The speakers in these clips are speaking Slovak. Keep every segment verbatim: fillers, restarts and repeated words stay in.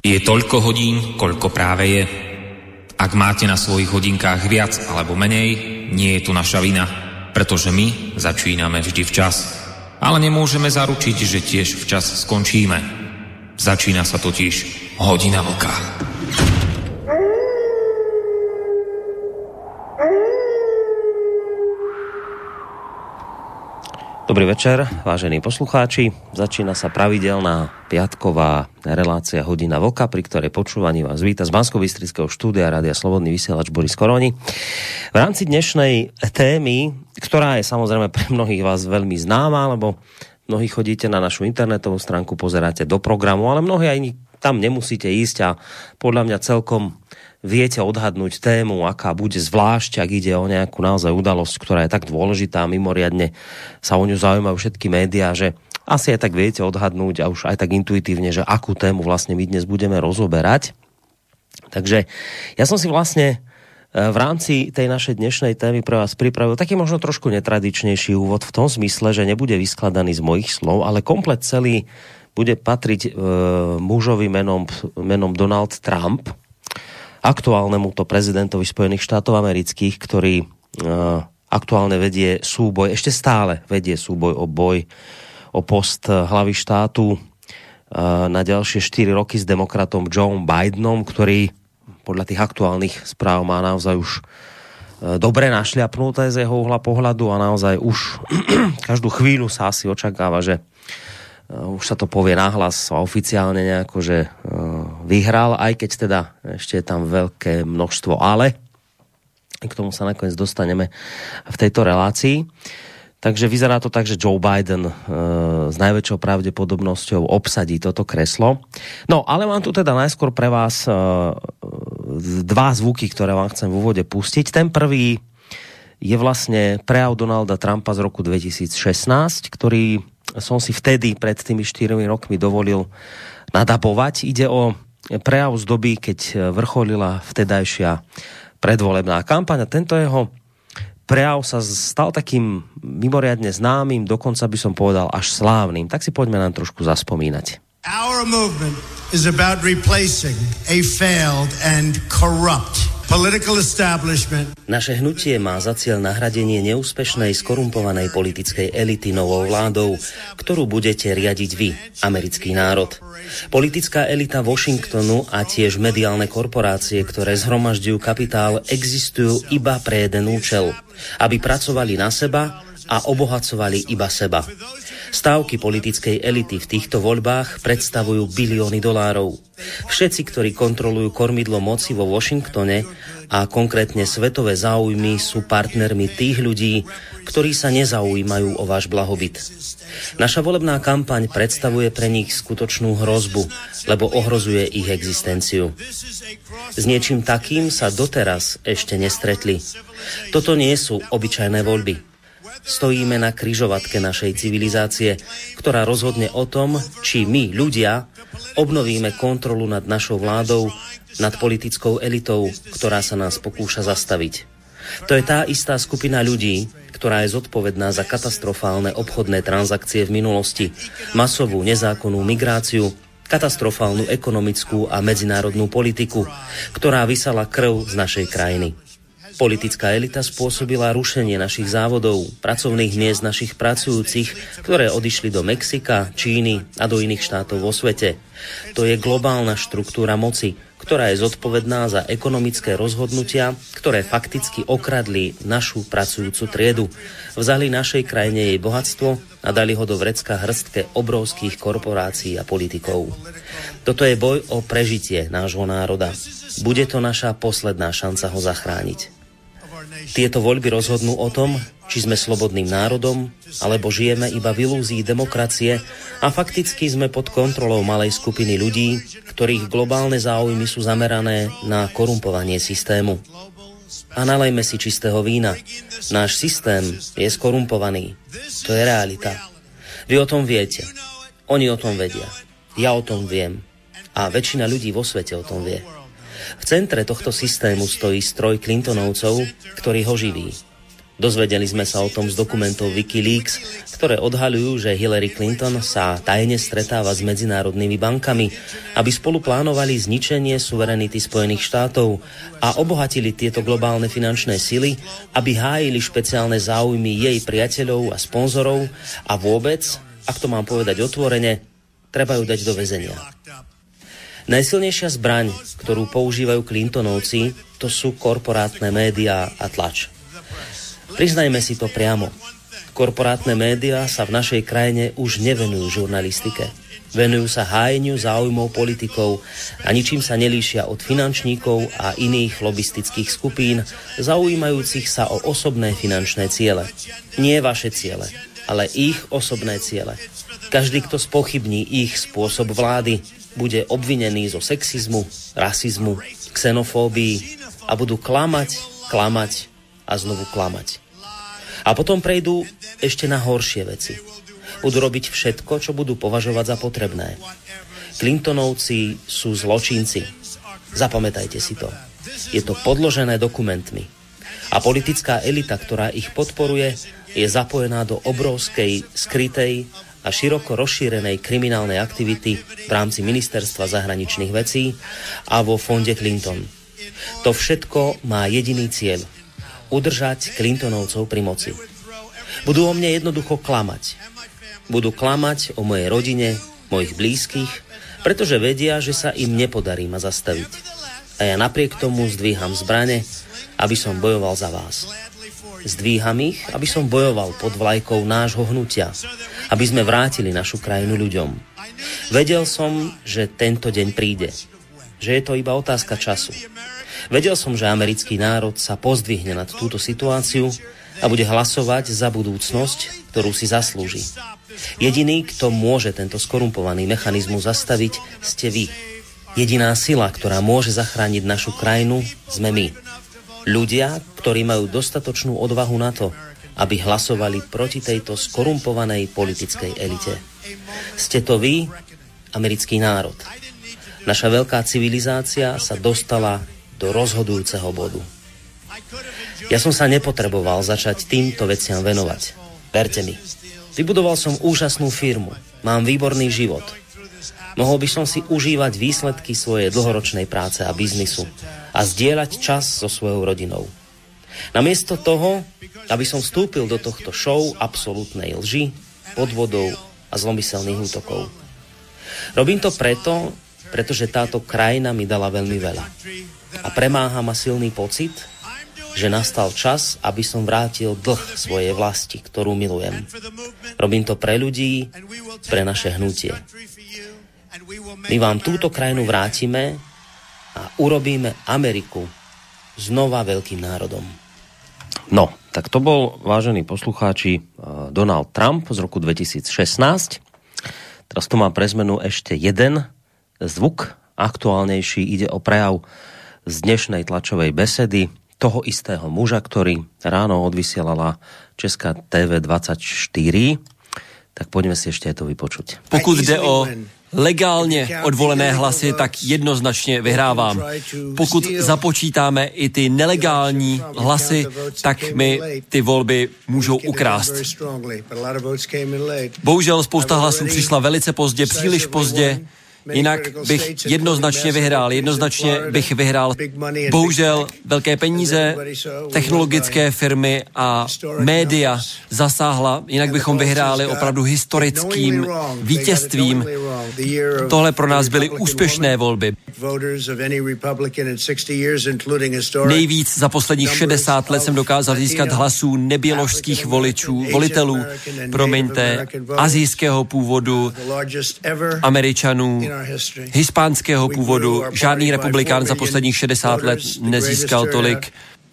Je toľko hodín, koľko práve je. Ak máte na svojich hodinkách viac alebo menej, nie je to naša vina, pretože my začíname vždy včas. Ale nemôžeme zaručiť, že tiež včas skončíme. Začína sa totiž Hodina vlka. Dobrý večer, vážení poslucháči. Začína sa pravidelná piatková relácia Hodina vlka, pri ktorej počúvaní vás víta z Banskobystrického štúdia Rádia Slobodný vysielač Boris Koroni. V rámci dnešnej témy, ktorá je samozrejme pre mnohých vás veľmi známa, lebo mnohí chodíte na našu internetovú stránku, pozeráte do programu, ale mnohí aj tam nemusíte ísť a podľa mňa celkom viete odhadnúť tému, aká bude, zvlášť, ak ide o nejakú naozaj udalosť, ktorá je tak dôležitá, mimoriadne sa o ňu zaujímajú všetky médiá, že asi aj tak viete odhadnúť a už aj tak intuitívne, že akú tému vlastne my dnes budeme rozoberať. Takže ja som si vlastne v rámci tej našej dnešnej témy pre vás pripravil taký možno trošku netradičnejší úvod v tom zmysle, že nebude vyskladaný z mojich slov, ale komplet celý bude patriť e, mužovi menom, menom Donald Trump, aktuálnemu to prezidentovi Spojených štátov amerických, ktorý uh, aktuálne vedie súboj, ešte stále vedie súboj o boj, o post hlavy štátu uh, na ďalšie štyri roky s demokratom Joe Bidenom, ktorý podľa tých aktuálnych správ má naozaj už uh, dobre našľapnuté z jeho uhla pohľadu a naozaj už každú chvíľu sa asi očakáva, že Uh, už sa to povie nahlas a oficiálne nejako, že uh, vyhral, aj keď teda ešte je tam veľké množstvo ale. K tomu sa nakoniec dostaneme v tejto relácii. Takže vyzerá to tak, že Joe Biden uh, s najväčšou pravdepodobnosťou obsadí toto kreslo. No, ale mám tu teda najskôr pre vás uh, dva zvuky, ktoré vám chcem v úvode pustiť. Ten prvý je vlastne prejav Donalda Trumpa z roku dvetisícšestnásť, ktorý som si vtedy pred tými štyrmi rokmi dovolil nadabovať. Ide o prejav z doby, keď vrcholila vtedajšia predvolebná kampaň a tento jeho prejav sa stal takým mimoriadne známym, dokonca by som povedal až slávnym. Tak si poďme nám trošku zaspomínať. Our movement is about replacing a failed and corrupt political establishment. Naše hnutie má za cieľ nahradenie neúspešnej, skorumpovanej politickej elity novou vládou, ktorú budete riadiť vy, americký národ. Politická elita Washingtonu a tiež mediálne korporácie, ktoré zhromažďujú kapitál, existujú iba pre jeden účel, aby pracovali na seba a obohacovali iba seba. Stávky politickej elity v týchto voľbách predstavujú bilióny dolárov. Všetci, ktorí kontrolujú kormidlo moci vo Washingtone a konkrétne svetové záujmy, sú partnermi tých ľudí, ktorí sa nezaujímajú o váš blahobyt. Naša volebná kampaň predstavuje pre nich skutočnú hrozbu, lebo ohrozuje ich existenciu. S niečím takým sa doteraz ešte nestretli. Toto nie sú obyčajné voľby. Stojíme na križovatke našej civilizácie, ktorá rozhodne o tom, či my, ľudia, obnovíme kontrolu nad našou vládou, nad politickou elitou, ktorá sa nás pokúša zastaviť. To je tá istá skupina ľudí, ktorá je zodpovedná za katastrofálne obchodné transakcie v minulosti, masovú nezákonnú migráciu, katastrofálnu ekonomickú a medzinárodnú politiku, ktorá vysala krv z našej krajiny. Politická elita spôsobila rušenie našich závodov, pracovných miest našich pracujúcich, ktoré odišli do Mexika, Číny a do iných štátov vo svete. To je globálna štruktúra moci, ktorá je zodpovedná za ekonomické rozhodnutia, ktoré fakticky okradli našu pracujúcu triedu. Vzali našej krajine jej bohatstvo a dali ho do vrecka hrstke obrovských korporácií a politikov. Toto je boj o prežitie nášho národa. Bude to naša posledná šanca ho zachrániť. Tieto voľby rozhodnú o tom, či sme slobodným národom, alebo žijeme iba v ilúzii demokracie a fakticky sme pod kontrolou malej skupiny ľudí, ktorých globálne záujmy sú zamerané na korumpovanie systému. A nalejme si čistého vína. Náš systém je skorumpovaný. To je realita. Vy o tom viete. Oni o tom vedia. Ja o tom viem. A väčšina ľudí vo svete o tom vie. V centre tohto systému stojí stroj Clintonovcov, ktorý ho živí. Dozvedeli sme sa o tom z dokumentov Wikileaks, ktoré odhaľujú, že Hillary Clinton sa tajne stretáva s medzinárodnými bankami, aby spolu plánovali zničenie suverenity Spojených štátov a obohatili tieto globálne finančné sily, aby hájili špeciálne záujmy jej priateľov a sponzorov a vôbec, ak to mám povedať otvorene, treba ju dať do väzenia. Najsilnejšia zbraň, ktorú používajú Clintonovci, to sú korporátne médiá a tlač. Priznajme si to priamo. Korporátne médiá sa v našej krajine už nevenujú žurnalistike. Venujú sa hájeniu záujmov politikov a ničím sa nelíšia od finančníkov a iných lobistických skupín, zaujímajúcich sa o osobné finančné ciele. Nie vaše ciele, ale ich osobné ciele. Každý, kto spochybní ich spôsob vlády, bude obvinený zo sexizmu, rasizmu, xenofóbii a budú klamať, klamať a znovu klamať. A potom prejdú ešte na horšie veci. Budú robiť všetko, čo budú považovať za potrebné. Clintonovci sú zločinci. Zapamätajte si to. Je to podložené dokumentmi. A politická elita, ktorá ich podporuje, je zapojená do obrovskej, skrytej a široko rozšírenej kriminálnej aktivity v rámci Ministerstva zahraničných vecí a vo fonde Clinton. To všetko má jediný cieľ. Udržať Clintonovcov pri moci. Budú o mne jednoducho klamať. Budú klamať o mojej rodine, mojich blízkych, pretože vedia, že sa im nepodarí ma zastaviť. A ja napriek tomu zdvíham zbrane, aby som bojoval za vás. Zdvíham ich, aby som bojoval pod vlajkou nášho hnutia, aby sme vrátili našu krajinu ľuďom. Vedel som, že tento deň príde, že je to iba otázka času. Vedel som, že americký národ sa pozdvihne nad túto situáciu a bude hlasovať za budúcnosť, ktorú si zaslúži. Jediný, kto môže tento skorumpovaný mechanizmus zastaviť, ste vy. Jediná sila, ktorá môže zachrániť našu krajinu, sme my. Ľudia, ktorí majú dostatočnú odvahu na to, aby hlasovali proti tejto skorumpovanej politickej elite. Ste to vy, americký národ. Naša veľká civilizácia sa dostala do rozhodujúceho bodu. Ja som sa nepotreboval začať týmto veciam venovať. Verte mi. Vybudoval som úžasnú firmu. Mám výborný život. Mohol by som si užívať výsledky svojej dlhoročnej práce a biznisu a zdieľať čas so svojou rodinou. Namiesto toho, aby som vstúpil do tohto show absolútnej lži, podvodov a zlomyselných útokov. Robím to preto, pretože táto krajina mi dala veľmi veľa. A premáha ma silný pocit, že nastal čas, aby som vrátil dlh svojej vlasti, ktorú milujem. Robím to pre ľudí, pre naše hnutie. My vám túto krajinu vrátime a urobíme Ameriku znova veľkým národom. No, tak to bol, vážení poslucháči, Donald Trump z roku dvetisícšestnásť. Teraz to má pre zmenu ešte jeden zvuk, aktuálnejší, ide o prejav z dnešnej tlačovej besedy toho istého muža, ktorý ráno odvysielala Česká té vé dvadsaťštyri. Tak poďme si ešte aj to vypočuť. Pokud jde o legálně odvolené hlasy, tak jednoznačně vyhrávám. Pokud započítáme i ty nelegální hlasy, tak mi ty volby můžou ukrást. Bohužel spousta hlasů přišla velice pozdě, příliš pozdě. Jinak bych jednoznačně vyhrál, jednoznačně bych vyhrál. Bohužel velké peníze, technologické firmy a média zasáhla, jinak bychom vyhráli opravdu historickým vítězstvím. Tohle pro nás byly úspěšné volby. Nejvíc za posledních šedesát let jsem dokázal získat hlasů neběložských voličů, volitelů, promiňte, asijského původu, Američanů, hispánského původu. Žádný republikán za posledních šedesát let nezískal tolik.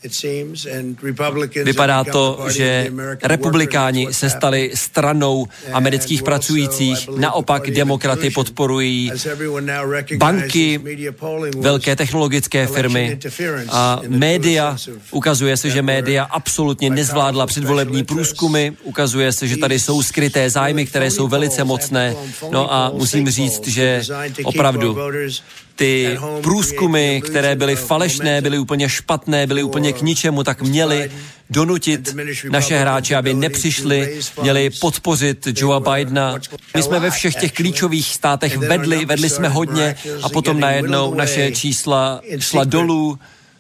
Vypadá to, že republikáni se stali stranou amerických pracujících, naopak demokraty podporují banky, velké technologické firmy a média. Ukazuje se, že média absolutně nezvládla předvolební průzkumy, ukazuje se, že tady jsou skryté zájmy, které jsou velice mocné. No a musím říct, že opravdu ty průzkumy, které byly falešné, byly úplně špatné, byly úplně k ničemu, tak měly donutit naše hráče, aby nepřišli, měli podpořit Joea Bidena. My jsme ve všech těch klíčových státech vedli, vedli jsme hodně a potom najednou naše čísla šla dolů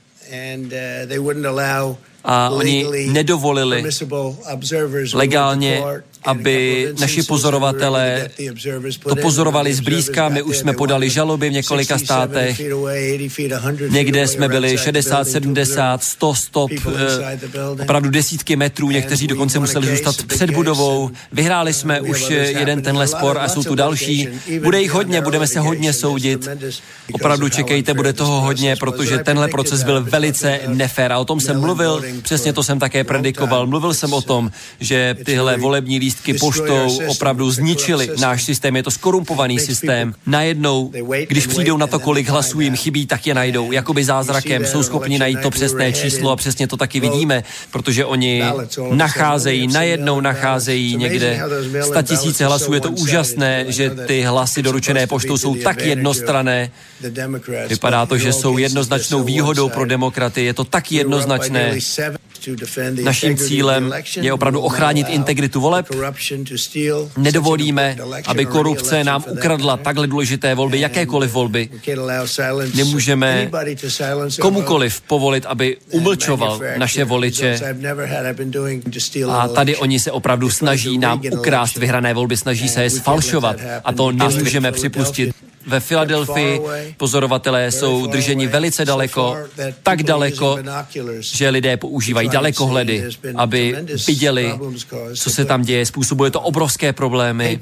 a oni nedovolili legálně, aby naši pozorovatelé to pozorovali zblízka. My už jsme podali žaloby v několika státech. Někde jsme byli šedesát, sedmdesát, sto stop, opravdu desítky metrů. Někteří dokonce museli zůstat před budovou. Vyhráli jsme už jeden tenhle spor a jsou tu další. Bude jich hodně, budeme se hodně soudit. Opravdu čekejte, bude toho hodně, protože tenhle proces byl velice nefér. A o tom jsem mluvil, přesně to jsem také predikoval. Mluvil jsem o tom, že tyhle volební lístky poštou opravdu zničili náš systém. Je to skorumpovaný systém. Najednou, když přijdou na to, kolik hlasů jim chybí, tak je najdou. Jakoby zázrakem jsou schopni najít to přesné číslo a přesně to taky vidíme, protože oni nacházejí, najednou nacházejí někde statisíce hlasů. Je to úžasné, že ty hlasy doručené poštou jsou tak jednostranné. Vypadá to, že jsou jednoznačnou výhodou pro demokraty. Je to tak jednoznačné. Naším cílem je opravdu ochránit integritu voleb. Nedovolíme, aby korupce nám ukradla takhle důležité volby, jakékoliv volby. Nemůžeme komukoliv povolit, aby umlčoval naše voliče. A tady oni se opravdu snaží nám ukrást vyhrané volby, snaží se je sfalšovat. A to nemůžeme připustit. Ve Filadelfii pozorovatelé jsou drženi velice daleko, tak daleko, že lidé používají dalekohledy, aby viděli, co se tam děje. Způsobuje to obrovské problémy.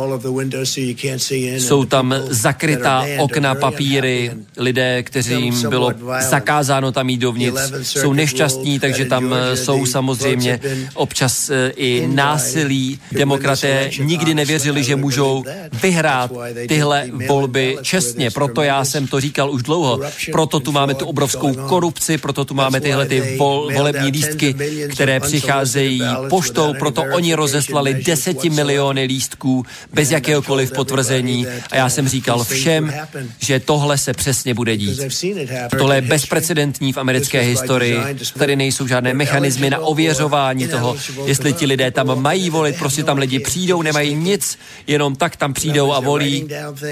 Jsou tam zakrytá okna, papíry, lidé, kterým bylo zakázáno tam jít dovnitř, jsou nešťastní, takže tam jsou samozřejmě občas i násilí. Demokraté nikdy nevěřili, že můžou vyhrát tyhle volby čestně, proto já jsem to říkal už dlouho, proto tu máme tu obrovskou korupci, proto tu máme tyhle ty vol, volební lístky, které přicházejí poštou, proto oni rozeslali deseti miliony lístků bez jakéhokoliv potvrzení a já jsem říkal všem, že tohle se přesně bude dít. Tohle je bezprecedentní v americké historii, tady nejsou žádné mechanismy na ověřování toho, jestli ti lidé tam mají volit, prostě tam lidi přijdou, nemají nic, jenom tak tam přijdou a volí.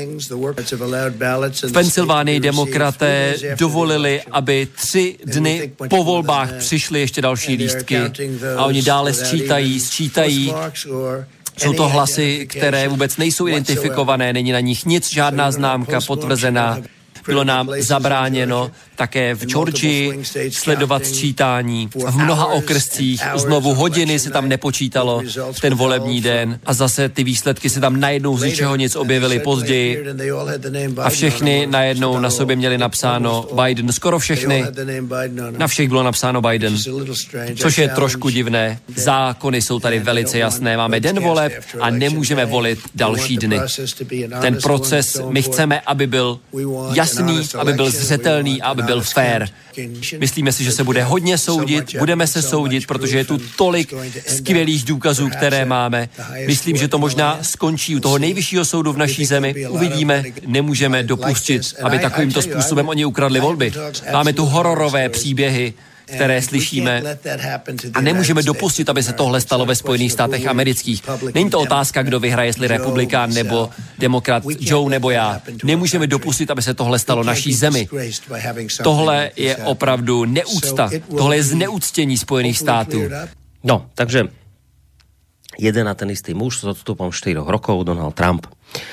V Pensylvánii demokraté dovolili, aby tři dny po volbách přišly ještě další lístky a oni dále sčítají, sčítají. Jsou to hlasy, které vůbec nejsou identifikované, není na nich nic, žádná známka potvrzená. Bylo nám zabráněno také v Georgii sledovat sčítání. V mnoha okrscích znovu hodiny se tam nepočítalo ten volební den a zase ty výsledky se tam najednou z ničeho nic objevily později a všechny najednou na sobě měli napsáno Biden. Skoro všechny. Na všech bylo napsáno Biden. Což je trošku divné. Zákony jsou tady velice jasné. Máme den voleb a nemůžeme volit další dny. Ten proces my chceme, aby byl jasný, aby byl zřetelný a aby byl fair. Myslíme si, že se bude hodně soudit, budeme se soudit, protože je tu tolik skvělých důkazů, které máme. Myslím, že to možná skončí u toho nejvyššího soudu v naší zemi. Uvidíme, nemůžeme dopustit, aby takovýmto způsobem oni ukradli volby. Máme tu hororové příběhy, které slyšíme a nemůžeme dopustit, aby se tohle stalo ve Spojených státech amerických. Není to otázka, kdo vyhraje, jestli republikán nebo demokrat, Joe nebo já. Nemůžeme dopustit, aby se tohle stalo naší zemi. Tohle je opravdu neúcta. Tohle je zneuctění Spojených států. No, takže jeden a ten istý muž s odstupom štyroch rokov, Donald Trump.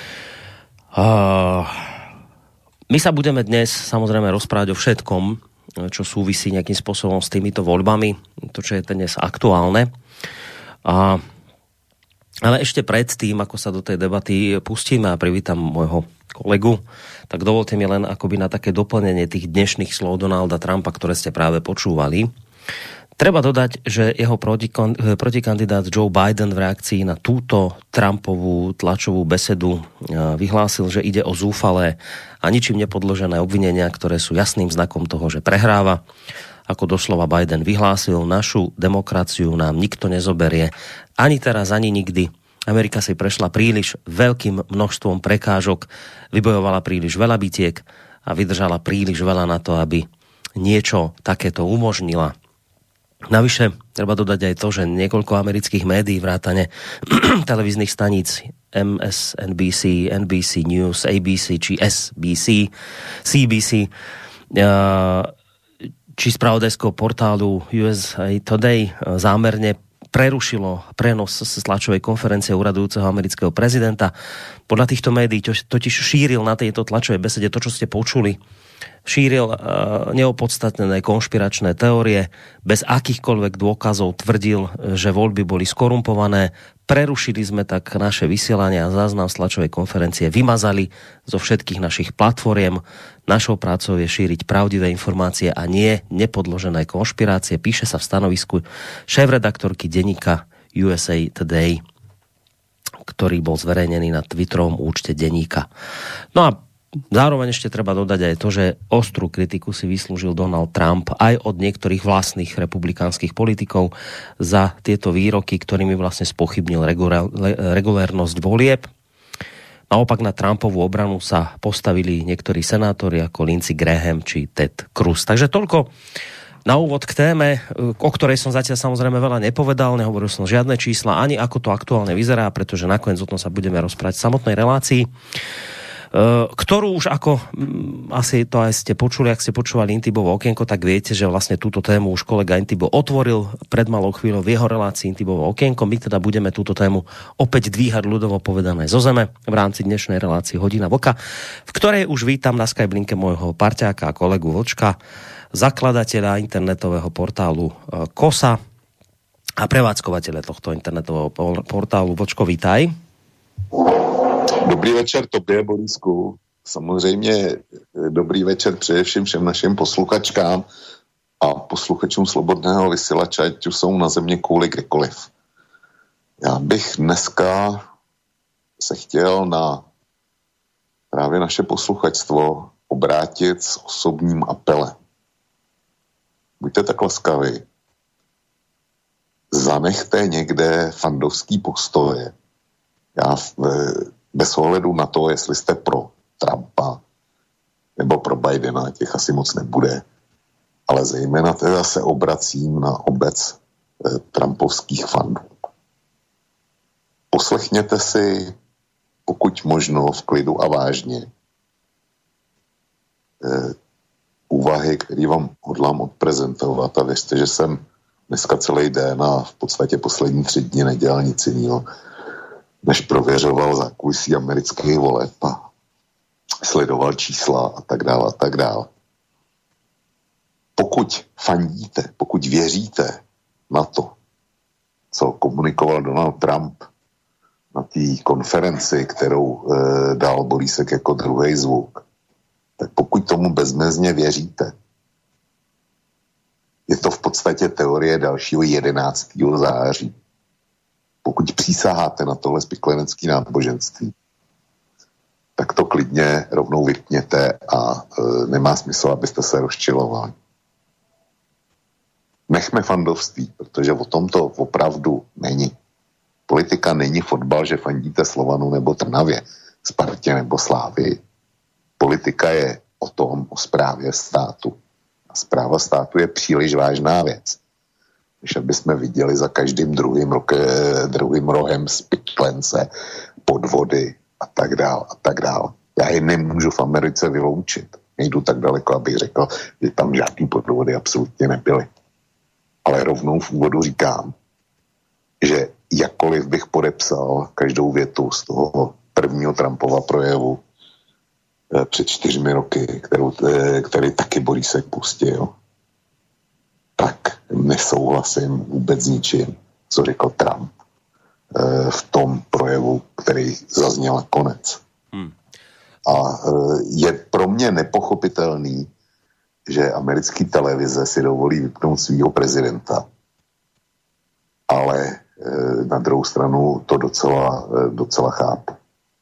Uh, my sa budeme dnes samozrejme rozprávať o všetkom, čo súvisí nejakým spôsobom s týmito voľbami, to, čo je dnes aktuálne. A, ale ešte predtým, ako sa do tej debaty pustíme a privítam môjho kolegu, tak dovolte mi len akoby na také doplnenie tých dnešných slov Donalda Trumpa, ktoré ste práve počúvali. Treba dodať, že jeho protikandidát Joe Biden v reakcii na túto Trumpovú tlačovú besedu vyhlásil, že ide o zúfalé a ničím nepodložené obvinenia, ktoré sú jasným znakom toho, že prehráva. Ako doslova Biden vyhlásil, našu demokraciu nám nikto nezoberie ani teraz, ani nikdy. Amerika si prešla príliš veľkým množstvom prekážok, vybojovala príliš veľa bitiek a vydržala príliš veľa na to, aby niečo takéto umožnila. Navyše, treba dodať aj to, že niekoľko amerických médií vrátane televíznych staníc em es en bí sí, en bí sí News, á bé cé či es bí sí, cé bé cé či spravodajského portálu ú es á Today zámerne prerušilo prenos z tlačovej konferencie uradujúceho amerického prezidenta. Podľa týchto médií totiž šíril na tejto tlačovej besede to, čo ste počuli, šíril uh, neopodstatnené konšpiračné teórie, bez akýchkoľvek dôkazov tvrdil, že voľby boli skorumpované. Prerušili sme tak naše vysielanie a záznam z tlačovej konferencie vymazali zo všetkých našich platformiem. Našou prácou je šíriť pravdivé informácie a nie nepodložené konšpirácie, píše sa v stanovisku šéfredaktorky denníka ú es á Today, ktorý bol zverejnený na Twitterovom účte denníka. No a zároveň ešte treba dodať aj to, že ostrú kritiku si vyslúžil Donald Trump aj od niektorých vlastných republikánskych politikov za tieto výroky, ktorými vlastne spochybnil regulérnosť volieb. Naopak na Trumpovú obranu sa postavili niektorí senátori ako Lindsey Graham či Ted Cruz. Takže toľko na úvod k téme, o ktorej som zatiaľ samozrejme veľa nepovedal, nehovoril som žiadne čísla, ani ako to aktuálne vyzerá, pretože nakoniec o tom sa budeme rozprávať v samotnej relácii, ktorú už ako asi to aj ste počuli, ak ste počúvali Intibovo okienko, tak viete, že vlastne túto tému už kolega Intibo otvoril pred malou chvíľou v jeho relácii Intibovo okienko. My teda budeme túto tému opäť dvíhať ľudovo povedané zo zeme v rámci dnešnej relácie Hodina Vlka, v ktorej už vítam na Skype linke môjho parťáka a kolegu Vlčka, zakladateľa internetového portálu Kosa a prevádzkovateľa tohto internetového portálu. Vlčko, vítaj. Dobrý večer tobě, Borisku. Samozřejmě dobrý večer především všem našim posluchačkám a posluchačům Slobodného vysílače, ať už jsou na země kouli kdekoliv. Já bych dneska se chtěl na právě naše posluchačstvo obrátit s osobním apelem. Buďte tak laskaví. Zanechte někde fandovský postoje. Já bez ohledu na to, jestli jste pro Trumpa nebo pro Bidena, těch asi moc nebude, ale zejména teda se obracím na obec eh, trumpovských fandů. Poslechněte si, pokud možno v klidu a vážně, eh, úvahy, které vám hodlám odprezentovat, a věřte, že jsem dneska celý den a v podstatě poslední tři dny nedělal nic jiného, než prověřoval zákulisí amerických voleb a sledoval čísla a tak dále a tak dále. Pokud fandíte, pokud věříte na to, co komunikoval Donald Trump na té konferenci, kterou e, dal Borísek jako druhý zvuk, tak pokud tomu bezmezně věříte, je to v podstatě teorie dalšího jedenáctého září. Pokud přísaháte na tohle spiklenecké náboženství, tak to klidně rovnou vypněte a e, nemá smysl, abyste se rozčilovali. Nechme fandovství, protože o tom to opravdu není. Politika není fotbal, že fandíte Slovanu nebo Trnavě, Spartě nebo Slávii. Politika je o tom, o správě státu. A správa státu je příliš vážná věc, než aby jsme viděli za každým druhým, roke, druhým rohem spiklence, podvody a tak dál a tak dál. Já je nemůžu v Americe vyloučit. Nejdu tak daleko, abych řekl, že tam žádný podvody absolutně nebyly. Ale rovnou v úvodu říkám, že jakkoliv bych podepsal každou větu z toho prvního Trumpova projevu eh, před čtyřmi roky, kterou, eh, který taky Borísek pustil, tak nesouhlasím vůbec s ničím, co řekl Trump eh, v tom projevu, který zazněl nakonec. Hmm. A eh, je pro mě nepochopitelný, že americký televize si dovolí vypnout svýho prezidenta. Ale e, na druhou stranu to docela, e, docela chápu.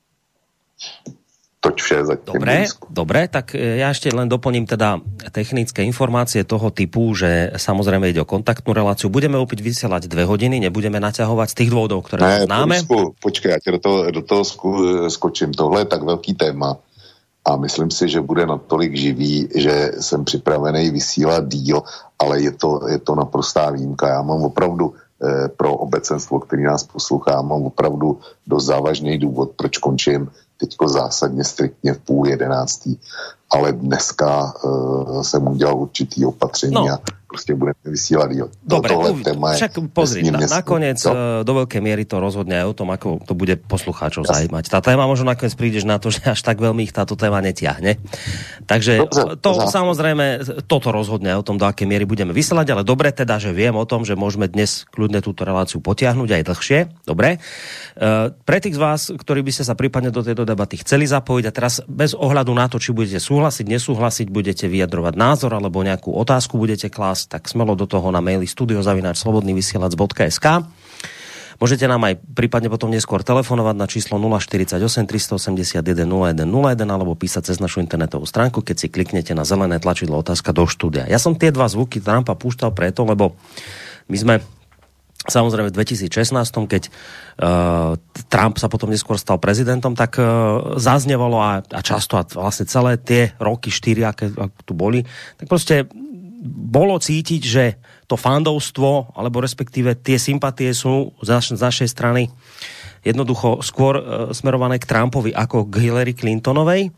Toť vše zatím. Dobre, dobre, tak ja ešte len doplním teda technické informácie toho typu, že samozrejme ide o kontaktnú reláciu. Budeme opäť vysielať dve hodiny, nebudeme naťahovať z tých dôvodov, ktoré ne, známe. Počkej, počkej, ja ti do toho, do toho sko, skočím. Tohle je tak veľký téma. a myslím si, že bude natolik živý, že jsem připravený vysílat díl, ale je to, je to naprostá výjimka. Já mám opravdu eh, pro obecenstvo, který nás poslouchá, mám opravdu dost závažný důvod, proč končím teďko zásadně striktně v půl jedenáctý. Ale dneska uh, jsem udělal určitý opatření no. a prostě budeme vysílať díl. Dobre, však pozri, na, nakoniec no. do veľkej miery to rozhodne aj o tom, ako to bude poslucháčov Jasne. Zajímať. Tá téma možno nakoniec prídeš na to, že až tak veľmi ich táto téma netiahne. Takže dobre, to dobre. Samozrejme, toto rozhodne o tom, do akej miery budeme vysielať, ale dobre teda, že viem o tom, že môžeme dnes kľudne túto reláciu potiahnuť aj dlhšie. Dobre. Uh, pre tých z vás, ktorí by ste sa prípadne do tejto debaty chceli zapojiť a teraz bez ohľadu na to, či budete súhlasiť, nesúhlasiť, budete vyjadrovať názor alebo nejakú otázku budete klásť, tak smelo do toho na maili studio zavináč slobodný vysielač bodka es ká. Môžete nám aj prípadne potom neskôr telefonovať na číslo nula štyridsaťosem tristoosemdesiatjeden nula jeden nula jeden alebo písať cez našu internetovú stránku, keď si kliknete na zelené tlačidlo otázka do štúdia. Ja som tie dva zvuky Trumpa púšťal preto, lebo my sme samozrejme v dvetisícšestnásť, keď uh, Trump sa potom neskôr stal prezidentom, tak uh, zaznevalo a, a často a vlastne celé tie roky, štyri, aké, aké tu boli, tak proste bolo cítiť, že to fandovstvo, alebo respektíve tie sympatie sú z, naš, z našej strany jednoducho skôr uh, smerované k Trumpovi ako k Hillary Clintonovej.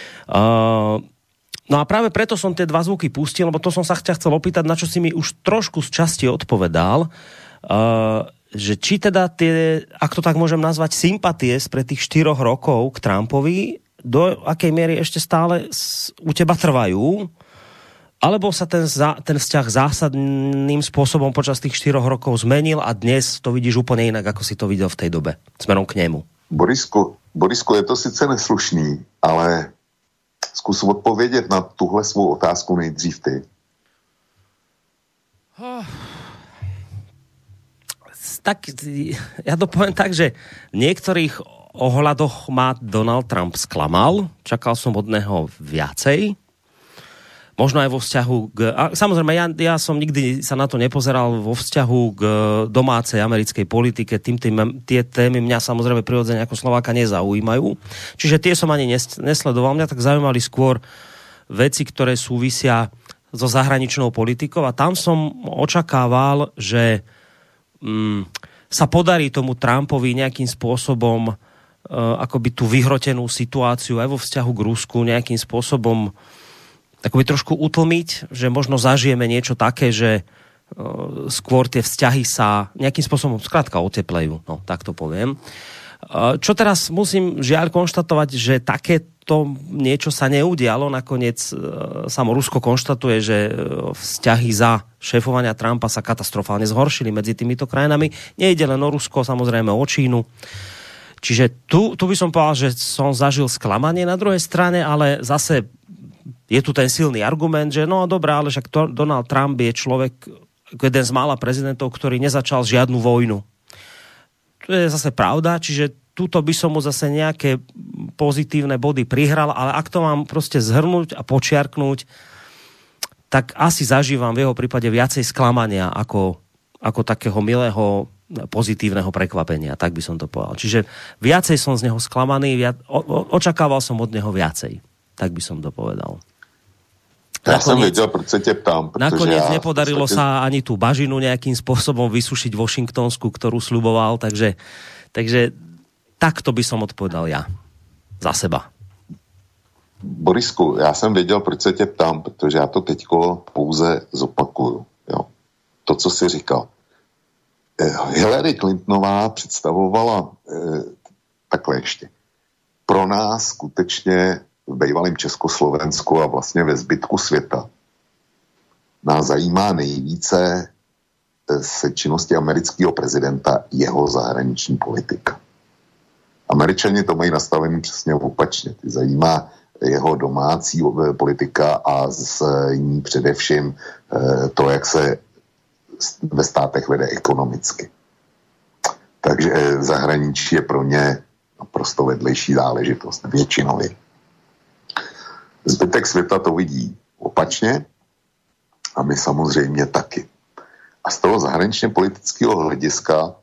Uh, no a práve preto som tie dva zvuky pustil, lebo to som sa ťa chcel opýtať, na čo si mi už trošku z časti odpovedal, Uh, že či teda tie, ak to tak môžem nazvať, sympatie spred tých štyroch rokov k Trumpovi, do akej miery ešte stále u teba trvajú, alebo sa ten, ten vzťah zásadným spôsobom počas tých štyroch rokov zmenil a dnes to vidíš úplne inak, ako si to videl v tej dobe, smerom k nemu. Borisku, Borisku, je to sice neslušný, ale skús odpovědět na tuhle svou otázku nejdřív ty. Oh. Tak, ja to poviem tak, že v niektorých ohľadoch ma Donald Trump sklamal. Čakal som od neho viacej. Možno aj vo vzťahu k... A samozrejme, ja, ja som nikdy sa na to nepozeral vo vzťahu k domácej americkej politike. Tým, tým, tie témy mňa samozrejme prirodzene ako Slováka nezaujímajú. Čiže tie som ani nesledoval. Mňa tak zaujímali skôr veci, ktoré súvisia so zahraničnou politikou. A tam som očakával, že sa podarí tomu Trumpovi nejakým spôsobom uh, akoby tú vyhrotenú situáciu aj vo vzťahu k Rusku nejakým spôsobom akoby trošku utlmiť, že možno zažijeme niečo také, že uh, skôr tie vzťahy sa nejakým spôsobom skrátka oteplejú, no tak to poviem. Uh, čo teraz musím žiaľ konštatovať, že takéto niečo sa neudialo, nakoniec uh, samo Rusko konštatuje, že uh, vzťahy za šéfovania Trumpa sa katastrofálne zhoršili medzi týmito krajinami. Nejde len o Rusko, samozrejme o Čínu. Čiže tu, tu by som povedal, že som zažil sklamanie na druhej strane, ale zase je tu ten silný argument, že no dobrá, ale však to, Donald Trump je človek, jeden z mála prezidentov, ktorý nezačal žiadnu vojnu. To je zase pravda, čiže tuto by som mu zase nejaké pozitívne body prihral, ale ak to mám proste zhrnúť a počiarknúť, tak asi zažívam v jeho prípade viacej sklamania ako, ako takého milého pozitívneho prekvapenia, tak by som to povedal. Čiže viacej som z neho sklamaný, viac, o, o, očakával som od neho viacej, tak by som to povedal. Ja nakoniec, som vedel, proč sa te ptám. Nakoniec ja nepodarilo podstate... sa ani tú bažinu nejakým spôsobom vysušiť Washingtonsku, ktorú sľuboval, takže, takže takto by som odpovedal ja. Za seba. Borisku, já jsem věděl, proč se tě ptám, protože já to teďko pouze zopakuju. Jo. To, co jsi říkal. Hillary Clintonová představovala eh, takhle ještě. Pro nás skutečně v bývalém Československu a vlastně ve zbytku světa nás zajímá nejvíce se činnosti amerického prezidenta jeho zahraniční politika. Američani to mají nastavený přesně opačně. Ty zajímá jeho domácí politika a z ní především to, jak se ve státech vede ekonomicky. Takže zahraničí je pro ně naprosto vedlejší záležitost, většinově. Zbytek světa to vidí opačně a my samozřejmě taky. A z toho zahraničně politického hlediska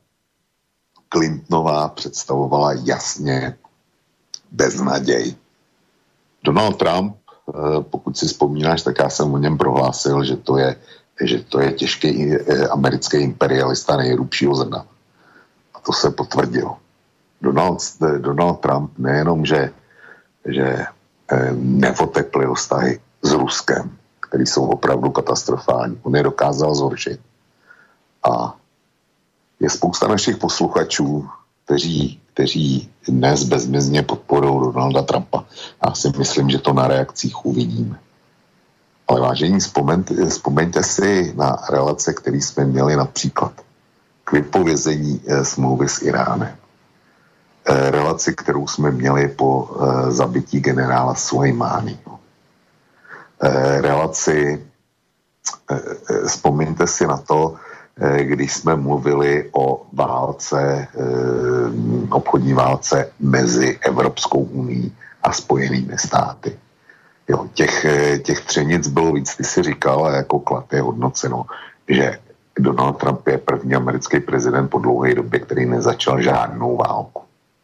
Clintonová představovala jasně beznaděj. Donald Trump, pokud si vzpomínáš, tak já jsem o něm prohlásil, že to je, že to je těžký americký imperialista nejhrubšího zrna. A to se potvrdilo. Donald, Donald Trump nejenom, že, že neoteplil vztahy s Ruskem, které jsou opravdu katastrofální, on je dokázal zhoršit. A je spousta našich posluchačů, kteří, kteří dnes bezmezně podporují Donalda Trumpa. Já si myslím, že to na reakcích uvidíme. Ale vážení, vzpomeňte, vzpomeňte si na relace, které jsme měli například k vypovězení eh, smlouvy s Iránem. Eh, relaci, kterou jsme měli po eh, zabití generála Sulejmáního. Eh, relaci, eh, vzpomeňte si na to, když jsme mluvili o válce, obchodní válce mezi Evropskou unií a Spojenými státy. Jo, těch, těch třenic bylo víc, ty si říkal, a jako klad je hodnoceno, že Donald Trump je první americký prezident po dlouhé době, který nezačal žádnou válku.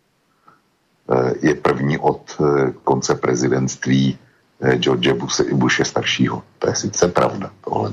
Je první od konce prezidentství George Bushe, Bushe staršího. To je sice pravda, tohle.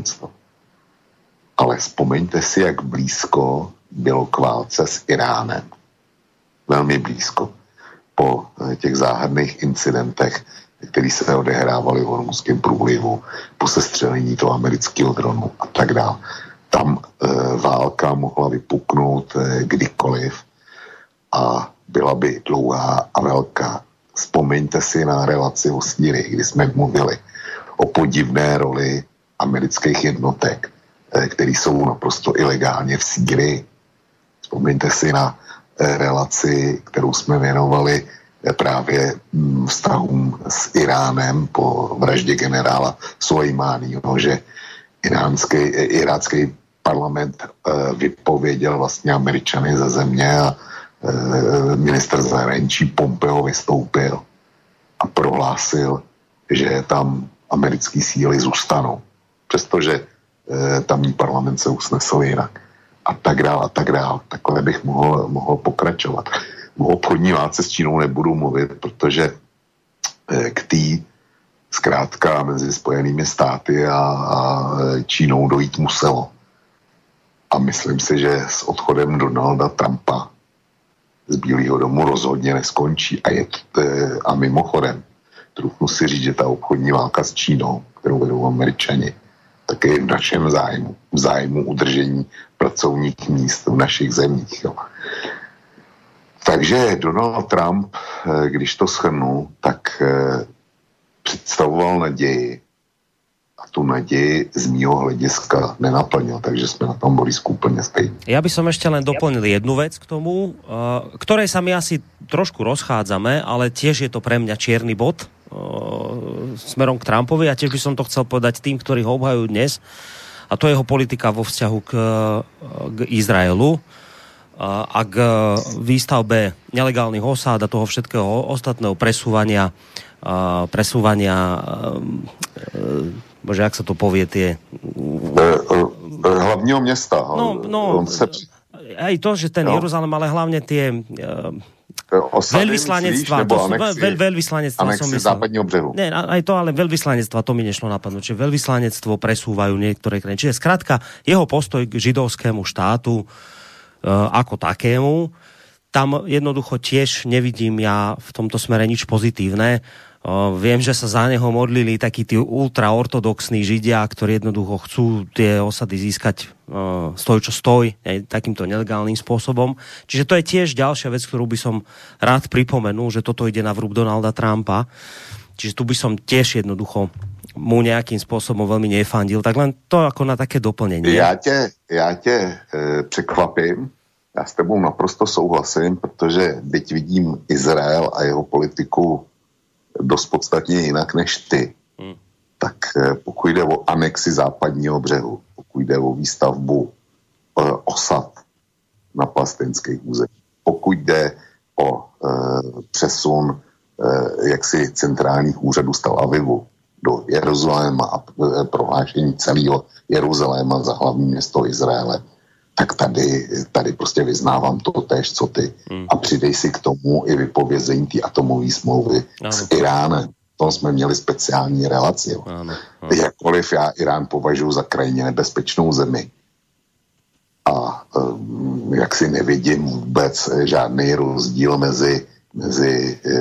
Ale vzpomeňte si, jak blízko bylo k válce s Iránem. Velmi blízko. Po těch záhadných incidentech, které se odehrávaly v Hormuzském průlivu, po sestřelení toho amerického dronu a tak dále. Tam e, válka mohla vypuknout e, kdykoliv a byla by dlouhá a velká. Vzpomeňte si na relaci o Sýrii, kdy jsme mluvili o podivné roli amerických jednotek, který jsou naprosto ilegálně v Sýrii. Vzpomeňte si na relaci, kterou jsme věnovali právě vztahům s Iránem po vraždě generála Sulejmáního, že iránský, irácký parlament vypověděl vlastně Američany ze země a ministr zahraničí Pompeo vystoupil a prohlásil, že tam americké síly zůstanou. Přestože tamní parlament se usnesl jinak. A tak dál, a tak dál. Takhle bych mohl, mohl pokračovat. O obchodní válce s Čínou nebudu mluvit, protože k té zkrátka mezi Spojenými státy a, a Čínou dojít muselo. A myslím si, že s odchodem Donalda Trumpa z Bílého domu rozhodně neskončí. A, je, a mimochodem, trochu si říct, že ta obchodní válka s Čínou, kterou vedou Američani, tak je v našem zájmu, v zájmu udržení pracovních míst v našich zemích. Jo. Takže Donald Trump, když to shrnu, tak představoval naději a tu naději z mýho hlediska nenaplnil, takže jsme na tom Borisku úplne stejní. Ja by som ešte len doplnil jednu vec k tomu, ktorej sa my asi trošku rozchádzame, ale tiež je to pre mňa čierny bod smerom k Trumpovi a tiež by som to chcel povedať tým, ktorí ho obhajujú dnes, a to je jeho politika vo vzťahu k, k Izraelu a k výstavbe nelegálnych osád a toho všetkého ostatného presúvania presúvania bože, jak sa to povie, tie hlavního mesta. No, no se... aj to, že ten no. Jeruzalém, ale hlavne tie veľvyslanectva, to sú veľ, veľvyslanectva som myslel. Západního břehu. Nie, aj to, ale veľvyslanectva, to mi nešlo napadnúť, že veľvyslanectvo presúvajú niektoré krajiny. Čiže skrátka, jeho postoj k židovskému štátu e, ako takému, tam jednoducho tiež nevidím ja v tomto smere nič pozitívne. O, viem, že sa za neho modlili takí tí ultraortodoxní židia, ktorí jednoducho chcú tie osady získať o, stoj čo stoj, ne, takýmto nelegálnym spôsobom. Čiže to je tiež ďalšia vec, ktorú by som rád pripomenul, že toto ide na vrúb Donalda Trumpa. Čiže tu by som tiež jednoducho mu nejakým spôsobom veľmi nefandil. Tak len to ako na také doplnenie. Ja tě, ja tě e, překvapím. Já s tebou naprosto souhlasím, protože byť vidím Izrael a jeho politiku dost podstatně jinak než ty, hmm. tak pokud jde o anexi západního břehu, pokud jde o výstavbu e, osad na palestinských územích, pokud jde o e, přesun e, jaksi centrálních úřadů z Tel Avivu do Jeruzaléma a e, prohlášení celého Jeruzaléma za hlavní město Izraele, tak tady, tady prostě vyznávám to též, co ty. Hmm. A přidej si k tomu i vypovězení té atomové smlouvy no. s Iránem. tom jsme měli speciální relaci. Ano, ano. Jakkoliv já Irán považuji za krajně nebezpečnou zemi. A um, jak si nevidím vůbec žádný rozdíl mezi, mezi e,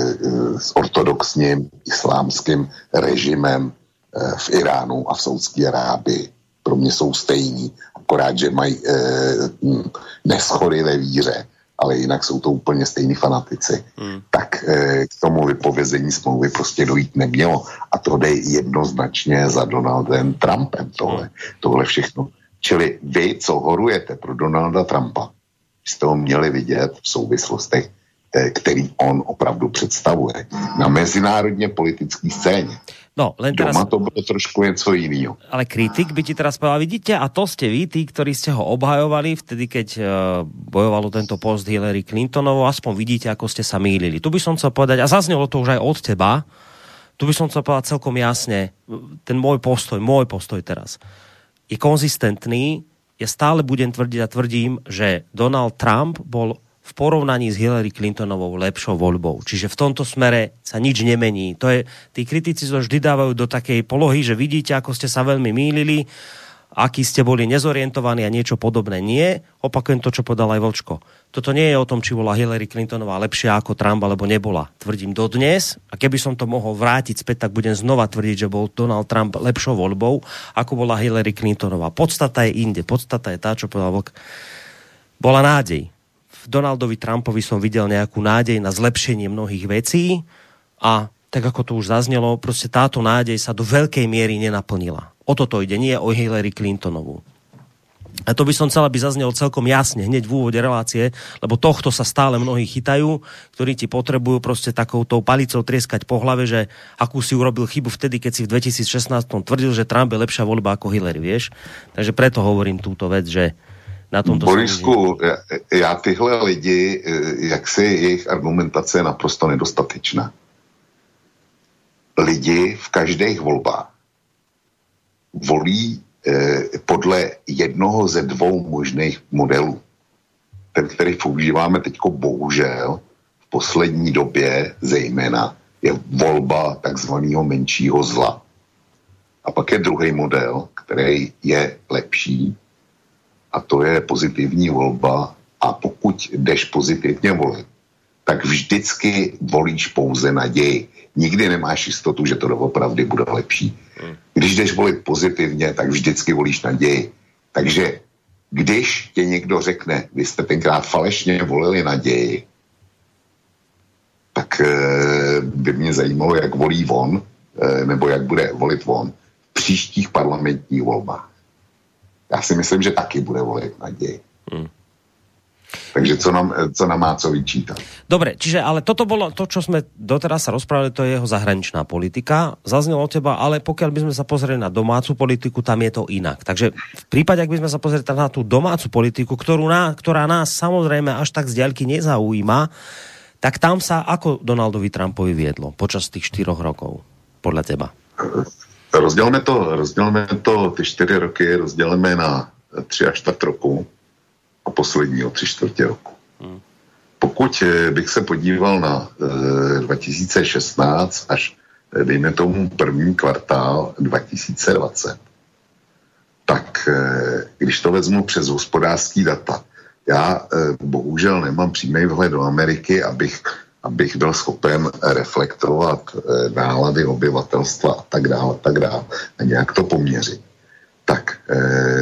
s ortodoxním islámským režimem e, v Iránu a v Saúdské Arábii. Pro mě jsou stejní, akorát, že mají e, neschody ve víře, ale jinak jsou to úplně stejní fanatici. Hmm. Tak e, k tomu vypovězení smlouvy prostě dojít nemělo. A to jde jednoznačně za Donaldem Trumpem, tohle, tohle všechno. Čili vy, co horujete pro Donalda Trumpa, jste ho měli vidět v souvislostech, který on opravdu představuje na mezinárodně politické scéně. No, len teraz... Doma to bylo trošku něco jiného. Ale kritik by ti teraz povedal, vidíte, a to ste vy, tí, ktorí ste ho obhajovali vtedy, keď uh, bojovalo tento post Hillary Clintonovo, aspoň vidíte, ako ste sa mýlili. Tu by som chcel povedať, a zaznelo to už aj od teba, tu by som chcel povedať celkom jasne, ten môj postoj, môj postoj teraz je konzistentný, ja stále budem tvrdiť a tvrdím, že Donald Trump bol v porovnaní s Hillary Clintonovou lepšou voľbou. Čiže v tomto smere sa nič nemení. To je, tí kritici sa vždy dávajú do takej polohy, že vidíte, ako ste sa veľmi mýlili, akí ste boli nezorientovaní a niečo podobné. Nie, opakujem to, čo povedal aj Vlčko. Toto nie je o tom, či bola Hillary Clintonová lepšia ako Trump, alebo nebola. Tvrdím dodnes, a keby som to mohol vrátiť späť, tak budem znova tvrdiť, že bol Donald Trump lepšou voľbou, ako bola Hillary Clintonová. Podstata je inde. Podstata je tá, čo povedal Vlk. Bola nádej. Donaldovi Trumpovi som videl nejakú nádej na zlepšenie mnohých vecí a tak ako to už zaznelo, proste táto nádej sa do veľkej miery nenaplnila. O toto ide, nie o Hillary Clintonovú. A to by som chcel, aby zaznelo celkom jasne hneď v úvode relácie, lebo tohto sa stále mnohí chytajú, ktorí ti potrebujú proste takoutou palicou trieskať po hlave, že akú si urobil chybu vtedy, keď si v dvetisícšestnásť tvrdil, že Trump je lepšia voľba ako Hillary, vieš? Takže preto hovorím túto vec, že na tomto Borisku, já, já tyhle lidi, jak si jejich argumentace je naprosto nedostatečná. Lidi v každých volbách volí eh, podle jednoho ze dvou možných modelů. Ten, který používáme teďko bohužel v poslední době zejména, je volba takzvaného menšího zla. A pak je druhý model, který je lepší, a to je pozitivní volba, a pokud jdeš pozitivně volit, tak vždycky volíš pouze naději. Nikdy nemáš jistotu, že to doopravdy bude lepší. Když jdeš volit pozitivně, tak vždycky volíš naději. Takže když tě někdo řekne, vy jste tenkrát falešně volili naději, tak e, by mě zajímalo, jak volí on, e, nebo jak bude volit on v příštích parlamentních volbách. Já si myslím, že taky bude volit naději. Hmm. Takže co nám, co nám má co vyčítať? Dobre, čiže ale toto bolo to, čo sme doteraz sa rozprávali, to je jeho zahraničná politika. Zaznelo od teba, ale pokiaľ by sme sa pozreli na domácu politiku, tam je to inak. Takže v prípade, ak by sme sa pozreli na tú domácu politiku, ktorú ná, ktorá nás samozrejme až tak z diaľky nezaujíma, tak tam sa ako Donaldovi Trumpovi viedlo počas tých štyroch rokov, podľa teba? Rozdělme to, rozdělme to, ty čtyři roky rozdělíme na tři a čtvrt roku a posledního tři čtvrtě roku. Hmm. Pokud bych se podíval na e, dva tisíce šestnáct až, dejme tomu, první kvartál dva tisíce dvacet, tak e, když to vezmu přes hospodářský data, já e, bohužel nemám přímý vhled do Ameriky, abych abych byl schopen reflektovat e, nálady obyvatelstva a tak dále, a tak dále, a nějak to poměřit. Tak e,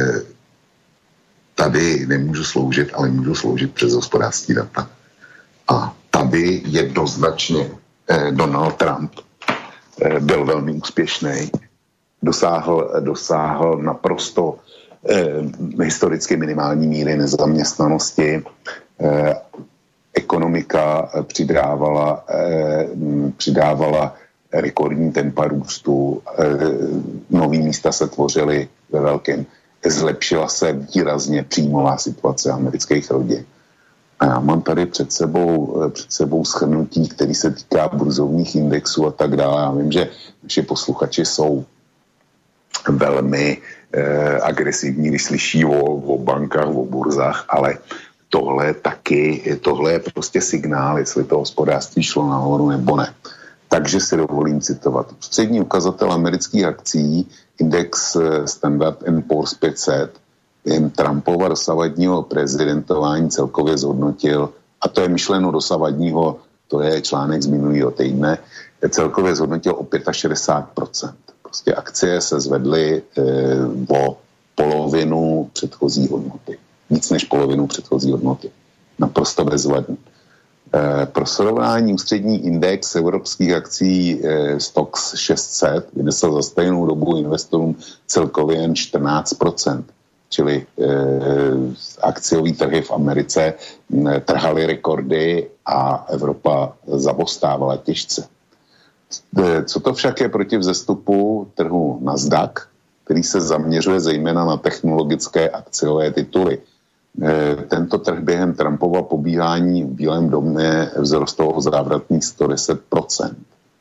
tady nemůžu sloužit, ale můžu sloužit přes hospodářský data. A tady jednoznačně e, Donald Trump e, byl velmi úspěšný, dosáhl, dosáhl naprosto e, historicky minimální míry nezaměstnanosti, e, ekonomika přidávala, eh, přidávala rekordní tempa růstu, eh, nový místa se tvořily ve velkém. Zlepšila se výrazně příjmová situace amerických rodin. A já mám tady před sebou, před sebou shrnutí, který se týká burzovních indexů a tak dále. Já vím, že naši posluchači jsou velmi eh, agresivní, když slyší o, o bankách, o burzách, ale tohle taky, tohle je prostě signál, jestli to hospodářství šlo nahoru nebo ne. Takže si dovolím citovat. Střední ukazatel amerických akcí, index Standard and Poor's pět set, jen Trumpova dosavadního prezidentování celkově zhodnotil, a to je myšleno dosavadního, to je článek z minulého týdne, celkově zhodnotil o šedesát pět procent. Prostě akcie se zvedly e, o polovinu předchozí hodnoty. Víc než polovinu předchozí hodnoty. Naprosto bezvadný. E, pro srovnání ústřední index evropských akcí e, Stoxx šest set vynesl za stejnou dobu investorům celkově jen čtrnáct procent. Čili e, akciový trhy v Americe e, trhaly rekordy a Evropa zaostávala těžce. E, co to však je proti vzestupu trhu Nasdaq, který se zaměřuje zejména na technologické akciové tituly. E, tento trh během Trumpova pobíhání v Bílém domě vzrostl o závratných sto deset procent.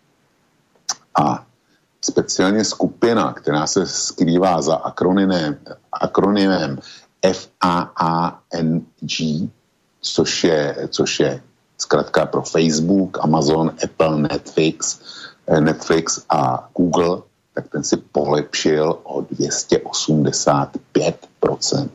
A speciálně skupina, která se skrývá za akronymem, akronymem F A A N G, což je, což je zkrátka pro Facebook, Amazon, Apple, Netflix, Netflix a Google, tak ten si polepšil o dvě stě osmdesát pět procent.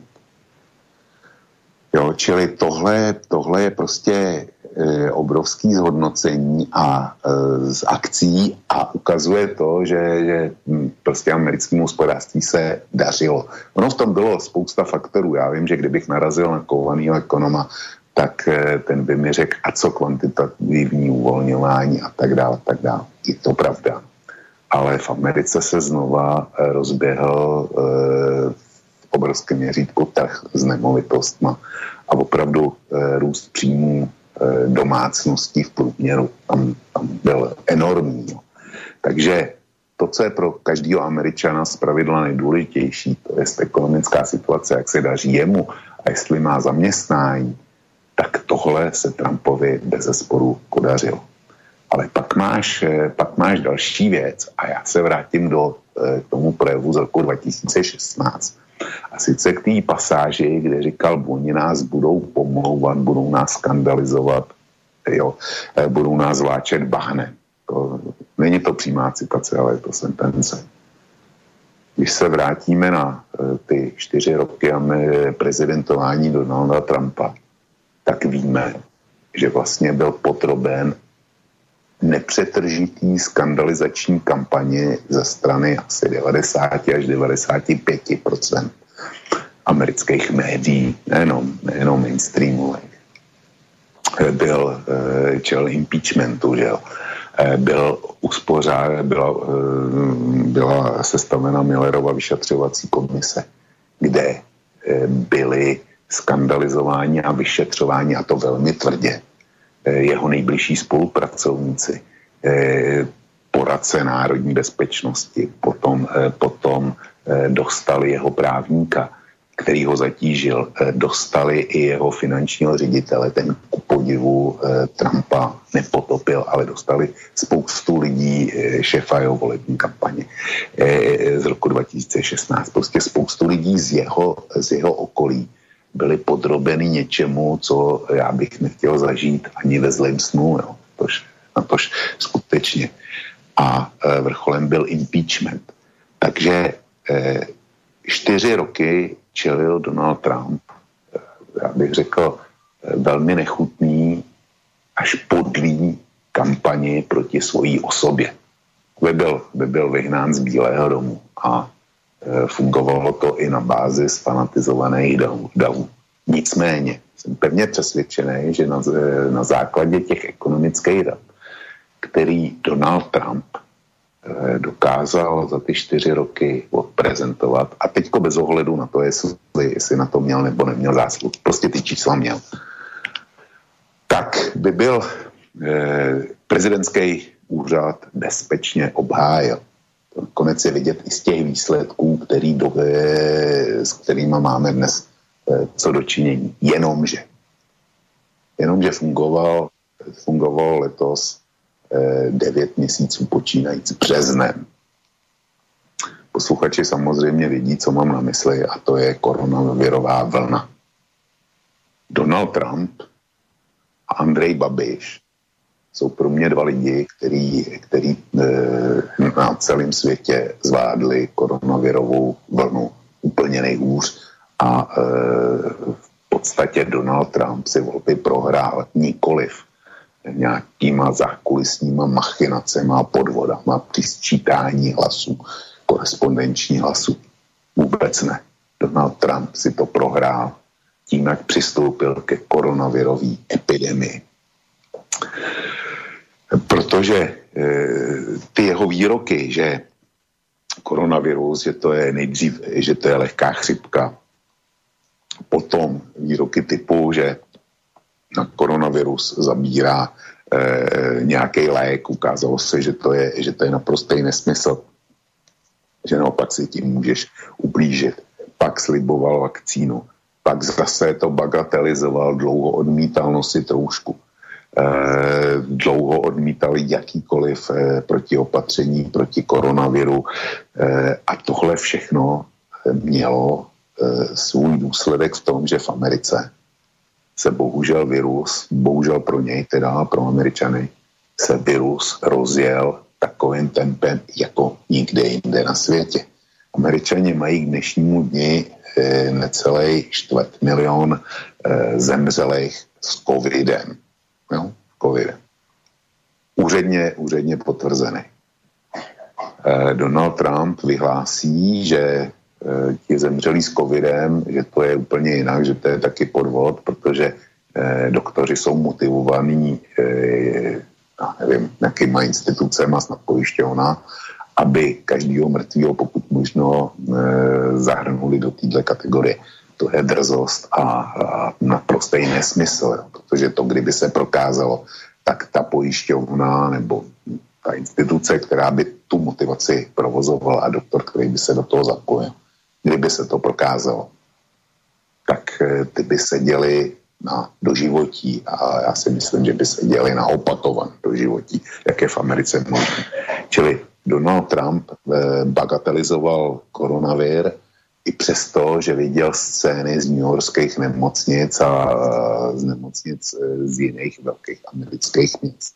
Jo, čili tohle, tohle je prostě e, obrovský zhodnocení a e, z akcí a ukazuje to, že, že m, prostě americkému hospodářství se dařilo. Ono v tom bylo spousta faktorů. Já vím, že kdybych narazil na kovanýho ekonoma, tak e, ten by mi řekl, a co kvantitativní uvolňování a tak dále, tak dále. Je to pravda. Ale v Americe se znova e, rozběhl e, obrovské měřítko trh s nemovitostma a opravdu e, růst příjmů e, domácností v průměru tam, tam byl enormní. No. Takže to, co je pro každého Američana zpravidla nejdůležitější, to je ekonomická situace, jak se daří jemu a jestli má zaměstnání, tak tohle se Trumpovi bezesporu podařilo. Ale pak máš, pak máš další věc a já se vrátím do e, k tomu projevu z roku dva tisíce šestnáct. A sice k té pasáži, kde říkal, oni nás budou pomlouvat, budou nás skandalizovat, jo, budou nás vláčet bahnem. To, není to přímá citace, ale je to sentence. Když se vrátíme na ty čtyři roky prezidentování Donalda Trumpa, tak víme, že vlastně byl podroben nepřetržitý skandalizační kampaně ze strany asi devadesát až devadesát pět procent amerických médií, nejenom, nejenom mainstreamových. Byl čel impeachmentu, že jo. Byl uspořád, byla, byla sestavena Millerova vyšetřovací komise, kde byli skandalizováni a vyšetřováni, a to velmi tvrdě, jeho nejbližší spolupracovníci, poradce národní bezpečnosti, potom, potom dostali jeho právníka, který ho zatížil, dostali i jeho finančního ředitele, ten ku podivu Trumpa nepotopil, ale dostali spoustu lidí šéfa jeho volební kampaně z roku dva tisíce šestnáct. Prostě spoustu lidí z jeho, z jeho okolí byli podrobeny něčemu, co já bych nechtěl zažít ani ve zlém snu, jo. Tož, na tož skutečně. A e, vrcholem byl impeachment. Takže e, čtyři roky čelil Donald Trump, e, já bych řekl, e, velmi nechutný až podlý kampani proti svojí osobě. By byl, by byl vyhnán z Bílého domu a fungovalo to i na bázi sfanatizovaných davů. Nicméně jsem pevně přesvědčený, že na, na základě těch ekonomických dat, který Donald Trump dokázal za ty čtyři roky odprezentovat, a teďko bez ohledu na to, jestli, jestli na to měl nebo neměl zásluh, prostě ty čísla měl, tak by byl eh, prezidentský úřad bezpečně obhájil. Konec je vidět i z těch výsledků, který do, s kterými máme dnes co dočinění. Jenomže, jenomže fungoval, fungoval letos devět měsíců počínající březnem. Posluchači samozřejmě vidí, co mám na mysli, a to je koronavirová vlna. Donald Trump a Andrej Babiš jsou pro mě dva lidi, který, který e, na celém světě zvládli koronavirovou vlnu úplně nejhůř a e, v podstatě Donald Trump si volby prohrál nikoliv nějakýma zákulisníma machinacema a podvodama při sčítání hlasů, korespondenční hlasů. Vůbec ne. Donald Trump si to prohrál tím, jak přistoupil ke koronavirové epidemii. Protože e, ty jeho výroky, že koronavirus, že to je nejdřív, že to je lehká chřipka, potom výroky typu, že na koronavirus zabírá e, nějaký lék, ukázalo se, že to je, že to je naprostý nesmysl, že naopak si tím můžeš ublížit. Pak sliboval vakcínu, pak zase to bagatelizoval, dlouho odmítal nosit roušku, e, dlouho odmítal jakýkoliv e, protiopatření proti koronaviru e, a tohle všechno mělo e, svůj důsledek v tom, že v Americe se bohužel virus, bohužel pro něj, teda pro Američany, se virus rozjel takovým tempem jako nikde jinde na světě. Američani mají k dnešnímu dni e, necelý čtvrt milion e, zemřelých s covidem. Jo? Covidem. Úředně, úředně potvrzený. E, Donald Trump vyhlásí, že e, ti zemřelí s covidem, že to je úplně jinak, že to je taky podvod, protože e, doktoři jsou motivovaní e, já nevím, jakýma institucema, snad pojišťovna, aby každýho mrtvýho pokud možno e, zahrnuli do této kategorie. To je drzost a, a naprostý nesmysl, jo, protože to, kdyby se prokázalo, tak ta pojišťovna nebo ta instituce, která by tu motivaci provozovala a doktor, který by se do toho zapojil, kdyby se to prokázalo, tak e, ty by seděli na doživotí a já si myslím, že by se děli na opakované doživotí, jak je v Americe možné. Čili Donald Trump eh, bagatelizoval koronavir i přesto, že viděl scény z newyorských nemocnic a eh, z nemocnic eh, z jiných velkých amerických měst.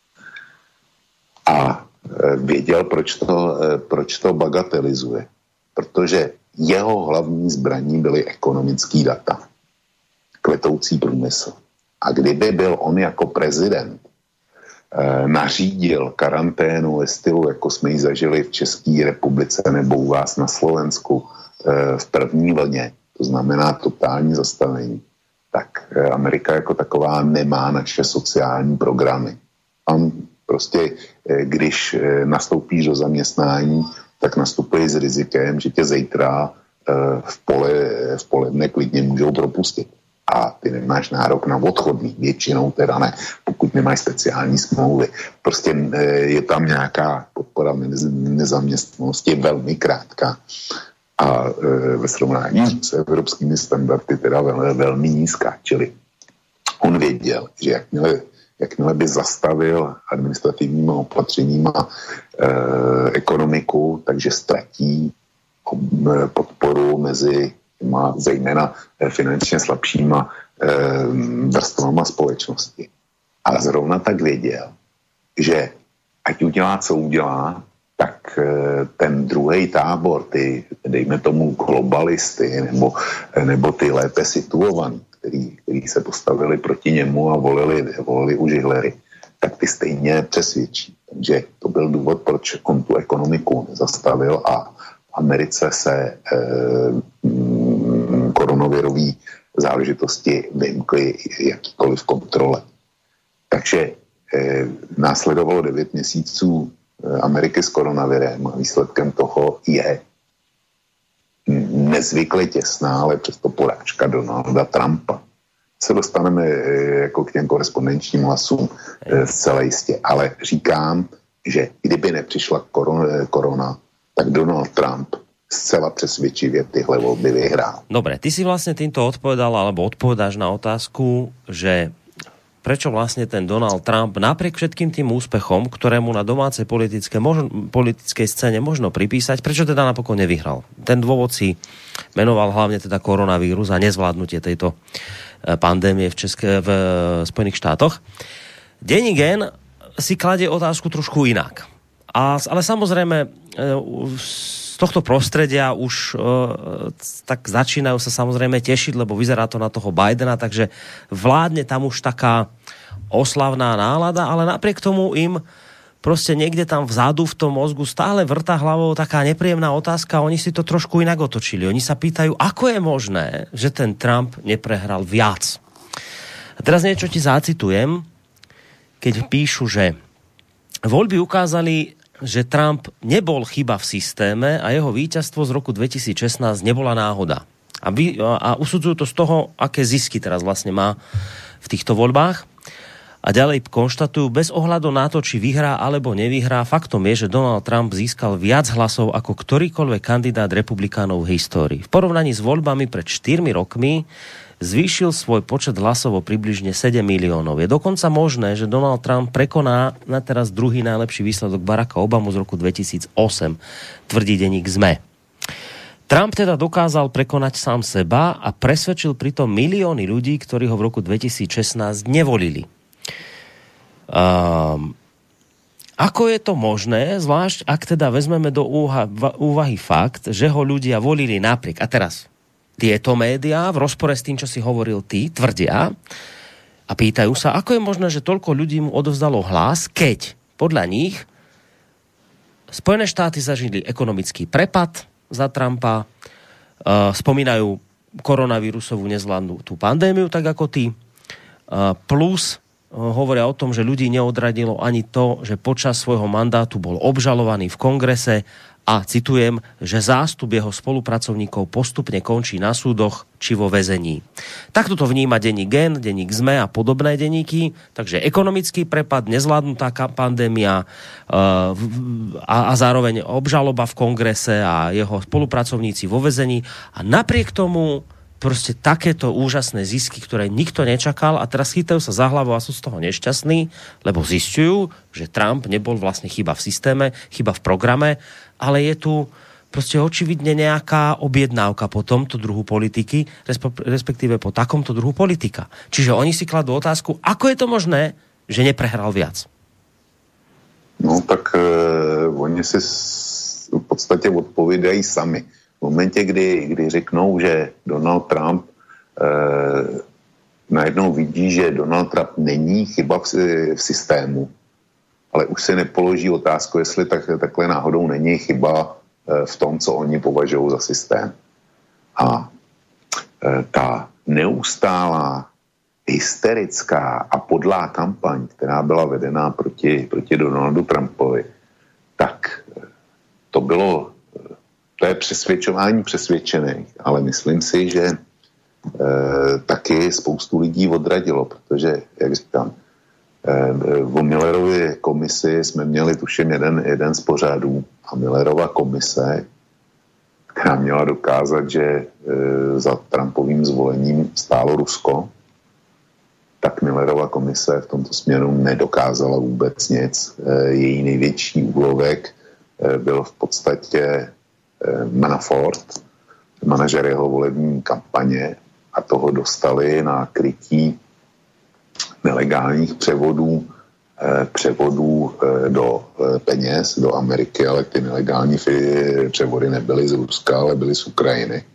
A eh, věděl, proč to, eh, proč to bagatelizuje. Protože jeho hlavní zbraní byly ekonomický data. Kvetoucí průmysl. A kdyby byl on jako prezident e, nařídil karanténu ve stylu, jako jsme ji zažili v České republice nebo u vás na Slovensku e, v první vlně, to znamená totální zastavení, tak e, Amerika jako taková nemá naše sociální programy. On prostě, e, když e, nastoupíš do zaměstnání, tak nastupuje s rizikem, že tě zítra e, v, pole, v poledne klidně můžou propustit. A ty nemáš nárok na odchodný, většinou teda ne, pokud nemáš speciální smlouvy. Prostě je tam nějaká podpora nezaměstnanosti velmi krátká a ve srovnání s evropskými standardy teda velmi, velmi nízká. Čili on věděl, že jakmile, jakmile by zastavil administrativníma opatřeníma eh, ekonomiku, takže ztratí podporu mezi má zejména finančně slabšíma e, vrstvama společnosti. Ale zrovna tak věděl, že ať udělá, co udělá, tak e, ten druhý tábor, ty, dejme tomu globalisty, nebo, nebo ty lépe situovaní, který, který se postavili proti němu a volili, volili už Hillary, tak ty stejně přesvědčí. Takže to byl důvod, proč on tu ekonomiku nezastavil a Americe se e, m, koronavirové záležitosti vymkly jakýkoliv kontrole. Takže e, následovalo devět měsíců Ameriky s koronavirem a výsledkem toho je nezvykle těsná, ale přesto porážka Donalda Trumpa. Se dostaneme e, jako k těm korespondenčním hlasům e, zcela jistě, ale říkám, že kdyby nepřišla korona, korona tak Donald Trump zcela přesvědčivě tyhle voľby vyhrál. Dobre, ty si vlastne týmto odpovedal, alebo odpovedáš na otázku, že prečo vlastne ten Donald Trump napriek všetkým tým úspechom, ktorému na domácej politické, možno, politickej scéne možno pripísať, prečo teda napokon nevyhral? Ten dôvod si menoval hlavne teda koronavírus a nezvládnutie tejto pandémie v, České, v Spojených štátoch. Denník N si kladie otázku trošku inak. A, ale samozrejme z tohto prostredia už tak začínajú sa samozrejme tešiť, lebo vyzerá to na toho Bidena, takže vládne tam už taká oslavná nálada, ale napriek tomu im proste niekde tam vzadu v tom mozgu stále vrtá hlavou taká nepríjemná otázka a oni si to trošku inak otočili. Oni sa pýtajú, ako je možné, že ten Trump neprehral viac. A teraz niečo ti zacitujem, keď píšu, že voľby ukázali, že Trump nebol chyba v systéme a jeho víťazstvo z roku dvetisícšestnásť nebola náhoda. A, vy, a usudzujú to z toho, aké zisky teraz vlastne má v týchto voľbách. A ďalej konštatujú, bez ohľadu na to, či vyhrá alebo nevyhrá, faktom je, že Donald Trump získal viac hlasov ako ktorýkoľvek kandidát republikánov v histórii. V porovnaní s voľbami pred štyrmi rokmi zvýšil svoj počet hlasov o približne sedem miliónov. Je dokonca možné, že Donald Trump prekoná na teraz druhý najlepší výsledok Baracka Obamu z roku dvetisícosem, tvrdí denník es em e. Trump teda dokázal prekonať sám seba a presvedčil pritom milióny ľudí, ktorí ho v roku dvetisícšestnásť nevolili. Um, ako je to možné, zvlášť ak teda vezmeme do úha, úvahy fakt, že ho ľudia volili napriek. A teraz tieto médiá v rozpore s tým, čo si hovoril ty, tvrdia a pýtajú sa, ako je možné, že toľko ľudí mu odovzdalo hlas, keď podľa nich Spojené štáty zažili ekonomický prepad za Trumpa, uh, spomínajú koronavírusovú nezvládnu tú pandémiu, tak ako ty, uh, plus hovoria o tom, že ľudí neodradilo ani to, že počas svojho mandátu bol obžalovaný v kongrese a citujem, že zástup jeho spolupracovníkov postupne končí na súdoch či vo väzení. Takto to vníma denník Gen, denník es em e a podobné denníky, takže ekonomický prepad, nezvládnutá pandémia uh, a, a zároveň obžaloba v kongrese a jeho spolupracovníci vo väzení a napriek tomu proste takéto úžasné zisky, ktoré nikto nečakal a teraz chytajú sa za hlavu a sú z toho nešťastní, lebo zistujú, že Trump nebol vlastne chyba v systéme, chyba v programe, ale je tu proste očividne nejaká objednávka po tomto druhu politiky, respektíve po takomto druhu politika. Čiže oni si kladú otázku, ako je to možné, že neprehral viac? No tak eh, oni si v podstate odpovídají sami. V momentě, kdy, kdy řeknou, že Donald Trump eh, najednou vidí, že Donald Trump není chyba v, v systému, ale už se nepoloží otázku, jestli tak, takhle náhodou není chyba eh, v tom, co oni považují za systém. A eh, ta neustálá hysterická a podlá kampaň, která byla vedená proti, proti Donaldu Trumpovi, tak to bylo To je přesvědčování přesvědčených, ale myslím si, že e, taky spoustu lidí odradilo, protože, jak říkám, e, o Millerově komisi jsme měli tuším jeden, jeden z pořadů a Millerova komise, která měla dokázat, že e, za Trumpovým zvolením stálo Rusko, tak Millerova komise v tomto směru nedokázala vůbec nic. E, její největší úlovek e, byl v podstatě Manafort, manažer jeho volební kampaně a toho dostali na krytí nelegálních převodů, eh, převodů eh, do eh, peněz do Ameriky, ale ty nelegální fi- převody nebyly z Ruska, ale byly z Ukrajiny.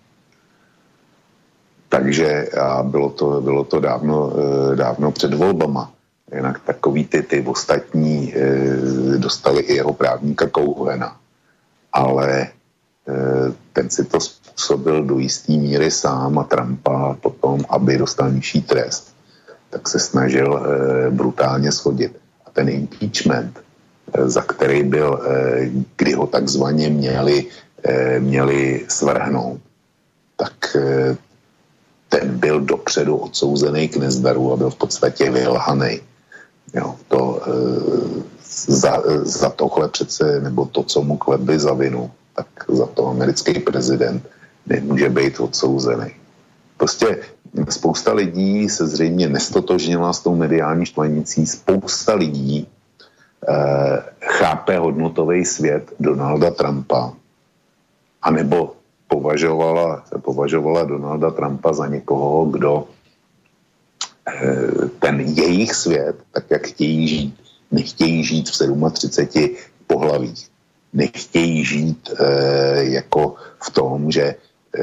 Takže a bylo to, bylo to dávno, eh, dávno před volbama. Jinak takový ty, ty ostatní eh, dostali i jeho právníka Cohena. Ale ten si to způsobil do jistý míry sám a Trumpa potom, aby dostal nižší trest, tak se snažil e, brutálně shodit. A ten impeachment, e, za který byl, e, kdy ho takzvaně měli, e, měli svrhnout, tak e, ten byl dopředu odsouzený k nezdaru a byl v podstatě vylhanej. Jo, to e, za, za tohle přece, nebo to, co mu klebli za vinu, tak za to americký prezident nemůže být odsouzený. Prostě spousta lidí se zřejmě nestotožnila s tou mediální štvanicí, spousta lidí eh, chápe hodnotový svět Donalda Trumpa, anebo považovala, považovala Donalda Trumpa za někoho, kdo eh, ten jejich svět, tak jak chtějí žít, nechtějí žít v třiceti sedmi pohlavích. Nechtějí žít e, jako v tom, že e,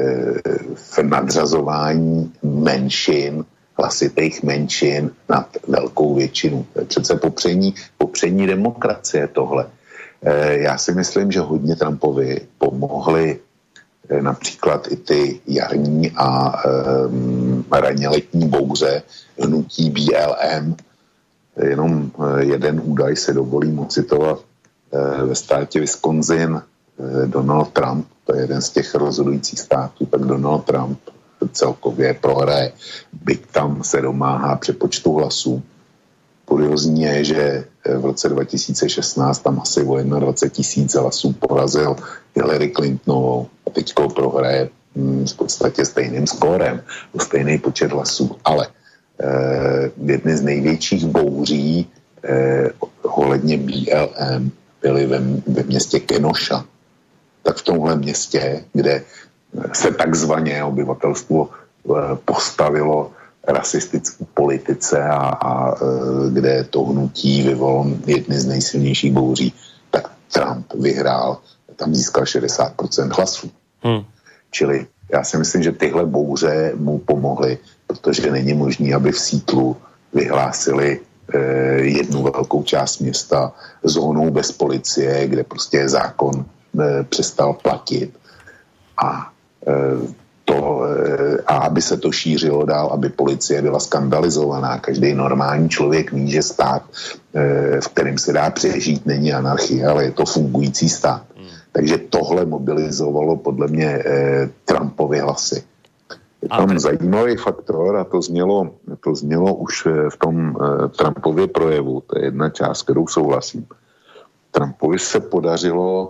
v nadřazování menšin, hlasitých menšin nad velkou většinu. To je přece popření, popření demokracie tohle. E, já si myslím, že hodně Trumpovi pomohli e, například i ty jarní a e, raně letní bouře hnutí B L M. Jenom e, jeden údaj se dovolím ocitovat. E, ve státě Wisconsin e, Donald Trump, to je jeden z těch rozhodujících států, tak Donald Trump celkově prohraje, byť tam se domáhá přepočtu hlasů. Kuriozní je, že v roce dva tisíce šestnáct tam asi o dvacet jedna tisíc hlasů porazil Hillary Clintonovou a teďko prohraje hm, v podstatě stejným skórem, o stejný počet hlasů. Ale eh, jedny z největších bouří eh, ohledně B L M byly ve, ve městě Kenosha. Tak v tomhle městě, kde se takzvaně obyvatelstvo postavilo rasistické politice a, a kde to hnutí vyvolalo jedny z nejsilnějších bouří, tak Trump vyhrál, tam získal šedesát procent hlasů. Hmm. Čili já si myslím, že tyhle bouře mu pomohly, protože není možné, aby v Seattlu vyhlásili eh, jednu velkou část města zónou bez policie, kde prostě zákon eh, přestal platit a To, a aby se to šířilo dál, aby policie byla skandalizovaná. Každý normální člověk ví, že stát, v kterém se dá přežít, není anarchie, ale je to fungující stát. Hmm. Takže tohle mobilizovalo podle mě Trumpovy hlasy. Je tam ale... zajímavý faktor a to znělo, to znělo už v tom Trumpově projevu. To je jedna část, kterou souhlasím. Trumpovi se podařilo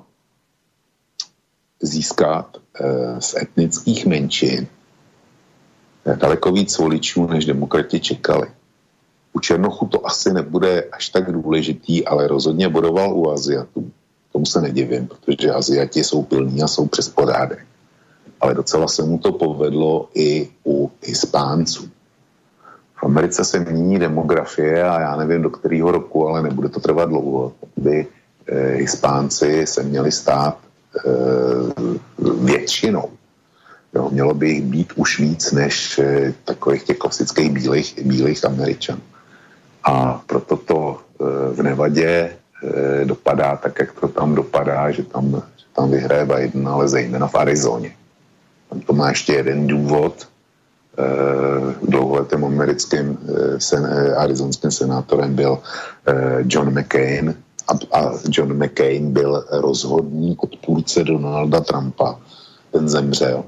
získat e, z etnických menšin daleko víc voličů, než demokrati čekali. U Černochů to asi nebude až tak důležitý, ale rozhodně bodoval u Aziatů. Tomu se nedivím, protože Aziati jsou pilní a jsou přes porádek. Ale docela se mu to povedlo i u Hispánců. V Americe se mění demografie a já nevím do kterého roku, ale nebude to trvat dlouho, aby e, Hispánci se měli stát většinou. Jo, mělo by jich být už víc než eh, takových těch klasických bílých, bílých Američanů. A proto to eh, v Nevadě eh, dopadá tak, jak to tam dopadá, že tam, že tam vyhraje Biden, ale zejména v Arizoně. Tam to má ještě jeden důvod. Eh, dlouholetým americkým eh, sen, eh, arizonským senátorem byl eh, John McCain, a John McCain byl rozhodný odpůrce Donalda Trumpa. Ten zemřel.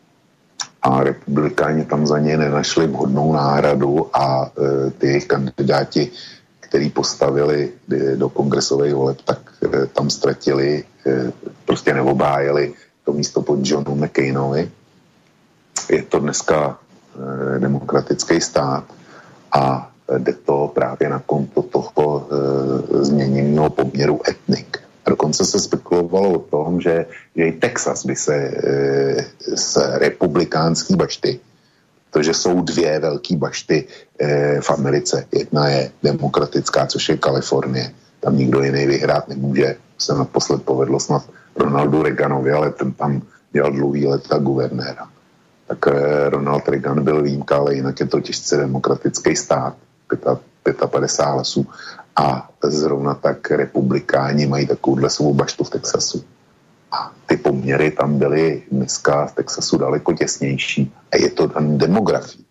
A republikáni tam za něj nenašli vhodnou náhradu a e, ty jejich kandidáti, který postavili e, do kongresových voleb, tak e, tam ztratili, e, prostě neobhájili to místo pod Johnu McCainovi. Je to dneska e, demokratický stát a jde to právě na konto toho e, změněného poměru etnik. A dokonce se spekulovalo o tom, že, že i Texas by se e, z republikánský bašty, protože jsou dvě velké bašty e, v Americe. Jedna je demokratická, což je Kalifornie. Tam nikdo jiný vyhrát nemůže. Se naposled povedlo snad Ronaldu Reaganovi, ale ten tam dělal dlouhý leta guvernéra. Tak e, Ronald Reagan byl výjimka, ale jinak je to těžce demokratický stát. padesát pět hlasů a zrovna tak republikáni mají takovouhle svou baštu v Texasu. A ty poměry tam byly dneska v Texasu daleko těsnější a je to tam demografii.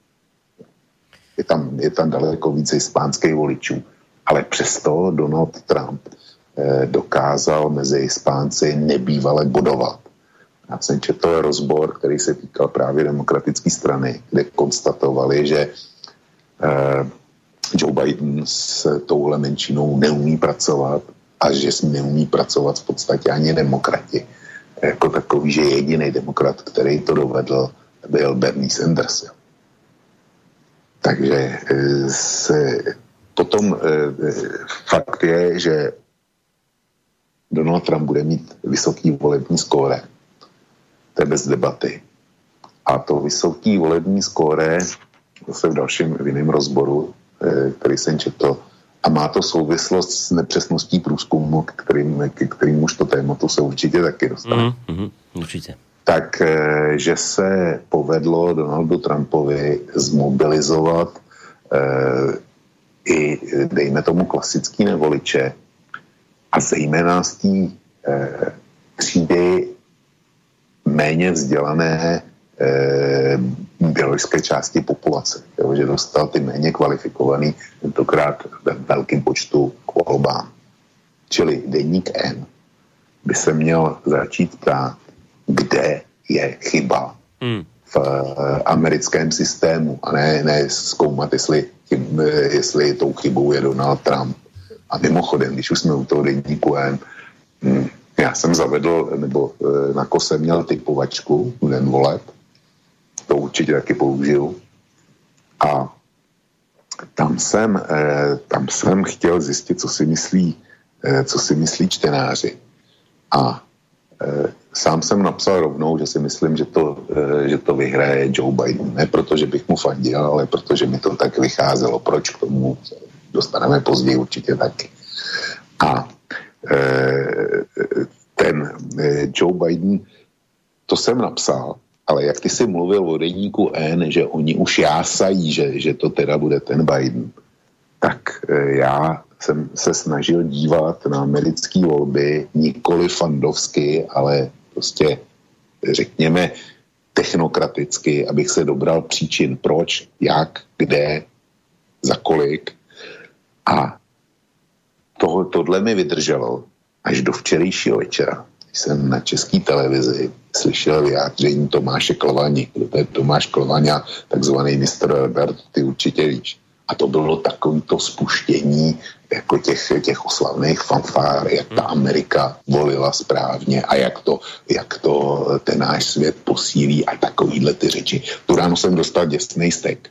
Je tam, je tam daleko více hispánských voličů, ale přesto Donald Trump eh, dokázal mezi Hispánci nebývale bodovat. Já jsem četl rozbor, který se týkal právě demokratické strany, kde konstatovali, že eh, Joe Biden s touhle menšinou neumí pracovat a že s neumí pracovat v podstatě ani demokrati. Jako takový, že jediný demokrat, který to dovedl, byl Bernie Sanders. Takže se, potom fakt je, že Donald Trump bude mít vysoký volební skóre. To je bez debaty. A to vysoký volební skóre, zase v dalším v jiném rozboru, který jsem četl, A má to souvislost s nepřesností průzkumu, k kterým, k kterým už to tématu se určitě taky dostane. Mm-hmm, určitě. Tak, že se povedlo Donaldu Trumpovi zmobilizovat eh, i, dejme tomu, klasický nevoliče a zejména z té eh, třídy méně vzdělané eh, biologické části populace, jo, že dostal ty méně kvalifikovaný, tentokrát ve velkém počtu k volbám. Čili deník N by se měl začít ptát, kde je chyba hmm. v uh, americkém systému a ne, ne zkoumat, jestli, jestli tou chybou je Donald Trump. A mimochodem, když už jsme u toho deníku N, hm, já jsem zavedl, nebo uh, na kose měl typovačku v den voleb, to určitě taky použiju. A tam jsem, uh, tam jsem chtěl zjistit, co si myslí, uh, co si myslí čtenáři. A sám jsem napsal rovnou, že si myslím, že to, že to vyhraje Joe Biden. Ne proto, že bych mu fandil, ale protože mi to tak vycházelo. Proč k tomu dostaneme později určitě taky. A ten Joe Biden, to jsem napsal, ale jak ty jsi mluvil o deníku N, že oni už jásají, že, že to teda bude ten Biden, tak já jsem se snažil dívat na americké volby nikoli fandovsky, ale prostě řekněme technokraticky, abych se dobral příčin proč, jak, kde, za kolik. A to, tohle mi vydrželo až do včerejšího večera. Když jsem na české televizi slyšel vyjádření Tomáše Klvani. Kdo to je Tomáš Klvaňa, takzvaný mister Albert, ty určitě víš. A to bylo takovýto spuštění jako těch, těch oslavných fanfár, jak ta Amerika volila správně a jak to, jak to ten náš svět posílí a takovýhle ty řeči. Tu ráno jsem dostal děsnej stek.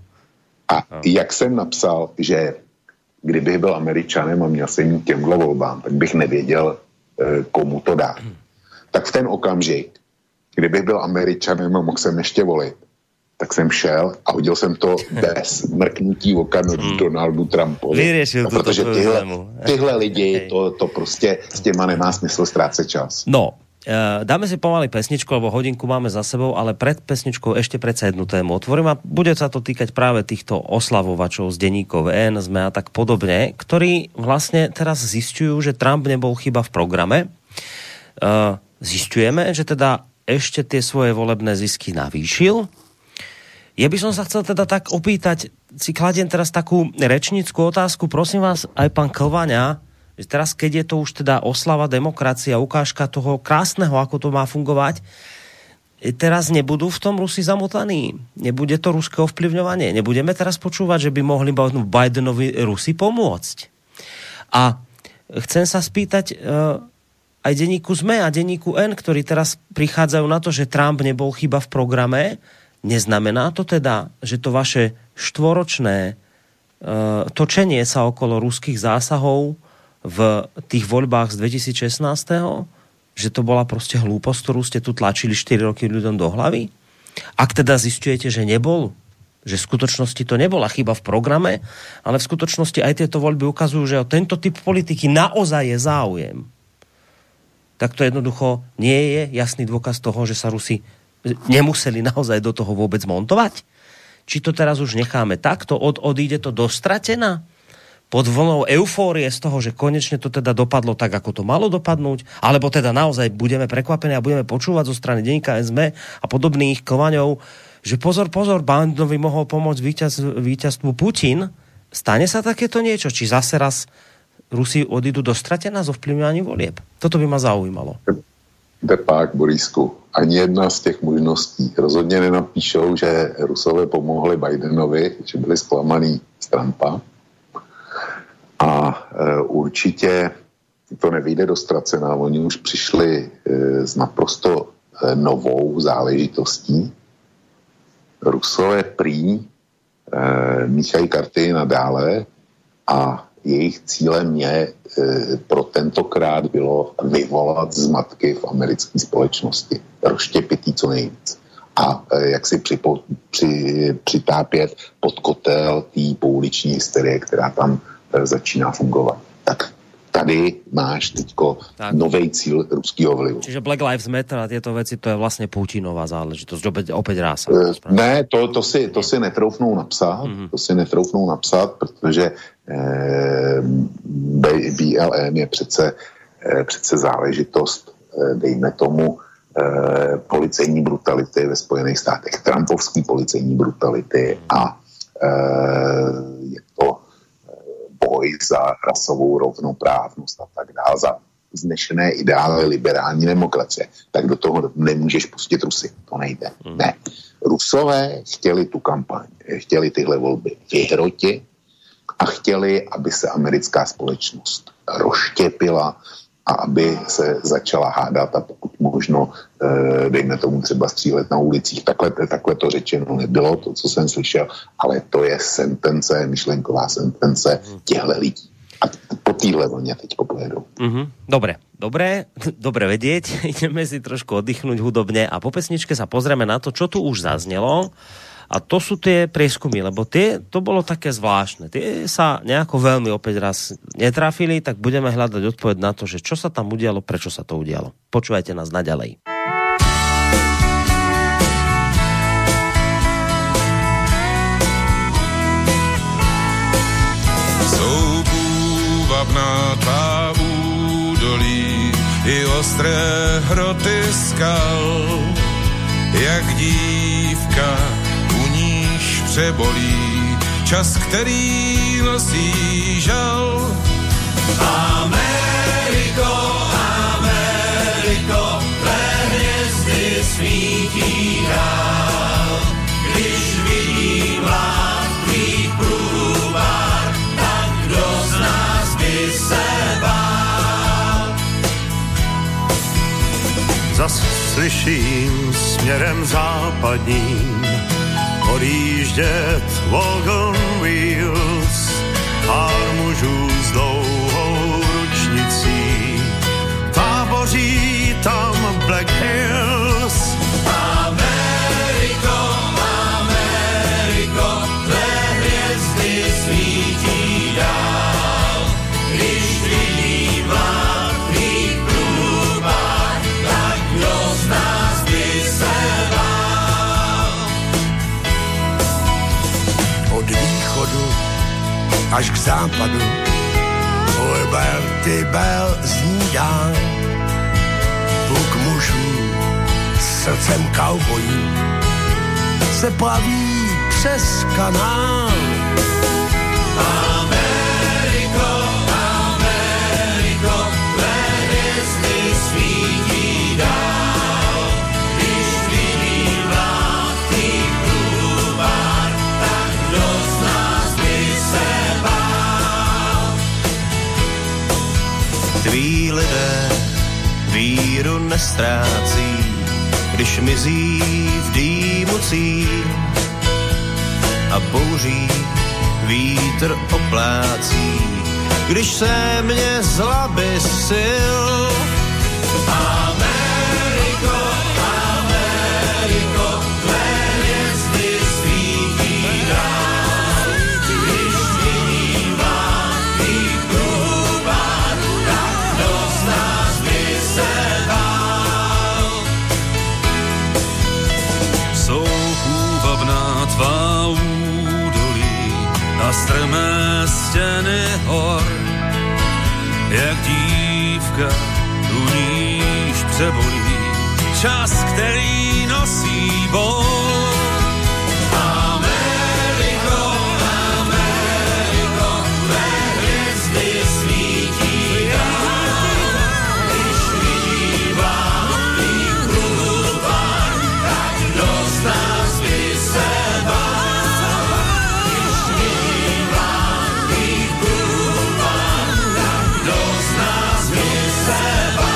A jak jsem napsal, že kdybych byl Američanem a měl jsem jít těmhle volbám, tak bych nevěděl, komu to dá. Tak v ten okamžik, kdybych byl Američanem a mohl jsem ještě volit, tak jsem šel a hodil jsem to bez mrknutí oka hmm. Donaldu Trumpovi. Vyriešil no, protože tyhle, tyhle lidi, to, to prostě s těma nemá smysl strácet čas. No, uh, dáme si pomaly pesničku, lebo hodinku máme za sebou, ale pred pesničkou ešte predsa jednu tému otvorím a bude sa to týkať práve týchto oslavovačov z denníkov N, SME a tak podobne, ktorí vlastne teraz zistujú, že Trump nebol chyba v programe. Uh, zistujeme, že teda ešte tie svoje volebné zisky navýšil. Ja by som sa chcel teda tak opýtať, si kladiem teraz takú rečnícku otázku, prosím vás, aj pán Klvaňa, že teraz, keď je to už teda oslava demokracia, ukážka toho krásneho, ako to má fungovať, teraz nebudú v tom Rusi zamotaní? Nebude to ruské ovplyvňovanie? Nebudeme teraz počúvať, že by mohli Bidenovi Rusi pomôcť? A chcem sa spýtať uh, aj denníku SME a denníku N, ktorí teraz prichádzajú na to, že Trump nebol chyba v programe. Neznamená to teda, že to vaše štvoročné uh, točenie sa okolo ruských zásahov v tých voľbách z dvetisícšestnásť, že to bola proste hlúposť, ktorú ste tu tlačili štyri roky ľuďom do hlavy? Ak teda zisťujete, že nebol, že v skutočnosti to nebola chyba v programe, ale v skutočnosti aj tieto voľby ukazujú, že o tento typ politiky naozaj je záujem, tak to jednoducho nie je jasný dôkaz toho, že sa Rusi nemuseli naozaj do toho vôbec montovať? Či to teraz už necháme takto? Od, odíde to dostratená? Pod vlnou eufórie z toho, že konečne to teda dopadlo tak, ako to malo dopadnúť? Alebo teda naozaj budeme prekvapení a budeme počúvať zo strany denníka SME a podobných Klvaňov, že pozor, pozor, Bidenovi mohol pomôcť víťaz, víťazstvu Putin? Stane sa takéto niečo? Či zase raz Rusi odídu dostratená z ovplyvňovaním volieb? Toto by ma zaujímalo. Depák, Borisku, ani jedna z těch možností. Rozhodně nenapíšou, že Rusové pomohli Bidenovi, že byli zklamaný z Trumpa. A e, určitě to nevyjde dostracená. Oni už přišli e, s naprosto e, novou záležitostí. Rusové prý e, míchají karty nadále a jejich cílem je e, pro tentokrát bylo vyvolat zmatky v americké společnosti. Rozštěpit co nejvíc. A e, jak si připo, při, přitápět pod kotel té pouliční hysterie, která tam začíná fungovat. Tak tady máš teďko novej cíl ruského vlivu. Čiže Black Lives Matter a tieto veci, to je vlastne Putinová záležitosť, opäť, opäť rása. Ne, to, to, si, to si netroufnou napsat, mm-hmm. to si netroufnou napsat, protože eh, B L M je přece, eh, přece záležitost, eh, dejme tomu, eh, policejní brutality ve Spojených státech, trumpovský policejní brutality a eh, je to boj za rasovou rovnoprávnost a tak dále, za vznešené ideály liberální demokracie, tak do toho nemůžeš pustit Rusy. To nejde. Mm. Ne. Rusové chtěli tu kampaň, chtěli tyhle volby vyhrotit a chtěli, aby se americká společnost rozštěpila a aby se začala hádat a pokud možno, dejme tomu třeba střílet na ulicích. Takhle, takhle to řečeno nebylo, to, co jsem slyšel, ale to je sentence, myšlenková sentence těchto lidí. A po týhle vlně teďko pojedou. Mm-hmm. Dobre, dobre, dobre vedieť. Ideme si trošku oddychnúť hudobne a po pesničke sa pozrieme na to, čo tu už zaznelo. A to sú tie prieskumy, lebo tie, to bolo také zvláštne. Tie sa nejako veľmi opäť raz netrafili, tak budeme hľadať odpoveď na to, že čo sa tam udialo, prečo sa to udialo. Počúvajte nás naďalej. Jsou půvabná tvá údolí i ostré hroty skal, jak dívka přebolí čas, který nosí žal. Ameriko, Ameriko, tvé hvězdy svítí dál. Když vidím vlád tvých průvar, tak kdo z nás by se bál? Zas slyším směrem západním odjíždět wagon wheels, pár mužů s dlouhou ručnicí, táboří tam Black Hills. Ameriko, Ameriko, tvé hvězdy svítí dál. Když vidím vlád tvých průvar, tak kdo z nás by se bál? Od východu až k západu Liberty Bell zní dál. Puk mužů s srdcem kaubojů se plaví přes kanál. Ameriko, Ameriko, tvé hvězdy svítí dál. Když vidím vlád tvých průvar, tak kdo z nás by se bál? Tví lidé víru nestrácí, když mizí v dýmu cíl a bouří vítr oplácí, když se mě zlaby sil. Ameriko, Ameriko, tvé hvězdy svítí dál. Když vidím vlád tvých průvar, tak kdo z nás by se bál? Jsou půvabná tvá údolí a strmé stěny hor, jak dívka tu níž přebolí čas, který nosí bol. Ameriko, Ameriko, tvé hvězdy svítí dál. Když vidím vlád tvých průvar, tak kdo z nás by se bál? Když vidím vlád tvých průvar, tak kdo z nás by se bál?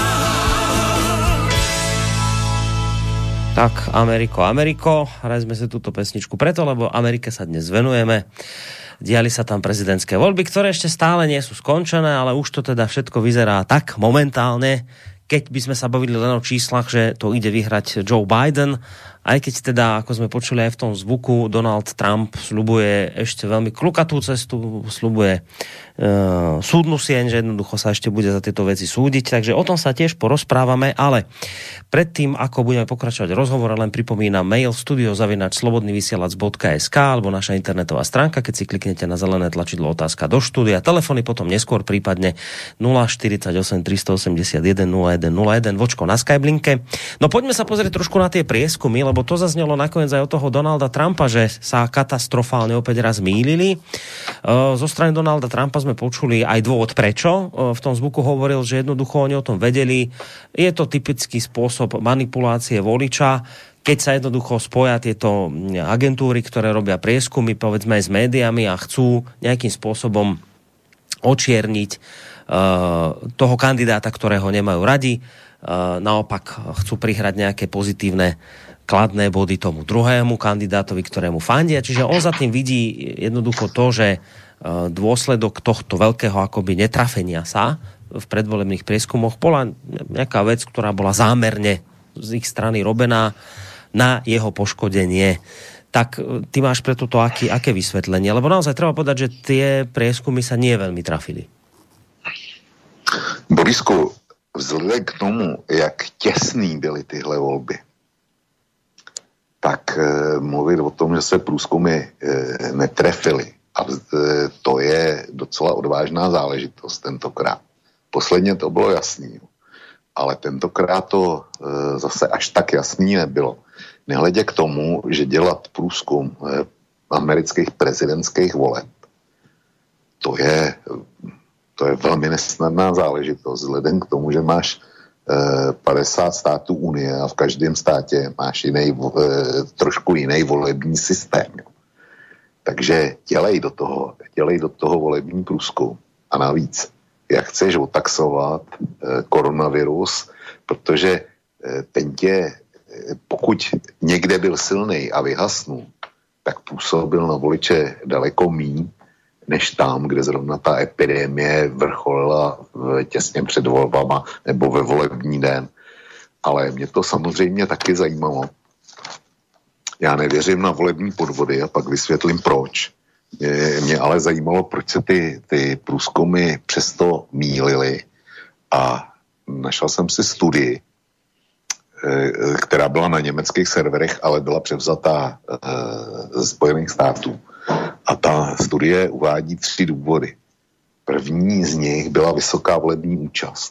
Tak, Ameriko, Ameriko, hrajme si túto pesničku preto, lebo Amerike sa dnes venujeme. Diali sa tam prezidentské voľby, ktoré ešte stále nie sú skončené, ale už to teda všetko vyzerá tak momentálne, keď by sme sa bavili len o číslach, že to ide vyhrať Joe Biden, aj keď teda, ako sme počuli aj v tom zvuku, Donald Trump sľubuje ešte veľmi klukatú cestu, sľubuje e, súdnu sieň, že jednoducho sa ešte bude za tieto veci súdiť, takže o tom sa tiež porozprávame, ale predtým, ako budeme pokračovať rozhovor, len pripomínam mail studio zavináč slobodný vysielač bodka es ká alebo naša internetová stránka, keď si kliknete na zelené tlačidlo otázka do štúdia, telefóny potom neskôr prípadne nula štyridsaťosem tristoosemdesiatjeden nula jeden nula jeden, vočko na Skyblinke. No poďme sa pozrieť trošku na tie prieskumy, lebo to zaznelo nakoniec aj od toho Donalda Trumpa, že sa katastrofálne opäť raz mýlili. Zo strany Donalda Trumpa sme počuli aj dôvod prečo. V tom zvuku hovoril, že jednoducho oni o tom vedeli. Je to typický spôsob manipulácie voliča, keď sa jednoducho spoja tieto agentúry, ktoré robia prieskumy, povedzme aj s médiami a chcú nejakým spôsobom očierniť toho kandidáta, ktorého nemajú radi. Naopak chcú prihrať nejaké pozitívne kladné body tomu druhému kandidátovi, ktorému fandia. Čiže on za tým vidí jednoducho to, že dôsledok tohto veľkého akoby netrafenia sa v predvolebných prieskumoch bola nejaká vec, ktorá bola zámerne z ich strany robená na jeho poškodenie. Tak ty máš pre toto aký, aké vysvetlenie? Lebo naozaj treba povedať, že tie prieskumy sa nie veľmi trafili. Borisku, vzhledem k tomu, jak těsný byly tyhle volby, tak e, mluvit o tom, že se průzkumy e, netrefily, a e, to je docela odvážná záležitost tentokrát. Posledně to bylo jasný, ale tentokrát to e, zase až tak jasný nebylo. Nehledě k tomu, že dělat průzkum e, amerických prezidentských voleb, to je, to je velmi nesnadná záležitost, vzhledem k tomu, že máš padesát států Unie a v každém státě máš jiný, trošku jiný volební systém. Jo. Takže dělej do toho, dělej do toho volební průzkum. A navíc, jak chceš otaxovat koronavirus, protože ten tě, pokud někde byl silný a vyhasnul, tak působil na voliče daleko míň, než tam, kde zrovna ta epidemie vrcholila těsně před volbama nebo ve volební den. Ale mě to samozřejmě taky zajímalo. Já nevěřím na volební podvody a pak vysvětlím proč. Mě, mě ale zajímalo, proč se ty, ty průzkumy přesto mýlily. A našel jsem si studii, která byla na německých serverech, ale byla převzatá ze Spojených států. A ta studie uvádí tři důvody. První z nich byla vysoká volební účast.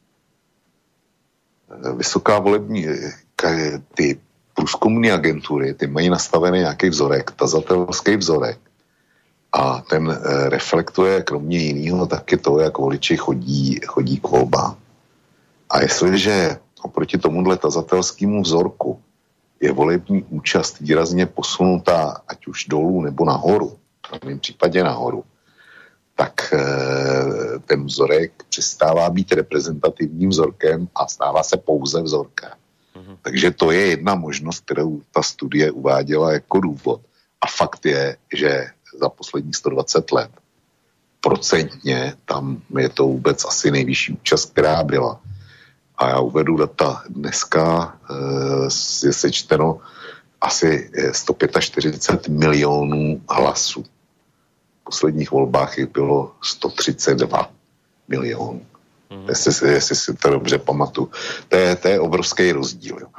Vysoká volební, ty průzkumné agentury, ty mají nastavený nějaký vzorek, tazatelský vzorek. A ten reflektuje kromě jiného taky to, jak voliči chodí, chodí k volbám. A jestliže oproti tomuhle tazatelskému vzorku je volební účast výrazně posunutá, ať už dolů nebo nahoru, v mém případě nahoru, tak e, ten vzorek přestává být reprezentativním vzorkem a stává se pouze vzorkem. Mm-hmm. Takže to je jedna možnost, kterou ta studie uváděla jako důvod. A fakt je, že za posledních sto dvacet let procentně tam je to vůbec asi nejvyšší účast, která byla. A já uvedu data. Dneska e, je sečteno asi sto čtyřicet pět milionů hlasů. V posledních volbách jich bylo sto třicet dva milionů. Mm. Jestli, jestli si to dobře pamatuju. To je, to je obrovský rozdíl. Jo.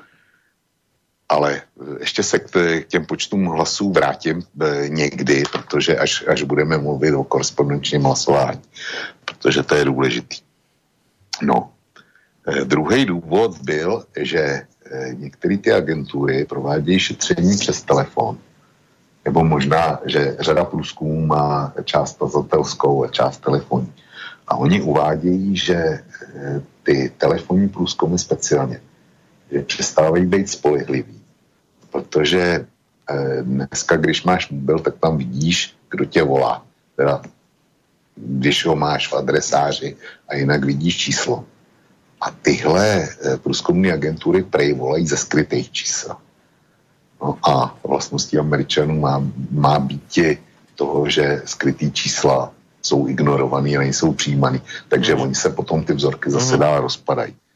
Ale ještě se k těm počtům hlasů vrátím e, někdy, protože až, až budeme mluvit o korespondenčním hlasování. Protože to je důležitý. No. E, druhý důvod byl, že e, některé ty agentury provádějí šetření přes telefon. Nebo možná, že řada průzkumů má část tazatelskou a část telefonní. A oni uvádějí, že e, ty telefonní průzkumy speciálně, že přestávají být spolehlivý. Protože e, dneska, když máš mobil, tak tam vidíš, kdo tě volá. Teda, když ho máš v adresáři a jinak vidíš číslo. A tyhle e, průzkumné agentury prej volají ze skrytých čísel. No a vlastností Američanů má, má být toho, že skrytý čísla jsou ignorovaný a nejsou přijímaný. Takže oni se potom ty vzorky zase dál rozpadají.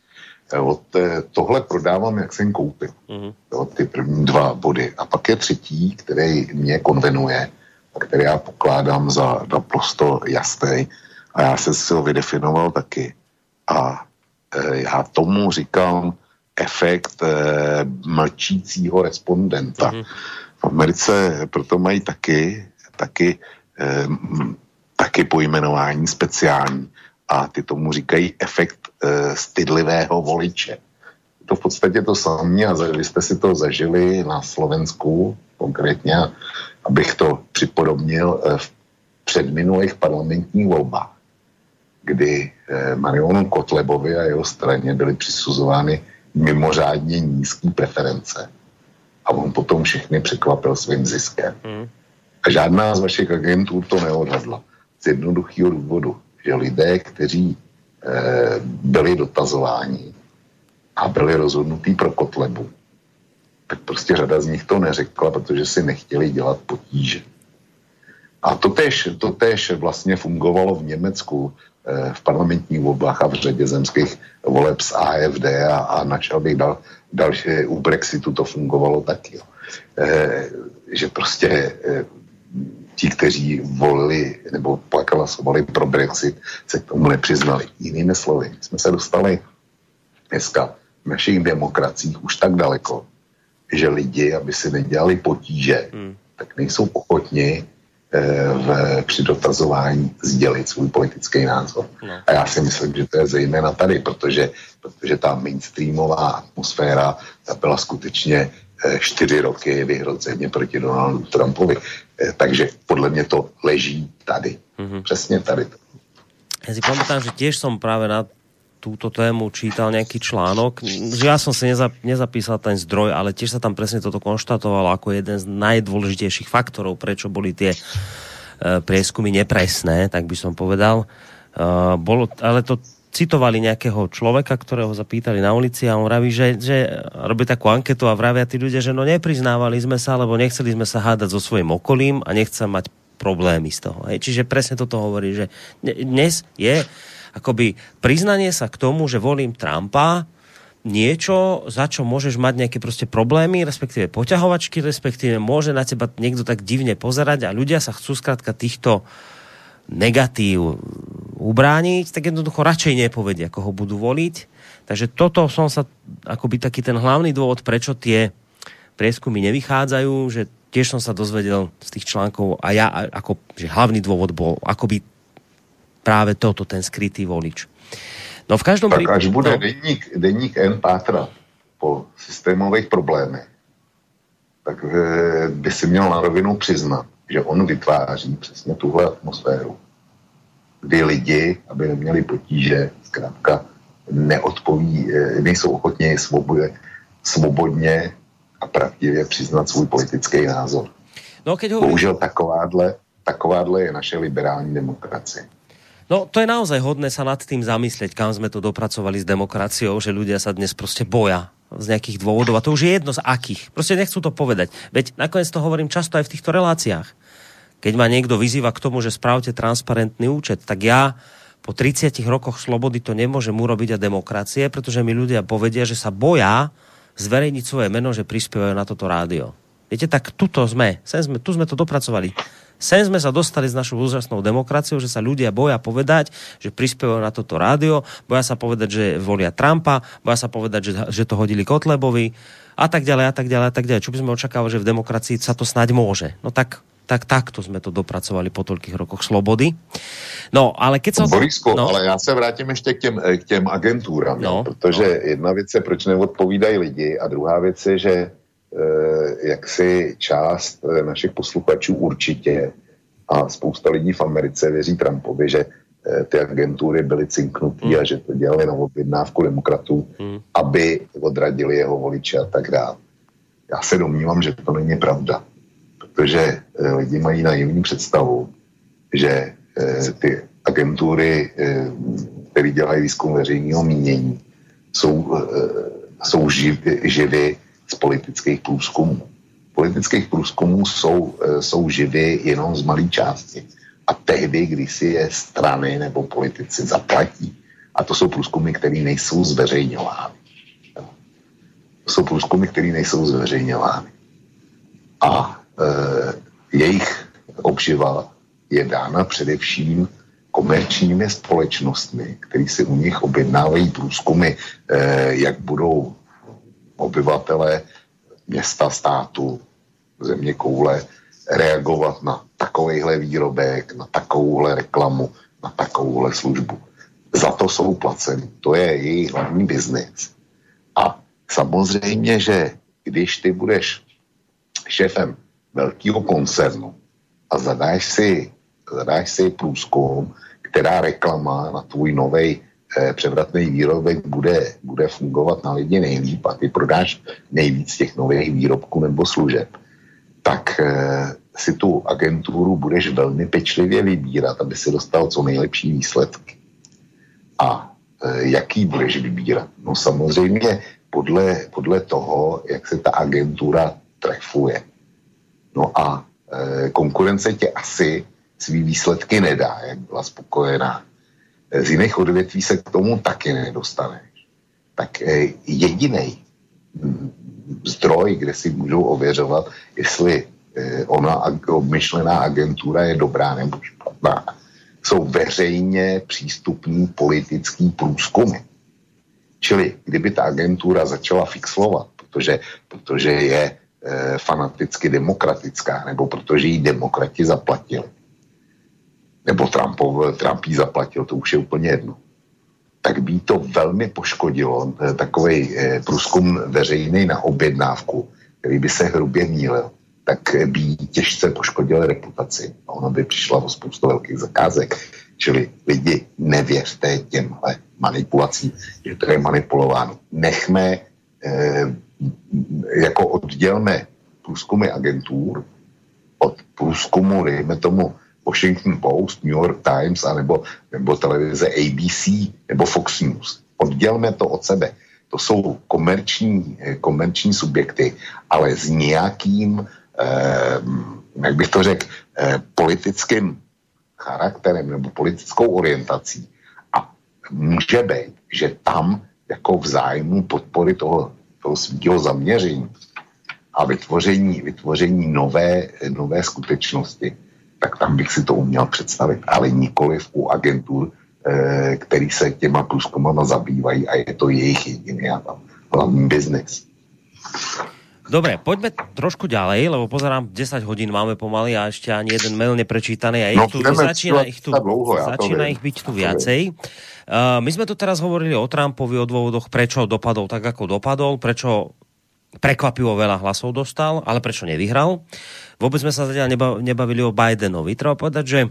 Od, tohle prodávám, jak jsem koupil. Mm-hmm. Jo, ty první dva body. A pak je třetí, který mě konvenuje, a který já pokládám za naprosto jasný. A já jsem si ho vydefinoval taky. A e, já tomu říkám efekt e, mlčícího respondenta. Mm-hmm. V Americe proto mají taky, taky, e, taky pojmenování speciální. A ty tomu říkají efekt e, stydlivého voliče. To v podstatě to samé a vy jste si to zažili na Slovensku konkrétně, abych to připodobnil e, v předminulých parlamentních volbách, kdy e, Marionu Kotlebovi a jeho straně byly přisuzovány mimořádně nízké preference. A on potom všechny překvapil svým ziskem. Mm. A žádná z vašich agentů to neodhadla. Z jednoduchého důvodu, že lidé, kteří e, byli dotazováni a byli rozhodnutí pro Kotlebu, tak prostě řada z nich to neřekla, protože si nechtěli dělat potíže. A to též, to též vlastně fungovalo v Německu e, v parlamentních volbách a v řadě zemských voleb z A F D a, a načal bych dal, další, u Brexitu to fungovalo taky. E, že prostě e, ti, kteří volili nebo pak hlasovali pro Brexit, se k tomu nepřiznali. Jinými slovy, jsme se dostali dneska v našich demokraciích už tak daleko, že lidi, aby si nedělali potíže, hmm. tak nejsou ochotni eh, v, při dotazování sdělit svůj politický názor. No. A já si myslím, že to je zejména tady, protože, protože ta mainstreamová atmosféra ta byla skutečně čtyři roky vyhroceně proti Donaldu Trumpovi. Takže podle mě to leží tady. Mm-hmm. Přesně tady. Ja si pamätám, že tiež som práve na túto tému čítal nejaký článok. Že ja som si nezap- nezapísal ten zdroj, ale tiež sa tam presne toto konštatovalo ako jeden z najdôležitejších faktorov, prečo boli tie uh, prieskumy nepresné, tak by som povedal. Uh, bolo, ale to citovali nejakého človeka, ktorého zapýtali na ulici a on vraví, že, že robí takú anketu a vravia tí ľudia, že no nepriznávali sme sa, lebo nechceli sme sa hádať so svojím okolím a nechcem mať problémy z toho. Hej. Čiže presne toto hovorí, že dnes je akoby priznanie sa k tomu, že volím Trumpa, niečo, za čo môžeš mať nejaké proste problémy, respektíve poťahovačky, respektíve môže na teba niekto tak divne pozerať a ľudia sa chcú skrátka týchto negatív ubrániť, tak jednoducho radšej nepovedia, ako ho budú voliť. Takže toto som sa, akoby taký ten hlavný dôvod, prečo tie prieskumy nevychádzajú, že tiež som sa dozvedel z tých článkov a ja, ako, že hlavný dôvod bol akoby práve toto, ten skrytý volič. No v každom tak prípade... až bude no, denník, denník N pátrat po systémových problémech, tak by si měl na rovinu přiznat, že on vytváří přesně tuhle atmosféru, kdy lidi, aby neměli potíže, zkrátka neodpoví, nejsou ochotně svobodně, svobodně a pravdivě přiznat svůj politický názor. No, keď hovorí... Bohužel takováhle, takováhle je naše liberální demokracie. No, to je naozaj hodné sa nad tým zamyslieť, kam sme to dopracovali s demokraciou, že ľudia sa dnes proste boja z nejakých dôvodov. A to už je jedno z akých. Proste nechcú to povedať. Veď nakoniec to hovorím často aj v týchto reláciách. Keď ma niekto vyzýva k tomu, že spravte transparentný účet, tak ja po tridsiatich rokoch slobody to nemôžem urobiť a demokracie, pretože mi ľudia povedia, že sa boja zverejniť svoje meno, že prispievajú na toto rádio. Viete, tak tuto sme. Sem sme, tu sme to dopracovali. Sem sme sa dostali s našou úžasnou demokraciou, že sa ľudia boja povedať, že prispievajú na toto rádio, boja sa povedať, že volia Trumpa, boja sa povedať, že, že to hodili Kotlebovi a tak ďalej, a tak ďalej, a tak ďalej. Čo by sme očakávali, že v demokracii sa to snáď môže. No tak, tak takto sme to dopracovali po toľkých rokoch slobody. No, ale keď sa... Borisku, no. ale já se vrátím ještě k těm, k těm agentúram, no, protože no. jedna věc je, proč neodpovídají lidi a druhá věc je, že jak si část našich posluchačů určitě a spousta lidí v Americe věří Trumpovi, že ty agentury byly cinknutý mm. a že to dělali na objednávku demokratů, mm. aby odradili jeho voliče a tak dále. Já se domnívám, že to není pravda, protože lidi mají naivní představu, že ty agentury, které dělají výzkum veřejného mínění, jsou, jsou živ, živy z politických průzkumů. Politických průzkumů jsou, jsou živy jenom z malé části. A tehdy, když si je strany nebo politici zaplatí. A to jsou průzkumy, které nejsou zveřejňovány. To jsou průzkumy, které nejsou zveřejňovány. A e, jejich obživa je dána především komerčními společnostmi, které si u nich objednávají průzkumy, eh, jak budou obyvatele města, státu, země koule reagovat na takovejhle výrobek, na takovouhle reklamu, na takovouhle službu. Za to jsou placeni. To je jejich hlavní biznis. A samozřejmě, že když ty budeš šéfem velkého koncernu a zadáš si, zadáš si průzkum, která reklama na tvůj novej eh, převratný výrobek bude, bude fungovat na lidi nejlíp a ty prodáš nejvíc těch nových výrobků nebo služeb, tak eh, si tu agenturu budeš velmi pečlivě vybírat, aby si dostal co nejlepší výsledky. A eh, jaký budeš vybírat? No samozřejmě podle, podle toho, jak se ta agentura trefuje. No a e, konkurence tě asi svý výsledky nedá, jak byla spokojená. Z jiných odvětví se k tomu taky nedostaneš. Tak e, jedinej zdroj, kde si můžou ověřovat, jestli e, ona obmyšlená agentura je dobrá nebo špatná, jsou veřejně přístupní politický průzkumy. Čili kdyby ta agentura začala fixlovat, protože, protože je fanaticky demokratická, nebo protože jí demokrati zaplatili. Nebo Trumpov, Trump jí zaplatil, to už je úplně jedno. Tak by to velmi poškodilo takovej průzkum veřejný na objednávku, který by se hrubě mýlil, tak by jí těžce poškodil reputaci. A ona by přišla o spoustu velkých zakázek. Čili lidi, nevěřte těmhle manipulacím, že to je manipulováno. Nechme eh, jako oddělme průzkumy agentur od průzkumu, dejme tomu Washington Post, New York Times, anebo, nebo televize A B C, nebo Fox News. Oddělme to od sebe. To jsou komerční, komerční subjekty, ale s nějakým, eh, jak bych to řekl, eh, politickým charakterem nebo politickou orientací. A může být, že tam jako v zájmu podpory toho toho svého zaměření a vytvoření, vytvoření nové, nové skutečnosti, tak tam bych si to uměl představit, ale nikoliv u agentur, eh, který se těma průzkumama zabývají a je to jejich jediný a tam hlavní biznis. Dobre, poďme trošku ďalej, lebo pozerám, desať hodín máme pomaly a ešte ani jeden mail neprečítaný a ich no, tu, začína ich tu, dlouho, ja začína ich byť tu viacej. Uh, my sme tu teraz hovorili o Trumpovi, o dôvodoch, prečo dopadol tak, ako dopadol, prečo prekvapivo veľa hlasov dostal, ale prečo nevyhral. Vôbec sme sa zatiaľ nebavili o Bidenovi. Treba povedať, že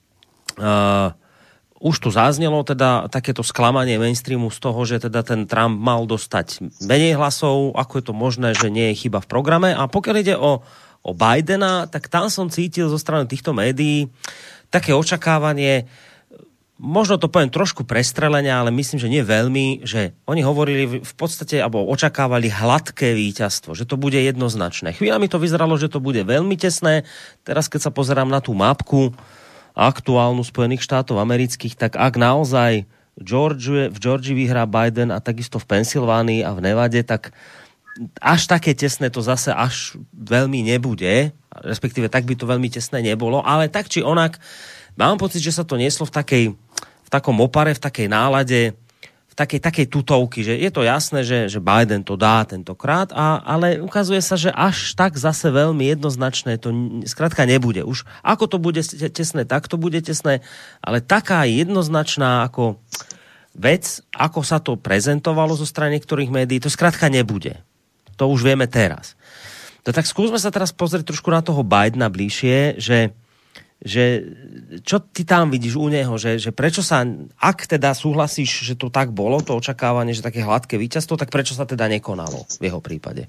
uh, už tu zaznelo teda takéto sklamanie mainstreamu z toho, že teda ten Trump mal dostať menej hlasov, ako je to možné, že nie je chyba v programe. A pokiaľ ide o, o Bidena, tak tam som cítil zo strany týchto médií také očakávanie, možno to poviem trošku prestrelenia, ale myslím, že nie veľmi, že oni hovorili v podstate, alebo očakávali hladké víťazstvo, že to bude jednoznačné. Chvíľami to vyzeralo, že to bude veľmi tesné. Teraz, keď sa pozerám na tú mapku aktuálnu Spojených štátov amerických, tak ak naozaj Georgia, v Georgii vyhrá Biden a takisto v Pensylvánii a v Nevade, tak až také tesné to zase až veľmi nebude, respektíve tak by to veľmi tesné nebolo, ale tak či onak mám pocit, že sa to nieslo v takej, v takom opare, v takej nálade, v takej, takej tutovky, že je to jasné, že, že Biden to dá tentokrát, a, ale ukazuje sa, že až tak zase veľmi jednoznačné to skrátka nebude. Už ako to bude tesné, tak to bude tesné, ale taká jednoznačná ako vec, ako sa to prezentovalo zo strany niektorých médií, to skrátka nebude. To už vieme teraz. To tak skúsme sa teraz pozrieť trošku na toho Bidena bližšie, že že čo ty tam vidíš u neho, že, že prečo sa, ak teda súhlasíš, že to tak bolo, to očakávanie, že také hladké víťazstvo, tak prečo sa teda nekonalo v jeho prípade?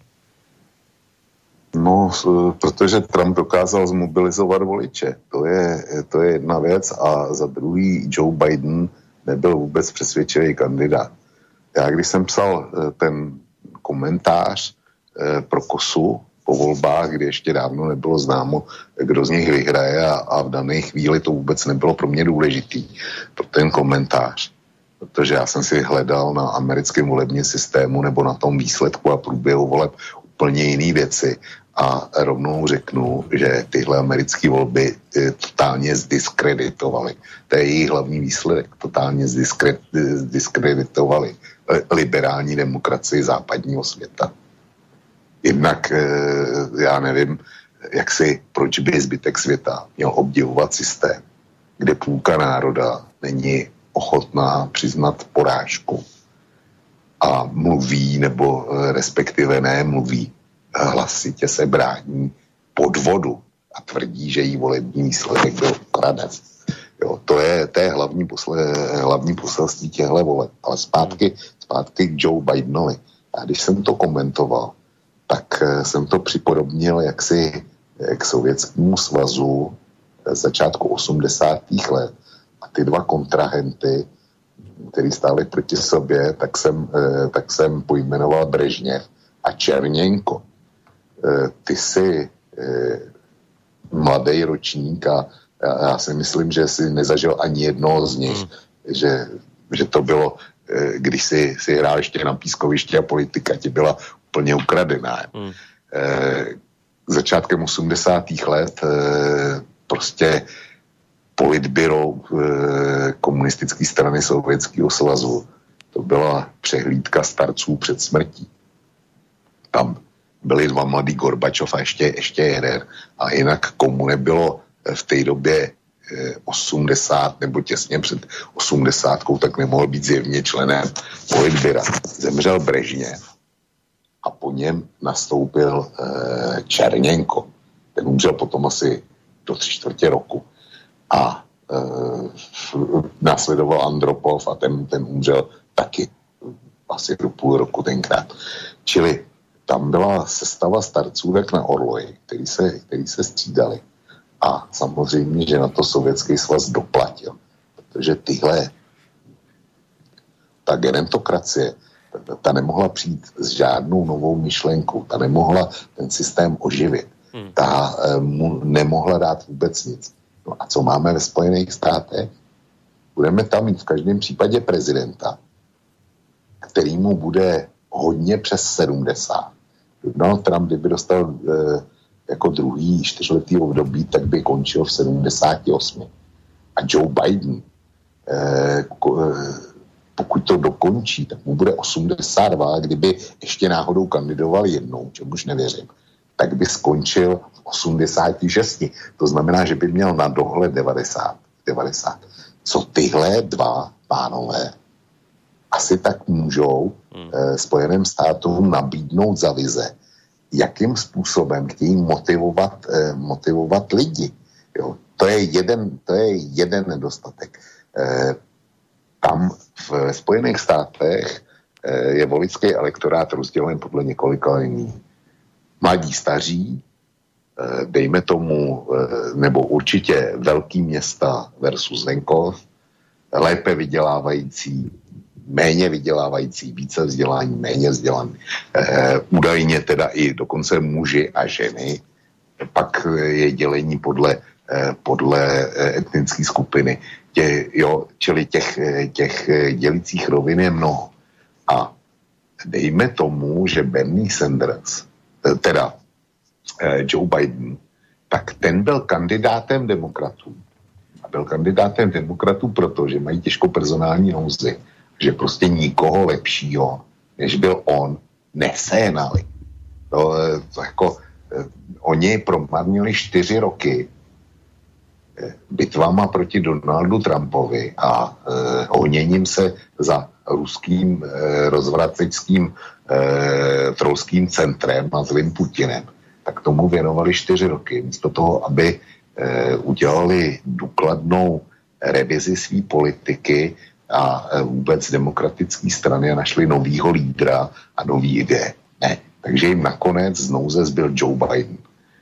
No, protože Trump dokázal zmobilizovat voliče. To je, to je jedna věc a za druhý Joe Biden nebyl vůbec přesvědčivý kandidát. Já když jsem psal ten komentář pro Kosu po volbách, kdy ještě dávno nebylo známo, kdo z nich vyhraje a, a v dané chvíli to vůbec nebylo pro mě důležitý, pro ten komentář. protože já jsem si hledal na americkém volebním systému nebo na tom výsledku a průběhu voleb úplně jiné věci a rovnou řeknu, že tyhle americké volby totálně zdiskreditovaly. To je jejich hlavní výsledek. Totálně zdiskreditovaly liberální demokracii západního světa. Jednak já nevím, jak si, proč by zbytek světa měl obdivovat systém, kde půlka národa není ochotná přiznat porážku a mluví, nebo respektive ne mluví, hlasitě se brání podvodu a tvrdí, že jí volební výsledek byl ukraden. Jo, to je, to je hlavní, posle, hlavní poselství těchto voleb. Ale zpátky, zpátky k Joe Bidenovi. A když jsem to komentoval, tak jsem to připodobnil jaksi k Sovětskému svazu z začátku osmdesátých let. A ty dva kontrahenty, který stáli proti sobě, tak jsem, tak jsem pojmenoval Brežněv a Černěnko. Ty jsi mladý ročník a já si myslím, že jsi nezažil ani jednoho z nich, mm. že, že to bylo, když jsi, jsi hrál ještě na pískovišti a politika ti byla úplně ukradená. Mm. Začátkem osmdesátých let prostě politbyro komunistické strany Sovětského svazu, to byla přehlídka starců před smrtí. Tam byli dva mladí Gorbačov a ještě, ještě jeden. A jinak komu nebylo v té době osmdesát nebo těsně před osmdesátkou, tak nemohl být zjevně členem politbyra. Zemřel Brežněv a po něm nastoupil eh, Černěnko. Ten umřel potom asi do tři čtvrtě roku. A eh, následoval Andropov a ten, ten umřel taky asi do půl roku tenkrát. Čili tam byla sestava starců jak na orloji, který se, který se střídali. A samozřejmě, že na to Sovětský svaz doplatil. Protože tyhle, ta gerontokracie, ta, ta nemohla přijít s žádnou novou myšlenkou, ta nemohla ten systém oživit, hmm. ta mu nemohla dát vůbec nic. No a co máme ve Spojených státech? Budeme tam mít v každém případě prezidenta, kterýmu bude hodně přes sedmdesát. Donald Trump, kdyby dostal eh, jako druhý čtyřletý období, tak by končil v sedmdesáti osmi. A Joe Biden, eh, pokud to dokončí, tak mu bude osmdesát dva, kdyby ještě náhodou kandidoval jednou, čemuž nevěřím, tak by skončil v osmdesáti šesti. To znamená, že by měl na dohled devadesát. devadesát. Co tyhle dva pánové asi tak můžou hmm. eh, Spojeným státům nabídnout za vize, jakým způsobem chtějí motivovat, eh, motivovat lidi. Jo? To je jeden, to je jeden nedostatek. Eh, tam v Spojených státech eh, je voličský elektorát rozdělen podle několika liní. Mladí, staří, eh, dejme tomu, eh, nebo určitě velký města versus venkov, lépe vydělávající, méně vydělávající, více vzdělání, méně vzdělaný. E, údajně teda i dokonce muži a ženy. Pak je dělení podle, e, podle etnické skupiny. Tě, jo, čili těch, těch dělicích rovin je mnoho. A dejme tomu, že Bernie Sanders, teda e, Joe Biden, tak ten byl kandidátem demokratů. A byl kandidátem demokratů proto, že mají těžkou personální nouzi, že prostě nikoho lepšího, než byl on, neséhnali. To, to jako, eh, oni promarnili čtyři roky eh, bitvama proti Donaldu Trumpovi a eh, honěním se za ruským eh, rozvraceckým eh, trolským centrem a zlým Putinem. Tak tomu věnovali čtyři roky. Místo toho, aby eh, udělali důkladnou revizi své politiky a vůbec demokratické strany a našli novýho lídra a nový ideje. Ne. Takže jim nakonec znouze zbyl Joe Biden.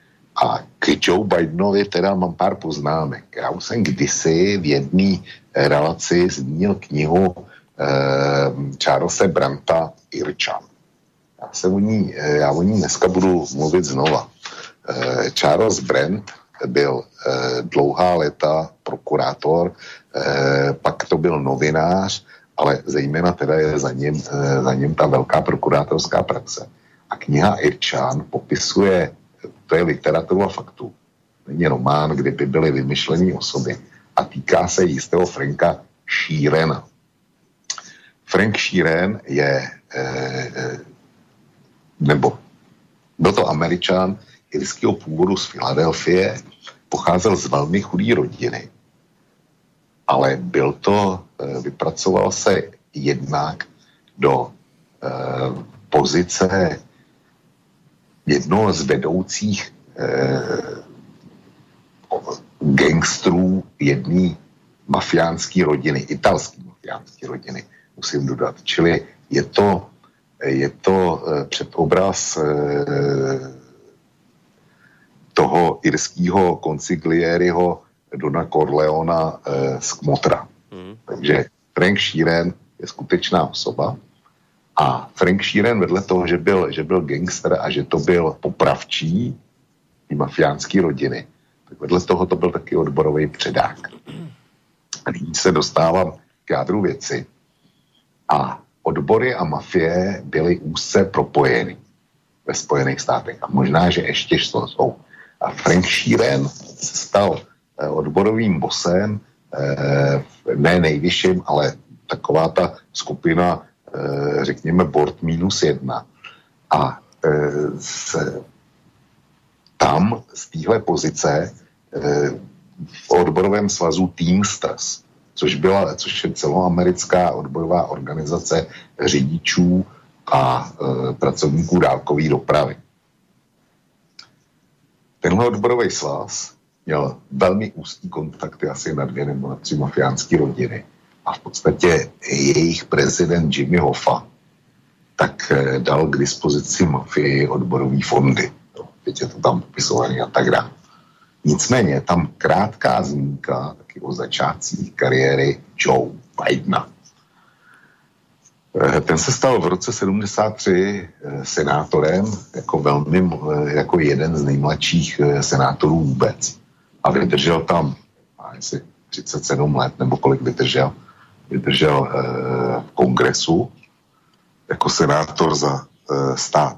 A k Joe Bidenovi teda mám pár poznámek. Já už jsem kdysi v jedné relaci zmínil knihu eh, Charlese Brandta Irčan. Já, se o ní, já o ní dneska budu mluvit znova. Eh, Charles Brandt byl eh, dlouhá léta prokurátor, eh, pak to byl novinář ale zejména teda je za ním, za ním ta velká prokurátorská praxe. A kniha Irčan popisuje, to je literatura faktů, není román, kde by byly vymyšlené osoby a týká se jistého Franka Sheerana. Frank Sheeran je, eh, nebo byl to Američan irského původu z Filadelfie, pocházel z velmi chudé rodiny, ale byl to, eh, vypracoval se jednak do eh, pozice jednoho z vedoucích eh, gangstrů jedné mafiánské rodiny, italské mafiánské rodiny, musím dodat. Čili je to, je to eh, předobraz eh, toho irského konsigliériho Dona Corleona eh, z Kmotra. Mm. Takže Frank Sheeran je skutečná osoba a Frank Sheeran vedle toho, že byl, že byl gangster a že to byl popravčí ty mafiánské rodiny, tak vedle toho to byl taky odborový předák. A nyní se dostávám k jádru věci. A odbory a mafie byly úzce propojeny ve Spojených státech. A možná, že ještě jsou. A Frank Sheeran se stal odborovým bosem, ne nejvyšším, ale taková ta skupina, řekněme, board minus jedna. A se, tam z téhle pozice v odborovém svazu Teamsters, což byla, což je celoamerická odborová organizace řidičů a e, pracovníků dálkové dopravy. Tenhle odborový svaz měl velmi úzký kontakty asi na dvě nebo na tři mafiánské rodiny a v podstatě jejich prezident Jimmy Hoffa tak e, dal k dispozici mafii odborový fondy. No, teď je to tam popisovaný a tak dále. Nicméně tam krátká zmínka taky o začátcích kariéry Joe Bidena. Ten se stal v roce sedmdesát tři senátorem jako velmi, jako jeden z nejmladších senátorů vůbec. A vydržel tam asi třicet sedm let, nebo kolik vydržel, vydržel v kongresu jako senátor za stát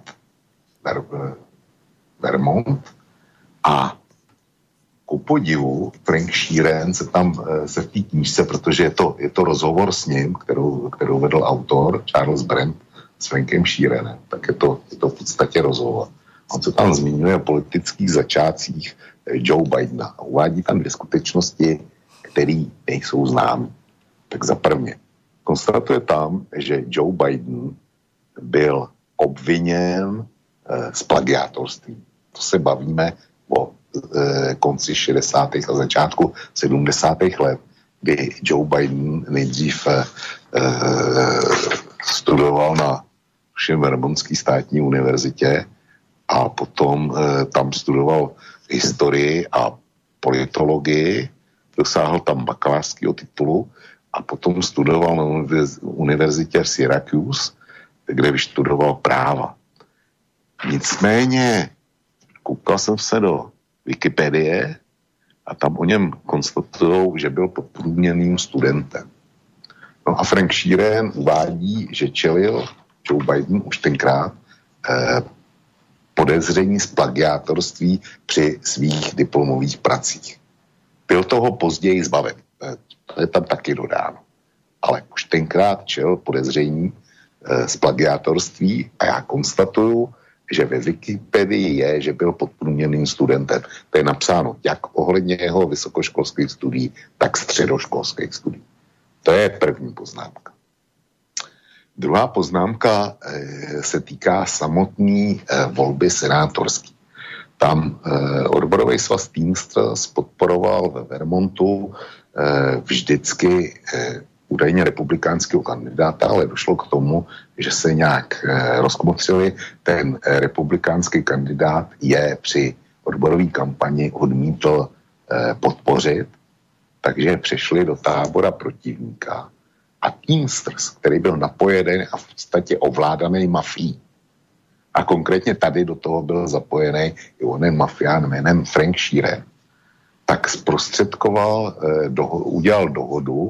Vermont a ku podivu Frank Sheeran se tam se v té knížce, protože je to, je to rozhovor s ním, kterou, kterou vedl autor Charles Brand s Frankem Sheeranem, tak je to, je to v podstatě rozhovor. On se tam zmiňuje o politických začátcích Joe Bidena a uvádí tam dvě skutečnosti, které nejsou známy. Tak za prvně, konstatuje tam, že Joe Biden byl obviněn eh, z plagiátorství. To se bavíme o konci šedesátých a začátku sedmdesátých let, kdy Joe Biden nejdřív eh, studoval na Vermontské státní univerzitě a potom eh, tam studoval historii a politologii, dosáhl tam bakalářského titulu a potom studoval na univerzitě v Syracuse, kde vyštudoval práva. Nicméně koukal jsem se do Wikipedie a tam o něm konstatujou, že byl podprůměrným studentem. No a Frank Sheeran uvádí, že čelil Joe Biden už tenkrát eh, podezření z plagiátorství při svých diplomových pracích. Byl toho později zbaven. Eh, to je tam taky dodáno. Ale už tenkrát čelil podezření eh, z plagiátorství a já konstatuju, že ve Wikipedii je, že byl podprůměrným studentem. To je napsáno jak ohledně jeho vysokoškolských studií, tak středoškolských studií. To je první poznámka. Druhá poznámka e, se týká samotné e, volby senátorské. Tam e, odborový svaz Teamsters podporoval ve Vermontu e, vždycky e, údajně republikánského kandidáta, ale došlo k tomu, že se nějak eh, rozkmotřili. Ten eh, republikánský kandidát je při odborové kampani odmítl eh, podpořit, takže přešli do tábora protivníka. A Teamsters, který byl napojený a v podstatě ovládaný mafií, a konkrétně tady do toho byl zapojený i onen mafián jménem Frank Sheeran, tak zprostředkoval, eh, doho- udělal dohodu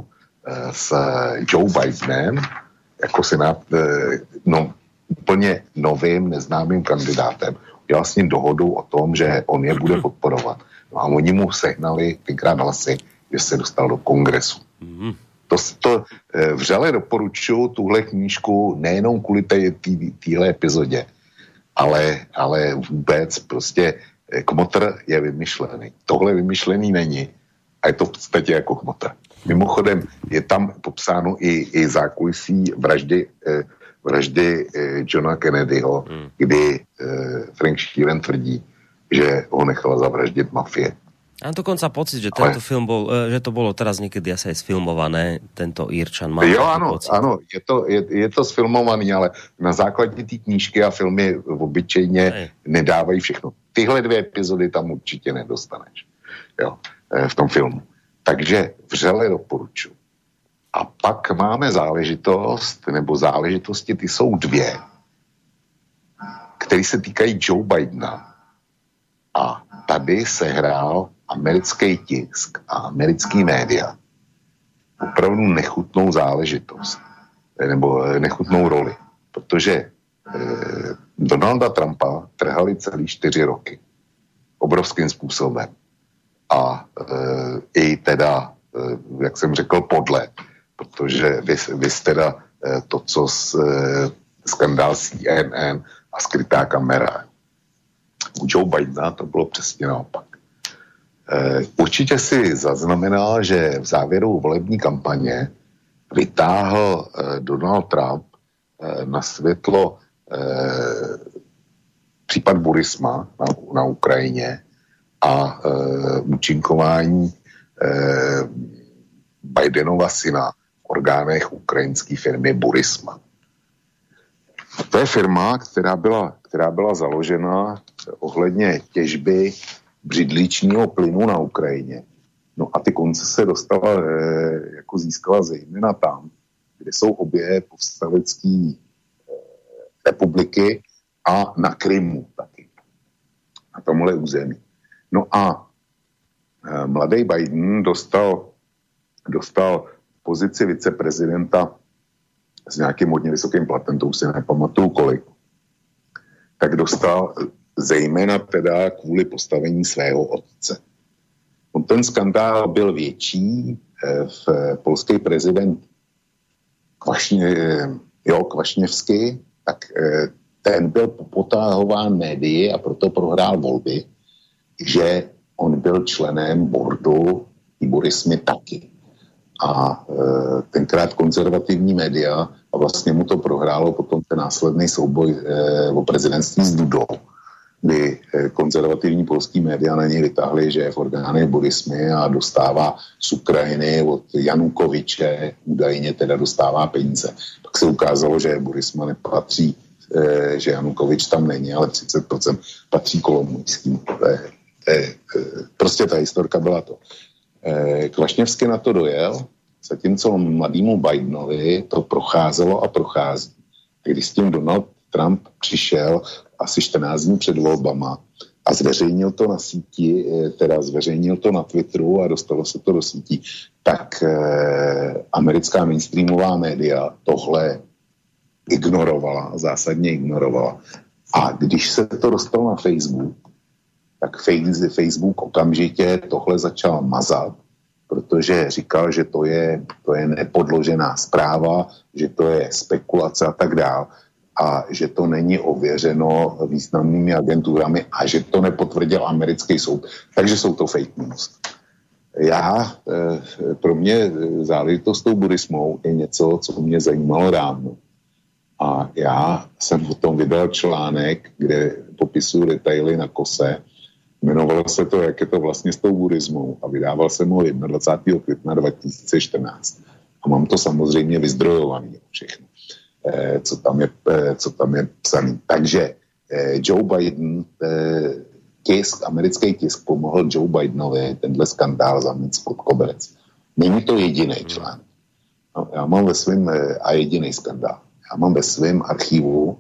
s Joe Bidenem, jako senát, no, úplně novým, neznámým kandidátem, udělal s ním dohodu o tom, že on je bude podporovat. No a oni mu sehnali tenkrát hlasy, že se dostal do kongresu. Mm-hmm. To, to vřele doporučuji tuhle knížku nejenom kvůli téhle epizodě, ale, ale vůbec prostě kmotr je vymyšlený. Tohle vymyšlený není a je to v podstatě jako kmotr. Mimochodem je tam popsáno i, i zákulisí vraždy, eh, vraždy eh, Johna Kennedyho, hmm. kdy eh, Frank Sheeran tvrdí, že ho nechala zavraždit mafie. A dokonca pocit, že tento Ale... film bol, že to bolo teraz niekedy asi aj sfilmované, tento Írčan má. Jo, áno, pocit. áno, je to, je, je to sfilmovaný, ale na základě té knížky a filmy obyčejně ne. nedávají všechno. Tyhle dvě epizody tam určitě nedostaneš, jo, v tom filmu. Takže vřele doporučuji. A pak máme záležitost, nebo záležitosti, ty jsou dvě, které se týkají Joe Bidena. A tady se hrál americký tisk a americký média opravdu nechutnou záležitost, nebo nechutnou roli, protože eh, Donalda Trumpa trhali celý čtyři roky. Obrovským způsobem. A e, i teda, e, jak jsem řekl, podle, protože vy, vy teda e, to, co s, e, skandál C N N a skrytá kamera. U Joe Bidena to bylo přesně naopak. E, určitě si zaznamenal, že v závěru volební kampaně vytáhl e, Donald Trump e, na světlo e, případ Burisma na, na Ukrajině a e, účinkování e, Bidenova syna v orgánech ukrajinské firmy Burisma. To je firma, která byla, která byla založena ohledně těžby břidličního plynu na Ukrajině. No a ty koncese dostala, e, jako získala zejména tam, kde jsou obě povstalecké e, republiky a na Krymu taky. Na tomhle území. No a e, mladý Biden dostal, dostal pozici viceprezidenta s nějakým hodně vysokým platem, to už si nepamatuju kolik, tak dostal zejména teda kvůli postavení svého otce. On ten skandál byl větší, e, v polský prezident Kvašně, e, jo, Kvašněvský, tak e, ten byl potáhován médii a proto prohrál volby, že on byl členem boardu i Burismy taky. A e, tenkrát konzervativní média a vlastně mu to prohrálo potom ten následný souboj e, o prezidentství s Dudou, kdy e, konzervativní polský média na něj vytáhli, že je v orgánech Burismy a dostává z Ukrajiny od Janukoviče, údajně teda dostává peníze. Pak se ukázalo, že Burisma nepatří, e, že Janukovič tam není, ale třicet procent patří Kolomojským. E, e, prostě ta historka byla to. Kvašněvský na to dojel, zatímco mladému Bidenovi to procházelo a prochází. Když s tím Donald Trump přišel asi čtrnáct dní před volbama a zveřejnil to na síti, teda zveřejnil to na Twitteru a dostalo se to do sítí, tak eh, americká mainstreamová média tohle ignorovala, zásadně ignorovala. A když se to dostalo na Facebook, tak Facebook okamžitě tohle začal mazat, protože říkal, že to je, to je nepodložená zpráva, že to je spekulace a tak dál a že to není ověřeno významnými agenturami a že to nepotvrdil americký soud. Takže jsou to fake news. Já, pro mě záležitost s tou Burismou je něco, co mě zajímalo dávno. A já jsem o tom vydal článek, kde popisuju detaily na kose. Jmenovalo se to, jak je to vlastně s tou Burismou a vydával jsem ho dvacátého prvního května dva tisíce čtrnáct. A mám to samozřejmě vyzdrojované všechno, eh, co tam je, eh, co tam je psaný. Takže eh, Joe Biden, eh, tisk, americký tisk pomohl Joe Bidenovi tenhle skandál zamít pod koberec. Není to jediný článek. No, já mám ve svém, eh, a jediný skandál. Já mám ve svém archivu,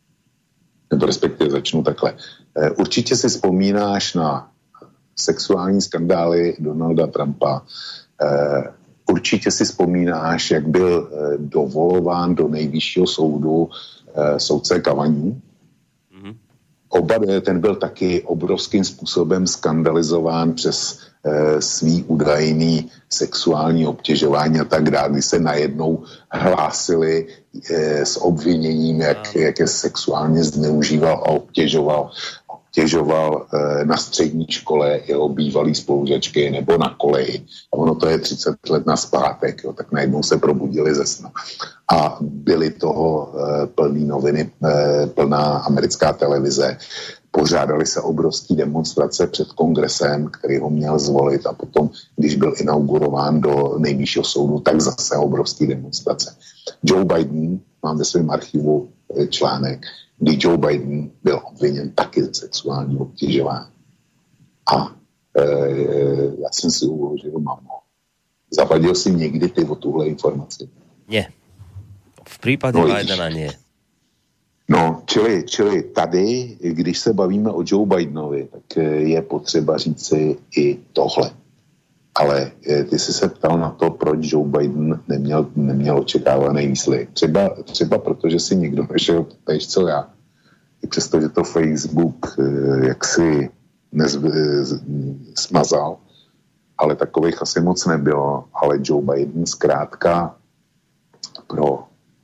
nebo respektive začnu takhle. Určitě si vzpomínáš na sexuální skandály Donalda Trumpa, určitě si vzpomínáš, jak byl dovolován do nejvyššího soudu soudce Cavani. Mm-hmm. Oba, ten byl taky obrovským způsobem skandalizován přes svý údajný sexuální obtěžování a tak dále, kdy se najednou hlásili s obviněním, jak, jak je sexuálně zneužíval a obtěžoval obtěžoval na střední škole jeho bývalý spolužačky nebo na koleji. A ono to je třicet let nazpátek, jo, tak najednou se probudili ze sna. A byly toho plný noviny, plná americká televize. Pořádali se obrovský demonstrace před kongresem, který ho měl zvolit, a potom, když byl inaugurován do nejvyššího soudu, tak zase obrovský demonstrace. Joe Biden, mám ve svém archivu článek, kdy Joe Biden byl obviněn taky ze sexuálního obtěžování. A e, já jsem si uložil, mamo, zavadil si někdy ty o tuhle informaci? Nie. V případě no, Bidena nie. No, čili, čili tady, když se bavíme o Joe Bidenovi, tak je potřeba říci i tohle. Ale ty jsi se ptal na to, proč Joe Biden neměl, neměl očekávaný výsledek. Třeba, třeba protože si někdo nešel tež, co já. I přesto, že to Facebook jaksi nez, smazal, ale takových asi moc nebylo. Ale Joe Biden zkrátka pro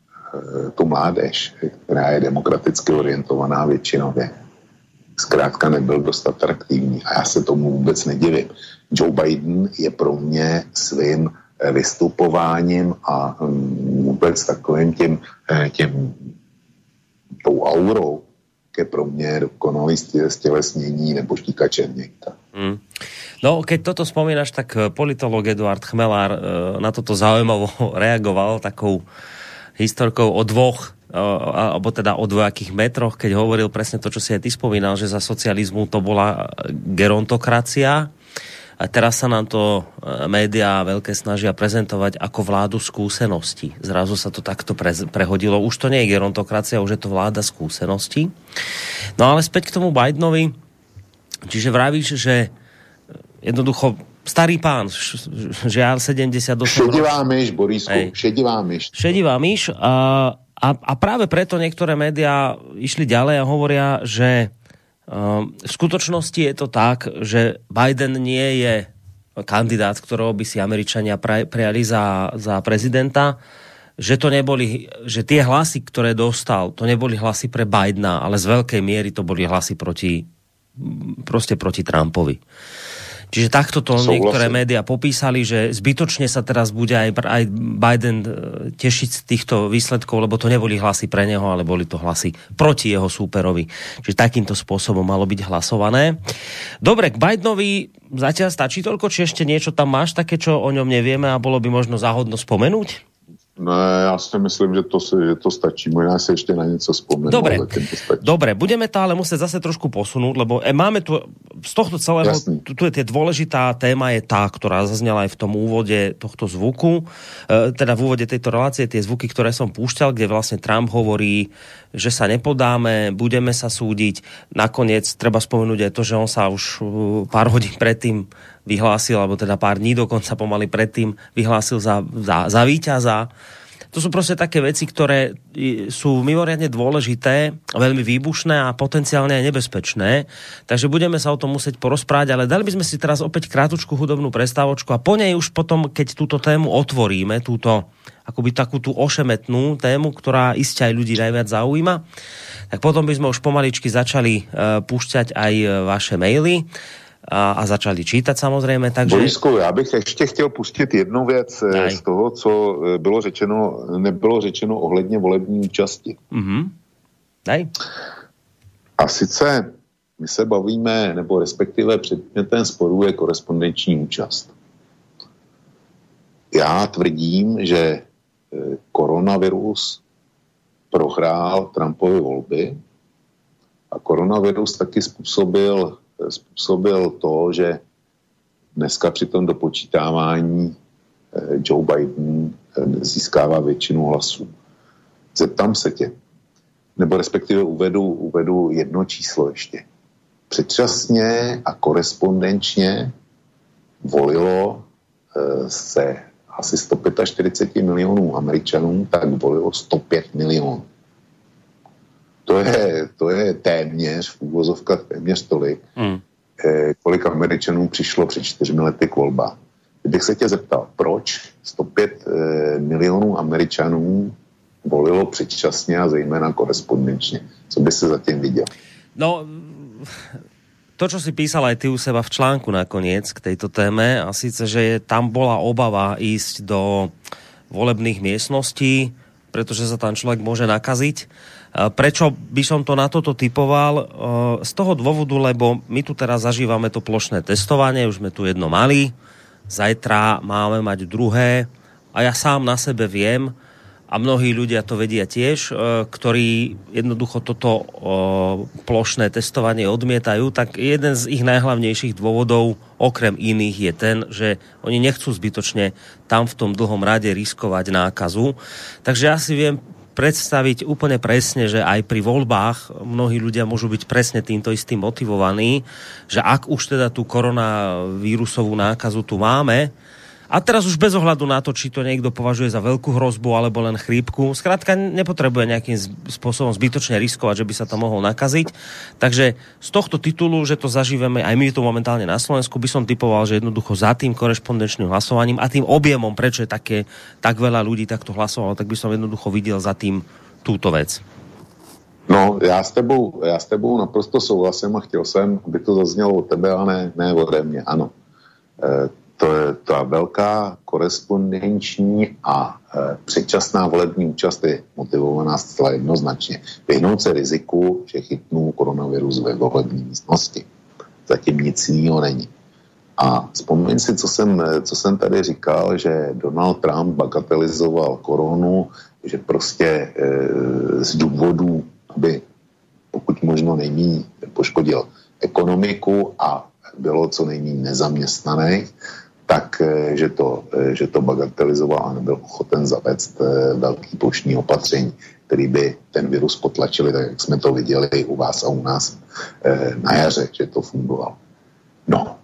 tu mládež, která je demokraticky orientovaná většinově, zkrátka nebyl dost atraktivní. A já se tomu vůbec nedivím. Joe Biden je pro mě svým vystupováním a vůbec takovým tím, tím tou aurou, je pro mě dokonalý stělesnění nebo štíka Černíka. Mm. No, keď toto spomínaš, tak politolog Eduard Chmelár na toto zaujímavo reagoval takou historkou o dvoch, alebo teda o dvojakých metroch, keď hovoril presne to, čo si aj ty spomínal, že za socializmu to bola gerontokracia a teraz sa nám to médiá veľké snažia prezentovať ako vládu skúseností. Zrazu sa to takto pre, prehodilo. Už to nie je gerontokracia, už je to vláda skúseností. No ale späť k tomu Bidenovi. Čiže vravíš, že jednoducho starý pán, žiaľ sedemdesiatosem rokov. Šedivá myš, Borisku, šedivá myš. Šedivá myš a, a, a práve preto niektoré médiá išli ďalej a hovoria, že um, v skutočnosti je to tak, že Biden nie je kandidát, ktorého by si Američania pre, prijali za, za prezidenta, že to neboli, že tie hlasy, ktoré dostal, to neboli hlasy pre Bidena, ale z veľkej miery to boli hlasy proti, proste proti Trumpovi. Čiže takto to Souhlasím. Niektoré médiá popísali, že zbytočne sa teraz bude aj, aj Biden tešiť z týchto výsledkov, lebo to neboli hlasy pre neho, ale boli to hlasy proti jeho súperovi. Čiže takýmto spôsobom malo byť hlasované. Dobre, k Bidenovi zatiaľ stačí toľko, či ešte niečo tam máš také, čo o ňom nevieme a bolo by možno záhodno spomenúť? Ne, já si myslím, že to, že to stačí. Možná si ešte na niečo spomenú. Dobre, dobre, budeme to ale musieť zase trošku posunúť, lebo máme tu z tohto celého, tu, tu je tie dôležitá téma je tá, ktorá zaznela aj v tom úvode tohto zvuku, e, teda v úvode tejto relácie, tie zvuky, ktoré som púšťal, kde vlastne Trump hovorí, že sa nepodáme, budeme sa súdiť. Nakoniec treba spomenúť aj to, že on sa už pár hodín predtým vyhlásil, alebo teda pár dní dokonca pomaly predtým vyhlásil za, za, za víťaza. To sú proste také veci, ktoré sú mimoriadne dôležité, veľmi výbušné a potenciálne aj nebezpečné. Takže budeme sa o tom musieť porozprávať, ale dali by sme si teraz opäť krátučku hudobnú prestávočku a po nej už potom, keď túto tému otvoríme, túto akoby takú tú ošemetnú tému, ktorá iste aj ľudí najviac zaujíma, tak potom by sme už pomaličky začali uh, púšťať aj vaše maily a, a začali čítať samozrejme. Takže... Borisku, já bych ještě chtěl pustit jednu věc Daj. z toho, co bylo řečeno, nebylo řečeno ohledně volební účasti. Mm-hmm. Daj. A sice my se bavíme, nebo respektive předmětem sporu je korespondenční účast. Já tvrdím, že koronavirus prohrál Trumpovy volby a koronavirus taky způsobil způsobil to, že dneska při tom dopočítávání Joe Biden získává většinu hlasů. Zeptám se tě, nebo respektive uvedu, uvedu jedno číslo ještě. Předčasně a korespondenčně volilo se asi sto čtyřicet pět milionů Američanů, tak volilo sto pět milionů. To je, to je téměř, v úvozovkách téměř tolik, mm. eh, kolik Američanů přišlo před čtyřmi lety k volbám. Kdybych se tě zeptal, proč sto pět eh, milionů Američanů volilo předčasně a zejména korespondenčně. Co by si zatím viděl? No, to, čo si písal aj ty u seba v článku nakoniec k tejto téme, a síce, že tam bola obava ísť do volebných miestností, pretože sa tam človek môže nakaziť. Prečo by som to na toto typoval? Z toho dôvodu, lebo my tu teraz zažívame to plošné testovanie, už sme tu jedno mali, zajtra máme mať druhé a ja sám na sebe viem, a mnohí ľudia to vedia tiež, ktorí jednoducho toto plošné testovanie odmietajú, tak jeden z ich najhlavnejších dôvodov, okrem iných, je ten, že oni nechcú zbytočne tam v tom dlhom rade riskovať nákazu. Takže ja si viem predstaviť úplne presne, že aj pri voľbách mnohí ľudia môžu byť presne týmto istým motivovaní, že ak už teda tú koronavírusovú nákazu tu máme, a teraz už bez ohľadu na to, či to niekto považuje za veľkú hrozbu alebo len chrípku, skrátka nepotrebuje nejakým spôsobom zbytočne riskovať, že by sa to mohol nakaziť. Takže z tohto titulu, že to zažívame aj my tu momentálne na Slovensku, by som typoval, že jednoducho za tým korešpondenčným hlasovaním a tým objemom, prečo je také, tak veľa ľudí takto hlasovalo, tak by som jednoducho videl za tým túto vec. No, já s tebou, já s tebou naprosto souhlasím a chtěl jsem, aby to zaznělo od tebe a ne, ne ode mě. Ano. E, To je ta velká korespondenční a e, předčasná volební účast je motivovaná zcela jednoznačně. Vyhnout se riziku, že chytnou koronavirus ve volební místnosti. Zatím nic jiného není. A vzpomeň si, co jsem, co jsem tady říkal, že Donald Trump bagatelizoval koronu, že prostě e, z důvodu, aby pokud možno nejméně poškodil ekonomiku a bylo co nejméně nezaměstnaných, tak, že to, že to bagatelizoval a nebyl ochoten zavést velký plošní opatření, který by ten virus potlačili, tak jak jsme to viděli u vás a u nás na jaře, že to fungovalo. No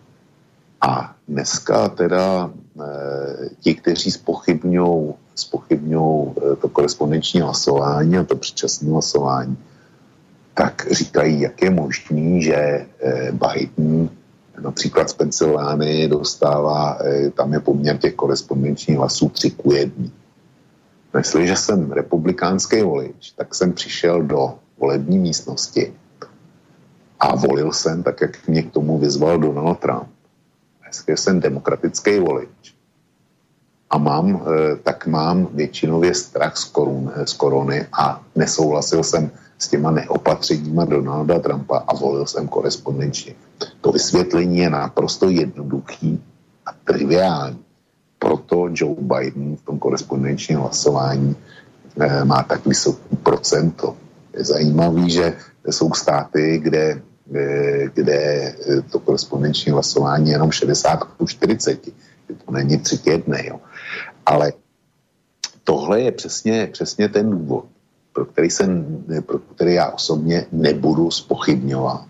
a dneska teda ti, kteří zpochybňují zpochybňují to korespondenční hlasování a to předčasné hlasování, tak říkají, jak je možný, že Biden například z Pensylvánii dostává, tam je poměr těch korespondenčních hlasů tři ku jedné. Jestliže jsem republikánský volič, tak jsem přišel do volební místnosti a volil jsem, tak jak mě k tomu vyzval Donald Trump. Jestliže jsem demokratický volič a mám, tak mám většinově strach z, korun, z korony a nesouhlasil jsem s těma neopatřeníma Donalda Trumpa a volil jsem korespondenčně. To vysvětlení je naprosto jednoduchý a triviální. Proto Joe Biden v tom korespondenčním hlasování eh, má tak vysoký procento. Je zajímavý, že jsou státy, kde, eh, kde to korespondenční hlasování je jenom šedesát ku čtyřiceti. To není tři k jedné. Jo. Ale tohle je přesně, přesně ten důvod, pro který, jsem, pro který já osobně nebudu zpochybňovat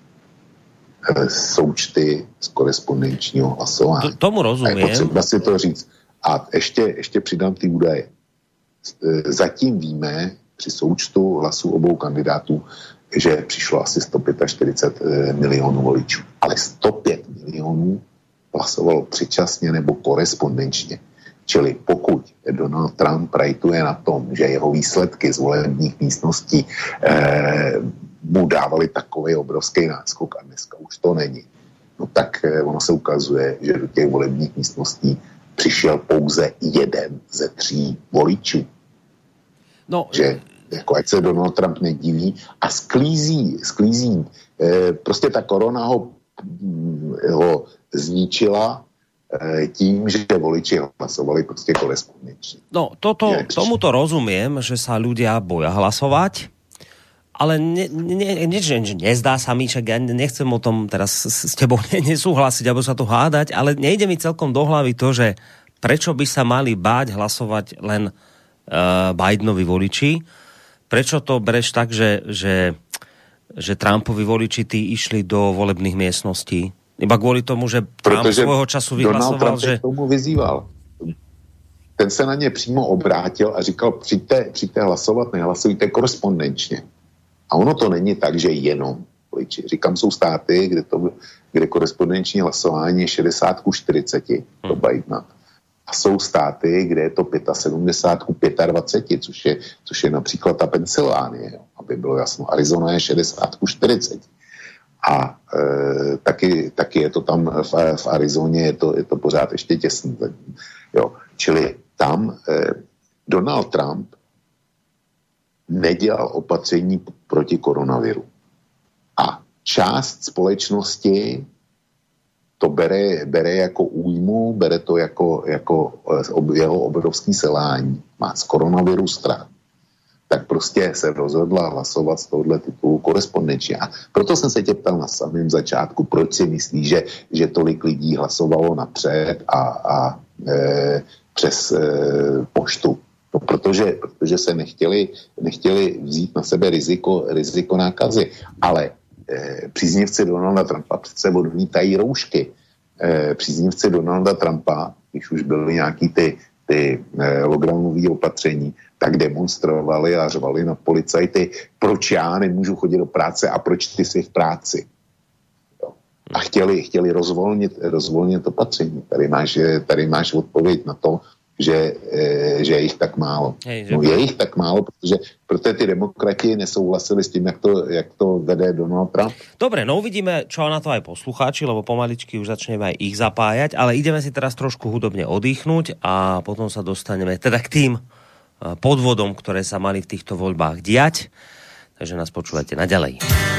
součty z korespondenčního hlasování. To, tomu rozumím. A je potřeba si to říct. A ještě, ještě přidám ty údaje. Zatím víme při součtu hlasů obou kandidátů, že přišlo asi sto čtyřicet pět milionů voličů. Ale sto pět milionů hlasovalo předčasně nebo korespondenčně. Čili pokud Donald Trump rajtuje na tom, že jeho výsledky z volebních místností eh, mu dávali takový obrovský náskok a dneska už to není, no tak eh, ono se ukazuje, že do těch volebních místností přišel pouze jeden ze tří voličů. No, že jako ať se Donald Trump nediví a sklízí, sklízí eh, prostě ta korona ho, ho zničila tím, že voliči hlasovali proste korespondenčne. No, toto, tomuto rozumiem, že sa ľudia boja hlasovať, ale ne, ne, ne, ne, nezdá sa mi, že ja nechcem o tom teraz s tebou nesúhlasiť, alebo sa tu hádať, ale nejde mi celkom do hlavy to, že prečo by sa mali báť hlasovať len uh, Bidenovi voliči, prečo to bereš tak, že, že, že Trumpovi voliči tí išli do volebných miestností? Iba kvôli tomu, že Trump Protože svojho času vyhlasoval, že... tomu vyzýval. ten se na ně přímo obrátil a říkal, přijďte, přijďte hlasovat, nehlasujte korespondenčně. A ono to není tak, že jenom voliči. Říkám, jsou státy, kde, to, kde korespondenční hlasování je šedesát ku čtyřiceti, to Bidena. A jsou státy, kde je to sedmdesát pět ku dvaceti pěti, což je, což je například ta Pensylvánie, aby bylo jasno. Arizona je šedesát ku čtyřiceti. A e, taky, taky je to tam v, v Arizoně, je to, je to pořád ještě těsný. Jo. Čili tam e, Donald Trump nedělal opatření proti koronaviru. A část společnosti to bere, bere jako újmu, bere to jako, jako jeho obrovský selhání. Má z koronaviru strach. Tak prostě se rozhodla hlasovat z tohohle titulu korespondenčně. A proto jsem se tě ptal na samém začátku, proč si myslíš, že, že tolik lidí hlasovalo napřed a, a e, přes e, poštu. No, protože, protože se nechtěli, nechtěli vzít na sebe riziko, riziko nákazy. Ale eh, příznivci Donalda Trumpa přece odmítají roušky. Eh, příznivci Donalda Trumpa, když už byly nějaký ty, ty eh, lockdownové opatření, tak demonstrovali a řvali na policajty, proč já nemůžu chodit do práce a proč ty jsi v práci. Jo. A chtěli, chtěli rozvolnit, rozvolnit opatření. Tady máš, tady máš odpověď na to, Že, e, že je ich tak málo. Hej, že... No je ich tak málo, protože, protože tí demokrati nesouhlasili s tým, jak to, jak to vede Donald Trump. Dobre, no uvidíme, čo na to aj poslucháči, lebo pomaličky už začneme aj ich zapájať, ale ideme si teraz trošku hudobne oddychnúť a potom sa dostaneme teda k tým podvodom, ktoré sa mali v týchto voľbách diať. Takže nás počúvajte naďalej.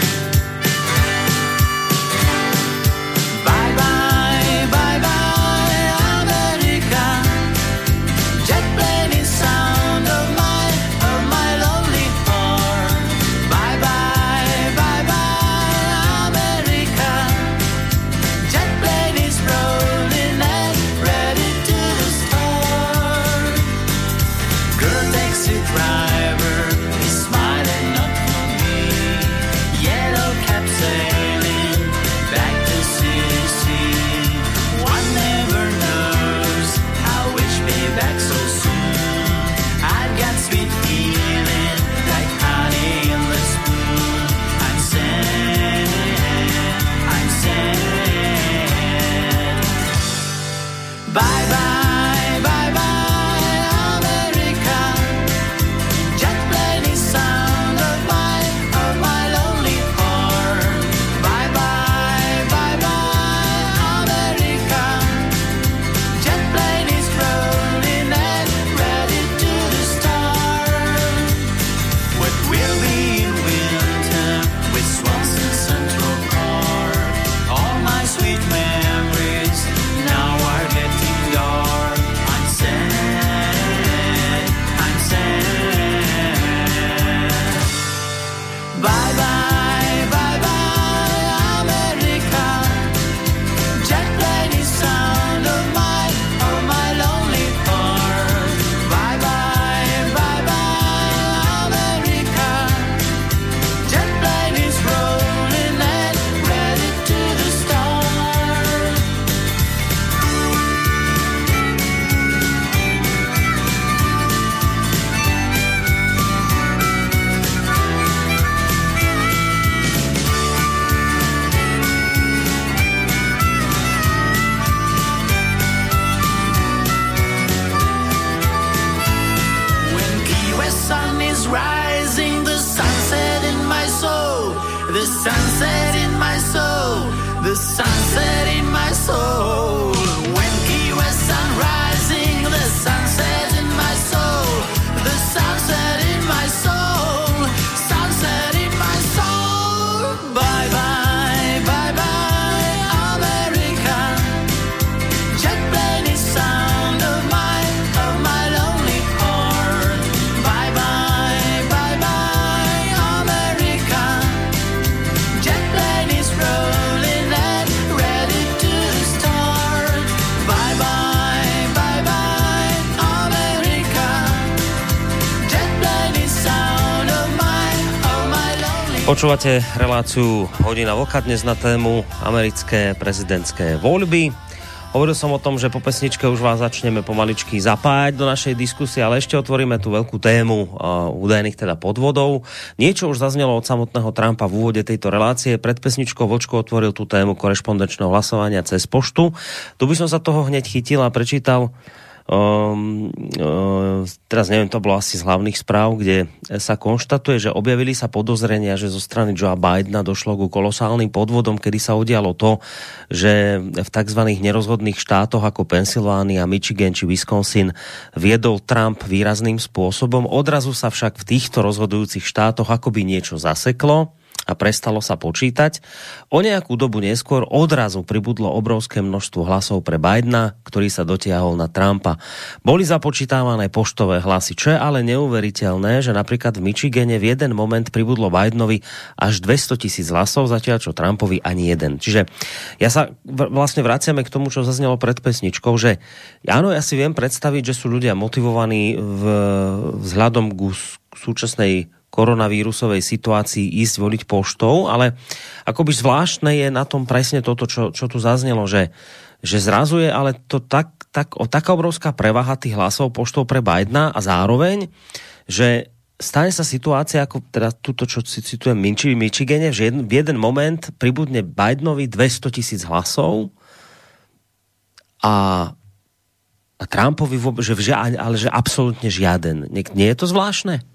Počúvate reláciu Hodina vlka dnes na tému americké prezidentské voľby. Hovoril som o tom, že po pesničke už vás začneme pomaličky zapájať do našej diskusie, ale ešte otvoríme tú veľkú tému uh, údajných teda podvodov. Niečo už zaznelo od samotného Trumpa v úvode tejto relácie. Pred pesničkou Vočko otvoril tú tému korešpondenčného hlasovania cez poštu. Tu by som sa toho hneď chytil a prečítal Um, um, teraz neviem, to bolo asi z hlavných správ, kde sa konštatuje, že objavili sa podozrenia, že zo strany Joea Bidena došlo ku kolosálnym podvodom, kedy sa udialo to, že v tzv. Nerozhodných štátoch ako Pensylvánia, Michigan či Wisconsin viedol Trump výrazným spôsobom. Odrazu sa však v týchto rozhodujúcich štátoch akoby niečo zaseklo a prestalo sa počítať. O nejakú dobu neskôr odrazu pribudlo obrovské množstvo hlasov pre Bidena, ktorý sa dotiahol na Trumpa. Boli započítavané poštové hlasy, čo je ale neuveriteľné, že napríklad v Michigane v jeden moment pribudlo Bidenovi až dvestotisíc hlasov, zatiaľ čo Trumpovi ani jeden. Čiže ja sa vlastne vraciame k tomu, čo zaznelo pred pesničkou, že áno, ja si viem predstaviť, že sú ľudia motivovaní v, vzhľadom k súčasnej koronavírusovej situácii ísť voliť poštou, ale akoby zvláštne je na tom presne toto, čo, čo tu zaznelo, že, že zrazu je ale to tak, tak, o, taká obrovská prevaha tých hlasov poštou pre Bidena a zároveň, že stane sa situácia, ako teda túto, čo citujem v Michigane, že jeden, v jeden moment pribudne Bidenovi dvestotisíc hlasov a, a Trumpovi že vžia, ale že absolútne žiaden. Nie, nie je to zvláštne?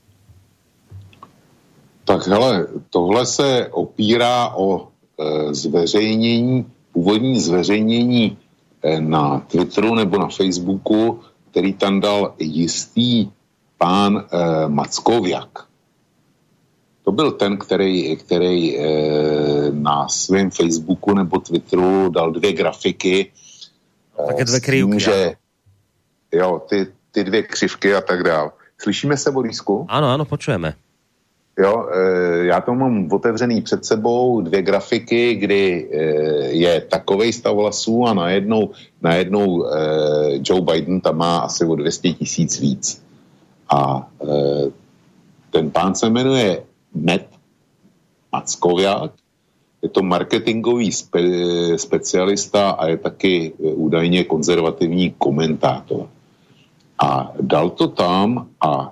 Tak hele, tohle se opírá o e, zveřejnění, původní zveřejnění e, na Twitteru nebo na Facebooku, který tam dal jistý pán e, Mackoviak. To byl ten, který, který e, na svém Facebooku nebo Twitteru dal dvě grafiky. E, Také dvě krivky. Že, jo, ty, ty dvě křivky a tak dál. Slyšíme se, Borisku? Ano, ano, počujeme. Jo, já to mám otevřený před sebou, dvě grafiky, kdy je takovej stav hlasů a najednou, najednou Joe Biden tam má asi o dvě stě tisíc víc. A ten pán se jmenuje Matt Mackoviak, je to marketingový spe, specialista a je taky údajně konzervativní komentátor. A dal to tam a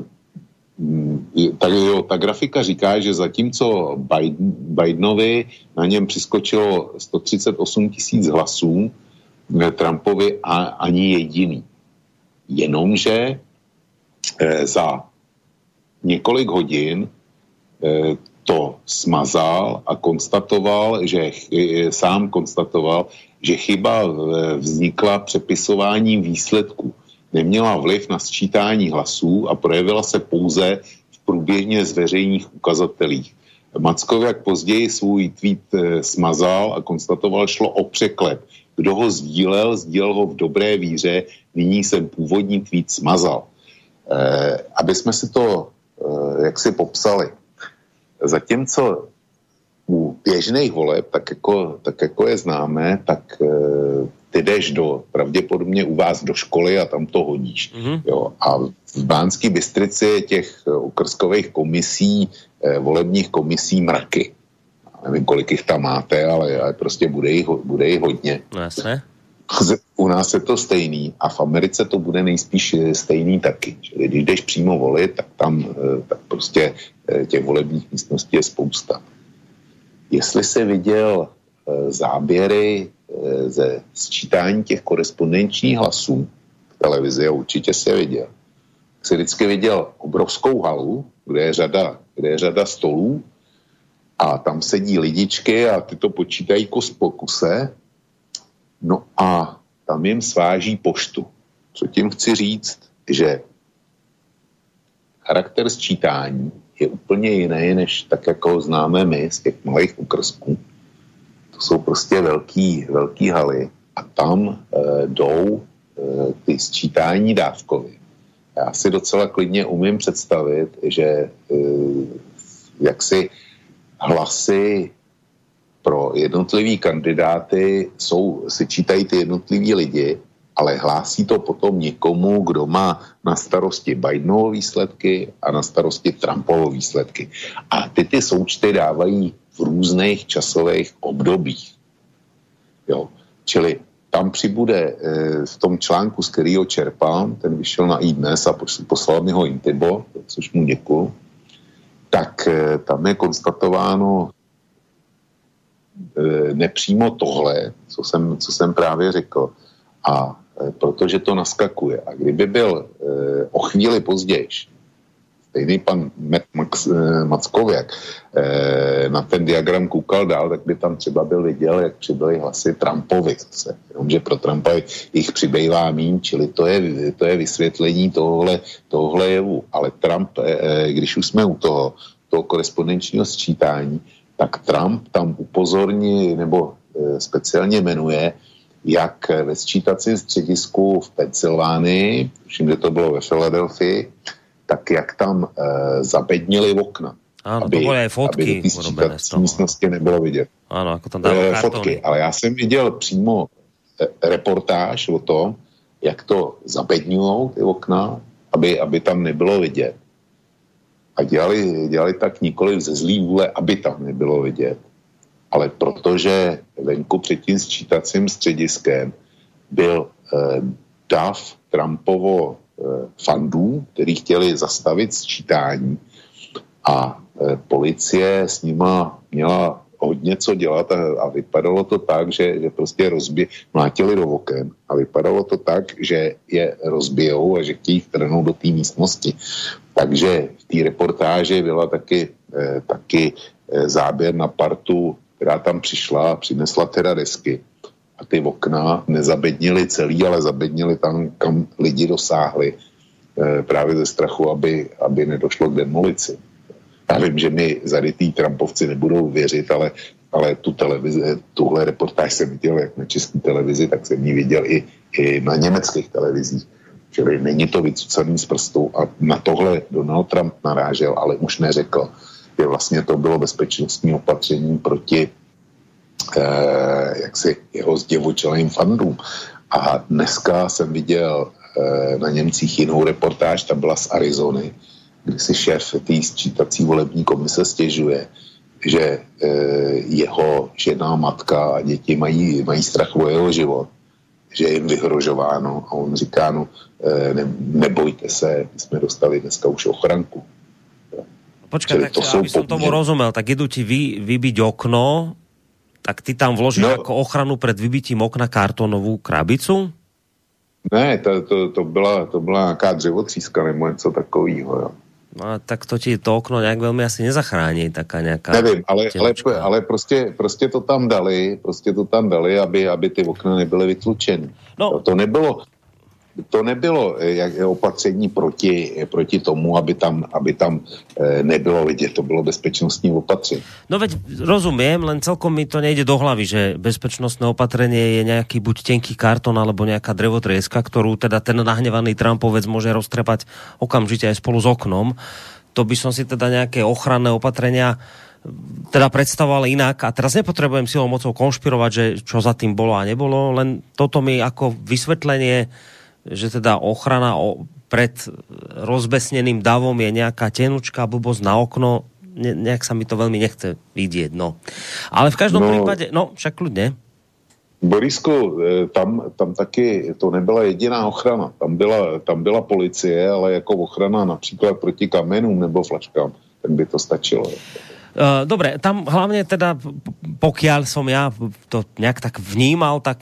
Tak, jo, ta grafika říká, že zatímco Biden, Bidenovi na něm přiskočilo sto třicet osm tisíc hlasů, Trumpovi a, ani jediný. Jenomže e, za několik hodin e, to smazal a konstatoval, že e, sám konstatoval, že chyba vznikla přepisováním výsledků. Neměla vliv na sčítání hlasů a projevila se pouze v průběžně zveřejných ukazatelích. Mackoviak později svůj tweet e, smazal a konstatoval, šlo o překlep. Kdo ho sdílel, sdílel ho v dobré víře, nyní jsem původní tweet smazal. E, aby jsme si to e, jaksi popsali. Zatímco u běžných voleb, tak jako, tak jako je známe, tak e, ty jdeš do, pravděpodobně u vás do školy a tam to hodíš. Mm-hmm. Jo. A v Banské Bystrici je těch okrskových komisí, eh, volebních komisí mraky. Nevím, kolik jich tam máte, ale, ale prostě bude jich, bude jich hodně. No jasně. U nás je to stejný a v Americe to bude nejspíš stejný taky. Čili když jdeš přímo volit, tak tam eh, tak prostě eh, těch volebních místností je spousta. Jestli jsi viděl eh, záběry ze sčítání těch korespondenčních hlasů v televizi, a určitě se viděl. Jsi vždycky viděl obrovskou halu, kde je řada, kde je řada stolů a tam sedí lidičky a ty to počítají kus po kuse, no a tam jim sváží poštu. Co tím chci říct, že charakter sčítání je úplně jiný, než tak, jako ho známe my z těch malých okrsků. Jsou prostě velký, velký haly a tam e, jdou e, ty sčítání dávkovy. Já si docela klidně umím představit, že e, jaksi hlasy pro jednotlivý kandidáty jsou, si čítají ty jednotliví lidi, ale hlásí to potom někomu, kdo má na starosti Bidenovo výsledky a na starosti Trumpovo výsledky. A ty ty součty dávají v různých časových obdobích. Jo. Čili tam přibude v tom článku, z kterého čerpám, ten vyšel na iDnes a poslal mi ho Intibo, což mu děkuju, tak tam je konstatováno nepřímo tohle, co jsem, co jsem právě řekl. A protože to naskakuje. A kdyby byl o chvíli později stejný pan Max, Mackověk na ten diagram koukal dál, tak by tam třeba byl viděl, jak přibyly hlasy Trumpovi zase. Jenomže pro Trumpa jich přibývá míň, čili to je, to je vysvětlení tohle, tohle jevu. Ale Trump, když už jsme u toho, toho korespondenčního sčítání, tak Trump tam upozorní nebo speciálně jmenuje, jak ve sčítacím středisku v Pensylvánii, tuším, že to bylo ve Filadelfii, tak jak tam e, zabednili okna. Áno, aby, to boli aj fotky aby ty sčítací místnosti nebylo vidět. Áno, ako tam dávali e, fotky, ale já jsem viděl přímo e, reportáž o tom, jak to zabedňujou ty okna, aby, aby tam nebylo vidět. A dělali, dělali tak nikoliv ze zlý vůle, aby tam nebylo vidět. Ale protože venku před tím sčítacím střediskem byl eh, dav Trumpovo eh, fandů, který chtěli zastavit sčítání a eh, policie s nima měla hodně co dělat a, a vypadalo to tak, že, že prostě rozbě, mlátili do oken a vypadalo to tak, že je rozbijou a že chtějí vtrhnout do té místnosti. Takže v té reportáži byla taky, eh, taky eh, záběr na partu, která tam přišla a přinesla teda desky. A ty okna nezabednili celý, ale zabednili tam, kam lidi dosáhli e, právě ze strachu, aby, aby nedošlo k demolici. Já vím, že mi zarytý Trumpovci nebudou věřit, ale, ale tu televizi, tuhle reportáž jsem viděl jak na české televizi, tak jsem ji viděl i, i na německých televizích. Čili není to vycucaný z prstu a na tohle Donald Trump narážel, ale už neřekl, že vlastně to bylo bezpečnostní opatření proti eh, jaksi jeho zdivočelým fandům. A dneska jsem viděl eh, na Němcích jinou reportáž, ta byla z Arizony, kdy si šéf té sčítací volební komise stěžuje, že eh, jeho žena, matka a děti mají, mají strach o jeho život, že je jim vyhrožováno a on říká, no ne, nebojte se, my jsme dostali dneska už ochranku. Počkaj, tak, to aby som tomu rozumel, tak idú ti vy, vybiť okno, tak ty tam vložíš no, ako ochranu pred vybitím okna kartónovú krabicu? Ne, to, to, to, byla, to byla nějaká dřevotříska nebo něco takovýho, jo. No tak to ti to okno nějak velmi asi nezachrání, taká nějaká... Nevím, ale, ale, ale prostě, prostě to tam dali, prostě to tam dali, aby, aby ty okna nebyly vytlučeny. No. To, to nebylo... To nebylo jak, opatření proti, proti tomu, aby tam, aby tam e, nebylo vidět. To bylo bezpečnostní opatření. No veď rozumiem, len celkom mi to nejde do hlavy, že bezpečnostné opatrenie je nejaký buď tenký kartón, alebo nejaká drevotrieska, ktorú teda ten nahnevaný Trumpovec môže roztrepať okamžite aj spolu s oknom. To by som si teda nejaké ochranné opatrenia teda predstavoval inak a teraz nepotrebujem silou mocou konšpirovať, že čo za tým bolo a nebolo, len toto mi ako vysvetlenie, že teda ochrana pred rozbesneným davom je nejaká tenučká blbosť na okno, ne, nejak sa mi to veľmi nechce vidieť, no. Ale v každom no, prípade, no, však kľudne. Borisku, tam, tam taky to nebyla jediná ochrana. Tam byla, tam byla policie, ale jako ochrana například proti kamenům nebo flaškám, tak by to stačilo. Dobre, tam hlavne teda, pokiaľ som ja to nejak tak vnímal, tak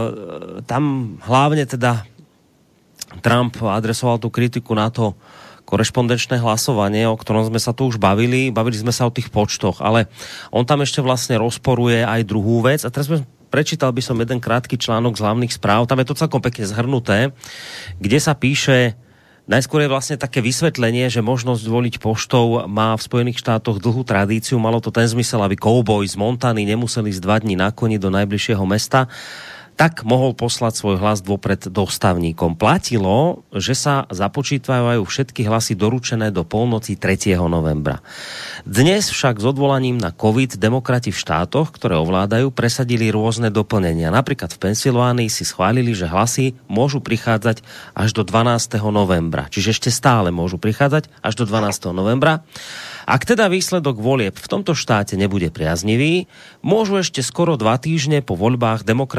tam hlavne teda Trump adresoval tú kritiku na to korešpondenčné hlasovanie, o ktorom sme sa tu už bavili. Bavili sme sa o tých počtoch, ale on tam ešte vlastne rozporuje aj druhú vec. A teraz sme, prečítal by som jeden krátky článok z hlavných správ. Tam je to celkom pekne zhrnuté, kde sa píše, najskôr je vlastne také vysvetlenie, že možnosť voliť poštou má v Spojených štátoch dlhú tradíciu. Malo to ten zmysel, aby kouboj z Montany nemuseli ísť dva dní na koni do najbližšieho mesta, tak mohol poslať svoj hlas vopred dostavníkom. Platilo, že sa započítvajú všetky hlasy doručené do polnoci tretieho novembra. Dnes však s odvolaním na COVID demokrati v štátoch, ktoré ovládajú, presadili rôzne doplnenia. Napríklad v Pensylvánii si schválili, že hlasy môžu prichádzať až do dvanásteho novembra. Čiže ešte stále môžu prichádzať až do dvanásteho novembra. Ak teda výsledok volieb v tomto štáte nebude priaznivý, môžu ešte skoro dva týždne po voľbách demokrati naháňať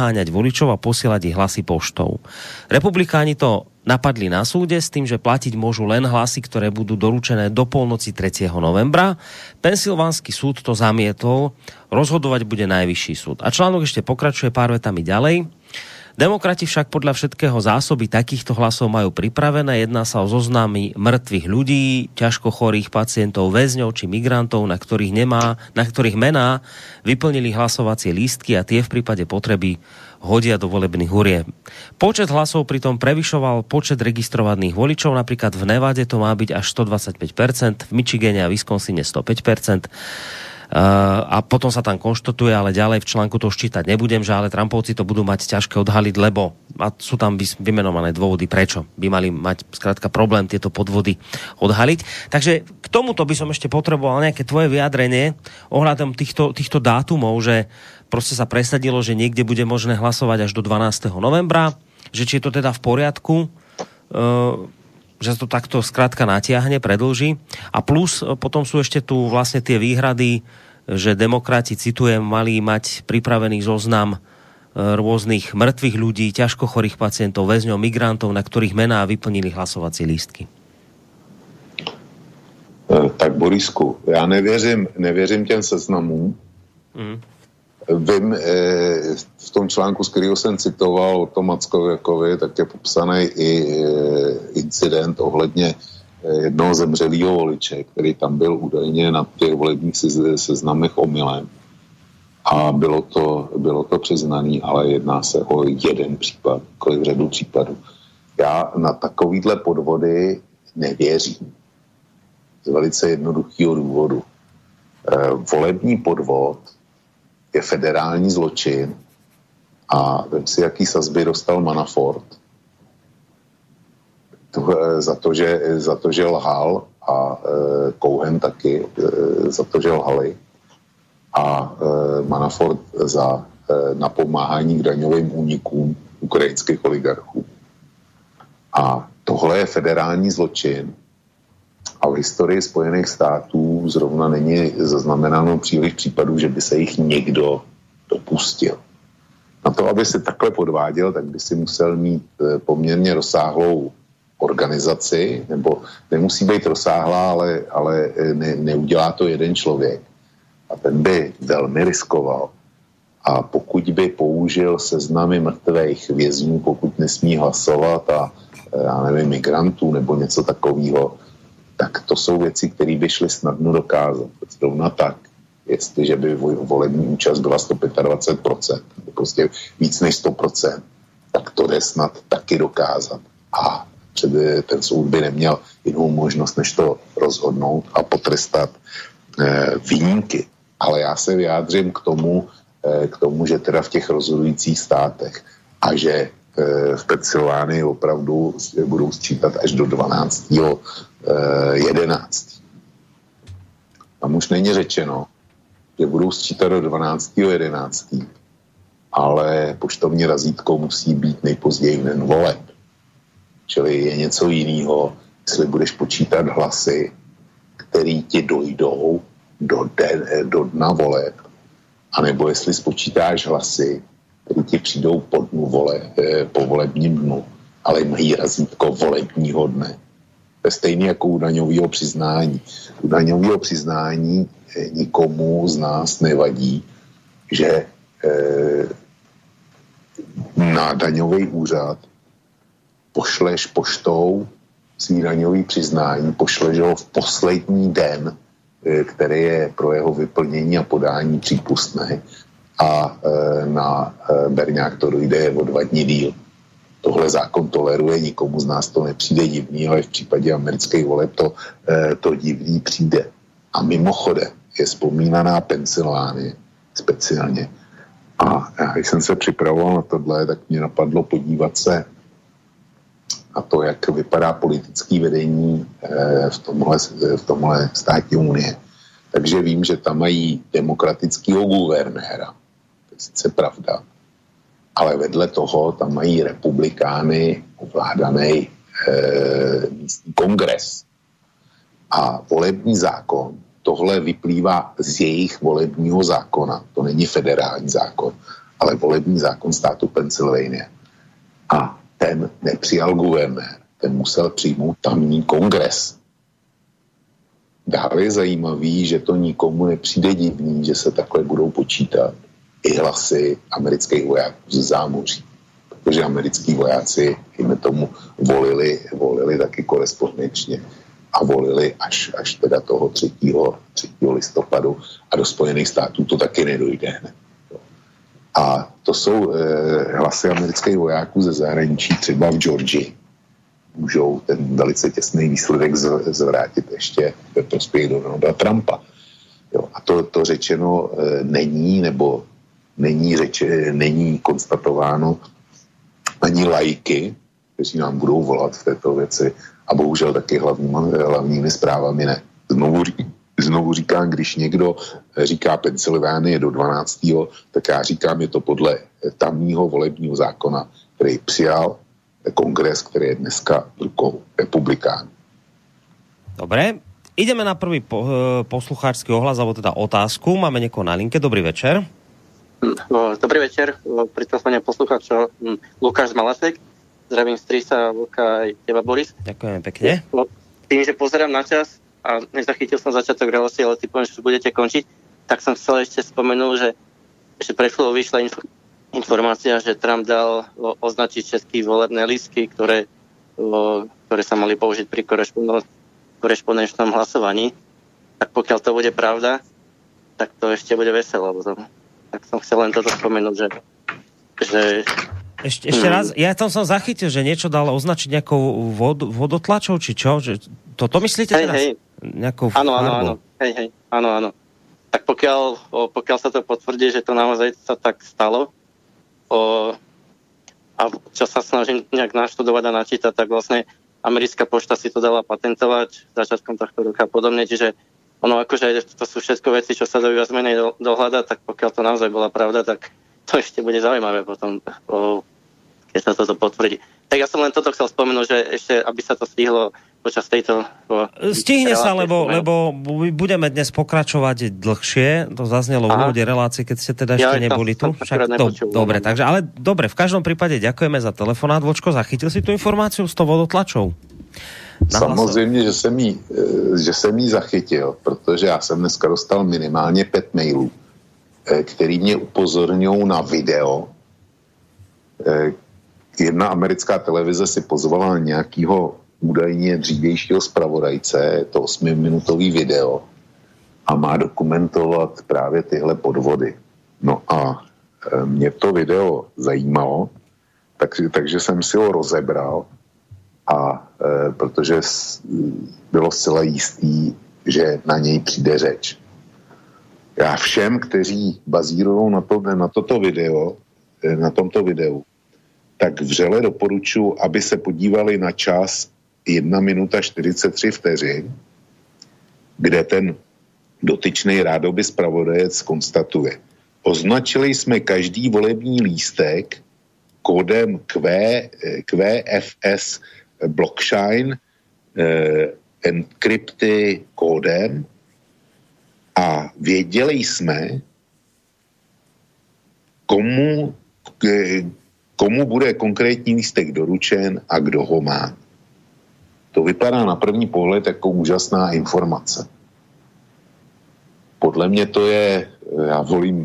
naháňať voličov a posielať ich hlasy poštou. Republikáni to napadli na súde s tým, že platiť môžu len hlasy, ktoré budú doručené do polnoci tretieho novembra. Pensylvánsky súd to zamietol, rozhodovať bude najvyšší súd. A článok ešte pokračuje pár vetami ďalej. Demokrati však podľa všetkého zásoby takýchto hlasov majú pripravené. Jedná sa o zoznamy mŕtvych ľudí, ťažko chorých pacientov, väzňov či migrantov, na ktorých nemá, na ktorých mená vyplnili hlasovacie lístky a tie v prípade potreby hodia do volebných hurieb. Počet hlasov pritom prevyšoval počet registrovaných voličov, napríklad v Nevade to má byť až stodvadsaťpäť percent, v Michigane a Wisconsine sto päť percent. Uh, a potom sa tam konštatuje, ale ďalej v článku to už čítať nebudem, že ale Trumpovci to budú mať ťažké odhaliť, lebo a sú tam vymenované dôvody, prečo by mali mať skrátka problém tieto podvody odhaliť. Takže k tomuto by som ešte potreboval nejaké tvoje vyjadrenie ohľadom týchto, týchto dátumov, že proste sa presadilo, že niekde bude možné hlasovať až do dvanásteho novembra, že či je to teda v poriadku, uh, že to takto skrátka natiahne, predĺži. A plus potom sú ešte tu vlastne tie výhrady, že demokrati, citujem, mali mať pripravený zoznam rôznych mŕtvych ľudí, ťažko chorých pacientov, väzňov, migrantov, na ktorých mená vyplnili hlasovací lístky. Tak Borisku, já nevěřím, nevěřím těm seznamům. Mm. Vím, v tom článku, z kterého jsem citoval o tom Mackověkovi, tak je popsaný i incident ohledně jednoho zemřelého voliče, který tam byl údajně na těch volebních seznamech omylem. A bylo to, bylo to přiznaný, ale jedná se o jeden případ, kolik řadu případů. Já na takovýhle podvody nevěřím. Z velice jednoduchého důvodu. Volební podvod je federální zločin a vem si, jaký sazby dostal Manafort to, za, to, že, za to, že lhal a e, Cohen taky e, za to, že lhali a e, Manafort za e, napomáhání k daňovým únikům ukrajinských oligarchů. A tohle je federální zločin a v historii Spojených států zrovna není zaznamenáno příliš případů, že by se jich někdo dopustil. Na to, aby si takhle podváděl, tak by si musel mít poměrně rozsáhlou organizaci, nebo nemusí být rozsáhlá, ale, ale ne, neudělá to jeden člověk. A ten by velmi riskoval. A pokud by použil seznamy mrtvých vězňů, pokud nesmí hlasovat a já nevím, migrantů nebo něco takového, tak to jsou věci, které by šly snadno dokázat. Zrovna tak, jestliže by volební účast byla sto dvacet pět procent, nebo prostě víc než sto procent, tak to jde snad taky dokázat. A ten soud by neměl jinou možnost, než to rozhodnout a potrestat eh, výjimky. Ale já se vyjádřím k tomu, eh, k tomu, že teda v těch rozhodujících státech a že v Pensylvánii opravdu budou sčítat až do dvanáctého jedenáctého Tam už není řečeno, že budou sčítat do dvanáctého jedenáctého ale poštovní razítko musí být nejpozději v den voleb. Čili je něco jiného, jestli budeš počítat hlasy, který ti dojdou do, den, do dna voleb, anebo jestli spočítáš hlasy, který ti přijdou po dnu vole, po volebním dnu, ale mají razítko volebního dne. To je stejné jako u daňového přiznání. U daňového přiznání nikomu z nás nevadí, že eh, na daňový úřad pošleš poštou svý daňový přiznání, pošleš ho v poslední den, eh, který je pro jeho vyplnění a podání přípustný, a e, na e, berňák to dojde o dva dní díl. Tohle zákon toleruje, nikomu z nás to nepřijde divný, ale v případě amerických voleb to, e, to divný přijde. A mimochodem je vzpomínaná Pensylvánie speciálně. A já, když jsem se připravoval na tohle, tak mě napadlo podívat se na to, jak vypadá politické vedení e, v tomhle, v tomhle státě Unie. Takže vím, že tam mají demokratického guvernéra. To je sice pravda. Ale vedle toho tam mají republikány ovládaný e, místní kongres. A volební zákon, tohle vyplývá z jejich volebního zákona. To není federální zákon, ale volební zákon státu Pennsylvania. A ten nepřijal guvernér, ten musel přijmout tamní kongres. Dále je zajímavý, že to nikomu nepřijde divný, že se takhle budou počítat i hlasy amerických vojáků ze zámoří. Protože americký vojáci, jim tomu, volili, volili taky korespondenčně a volili až, až teda toho třetího listopadu a do Spojených států to taky nedojde hned. A to jsou eh, hlasy amerických vojáků ze zahraničí, třeba v Georgii. Můžou ten velice těsný výsledek z, zvrátit ještě ve prospěch Donalda Trumpa. Jo, a to, to řečeno e, není, nebo není, řeč, není konstatováno ani laiky, kteří nám budou volat v této věci a bohužel taky hlavní, hlavními zprávami ne. Znovu, znovu říkám, když někdo říká Pensylvánie do dvanáctého tak já říkám, je to podle tamního volebního zákona, který přijal kongres, ktorý je dneska v rukou republikánov. Dobre, ideme na prvý po, poslucháčsky ohlas, alebo teda otázku. Máme niekoho na linke. Dobrý večer. Dobrý večer. Pri telefóne poslucháča Lukáš z Malasek. Zdravím strýsa, Luka aj teba, Boris. Ďakujem pekne. Tým, že pozerám na čas a nezachytil som začiatok relácie, ale typujem, že budete končiť, tak som chcel ešte spomenul, že, že pre chvíľu vyšla info informácia, že Trump dal o, označiť české volebné lístky, ktoré, o, ktoré sa mali použiť pri korešpondenčnom hlasovaní. Tak pokiaľ to bude pravda, tak to ešte bude veselo. Tak som chcel len toto spomenúť, že... že ešte, ešte mm. raz, ja tam som zachytil, že niečo dal označiť nejakou vod, vodotlačou, či čo? Že, to, to myslíte hej, teraz? Hej. Nejakou áno, áno, áno. Hej, hej. Áno, áno. Tak pokiaľ, o, pokiaľ sa to potvrdí, že to naozaj sa tak stalo, O, a čo sa snažím nejak naštudovať a načítať, tak vlastne americká pošta si to dala patentovať začiatkom tohto roka a podobne, čiže ono akože to sú všetko veci, čo sa dajú viac menej do, dohľadať, tak pokiaľ to naozaj bola pravda, tak to ešte bude zaujímavé potom, o, keď sa toto potvrdí. Tak ja som len toto chcel spomenúť, že ešte, aby sa to stihlo počas tejto... O, Stihne sa, lebo, lebo budeme dnes pokračovať dlhšie. To zaznelo v úvode relácie, keď ste teda ešte ja, neboli tu. Však to, dobre, takže, ale dobre, v každom prípade ďakujeme za telefonát. Vočko, zachytil si tú informáciu s tou vodotlačou? Samozřejmě, že jsem, jí, že jsem jí zachytil, protože já jsem dneska dostal minimálně pět mailů, který mě upozorňují na video. Jedna americká televize si pozvala nějakého údajně dřívějšího zpravodajce, je to osmiminutový video a má dokumentovat právě tyhle podvody. No a mě to video zajímalo, tak, takže jsem si ho rozebral a e, protože bylo zcela jistý, že na něj přijde řeč. Já všem, kteří bazírují na, to, na toto video, na tomto videu, tak vřele doporučuji, aby se podívali na čas jedna minuta čtyřicet tři vteřin, kde ten dotyčný rádoby zpravodajec konstatuje. Označili jsme každý volební lístek kódem Q, Q F S blockchain eh, encrypty kódem a věděli jsme, komu, komu bude konkrétní lístek doručen a kdo ho má. To vypadá na první pohled jako úžasná informace. Podle mě to je, já volím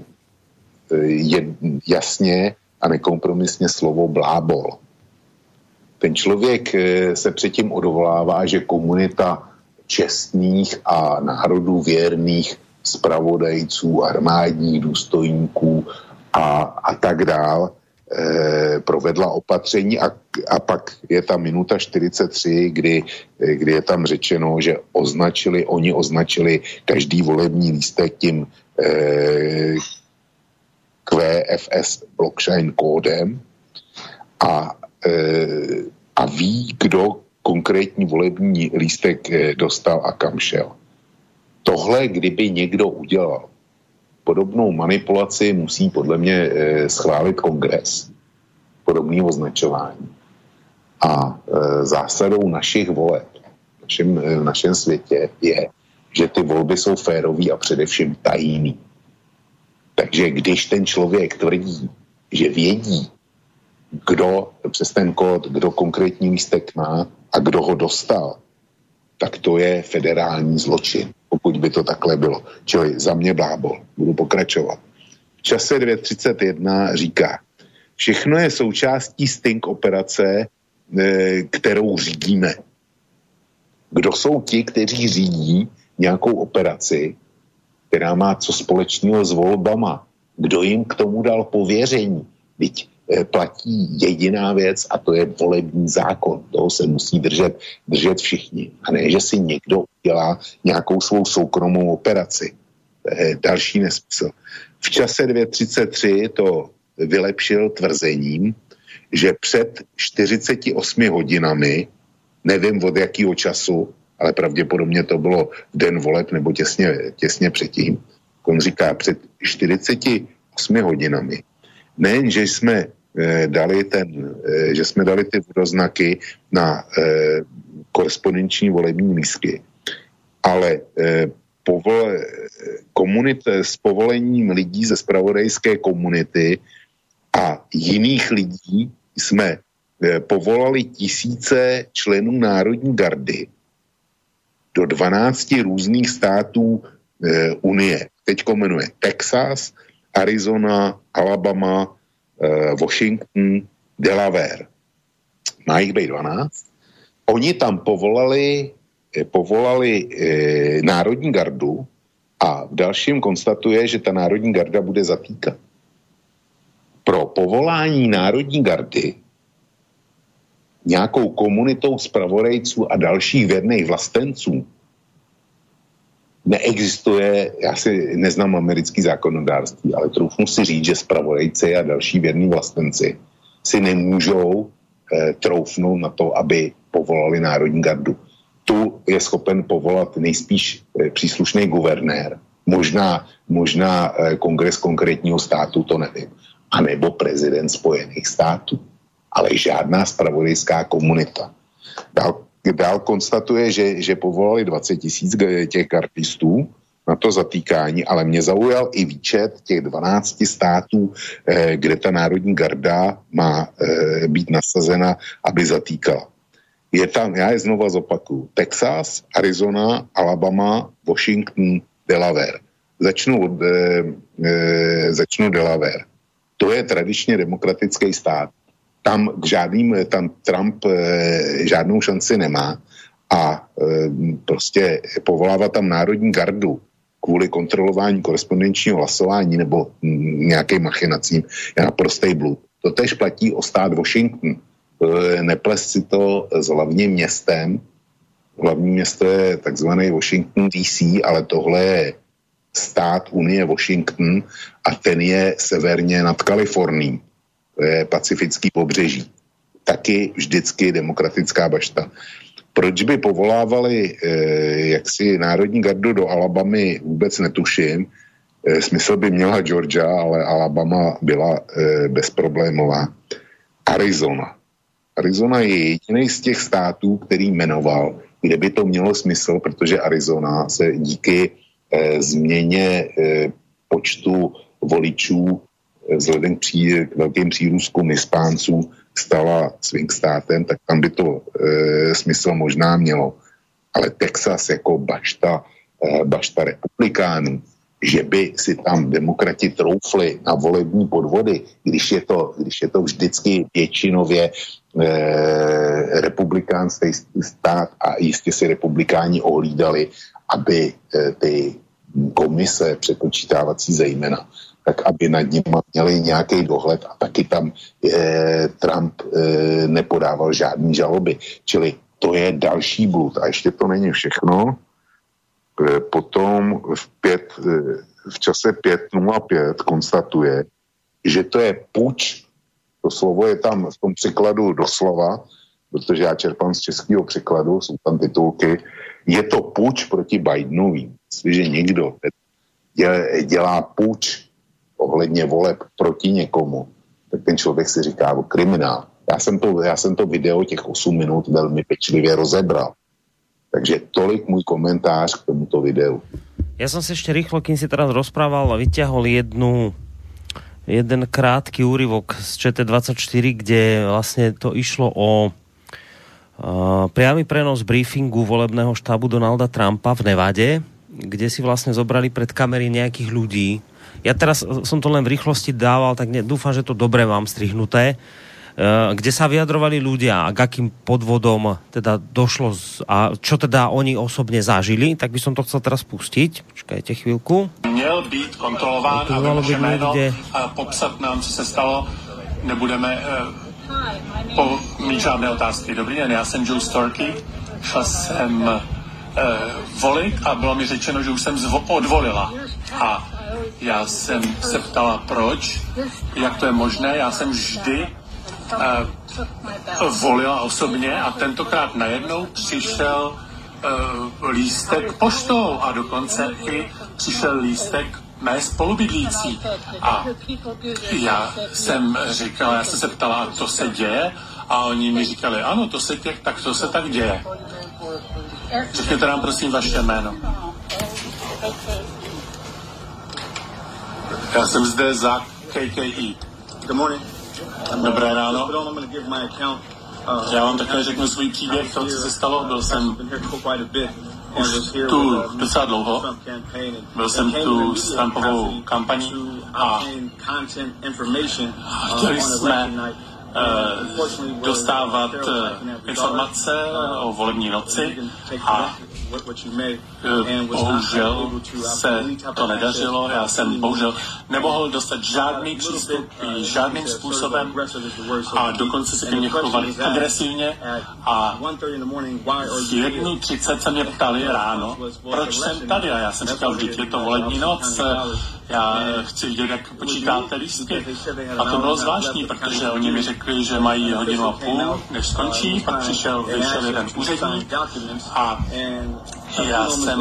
jasně a nekompromisně slovo blábol. Ten člověk se předtím odvolává, že komunita čestných a národů věrných zpravodajců, armádních důstojníků a, a tak dál eh, provedla opatření a, a pak je ta minuta čtyřicet tři, kdy, kdy je tam řečeno, že označili, oni označili každý volební lístek tím eh, Q F S blockchain kódem a, eh, a ví, kdo konkrétní volební lístek dostal a kam šel. Tohle, kdyby někdo udělal, podobnou manipulaci musí podle mě schválit kongres. Podobné označování. A zásadou našich voleb v našem, v našem světě je, že ty volby jsou férový a především tajný. Takže když ten člověk tvrdí, že vědí, kdo přes ten kód, kdo konkrétní lístek má a kdo ho dostal, tak to je federální zločin, pokud by to takhle bylo. Čili za mě blábol. Budu pokračovat. V čase dvě třicet jedna říká, všechno je součástí sting operace, kterou řídíme. Kdo jsou ti, kteří řídí nějakou operaci, která má co společného s volbama? Kdo jim k tomu dal pověření? Vždyť platí jediná věc a to je volební zákon. Toho se musí držet, držet všichni. A ne, že si někdo udělá nějakou svou soukromou operaci. To je další nesmysl. V čase dvě třicet tři to vylepšil tvrzením, že před čtyřiceti osmi hodinami, nevím od jakého času, ale pravděpodobně to bylo v den voleb nebo těsně, těsně předtím, on říká před čtyřiceti osmi hodinami, nejen, že jsme eh, dali ten, eh, že jsme dali ty vodoznaky na eh, korespondenční volební lístky, ale eh, povol, komunit, s povolením lidí ze zpravodajské komunity a jiných lidí jsme eh, povolali tisíce členů Národní gardy do dvanácti různých států eh, Unie. Teďko jmenuje Texas, Arizona, Alabama, eh, Washington, Delaware. Má jich být dvanáct. Oni tam povolali, eh, povolali eh, Národní gardu a v dalším konstatuje, že ta Národní garda bude zatýkat. Pro povolání Národní gardy nějakou komunitou zpravodajců a dalších věrných vlastenců neexistuje, já si neznám americký zákonodárství, ale troufnu si říct, že zpravodajci a další věrní vlastenci si nemůžou eh, troufnout na to, aby povolali Národní gardu. Tu je schopen povolat nejspíš eh, příslušný guvernér, možná, možná eh, kongres konkrétního státu, to nevím, anebo prezident Spojených států, ale žádná zpravodajská komunita. Dál, dál konstatuje, že, že povolali dvacet tisíc těch gardistů na to zatýkání, ale mě zaujal i výčet těch dvanácti států, eh, kde ta Národní garda má eh, být nasazena, aby zatýkala. Je tam, já je znova zopakuju, Texas, Arizona, Alabama, Washington, Delaware. Začnu, od, eh, eh, začnu Delaware. To je tradičně demokratický stát. Tam k žádným, tam Trump e, žádnou šanci nemá a e, prostě povolává tam Národní gardu kvůli kontrolování korespondenčního hlasování nebo m, nějakým machinacím je naprostej blud. To tež platí o stát Washington. E, neples si to s hlavním městem. Hlavní město je takzvaný Washington D C, ale tohle je stát Unie Washington a ten je severně nad Kalifornií. To je pacifický pobřeží. Taky vždycky demokratická bašta. Proč by povolávali eh, jaksi Národní gardu do Alabamy, vůbec netuším. Eh, smysl by měla Georgia, ale Alabama byla eh, bezproblémová. Arizona. Arizona je jediný z těch států, který jmenoval, kde by to mělo smysl, protože Arizona se díky eh, změně eh, počtu voličů vzhledem k, pří, k velkým přírůstkům Hispánců stala swing státem, tak tam by to e, smysl možná mělo. Ale Texas jako bašta, e, bašta republikánů, že by si tam demokrati troufli na volební podvody, když je to, když je to vždycky většinově e, republikánský stát a jistě si republikáni ohlídali, aby e, ty komise přepočítávací zejména tak aby nad ním měli nějaký dohled a taky tam e, Trump e, nepodával žádný žaloby. Čili to je další blud. A ještě to není všechno. E, potom v, pět, e, v čase pět nula pět konstatuje, že to je puč, to slovo je tam v tom překladu doslova, protože já čerpám z českého překladu, jsou tam titulky, je to puč proti Bidenovi. Jestliže někdo dělá puč ohledně voleb proti někomu, tak ten člověk si říká o kriminál. Já jsem to, já jsem to video těch osm minut velmi pečlivě rozebral. Takže tolik můj komentář k tomuto videu. Ja som si ešte rýchlo, kým si teraz rozprával, vyťahol jednu jeden krátky úryvok z Č T dvadsaťštyri, kde vlastne to išlo o uh, priamy prenos briefingu volebného štábu Donalda Trumpa v Nevade, kde si vlastne zobrali pred kamery nejakých ľudí. Ja teraz som to len v rýchlosti dával, tak ne, dúfam, že to dobre mám strihnuté, uh, kde sa vyjadrovali ľudia a k akým podvodom teda došlo z, a čo teda oni osobne zažili, tak by som to chcel teraz pustiť. Počkajte chvíľku. Měl být kontrolován a vaše jméno a popsat nám, co se stalo. Nebudeme uh, po, mít žádné otázky. Dobrý den, já jsem Joe Storky. Šla jsem uh, volit a bylo mi řečeno, že už jsem zvo- odvolila. A já jsem se ptala, proč, jak to je možné. Já jsem vždy uh, volila osobně a tentokrát najednou přišel uh, lístek poštou a dokonce i přišel lístek mé spolubydlící. A já jsem říkala, já jsem se ptala, to se děje? A oni mi říkali, ano, to se tě, tak to se tak děje. Řekněte nám prosím vaše jméno. Já jsem zde za K K E. Good morning. Dobré ráno. Já vám také řeknu svůj příběh, to, co se stalo. Byl jsem už tu docela dlouho. Byl jsem tu s Trumpovou kampaní a chtěli jsme uh, dostávat uh, informace o volební noci a bohužel se to nedařilo. Já jsem bohužel nemohl dostat žádný přístup žádným způsobem a dokonce se ke mně chovali agresivně a v jednu třicet se mě ptali ráno, proč jsem tady a já jsem říkal, vždyť je to volební noc, já chci vidět, jak počítáte lístky. A to bylo zvláštní, protože oni mi řekli, že mají hodinu a půl, než skončí, pak přišel, vyšel jeden úředník a já jsem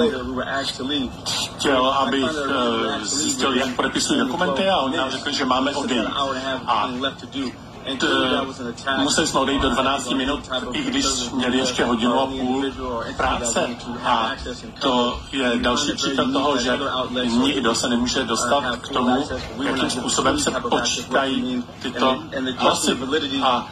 chtěl, abych uh, zjistil, jak podepisují dokumenty a oni nám řekli, že máme odejít. A t, museli jsme odejít do dvanáct minut, i když měli ještě hodinu a půl práce. A to je další příklad toho, že nikdo se nemůže dostat k tomu, jakým způsobem se počítají tyto hlasy. A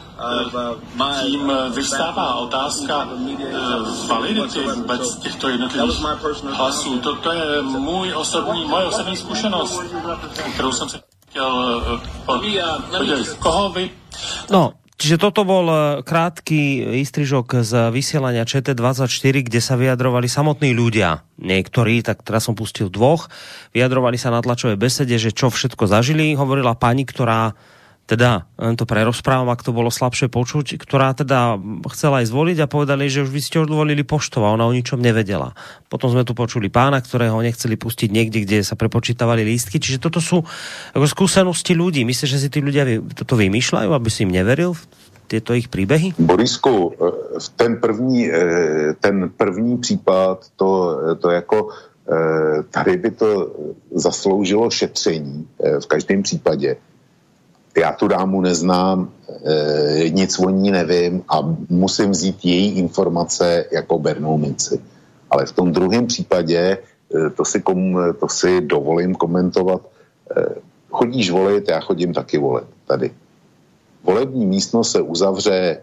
tím vystává otázka validity vůbec těchto jednotlivých hlasů. Toto je můj osobní, moje osobní zkušenost, kterou jsem se chtěl podělit. Koho vy? No, čiže toto bol krátky výstrižok z vysielania Č T dvadsaťštyri, kde sa vyjadrovali samotní ľudia. Niektorí, tak teraz som pustil dvoch, vyjadrovali sa na tlačovej besede, že čo všetko zažili. Hovorila pani, ktorá teda, len to prerozprávam, ak to bolo slabšie počuť, ktorá teda chcela aj zvoliť a povedali, že už vy ste odvolili poštou a ona o ničom nevedela. Potom sme tu počuli pána, ktorého nechceli pustiť niekde, kde sa prepočítavali lístky. Čiže toto sú ako skúsenosti ľudí. Myslíš, že si tí ľudia toto vymýšľajú, aby si im neveril v tieto ich príbehy? Borisku, ten první, ten první případ, to, to jako tady by to zasloužilo šetření v každém případě. Já tu dámu neznám, e, nic o ní nevím a musím vzít její informace jako bernou minci. Ale v tom druhém případě, e, to, si kom, to si dovolím komentovat, e, chodíš volit, já chodím taky volit tady. Volební místnost se uzavře e,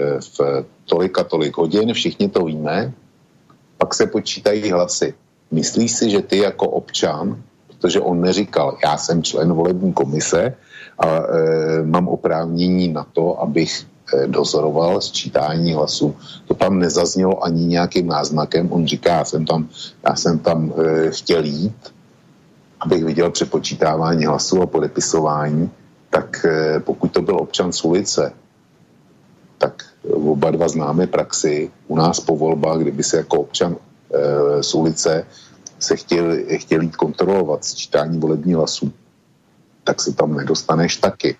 v tolik a tolik hodin, všichni to víme, pak se počítají hlasy. Myslíš si, že ty jako občan, protože on neříkal, já jsem člen volební komise, a e, mám oprávnění na to, abych e, dozoroval sčítání hlasů. To tam nezaznělo ani nějakým náznakem. On říká, já jsem tam, já jsem tam e, chtěl jít, abych viděl přepočítávání hlasů a podepisování, tak e, pokud to byl občan z ulice, tak oba dva známe praxi. U nás po volbách, kdyby se jako občan e, z ulice se chtěl, chtěl jít kontrolovat sčítání volebních hlasů, tak se tam nedostaneš taky.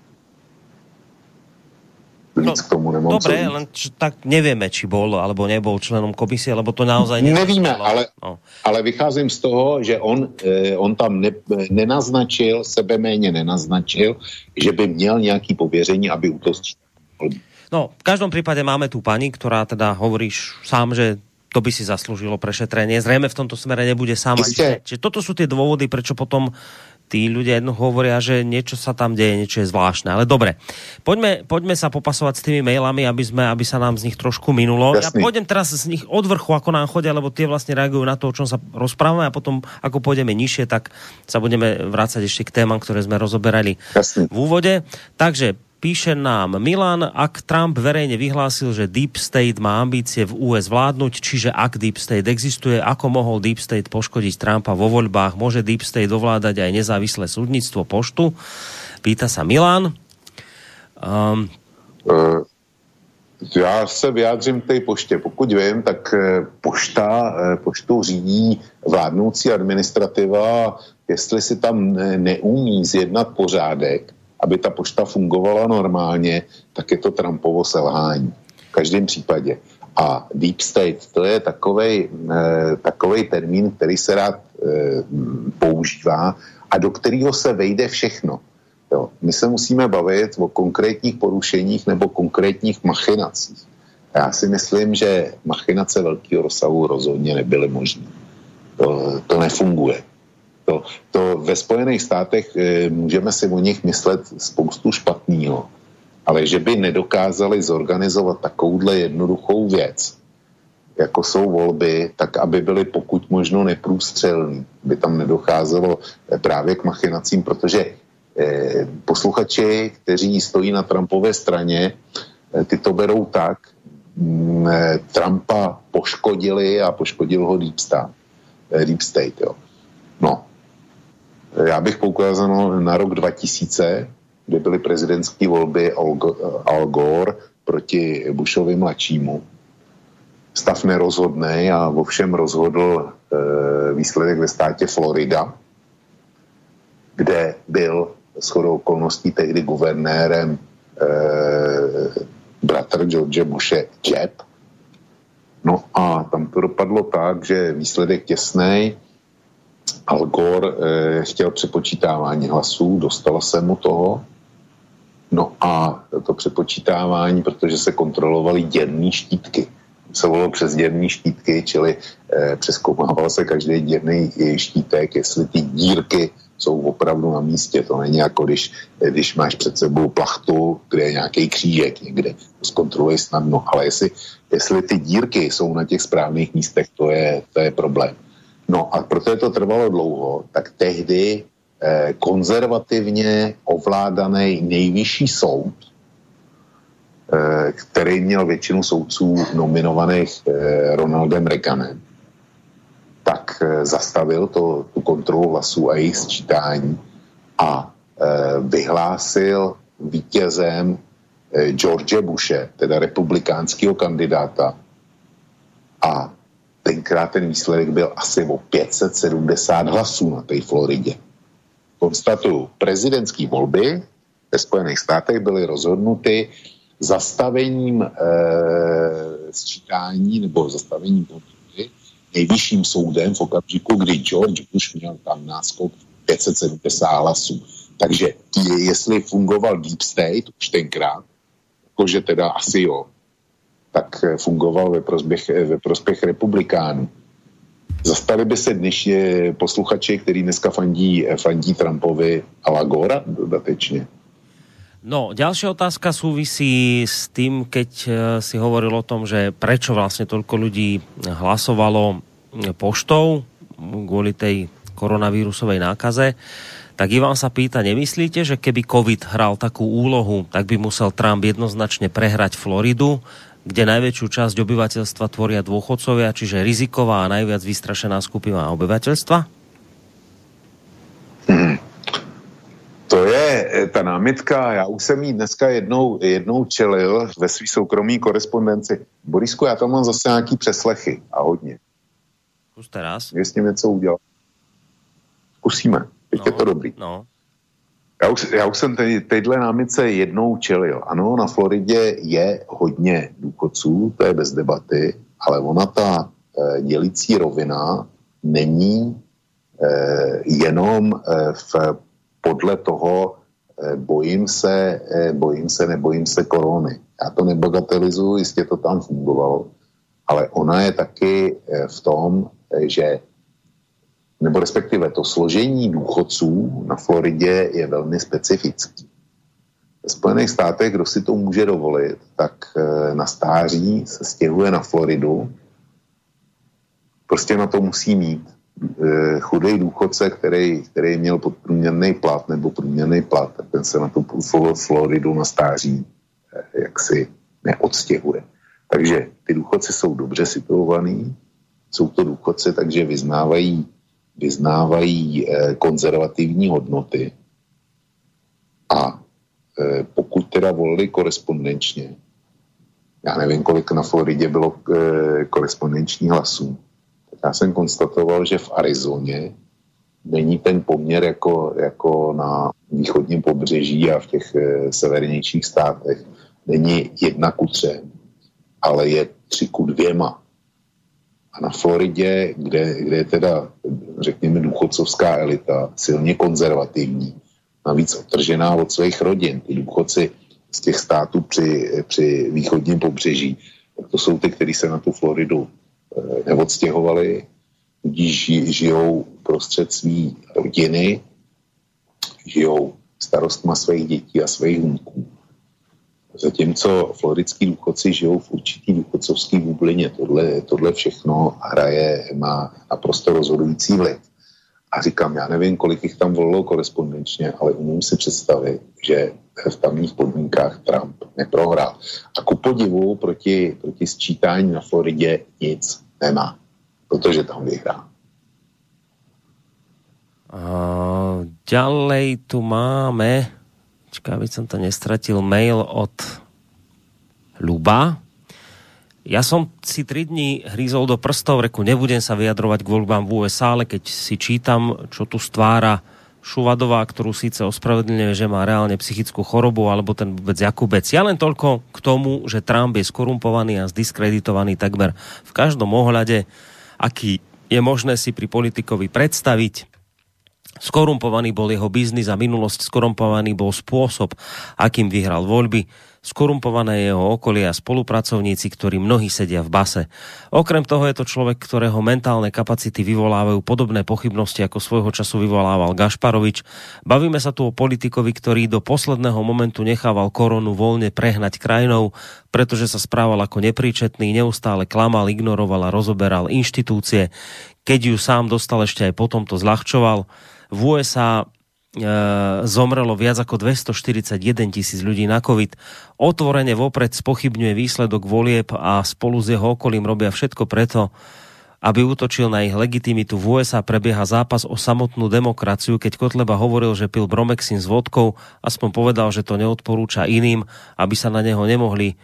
Víc no, k tomu nemám dobre, len č- tak nevieme, či bol alebo nebol členom komisie, lebo to naozaj neviem. Nevíme, ale, no. ale vycházím z toho, že on, eh, on tam ne, nenaznačil, sebeméně nenaznačil, že by měl nějaký pověření, aby u toho sčítal. No, v každom prípade máme tu pani, ktorá teda hovoríš sám, že to by si zaslúžilo prešetrenie. Zrejme v tomto smere nebude sama. Čiže toto sú tie dôvody, prečo potom tí ľudia jedno hovoria, že niečo sa tam deje, niečo je zvláštne. Ale dobre, poďme, poďme sa popasovať s tými mailami, aby, sme, aby sa nám z nich trošku minulo. Jasný. Ja pôjdem teraz z nich od vrchu, ako nám chodia, lebo tie vlastne reagujú na to, o čom sa rozprávame, a potom, ako pôjdeme nižšie, tak sa budeme vrácať ešte k témam, ktoré sme rozoberali Jasný. v úvode. Takže píše nám Milan, ak Trump verejne vyhlásil, že Deep State má ambície v ú es vládnuť, čiže ak Deep State existuje, ako mohol Deep State poškodiť Trumpa vo voľbách? Môže Deep State ovládať aj nezávislé súdnictvo, poštu? Pýta sa Milan. Um, uh, já se vyjádřím k té poště. Pokud vím, tak pošta, poštu řídí vládnoucí administrativa. Jestli si tam neumí zjednat pořádek, aby ta pošta fungovala normálně, tak je to Trumpovo selhání. V každém případě. A Deep State, to je takovej, eh, takovej termín, který se rád eh, používá a do kterého se vejde všechno. Jo. My se musíme bavit o konkrétních porušeních nebo konkrétních machinacích. Já si myslím, že machinace velkého rozsahu rozhodně nebyly možné. To, to nefunguje. To, to ve Spojených státech e, můžeme si o nich myslet spoustu špatného, ale že by nedokázali zorganizovat takovouhle jednoduchou věc, jako jsou volby, tak aby byly pokud možno neprůstřelný, by tam nedocházelo e, právě k machinacím, protože e, posluchači, kteří stojí na Trumpové straně, e, ty to berou tak, m, e, Trumpa poškodili a poškodil ho Deep State. E, Deep State, jo. No, já bych poukázal na rok dva tisíce, kde byly prezidentské volby Al Gore proti Bushovi mladšímu. Stav nerozhodnej a vo všem rozhodl e, výsledek ve státě Florida, kde byl shodou okolností tehdy guvernérem e, bratr George Bushe Jeb. No a tam to dopadlo tak, že výsledek těsnej. Al Gore eh, chtěl přepočítávání hlasů, dostalo se mu toho. No a to přepočítávání, protože se kontrolovaly děrní štítky. Se volilo přes děrní štítky, čili eh, přezkoumával se každý děrný štítek, jestli ty dírky jsou opravdu na místě. To není jako když, když máš před sebou plachtu, kde je nějaký křížek někde. To zkontroluješ snadno, ale jestli, jestli ty dírky jsou na těch správných místech, to je, to je problém. No a protože to trvalo dlouho, tak tehdy eh, konzervativně ovládaný nejvyšší soud, eh, který měl většinu soudců nominovaných eh, Ronaldem Reaganem, tak eh, zastavil to, tu kontrolu hlasů a jejich sčítání a eh, vyhlásil vítězem eh, George Bushe, teda republikánského kandidáta, a tenkrát ten výsledek byl asi o pět set sedmdesát hlasů na té Floridě. Konstatuju, prezidentské volby ve Spojených státech byly rozhodnuty zastavením e, sčítání nebo zastavením volby nejvyšším soudem v okamžiku, kdy George Bush měl tam náskok pět set sedmdesát hlasů. Takže jestli fungoval Deep State už tenkrát, jakože teda asi jo, tak fungoval ve prospěch, ve prospěch republikánů. Zastali by se dnešní posluchači, který dneska fandí, fandí Trumpovi a la Gora dodatečne? No, ďalšia otázka súvisí s tým, keď si hovoril o tom, že prečo vlastne toľko ľudí hlasovalo poštou kvôli tej koronavírusovej nákaze. Tak Ivan sa pýta, nemyslíte, že keby COVID hral takú úlohu, tak by musel Trump jednoznačne prehrať Floridu, kde najväčšiu časť obyvateľstva tvoria dôchodcovia, čiže riziková a najviac vystrašená skupina obyvateľstva? Hmm. To je ta námitka, já už jsem jí dneska jednou, jednou čelil ve svý soukromý korespondenci. Borisku, já tam mám zase nějaký přeslechy a hodně. Zkus teraz. Je s tím něco udělat. Zkusíme, teď no, je to dobrý. No. Já už, já už jsem te, teďhle námitce jednou čelil. Ano, na Floridě je hodně důchodců, to je bez debaty, ale ona ta e, dělící rovina není e, jenom e, v, podle toho e, bojím se, e, bojím se, nebojím se korony. Já to nebagatelizuji, jistě to tam fungovalo, ale ona je taky e, v tom, e, že nebo respektive to složení důchodců na Floridě je velmi specifický. V Spojených státech, kdo si to může dovolit, tak na stáří se stěhuje na Floridu. Prostě na to musí mít. Chudej důchodce, který, který měl podprůměrný plat nebo průměrný plat, tak ten se na tu Floridu na stáří jaksi neodstěhuje. Takže ty důchodci jsou dobře situovaní, jsou to důchodci, takže vyznávají, vyznávají konzervativní hodnoty a pokud teda volili korespondenčně, já nevím, kolik na Floridě bylo korespondenční hlasů, tak já jsem konstatoval, že v Arizoně není ten poměr jako, jako na východním pobřeží a v těch severnějších státech. Není jedna ku třem, ale je tři ku dvěma. A na Floridě, kde, kde je teda, řekněme, důchodcovská elita silně konzervativní, navíc odtržená od svých rodin. Ty důchodci z těch států při, při východním pobřeží, tak to jsou ty, kteří se na tu Floridu e, neodstěhovali, tudíž žijou prostřed svý rodiny, žijou starostma svých dětí a svých vnuků. Zatímco floridský důchodci žijou v určitý důchodcovský bublině. Tohle, tohle všechno hraje, má naprosto rozhodující vliv. A říkám, já nevím, kolik jich tam volilo korespondenčně, ale umím si představit, že v tamních podmínkách Trump neprohrál. A ku podivu proti, proti sčítání na Floridě nic nemá, protože tam vyhrál. Uh, ďalej tu máme, čaká, aby som to nestratil, mail od Ľuba. Ja som si tri dní hrízol do prstov, reku, nebudem sa vyjadrovať k voľbám v ú es á, ale keď si čítam, čo tu stvára Šuvadová, ktorú síce ospravedlňuje, že má reálne psychickú chorobu, alebo ten vôbec Jakubec. Ja len toľko k tomu, že Trump je skorumpovaný a zdiskreditovaný takmer v každom ohľade, aký je možné si pri politikovi predstaviť. Skorumpovaný bol jeho biznis a minulosť, skorumpovaný bol spôsob, akým vyhral voľby, skorumpované jeho okolie a spolupracovníci, ktorí mnohí sedia v base. Okrem toho je to človek, ktorého mentálne kapacity vyvolávajú podobné pochybnosti, ako svojho času vyvolával Gašparovič. Bavíme sa tu o politikovi, ktorý do posledného momentu nechával koronu voľne prehnať krajinou, pretože sa správal ako nepríčetný, neustále klamal, ignoroval a rozoberal inštitúcie. Keď ju sám dostal, ešte aj potom to zľahčoval. V ú es á e, zomrelo viac ako dvestoštyridsaťjeden tisíc ľudí na COVID. Otvorene vopred spochybňuje výsledok volieb a spolu s jeho okolím robia všetko preto, aby útočil na ich legitimitu. V ú es á prebieha zápas o samotnú demokraciu. Keď Kotleba hovoril, že pil Bromexin s vodkou, aspoň povedal, že to neodporúča iným, aby sa na neho nemohli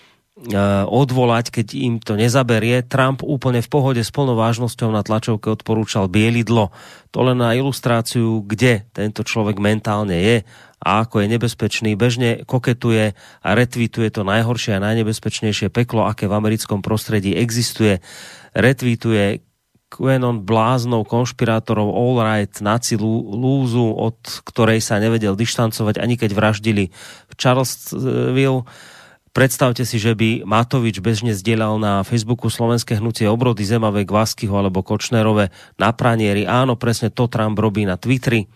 odvolať, keď im to nezaberie. Trump úplne v pohode s plnou vážnosťou na tlačovke odporúčal bielidlo. To len na ilustráciu, kde tento človek mentálne je a ako je nebezpečný. Bežne koketuje a retweetuje to najhoršie a najnebezpečnejšie peklo, aké v americkom prostredí existuje. Retweetuje QAnon bláznov, konšpirátorov, all right, naci lúzu, od ktorej sa nevedel dištancovať, ani keď vraždili v Charlottesville. Predstavte si, že by Matovič bežne zdieľal na Facebooku Slovenské hnutie obrody Zemavej, Kváskyho alebo Kočnerové na pranieri. Áno, presne to Trump robí na Twitteri.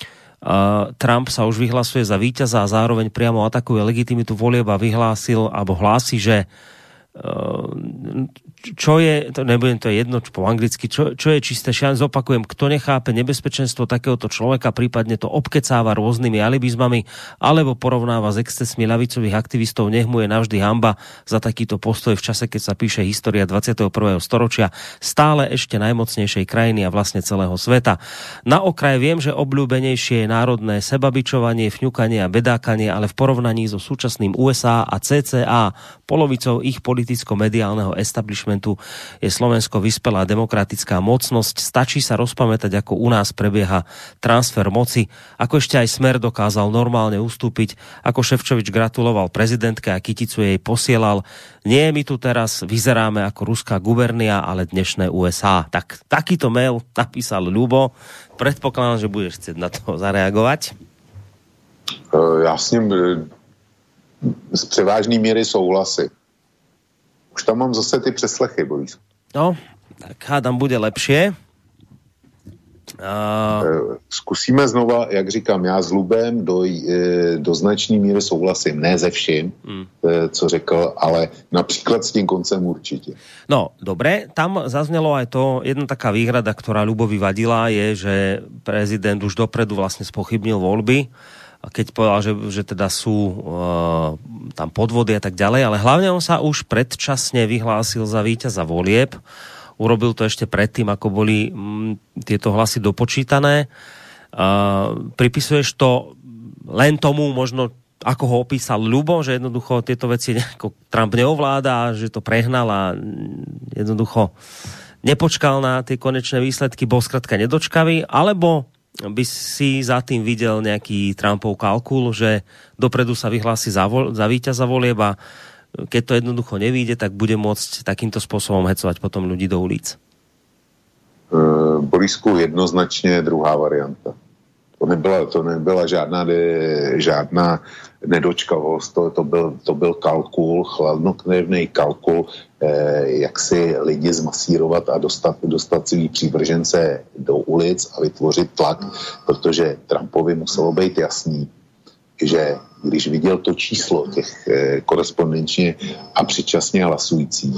Uh, Trump sa už vyhlasuje za víťaza a zároveň priamo atakuje legitimitu volieb a vyhlásil, alebo hlási, že uh, čo je, to nebudem to jedno po anglicky, čo, čo je čisté šian, zopakujem, kto nechápe nebezpečenstvo takéhoto človeka, prípadne to obkecáva rôznymi alibizmami, alebo porovnáva s excesmi ľavicových aktivistov, nech mu je navždy hanba za takýto postoj v čase, keď sa píše história dvadsiateho prvého storočia, stále ešte najmocnejšej krajiny a vlastne celého sveta. Na okraj viem, že obľúbenejšie je národné sebabičovanie, fňukanie a bedákanie, ale v porovnaní so súčasným ú es á a cé cé á, polovicou ich politicko-mediálneho establishmentu, je Slovensko vyspelá demokratická mocnosť. Stačí sa rozpamätať, ako u nás prebieha transfer moci, ako ešte aj Smer dokázal normálne ustúpiť, ako Šefčovič gratuloval prezidentke a kyticu jej posielal. Nie, my tu teraz vyzeráme ako ruská gubernia, ale dnešné ú es á. Tak, takýto mail napísal Ľubo. Predpokladám, že budeš chcieť na to zareagovať. Já s ním z převážné míry souhlasím. Už tam mám zase ty přeslechy, Boris. No, tak hádam, bude lepšie. Uh... Zkusíme znova, jak říkám, já s Lubem do, do značné míry souhlasím, ne ze vším, mm. co řekl, ale například s tím koncem určitě. No, dobre, tam zaznelo aj to, jedna taká výhrada, ktorá Ľubovi vadila, je, že prezident už dopredu vlastne spochybnil voľby, keď povedal, že, že teda sú uh, tam podvody a tak ďalej, ale hlavne on sa už predčasne vyhlásil za víťaza volieb. Urobil to ešte predtým, ako boli m, tieto hlasy dopočítané. Uh, pripisuješ to len tomu, možno ako ho opísal Ľubo, že jednoducho tieto veci nejako Trump neovláda, že to prehnal a jednoducho nepočkal na tie konečné výsledky, bol skrátka nedočkavý, alebo by si za tým videl nejaký Trumpov kalkul, že dopredu sa vyhlási za, vo, za víťaza volieb a keď to jednoducho nevíde, tak bude môcť takýmto spôsobom hecovať potom ľudí do ulic. Uh, Borisku, jednoznačně druhá varianta. To nebyla, to nebyla žádná, žádná nedočkavost, to, to, byl, to byl kalkul, chladnokrevný kalkul, eh, jak si lidi zmasírovat a dostat, dostat svý přívržence do ulic a vytvořit tlak, protože Trumpovi muselo být jasný, že když viděl to číslo těch eh, korespondenčně a předčasně hlasujících,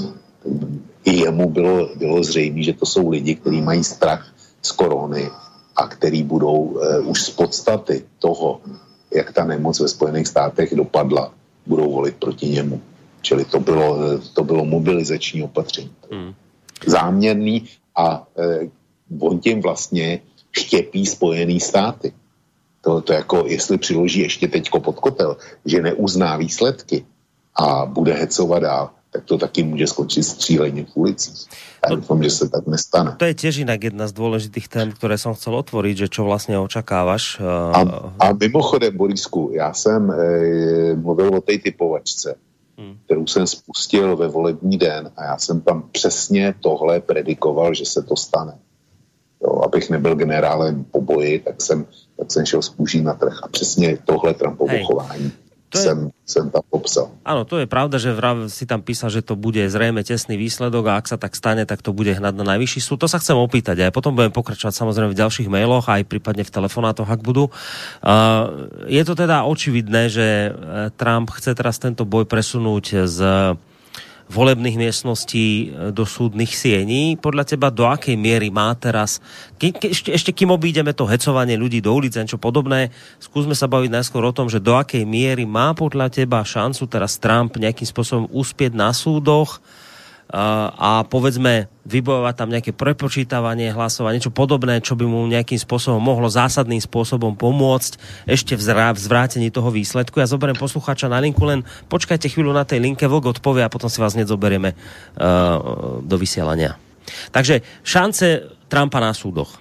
i jemu bylo, bylo zřejmé, že to jsou lidi, kteří mají strach z korony a který budou eh, už z podstaty toho, jak ta nemoc ve Spojených státech dopadla, budou volit proti němu. Čili to bylo, to bylo mobilizační opatření. Mm. Záměrný a eh, on tím vlastně štěpí Spojený státy. To, to jako, jestli přiloží ještě teďko pod kotel, že neuzná výsledky a bude hecovat dál, tak to taky může skončit střílením v ulicích. Ja dúfam, že sa tak nestane. To je tiež inak jedna z dôležitých tém, ktoré som chcel otvoriť, že čo vlastne očakávaš. A, a mimochodem, Borisku, já jsem e, mluvil o tej typovačce, hmm. kterou jsem spustil ve volební den a já jsem tam přesně tohle predikoval, že se to stane. Jo, abych nebyl generálem po boji, tak jsem, tak jsem šel z kůží na trh a přesně tohle Trumpovo chování je, jsem, jsem tam popsal. Áno, to je pravda, že vrav, si tam písal, že to bude zrejme tesný výsledok a ak sa tak stane, tak to bude hnať na najvyšší súd. To sa chcem opýtať a potom budem pokračovať samozrejme v ďalších mailoch aj prípadne v telefonátoch, ak budú. Uh, je to teda očividné, že Trump chce teraz tento boj presunúť z volebných miestností do súdnych siení. Podľa teba do akej miery má teraz, ke, ke, ešte, ešte kým obídeme to hecovanie ľudí do ulic a niečo podobné, skúsme sa baviť najskôr o tom, že do akej miery má podľa teba šancu teraz Trump nejakým spôsobom uspieť na súdoch a, a povedzme vybojovať tam nejaké prepočítavanie hlasov a niečo podobné, čo by mu nejakým spôsobom mohlo zásadným spôsobom pomôcť ešte v, zrá, v zvrátení toho výsledku. Ja zoberiem poslucháča na linku, len počkajte chvíľu na tej linke, Vlk odpovie a potom si vás hneď zoberieme uh, do vysielania. Takže šance Trumpa na súdoch.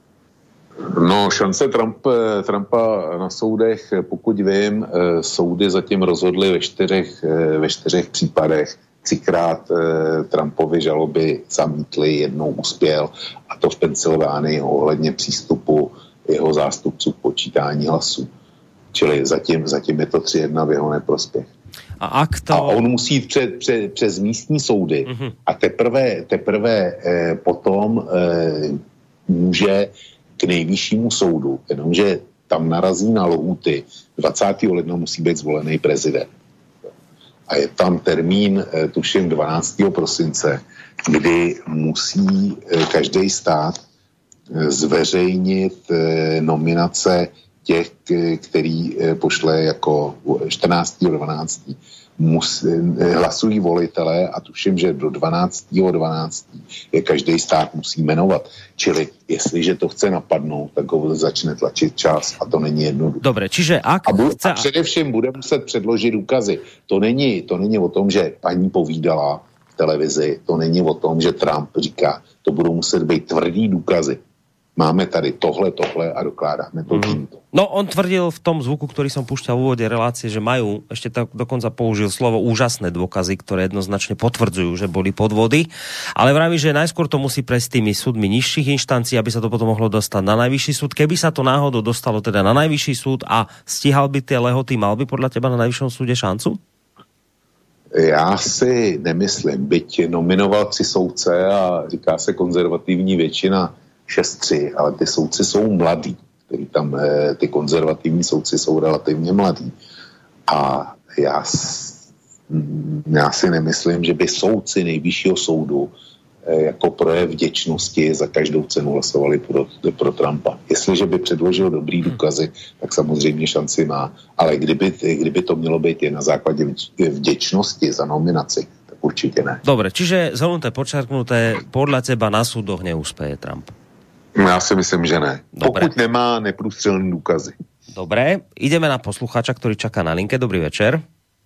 No, šance Trump, Trumpa na soudech, pokud vím, soudy zatím rozhodly ve čtyřech, ve čtyřech případech. Třikrát eh, Trumpovy žaloby zamítly, jednou uspěl, a to v Pensylvánii ohledně přístupu jeho zástupců k počítání hlasů. Čili zatím, zatím je to tři jedna v jeho neprospěch. A, ak to... a on musí jít před, před, přes místní soudy mm-hmm. a teprve, teprve eh, potom eh, může k nejvyššímu soudu, jenomže tam narazí na lhůty, dvacátého ledna musí být zvolený prezident. A je tam termín, tuším, dvanáctého prosince, kdy musí každý stát zveřejnit nominace těch, který pošle jako čtrnáctého dvanáctého Mus, hlasují volitelé a tuším, že do dvanáctého dvanáctého je každý stát musí jmenovat. Čili jestliže to chce napadnout, tak ho začne tlačit čas a to není jednoduché. Dobre, čiže ak... A, bu- chce... a především bude muset předložit důkazy. To není, to není o tom, že paní povídala v televizi, to není o tom, že Trump říká, to budou muset být tvrdý důkazy. Máme tady tohle, tohle a dokládáme to týmto. No, on tvrdil v tom zvuku, ktorý som púšťal v úvode relácie, že majú, ešte tak dokonca použil slovo úžasné dôkazy, ktoré jednoznačne potvrdzujú, že boli podvody, ale vraví, že najskôr to musí prejsť tými súdmi nižších inštancií, aby sa to potom mohlo dostať na najvyšší súd. Keby sa to náhodou dostalo teda na najvyšší súd a stíhal by tie lehoty, mal by podľa teba na najvyššom súde šancu? Já si nemyslím, byť nominoval tři soudce a říká se konzervativní většina šest tři, ale ty soudci jsou mladí, který tam, ty konzervativní soudci jsou relativně mladí. A já, já si nemyslím, že by soudci nejvyššího soudu jako projev vděčnosti za každou cenu hlasovali pro, pro Trumpa. Jestliže by předložil dobrý důkazy, tak samozřejmě šanci má. Ale kdyby, kdyby to mělo být jen na základě vděčnosti za nominaci, tak určitě ne. Dobre, čiže zhrnuté, počarknuté, podľa teba na súdoch neúspeje Trump? Já si myslím, že ne. Dobre. Pokud nemá neprůstřelné důkazy. Dobre, ideme na poslucháča, ktorý čaká na linke. Dobrý večer.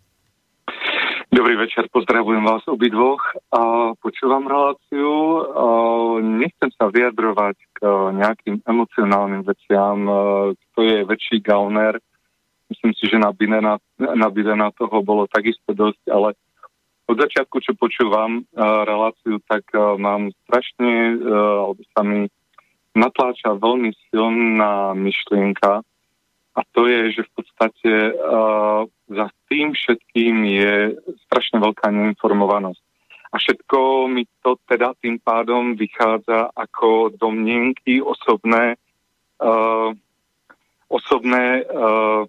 Dobrý večer, pozdravujem vás obidvoch a počúvam reláciu. A nechcem sa vyjadrovať k nejakým emocionálnym veciam, kto je väčší gauner. Myslím si, že na Bidena, na Bidena toho bolo takisto dosť, ale od začiatku, čo počúvam reláciu, tak mám strašne, alebo sa mi natláča veľmi silná myšlienka, a to je, že v podstate uh, za tým všetkým je strašne veľká neinformovanosť. A všetko mi to teda tým pádom vychádza ako domnienky, osobné, uh, osobné uh,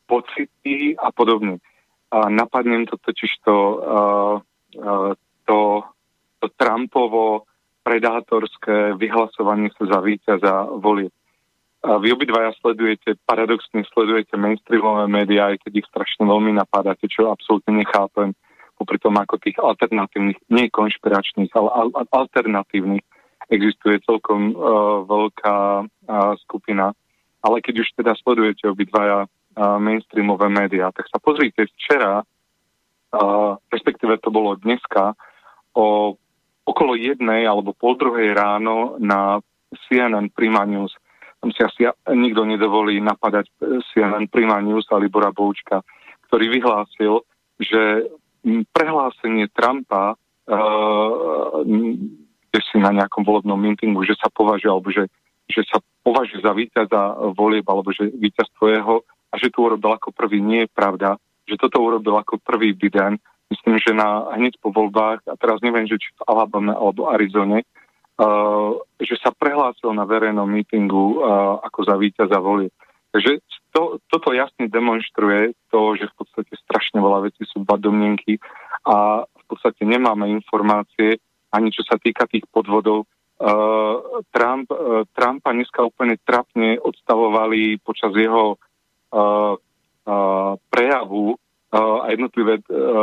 pocity a podobne. A napadnem to totiž to, uh, uh, to, to Trumpovo predátorské vyhlasovanie sa za víťaza volieb. A vy obidvaja sledujete, paradoxne sledujete mainstreamové médiá, aj keď ich strašne veľmi napádate, čo absolútne nechápem, popri tom ako tých alternatívnych, nie konšpiračných, ale al- alternatívnych existuje celkom uh, veľká uh, skupina. Ale keď už teda sledujete obidvaja uh, mainstreamové médiá, tak sa pozrite včera, uh, respektíve to bolo dneska, o okolo jednej alebo pol druhej ráno na C N N Prima News. Tam si asi nikto nedovolí napadať C N N Prima News a Libora Boučka, ktorý vyhlásil, že prehlásenie Trumpa uh, kde si na nejakom volebnom meetingu, že sa považuje, alebo že, že sa považuje za víťaza volieb, alebo že víťazstvo jeho a že to urobil ako prvý, nie je pravda, že toto urobil ako prvý Biden. Myslím, že na, hneď po voľbách, a teraz neviem, že či v Alabame alebo Arizone, Uh, že sa prehlásil na verejnom mítingu uh, ako za víťaza volieb. Takže to, toto jasne demonstruje to, že v podstate strašne veľa vecí sú iba domnienky a v podstate nemáme informácie, ani čo sa týka tých podvodov. Uh, Trump, uh, Trumpa dneska úplne trapne odstavovali počas jeho uh, uh, prejavu uh, a jednotlivé uh,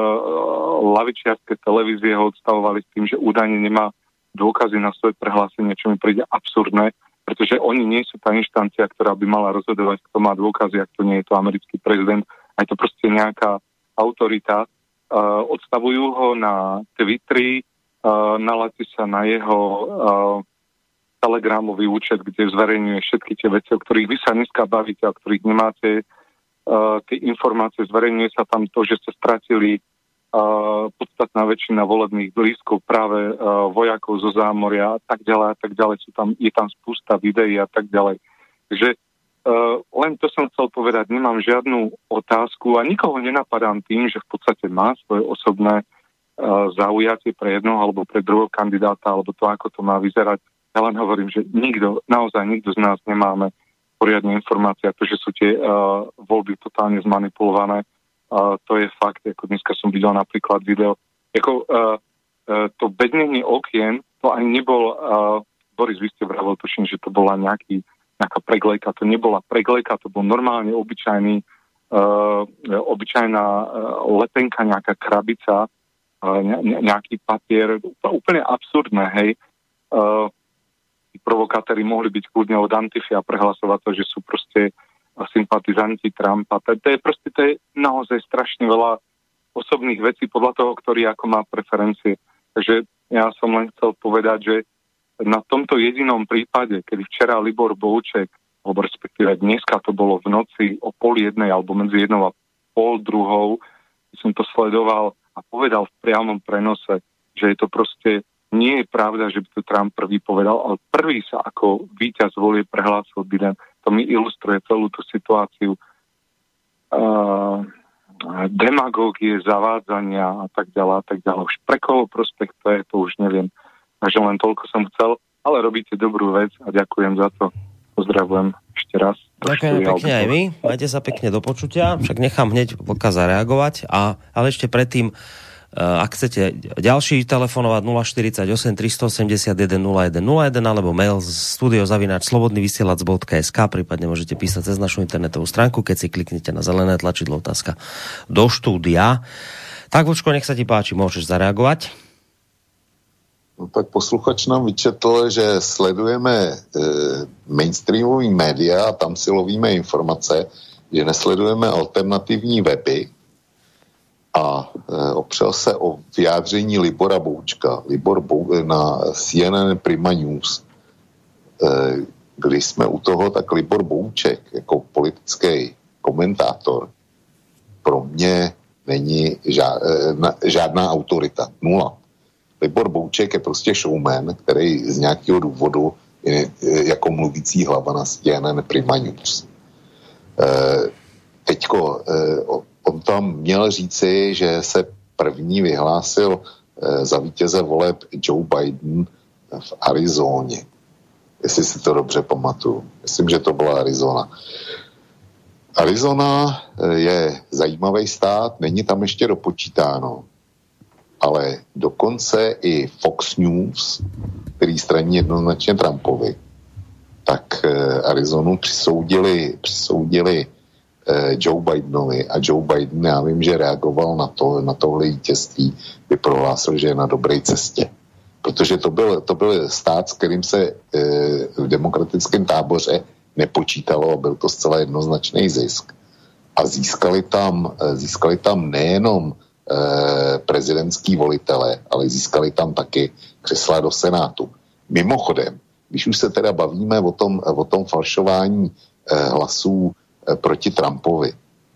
lavičiarske televízie ho odstavovali s tým, že údajne nemá dôkazy na svoje prehlásenie, čo mi príde absurdné, pretože oni nie sú tá inštancia, ktorá by mala rozhodovať, kto má dôkazy, ak to nie je to americký prezident, aj to proste nejaká autorita. Uh, odstavujú ho na Twitteri, uh, naláti sa na jeho uh, telegramový účet, kde zverejňuje všetky tie veci, o ktorých vy sa dneska bavíte, o ktorých nemáte uh, tie informácie. Zverejňuje sa tam to, že sa stratili Uh, podstatná väčšina volebných blízkov práve uh, vojakov zo zámoria a tak ďalej a tak ďalej. Sú tam, je tam spústa videí a tak ďalej. Takže uh, len to som chcel povedať, nemám žiadnu otázku a nikoho nenapadám tým, že v podstate má svoje osobné uh, zaujatie pre jednoho alebo pre druhého kandidáta alebo to, ako to má vyzerať. Ja len hovorím, že nikto, naozaj nikto z nás nemáme poriadne informácie, to, že sú tie uh, voľby totálne zmanipulované. Uh, to je fakt, ako dneska som videl napríklad video. Ako, uh, uh, to bednenie okien, to ani nebol, uh, Boris, vy ste vravil, tuším, že to bola nejaký, nejaká preglejka, to nebola preglejka, to bol normálne obyčajný, uh, obyčajná uh, letenka, nejaká krabica, uh, ne, nejaký papier, úplne absurdné, hej. Uh, provokátori mohli byť kľudne od Antify a prehlasovať to, že sú proste sympatizanti Trumpa. To, to je proste, to je naozaj strašne veľa osobných vecí podľa toho, ktorý ako má preferencie. Takže ja som len chcel povedať, že na tomto jedinom prípade, kedy včera Libor Bouček, alebo respektíve dneska to bolo v noci o pol jednej alebo medzi jednou a pol druhou, som to sledoval a povedal v priamom prenose, že je to proste nie je pravda, že by to Trump prvý povedal, ale prvý sa ako víťaz volie prehlásil Biden. To mi ilustruje celú tú situáciu uh, demagógie, zavádzania a tak ďalej a tak ďalej. Už pre koho prospekt to je, to už neviem. Takže len toľko som chcel, ale robíte dobrú vec a ďakujem za to. Pozdravujem ešte raz. Ďakujem pekne aj my. Majte sa pekne do počutia. Však nechám hneď Vlka zareagovať. A, ale ešte predtým, ak chcete ďalší telefonovať nula štyridsaťosem tristoosemdesiatjeden nula jeden nula jeden alebo mail studio zavináč slobodný vysielač bodka es ká, prípadne môžete písať cez našu internetovú stránku, keď si kliknete na zelené tlačidlo otázka do štúdia. Tak, Vlčko, nech sa ti páči, môžeš zareagovať. No tak posluchač nám vyčetl, že sledujeme e, mainstreamový média a tam si lovíme informace, že nesledujeme alternativní weby a e, opřel se o vyjádření Libora Boučka. Libor Bou, na C N N Prima News. E, když jsme u toho, tak Libor Bouček jako politický komentátor pro mě není žád, e, žádná autorita. Nula. Libor Bouček je prostě showman, který z nějakého důvodu je jako mluvící hlava na C N N Prima News. E, teďko, e, on tam měl říci, že se první vyhlásil e, za vítěze voleb Joe Biden v Arizóně. Jestli si to dobře pamatuju. Myslím, že to byla Arizona. Arizona je zajímavý stát, není tam ještě dopočítáno. Ale dokonce i Fox News, který straní jednoznačně Trumpovi, tak Arizonu přisoudili, přisoudili Joe Bidenovi a Joe Biden, já vím, že reagoval na to, na tohle vítězství, by prohlásil, že je na dobré cestě. Protože to byl, to byl stát, s kterým se v demokratickém táboře nepočítalo a byl to zcela jednoznačný zisk. A získali tam, získali tam nejenom prezidentský volitele, ale získali tam taky křesla do Senátu. Mimochodem, když už se teda bavíme o tom, o tom falšování hlasů proti Trumpovi,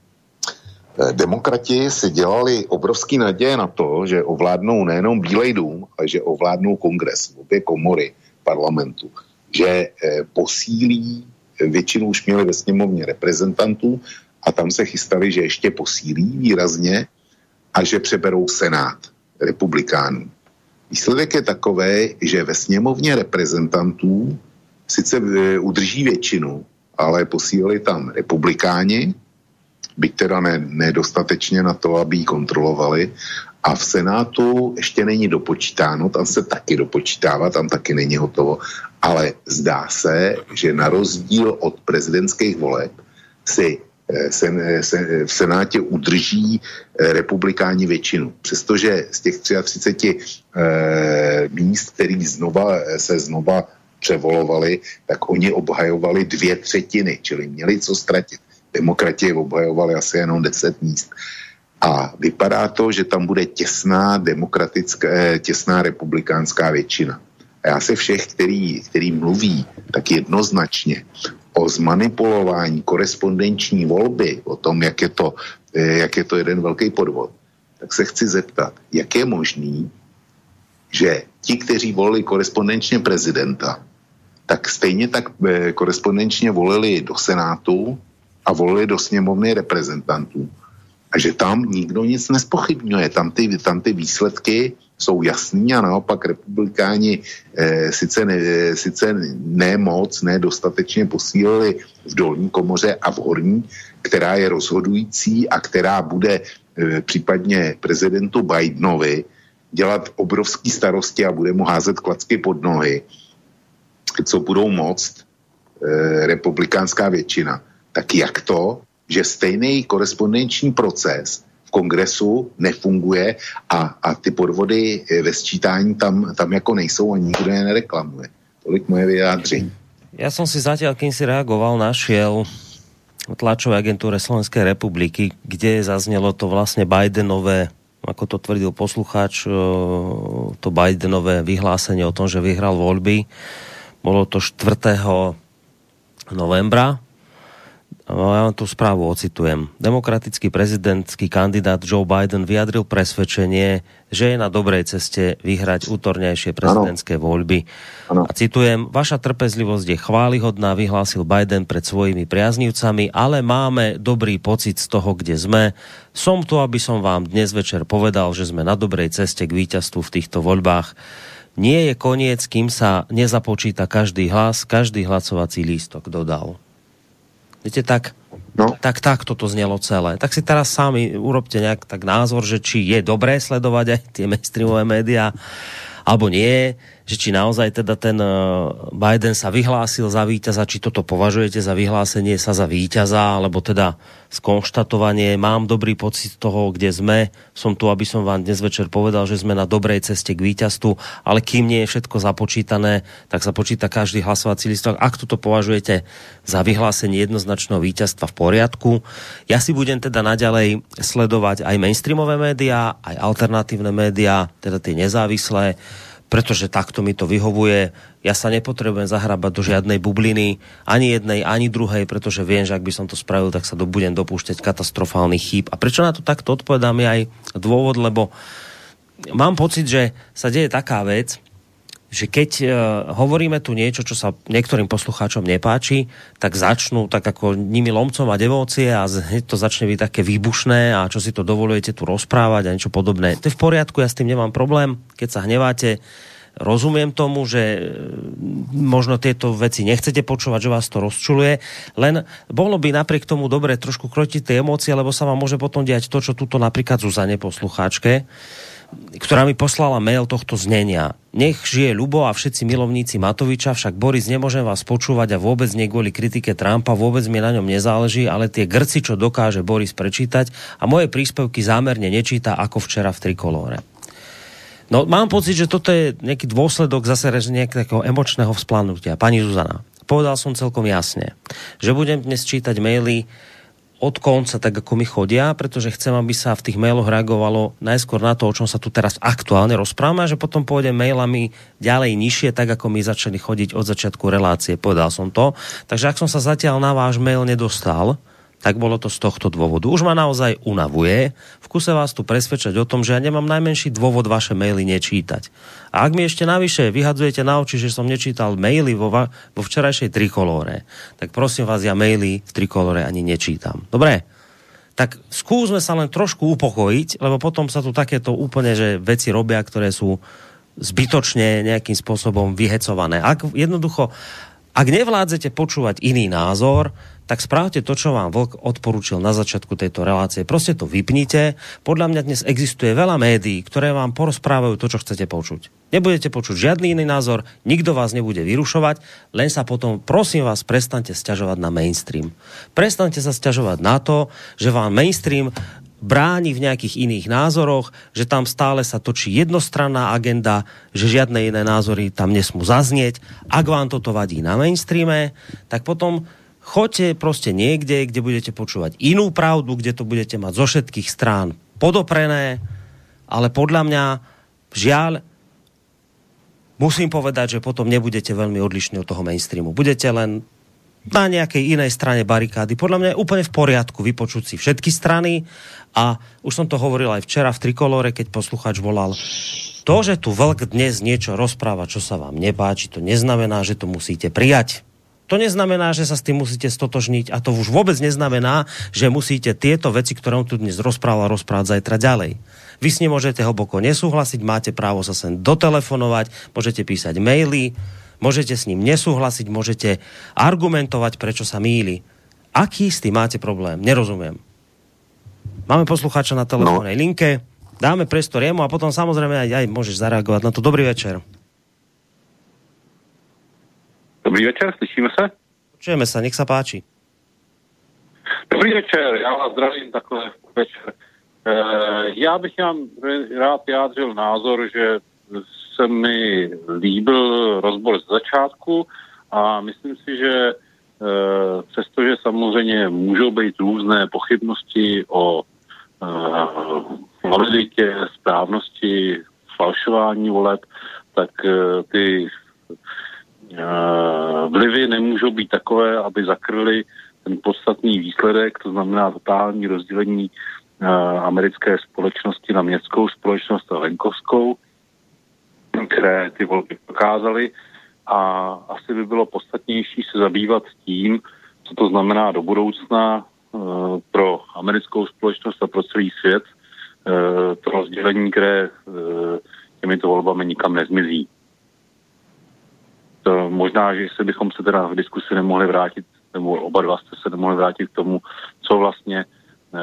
demokrati si dělali obrovský naděje na to, že ovládnou nejenom Bílej dům, ale že ovládnou kongres, obě komory parlamentu, že posílí, většinu už měli ve sněmovně reprezentantů a tam se chystali, že ještě posílí výrazně a že přeberou Senát republikánů. Výsledek je takový, že ve sněmovně reprezentantů sice udrží většinu, ale posílili tam republikáni, byť teda ne, nedostatečně na to, aby ji kontrolovali, a v Senátu ještě není dopočítáno, tam se taky dopočítává, tam taky není hotovo, ale zdá se, že na rozdíl od prezidentských voleb si Sen, sen, v Senátě udrží republikáni většinu. Přestože z těch třicet tři eh, míst, který znova, se znova převolovali, tak oni obhajovali dvě třetiny, čili měli co ztratit. Demokrati obhajovali asi jenom deset míst. A vypadá to, že tam bude těsná demokratická, těsná republikánská většina. A já se všech, který, který mluví, tak jednoznačně o zmanipulování korespondenční volby, o tom, jak je to, jak je to jeden velký podvod, tak se chci zeptat, jak je možný, že ti, kteří volili korespondenčně prezidenta, tak stejně tak korespondenčně volili do Senátu a volili do sněmovny reprezentantů. A že tam nikdo nic nespochybňuje. Tam ty, tam ty výsledky jsou jasný a naopak republikáni eh, sice, ne, sice ne moc, ne dostatečně posílili v dolní komoře a v horní, která je rozhodující a která bude eh, případně prezidentu Bidenovi dělat obrovský starosti a bude mu házet klacky pod nohy, co budou moct eh, republikánská většina. Tak jak to, že stejný korespondenční proces v kongresu nefunguje a, a ty podvody ve sčítání tam, tam jako nejsou a nikdo je nereklamuje. Tolik moje vyjádření. Ja som si zatiaľ, kým si reagoval, našiel v tlačovej agentúre Slovenskej republiky, kde zaznelo to vlastne Bidenové, ako to tvrdil poslucháč, to Bidenové vyhlásenie o tom, že vyhral voľby. Bolo to štvrtého novembra. Ja vám tú správu ocitujem. Demokratický prezidentský kandidát Joe Biden vyjadril presvedčenie, že je na dobrej ceste vyhrať útornejšie prezidentské ano. voľby. Ano. A citujem, vaša trpezlivosť je chválihodná, vyhlásil Biden pred svojimi priaznivcami, ale máme dobrý pocit z toho, kde sme. Som tu, aby som vám dnes večer povedal, že sme na dobrej ceste k víťazstvu v týchto voľbách. Nie je koniec, kým sa nezapočíta každý hlas, každý hlasovací lístok, dodal. Viete, tak, no. tak, tak toto znelo celé. Tak si teraz sami urobte nejak tak názor, že či je dobré sledovať aj tie mainstreamové médiá, alebo nie, že či naozaj teda ten Biden sa vyhlásil za víťaza, či toto považujete za vyhlásenie sa za víťaza, alebo teda skonštatovanie, mám dobrý pocit toho, kde sme, som tu, aby som vám dnes večer povedal, že sme na dobrej ceste k víťazstvu, ale kým nie je všetko započítané, tak sa počíta každý hlasovací listok. Ak toto považujete za vyhlásenie jednoznačného víťazstva, v poriadku. Ja si budem teda naďalej sledovať aj mainstreamové médiá, aj alternatívne médiá, teda tie nezávislé, pretože takto mi to vyhovuje. Ja sa nepotrebujem zahrabať do žiadnej bubliny, ani jednej, ani druhej, pretože viem, že ak by som to spravil, tak sa do, budem dopúšťať katastrofálnych chýb. A prečo na to takto odpovedám je aj dôvod, lebo mám pocit, že sa deje taká vec, že keď uh, hovoríme tu niečo, čo sa niektorým poslucháčom nepáči, tak začnú tak ako nimi lomcom a devócie a hneď to začne byť také výbušné a čo si to dovolujete tu rozprávať a niečo podobné. To je v poriadku, ja s tým nemám problém. Keď sa hneváte, rozumiem tomu, že možno tieto veci nechcete počúvať, že vás to rozčuluje, len bolo by napriek tomu dobre trošku krotiť tie emócie, lebo sa vám môže potom diať to, čo tuto napríklad Zuzane poslucháčke, ktorá mi poslala mail tohto znenia. Nech žije ľubo a všetci milovníci Matoviča, však Boris, nemôžem vás počúvať a vôbec nie kvôli kritike Trumpa, vôbec mi na ňom nezáleží, ale tie grci, čo dokáže Boris prečítať a moje príspevky zámerne nečíta ako včera v Trikolóre. No, mám pocit, že toto je nejaký dôsledok zase nejakého emočného vzplannutia. Pani Zuzana, povedal som celkom jasne, že budem dnes čítať maily od konca, tak ako mi chodia, pretože chcem, aby sa v tých mailoch reagovalo najskôr na to, o čom sa tu teraz aktuálne rozprávame, a že potom pôjdem mailami ďalej nižšie, tak ako mi začali chodiť od začiatku relácie. Povedal som to. Takže ak som sa zatiaľ na váš mail nedostal, tak bolo to z tohto dôvodu. Už ma naozaj unavuje. V kuse vás tu presvedčať o tom, že ja nemám najmenší dôvod vaše maily nečítať. A ak mi ešte navyše vyhadzujete na oči, že som nečítal maily vo, va- vo včerajšej Trikolóre, tak prosím vás, ja maily v Trikolóre ani nečítam. Dobre? Tak skúsme sa len trošku upokojiť, lebo potom sa tu takéto úplne, že veci robia, ktoré sú zbytočne nejakým spôsobom vyhecované. Ak jednoducho, ak nevládzete počúvať iný názor, tak správte to, čo vám Vlk odporúčil na začiatku tejto relácie. Proste to vypnite. Podľa mňa dnes existuje veľa médií, ktoré vám porozprávajú to, čo chcete počuť. Nebudete počuť žiadny iný názor, nikto vás nebude vyrušovať, len sa potom, prosím vás, prestaňte sťažovať na mainstream. Prestaňte sa sťažovať na to, že vám mainstream bráni v nejakých iných názoroch, že tam stále sa točí jednostranná agenda, že žiadne iné názory tam nesmú zaznieť. Ak vám toto vadí na mainstreame, tak potom choďte proste niekde, kde budete počúvať inú pravdu, kde to budete mať zo všetkých strán podoprené, ale podľa mňa, žiaľ, musím povedať, že potom nebudete veľmi odlišní od toho mainstreamu. Budete len na nejakej inej strane barikády. Podľa mňa je úplne v poriadku vypočuť si všetky strany a už som to hovoril aj včera v Trikolóre, keď poslucháč volal. To, že tu Vlk dnes niečo rozpráva, čo sa vám nepáči, to neznamená, že to musíte prijať. To neznamená, že sa s tým musíte stotožniť a to už vôbec neznamená, že musíte tieto veci, ktoré on tu dnes rozprával, rozprávať zajtra ďalej. Vy s ním môžete hlboko nesúhlasiť, máte právo sa sem dotelefonovať, môžete písať maily, môžete s ním nesúhlasiť, môžete argumentovať, prečo sa mýli. Aký s tým máte problém? Nerozumiem. Máme poslucháča na telefónnej no. linke, dáme priestor jemu a potom samozrejme aj, aj môžeš zareagovať na to. Dobrý večer. Dobrý večer, slyšíme se? Počujeme sa, nech sa páči. Dobrý večer, já vás zdravím takhle večer. E, já bych vám rád vyjádřil názor, že se mi líbil rozbor z začátku a myslím si, že e, přestože samozřejmě můžou být různé pochybnosti o e, validitě, správnosti, falšování voleb, tak e, ty vlivy nemůžou být takové, aby zakryly ten podstatný výsledek, to znamená totální rozdělení americké společnosti na městskou společnost a venkovskou, které ty volby prokázaly, a asi by bylo podstatnější se zabývat tím, co to znamená do budoucna pro americkou společnost a pro celý svět, to rozdělení, které těmito volbami nikam nezmizí. to možná, že jestli bychom se teda v diskusi nemohli vrátit, nebo oba dva jste se nemohli vrátit k tomu, co vlastně e,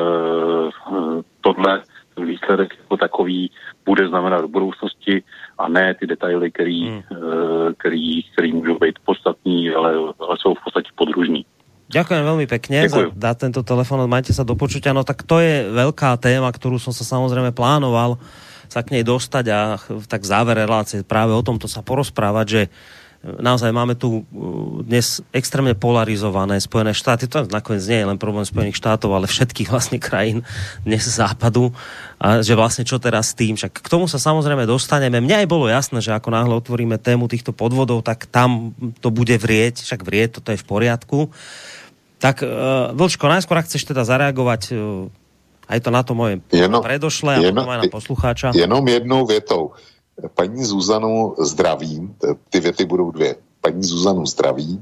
tohle výsledek jako takový bude znamenat do budoucnosti a ne ty detaily, který, hmm. e, který, který můžou být podstatný, ale, ale jsou v podstatě podružní. Ďakujem veľmi pekne Ďakujem. za dať tento telefón, majte sa do počutia. No tak to je veľká téma, ktorú som sa samozrejme plánoval sa k nej dostať a tak v závere relácie práve o tomto sa porozprávať, že naozaj máme tu dnes extrémne polarizované Spojené štáty. To nakoniec nie je len problém Spojených štátov, ale všetkých vlastne krajín dnes západu. A že vlastne čo teraz s tým? Však k tomu sa samozrejme dostaneme. Mne aj bolo jasné, že ako náhle otvoríme tému týchto podvodov, tak tam to bude vrieť. Však vrieť, toto je v poriadku. Tak, uh, Vlčko, najskôr, ak chceš teda zareagovať uh, aj to na to moje jenom, predošlé a potom aj na poslucháča. Jenom jednou větou. Paní Zuzanu zdravím, ty věty budou dvě. Paní Zuzanu zdravím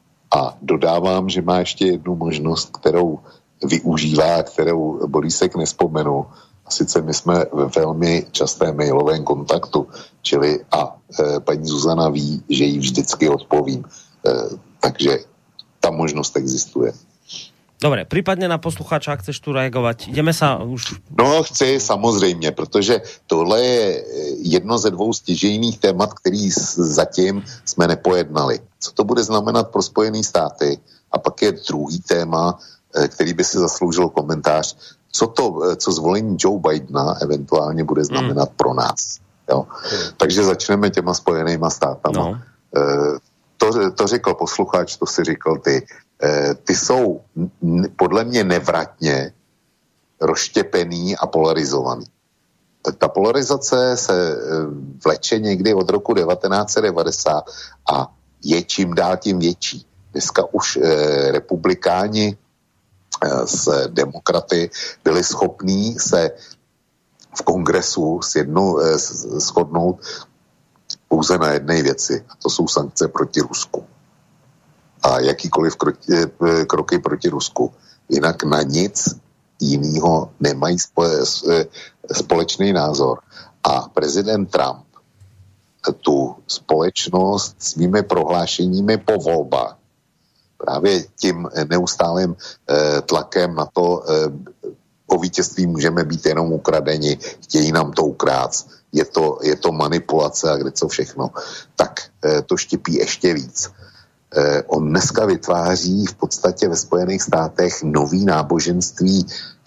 a dodávám, že má ještě jednu možnost, kterou využívá, kterou Borisek nespomenu. A sice my jsme ve velmi častém mailovém kontaktu, čili a e, paní Zuzana ví, že jí vždycky odpovím. E, takže ta možnost existuje. Dobre, prípadne na poslucháča, ak chceš tu reagovať. Ideme sa už... No, chci, samozřejmě, protože tohle je jedno ze dvou stěžejných témat, který zatím jsme nepojednali. Co to bude znamenat pro Spojené státy? A pak je druhý téma, který by si zasloužil komentář. Co to, co zvolení Joe Bidena eventuálně bude znamenat mm. pro nás. Jo? Mm. Takže začneme těma Spojenýma státama. No. To, to řekl posluchač, to si říkal ty. Ty jsou podle mě nevratně rozštěpený a polarizovaný. Ta polarizace se vleče někdy od roku devatenáct set devadesát a je čím dál tím větší. Dneska už eh, republikáni eh, s demokraty byli schopní se v kongresu sjednou, eh, shodnout pouze na jedné věci, a to jsou sankce proti Rusku. A jakýkoliv kroky, kroky proti Rusku. Jinak na nic jinýho nemají společný názor. A prezident Trump tu společnost svými prohlášeními po volbách, právě tím neustálým tlakem na to, o vítězství můžeme být jenom ukradeni, chtějí nám to ukrát, je to, je to manipulace a kde co všechno, tak to štěpí ještě víc. On dneska vytváří v podstatě ve Spojených státech nový náboženství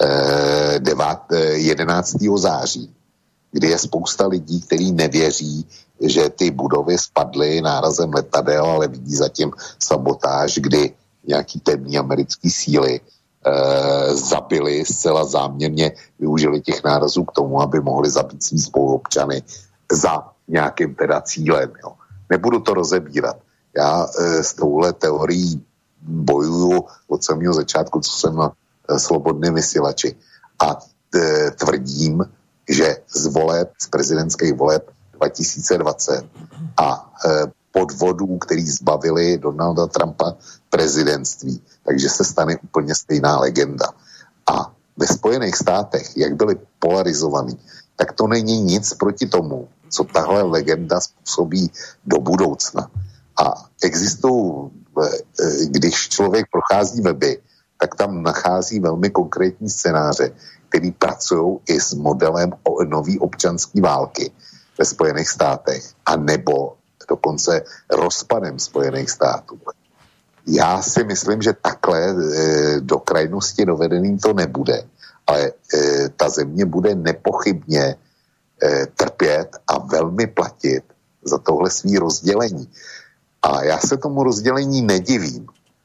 jedenáctého září, kdy je spousta lidí, kteří nevěří, že ty budovy spadly nárazem letadel, ale vidí zatím sabotáž, kdy nějaký temní americký síly eh, zabili zcela záměrně, využili těch nárazů k tomu, aby mohli zabít svý spoluobčany za nějakým teda cílem. Jo. Nebudu to rozebírat. Já e, s touhle teorií bojuju od samého začátku, co jsem na e, Slobodném vysílači. A e, tvrdím, že z voleb, z prezidentských voleb dva tisíce dvacet a e, podvodů, který zbavili Donalda Trumpa prezidentství, takže se stane úplně stejná legenda. A ve Spojených státech, jak byli polarizovaní, tak to není nic proti tomu, co tahle legenda způsobí do budoucna. A existují, když člověk prochází weby, tak tam nachází velmi konkrétní scénáře, který pracují i s modelem nový občanské války ve Spojených státech, a nebo dokonce rozpadem Spojených států. Já si myslím, že takhle do krajnosti dovedeným to nebude, ale ta země bude nepochybně trpět a velmi platit za tohle svý rozdělení. A já se tomu rozdělení nedivím.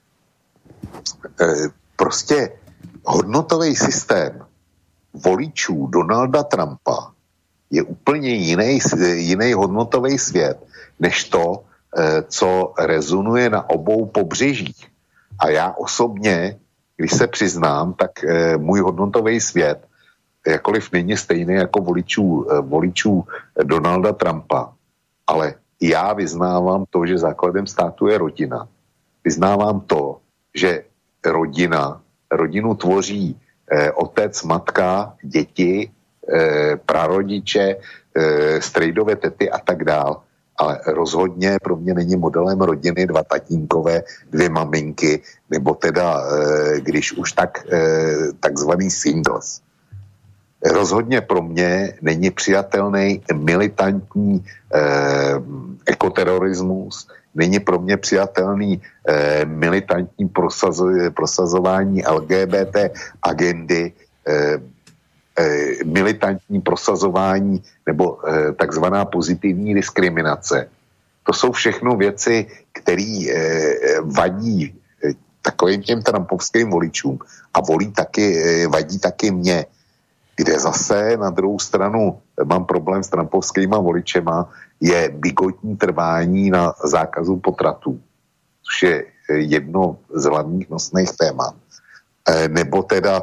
E, prostě hodnotový systém voličů Donalda Trumpa je úplně jiný, jiný hodnotový svět, než to, e, co rezonuje na obou pobřežích. A já osobně, když se přiznám, tak e, můj hodnotový svět jakkoliv není stejný jako voličů, e, voličů Donalda Trumpa, ale já vyznávám to, že základem státu je rodina. Vyznávám to, že rodina, rodinu tvoří eh, otec, matka, děti, eh, prarodiče, eh, strejdové tety a tak dál. ale rozhodně pro mě není modelem rodiny dva tatínkové, dvě maminky, nebo teda, když už tak, takzvaný singles. Rozhodně pro mě není přijatelný militantní eh, ekoterorismus, není pro mě přijatelný eh, militantní prosazo- prosazování L G B T agendy, eh, eh, militantní prosazování nebo eh, takzvaná pozitivní diskriminace. To jsou všechno věci, které eh, vadí eh, takovým těm trumpovským voličům a volí taky, eh, vadí taky mě, kde zase na druhou stranu mám problém s trumpovskýma voličema, je bigotní trvání na zákazu potratů, což je jedno z hlavních nosných témat. E, nebo teda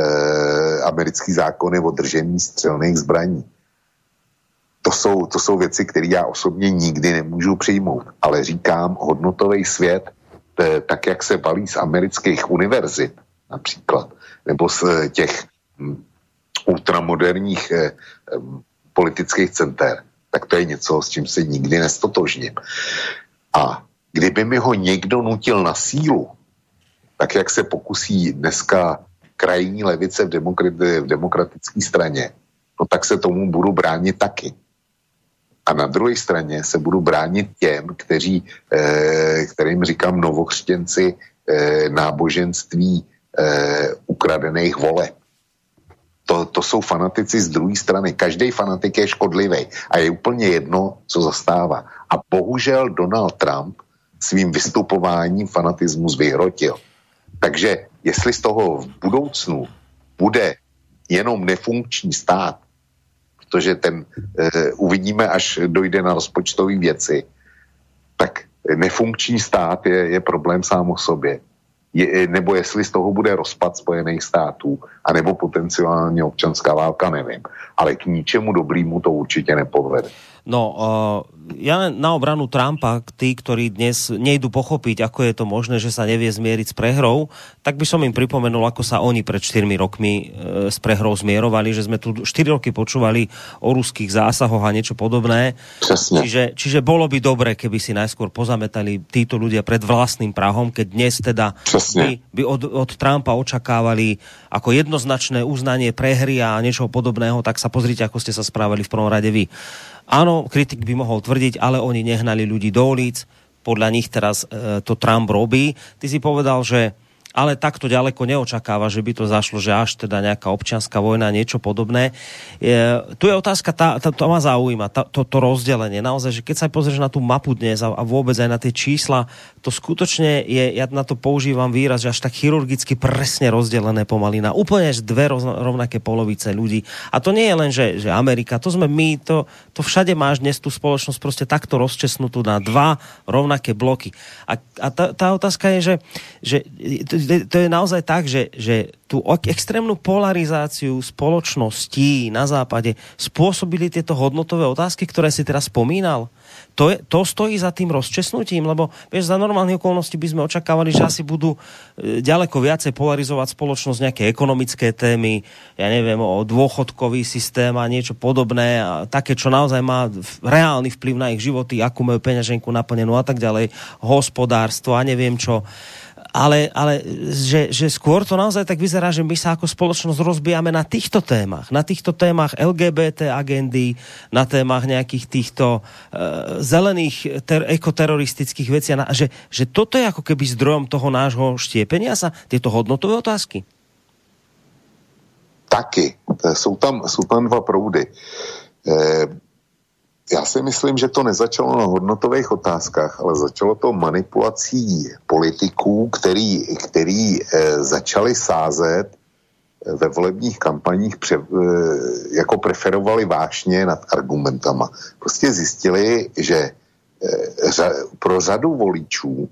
e, americký zákony o držení střelných zbraní. To jsou, to jsou věci, které já osobně nikdy nemůžu přijmout, ale říkám, hodnotový svět, e, tak jak se valí z amerických univerzit například, nebo z těch ultramoderních eh, eh, politických center, tak to je něco, s čím se nikdy nestotožním. A kdyby mi ho někdo nutil na sílu, tak jak se pokusí dneska krajní levice v, demokrati- v demokratické straně, no tak se tomu budu bránit taky. A na druhé straně se budu bránit těm, kteří, eh, kterým říkám novokřtěnci eh, náboženství eh, ukradených voleb. To, to jsou fanatici z druhé strany. Každý fanatik je škodlivý a je úplně jedno, co zastává. A bohužel Donald Trump svým vystupováním fanatismus vyhrotil. Takže jestli z toho v budoucnu bude jenom nefunkční stát, protože ten e, uvidíme, až dojde na rozpočtové věci, tak nefunkční stát je, je problém sám o sobě. Je, nebo jestli z toho bude rozpad Spojených států, anebo potenciálně občanská válka, nevím. Ale k ničemu dobrýmu to určitě nepovede. No, uh, ja na obranu Trumpa, tí, ktorí dnes nejdu pochopiť, ako je to možné, že sa nevie zmieriť s prehrou, tak by som im pripomenul, ako sa oni pred štyrmi rokmi uh, s prehrou zmierovali, že sme tu štyri roky počúvali o ruských zásahoch a niečo podobné. Presne. Čiže, čiže bolo by dobre, keby si najskôr pozametali títo ľudia pred vlastným prahom, keď dnes teda by, by od, od Trumpa očakávali ako jednoznačné uznanie prehry a niečo podobného, tak sa pozrite, ako ste sa správali v prvom rade vy. Áno, kritik by mohol tvrdiť, ale oni nehnali ľudí do ulic, podľa nich teraz e, to Trump robí. Ty si povedal, že ale takto ďaleko neočakáva, že by to zašlo, že až teda nejaká občianská vojna, niečo podobné. E, tu je otázka, tá, tá, to ma zaujíma, tá, to, to rozdelenie. Naozaj, že keď sa pozrieš na tú mapu dnes a, a vôbec aj na tie čísla, to skutočne je, ja na to používam výraz, že až tak chirurgicky presne rozdelené pomaly na úplne dve rovnaké polovice ľudí. A to nie je len, že, že Amerika, to sme my, to, to všade máš dnes tú spoločnosť proste takto rozčesnutú na dva rovnaké bloky. A, a tá, tá otázka je, že, že to je naozaj tak, že, že tú extrémnu polarizáciu spoločností na západe spôsobili tieto hodnotové otázky, ktoré si teraz spomínal. To, je, to stojí za tým rozčesnutím, lebo vieš, za normálne okolnosti by sme očakávali, že asi budú ďaleko viacej polarizovať spoločnosť nejaké ekonomické témy, ja neviem, o dôchodkový systém a niečo podobné, a také, čo naozaj má reálny vplyv na ich životy, akú majú peňaženku naplnenú a tak ďalej, hospodárstvo a neviem čo. Ale, ale že, že skôr to naozaj tak vyzerá, že my sa ako spoločnosť rozbijame na týchto témach. Na týchto témach el gé bé té agendy, na témach nejakých týchto uh, zelených ter- ekoteroristických vecí. A že, že toto je ako keby zdrojom toho nášho štiepenia sa, tieto hodnotové otázky? Taky. Jsou tam, jsou tam dva proudy. E, Já si myslím, že to nezačalo na hodnotových otázkách, ale začalo to manipulací politiků, který, který e, začali sázet ve volebních kampaních, pře, e, jako preferovali vášně nad argumentama. Prostě zjistili, že e, řa, pro řadu voličů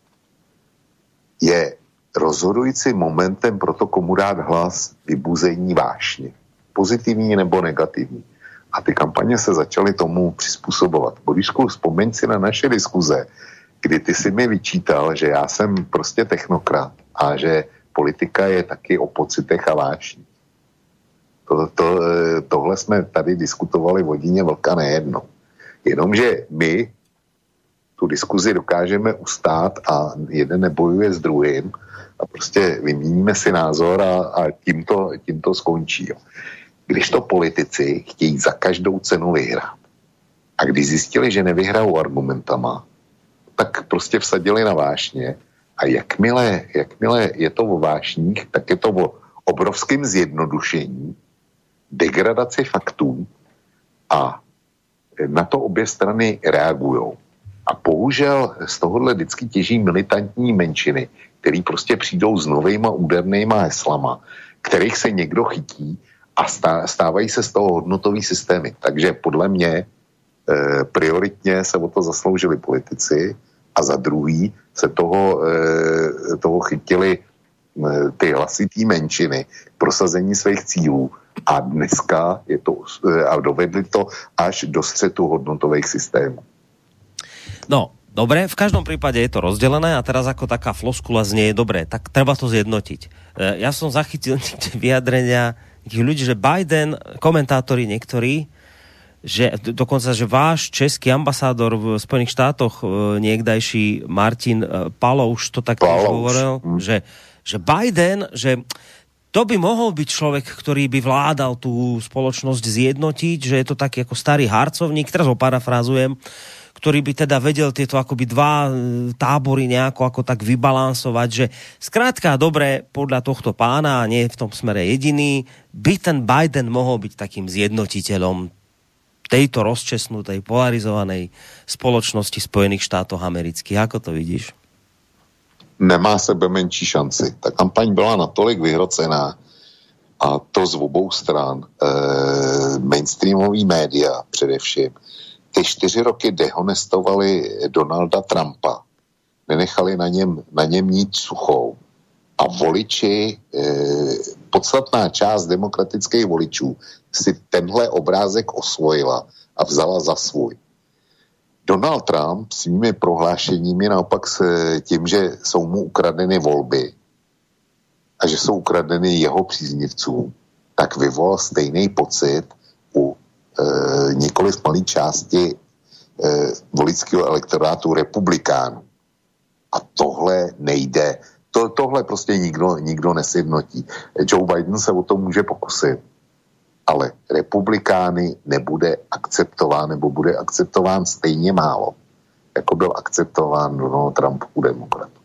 je rozhodujícím momentem pro to, komu dát hlas, vybuzení vášně. Pozitivní nebo negativní. A ty kampaně se začaly tomu přizpůsobovat. Borisku, vzpomeň si na naše diskuze, kdy ty si mi vyčítal, že já jsem prostě technokrat a že politika je taky o pocitech a vášní. To, to, tohle jsme tady diskutovali v hodině vlka nejedno. Jenomže my tu diskuzi dokážeme ustát a jeden nebojuje s druhým a prostě vyměníme si názor a, a tím, to, tím to skončí. Jo. Když to politici chtějí za každou cenu vyhrát a když zjistili, že nevyhrajou argumentama, tak prostě vsadili na vášně a jakmile, jakmile je to o vášních, tak je to o obrovském zjednodušení, degradaci faktů a na to obě strany reagujou. A bohužel z tohohle vždycky těží militantní menšiny, který prostě přijdou s novejma údernýma heslama, kterých se někdo chytí a stávají se z toho hodnotový systémy. Takže podle mě e, prioritně se o to zasloužili politici a za druhý se toho, e, toho chytili e, ty hlasitý menšiny k prosazení svých cílů a dneska je to, e, a dovedli to až do střetu hodnotových systémů. No, dobre, v každom prípade je to rozdelené a teraz ako taká floskula znie, dobre, tak treba to zjednotiť. Ja som zachytil vyjadrenia tých ľudí, že Biden, komentátori niektorí, že dokonca, že váš český ambasádor v Spojených štátoch, niekdajší Martin Palouš, to tak tiež hovoril, že, že Biden, že to by mohol byť človek, ktorý by vládal tú spoločnosť zjednotiť, že je to taký ako starý harcovník, teraz ho parafrázujem, ktorý by teda vedel tieto akoby dva tábory nejako ako tak vybalansovať, že skrátka dobre, podľa tohto pána, a nie v tom smere jediný, by ten Biden mohol byť takým zjednotiteľom tejto rozčesnutej, polarizovanej spoločnosti Spojených štátov amerických. Ako to vidíš? Nemá sebe menší šanci. Ta kampaň byla natolik vyhrocená a to z obou stran, e, mainstreamový média především, ty čtyři roky dehonestovali Donalda Trumpa, nenechali na něm, na něm nic suchou a voliči, e, podstatná část demokratických voličů si tenhle obrázek osvojila a vzala za svůj. Donald Trump svými prohlášeními naopak s tím, že jsou mu ukradeny volby a že jsou ukradeny jeho příznivcům, tak vyvolal stejný pocit u e, nikoli z malé části e, voličského elektorátu republikánů. A tohle nejde. To, tohle prostě nikdo, nikdo nesjednotí. Joe Biden se o to může pokusit, ale republikány nebude akceptován, nebo bude akceptován stejně málo, jako byl akceptován Donald Trump u demokratů.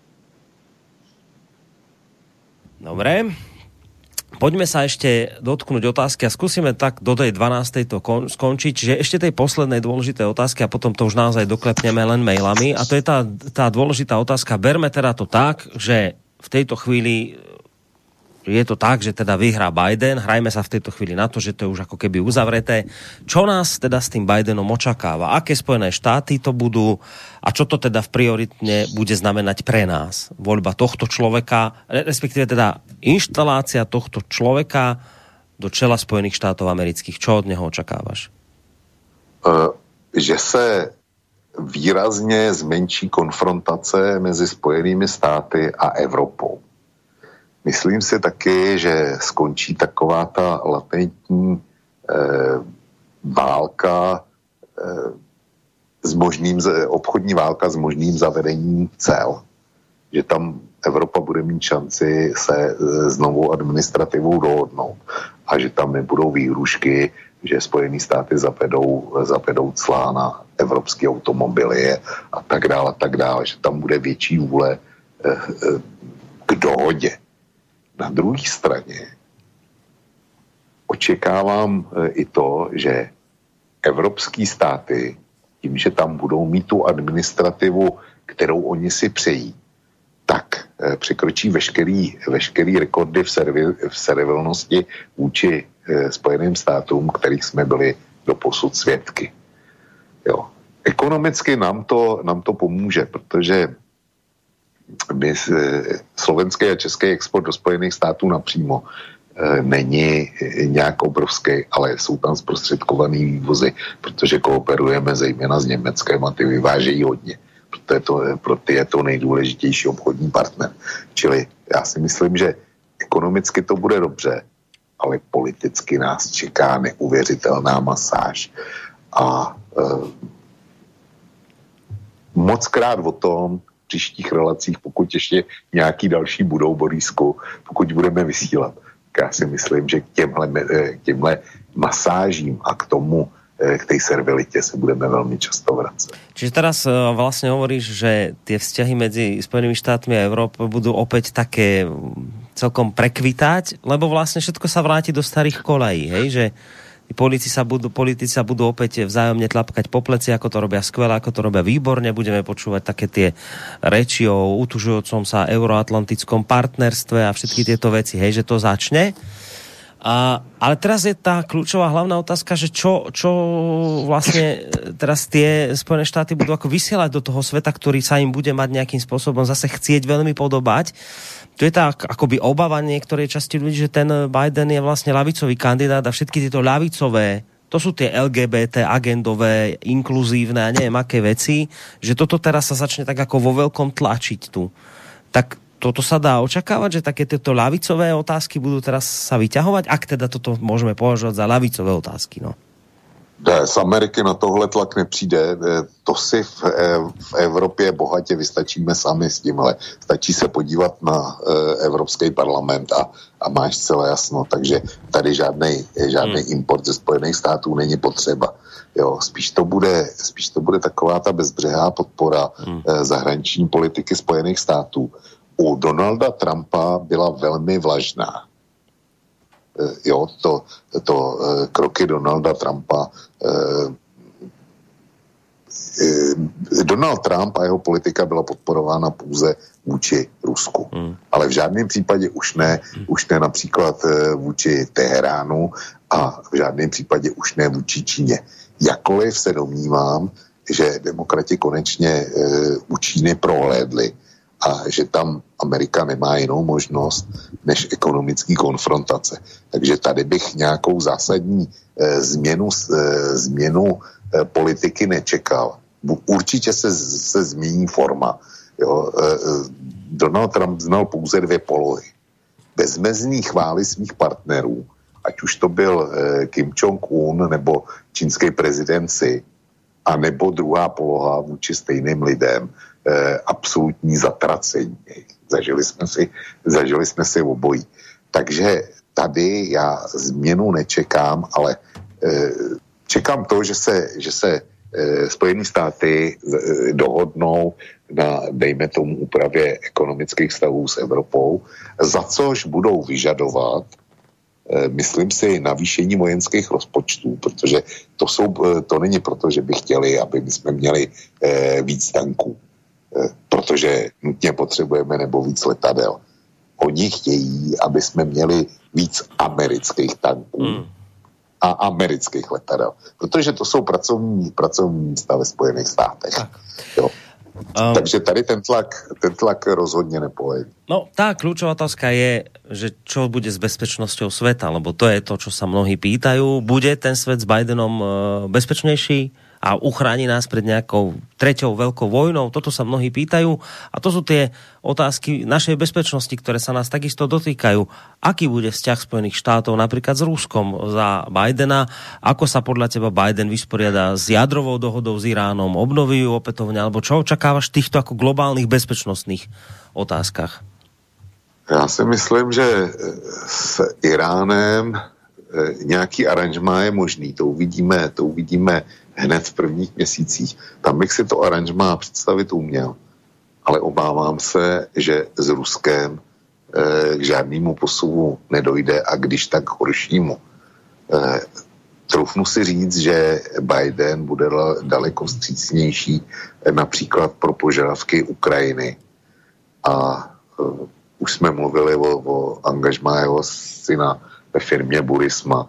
Dobre. Poďme sa ešte dotknúť otázky a skúsime tak do tej dvanástej to kon- skončiť. Čiže ešte tej poslednej dôležitej otázky a potom to už naozaj doklepneme len mailami. A to je tá, tá dôležitá otázka. Berme teda to tak, že v tejto chvíli je to tak, že teda vyhrá Biden. Hrajme sa v tejto chvíli na to, že to je už ako keby uzavreté. Čo nás teda s tým Bidenom očakáva? Aké Spojené štáty to budú? A čo to teda v prioritne bude znamenať pre nás? Voľba tohto človeka, respektíve teda inštalácia tohto človeka do čela Spojených štátov amerických. Čo od neho očakávaš? Uh, že se výrazně zmenší konfrontace mezi Spojenými státy a Evropou. Myslím si taky, že skončí taková ta latentní eh, válka, eh, s možným, obchodní válka s možným zavedením cel. Že tam Evropa bude mít šanci se eh, s novou administrativou dohodnout a že tam nebudou výhrušky, že Spojené státy zavedou, zavedou clá na evropské automobily a tak dále, a tak dále. Že tam bude větší vůle eh, eh, k dohodě. Na druhé straně očekávám i to, že evropské státy, tím, že tam budou mít tu administrativu, kterou oni si přejí, tak překročí veškerý, veškerý rekordy v, servi, v servilnosti vůči Spojeným státům, kterých jsme byli doposud svědky. Jo. Ekonomicky nám to, nám to pomůže, protože my, slovenský a český export do Spojených států napřímo e, není nějak obrovský, ale jsou tam zprostředkovaný vývozy, protože kooperujeme zejména s Německem a ty vyvážejí hodně. Proto je to, pro ty je to nejdůležitější obchodní partner. Čili já si myslím, že ekonomicky to bude dobře, ale politicky nás čeká neuvěřitelná masáž. A moc krát o tom v příštích relacích, pokud ještě nějaký další budou, Borisku, pokud budeme vysílat. Já si myslím, že k těmhle, k těmhle masážím a k tomu, k tej servilite sa budeme veľmi často vracať. Čiže teraz uh, vlastne hovoríš, že tie vzťahy medzi Spojenými štátmi a Európou budú opäť také celkom prekvitať, lebo vlastne všetko sa vráti do starých kolají, hej, že politici sa budú, politici sa budú opäť vzájomne tlapkať po pleci, ako to robia skvelé, ako to robia výborne, budeme počúvať také tie reči o utužujúcom sa euroatlantickom partnerstve a všetky tieto veci, hej, že to začne. A, ale teraz je tá kľúčová hlavná otázka, že čo, čo vlastne teraz tie Spojené štáty budú ako vysielať do toho sveta, ktorý sa im bude mať nejakým spôsobom zase chcieť veľmi podobať. To je tá akoby obava niektorej časti ľudí, že ten Biden je vlastne ľavicový kandidát a všetky tieto ľavicové, to sú tie el gé bé té agendové, inkluzívne a neviem aké veci, že toto teraz sa začne tak ako vo veľkom tlačiť tu. Tak toto sa dá očakávať, že také tieto ľavicové otázky budú teraz sa vyťahovať, ak teda toto môžeme považovať za ľavicové otázky, no? Ne, z Ameriky na tohle tlak nepřijde. To si v, v Evropě bohatě vystačíme sami s tímhle. Stačí se podívat na Evropský parlament a, a máš celé jasno. Takže tady žádnej, žádnej hmm. import ze Spojených států není potřeba. Jo, spíš to bude, spíš to bude taková ta bezbřehá podpora hmm. zahraniční politiky Spojených států. U Donalda Trumpa byla velmi vlažná. Jo, to, to kroky Donalda Trumpa. Donald Trump a jeho politika byla podporována pouze vůči Rusku. Hmm. Ale v žádném případě už ne, hmm. už ne například vůči Teheránu a v žádném případě už ne vůči Číně. Jakkoliv se domnívám, že demokrati konečně u Číny prohlédli a že tam Amerika nemá jinou možnost než ekonomický konfrontace. Takže tady bych nějakou zásadní e, změnu, e, změnu e, politiky nečekal. Určitě se, se změní forma. Jo. E, Donald Trump znal pouze dvě polohy. Bezmezný chvály svých partnerů, ať už to byl e, Kim Jong-un nebo čínský prezident Xi, a nebo druhá poloha vůči stejným lidem, eh, absolutní zatracení. Zažili jsme si, zažili jsme si obojí. Takže tady já změnu nečekám, ale eh, čekám to, že se, že se eh, Spojené státy eh, dohodnou na, dejme tomu, úpravě ekonomických vztahů s Evropou, za což budou vyžadovat, myslím si, navýšení vojenských rozpočtů, protože to, jsou, to není proto, že by chtěli, aby my jsme měli eh, víc tanků, eh, protože nutně potřebujeme, nebo víc letadel. Oni chtějí, aby jsme měli víc amerických tanků mm. a amerických letadel, protože to jsou pracovní, pracovní místa ve Spojených státech. Tak. Jo. Um, Takže tady ten tlak, ten tlak rozhodne nepoleví. No, tá kľúčová otázka je, že čo bude s bezpečnosťou sveta, lebo to je to, čo sa mnohí pýtajú. Bude ten svet s Bidenom bezpečnejší a uchráni nás pred nejakou treťou veľkou vojnou? Toto sa mnohí pýtajú a to sú tie otázky našej bezpečnosti, ktoré sa nás takisto dotýkajú. Aký bude vzťah Spojených štátov napríklad s Ruskom za Bidena? Ako sa podľa teba Biden vysporiada s jadrovou dohodou s Iránom? Obnoví ju opätovne? Alebo čo očakávaš v týchto ako globálnych bezpečnostných otázkach? Já si myslím, že s Iránem nějaký aranžmá je možný. To uvidíme, to uvidíme hned v prvních měsících. Tam bych si to aranžmá představit uměl. Ale obávám se, že s Ruskem eh, k žádnému posuvu nedojde a když tak horšímu. Eh, troufnu si říct, že Biden bude daleko vstřícnější eh, například pro požadavky Ukrajiny. A eh, už jsme mluvili o, o angažmá jeho syna ve firmě Burisma.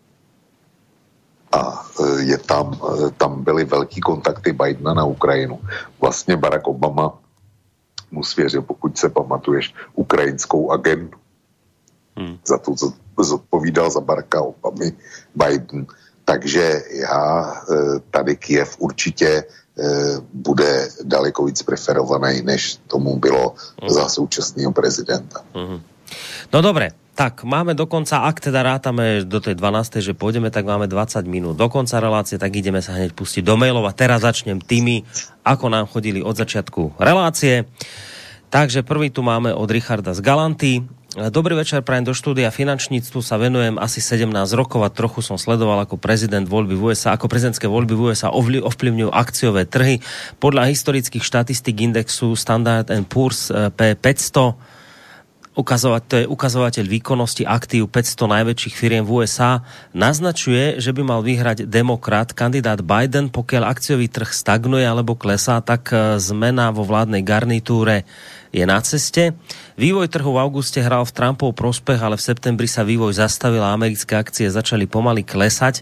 A je tam, tam byly velký kontakty Bidena na Ukrajinu. Vlastně Barack Obama mu svěřil, pokud se pamatuješ, ukrajinskou agendu. Hmm. Za to, co zodpovídal za Baracka Obamy Biden. Takže já tady Kyjev určitě bude daleko víc preferovaný, než tomu bylo hmm. za současného prezidenta. Hmm. No dobre, Tak, máme dokonca, ak teda rátame do tej dvanástej, že pôjdeme, tak máme dvadsať minút do konca relácie, tak ideme sa hneď pustiť do mailov a teraz začnem tými, ako nám chodili od začiatku relácie. Takže prvý tu máme od Richarda z Galanty. Dobrý večer, prajem do štúdia. Finančníctvu sa venujem asi sedemnásť rokov a trochu som sledoval ako prezident voľby v ú es á, ako prezidentské voľby v ú es á ovplyvňujú akciové trhy. Podľa historických štatistík indexu Standard and Poor's P päťsto, ukazovať, to je ukazovateľ výkonnosti aktív päťsto najväčších firiem v ú es á, naznačuje, že by mal vyhrať demokrat, kandidát Biden. Pokiaľ akciový trh stagnuje alebo klesá, tak zmena vo vládnej garnitúre je na ceste. Vývoj trhu v auguste hral v Trumpov prospech, ale v septembri sa vývoj zastavil a americké akcie začali pomaly klesať,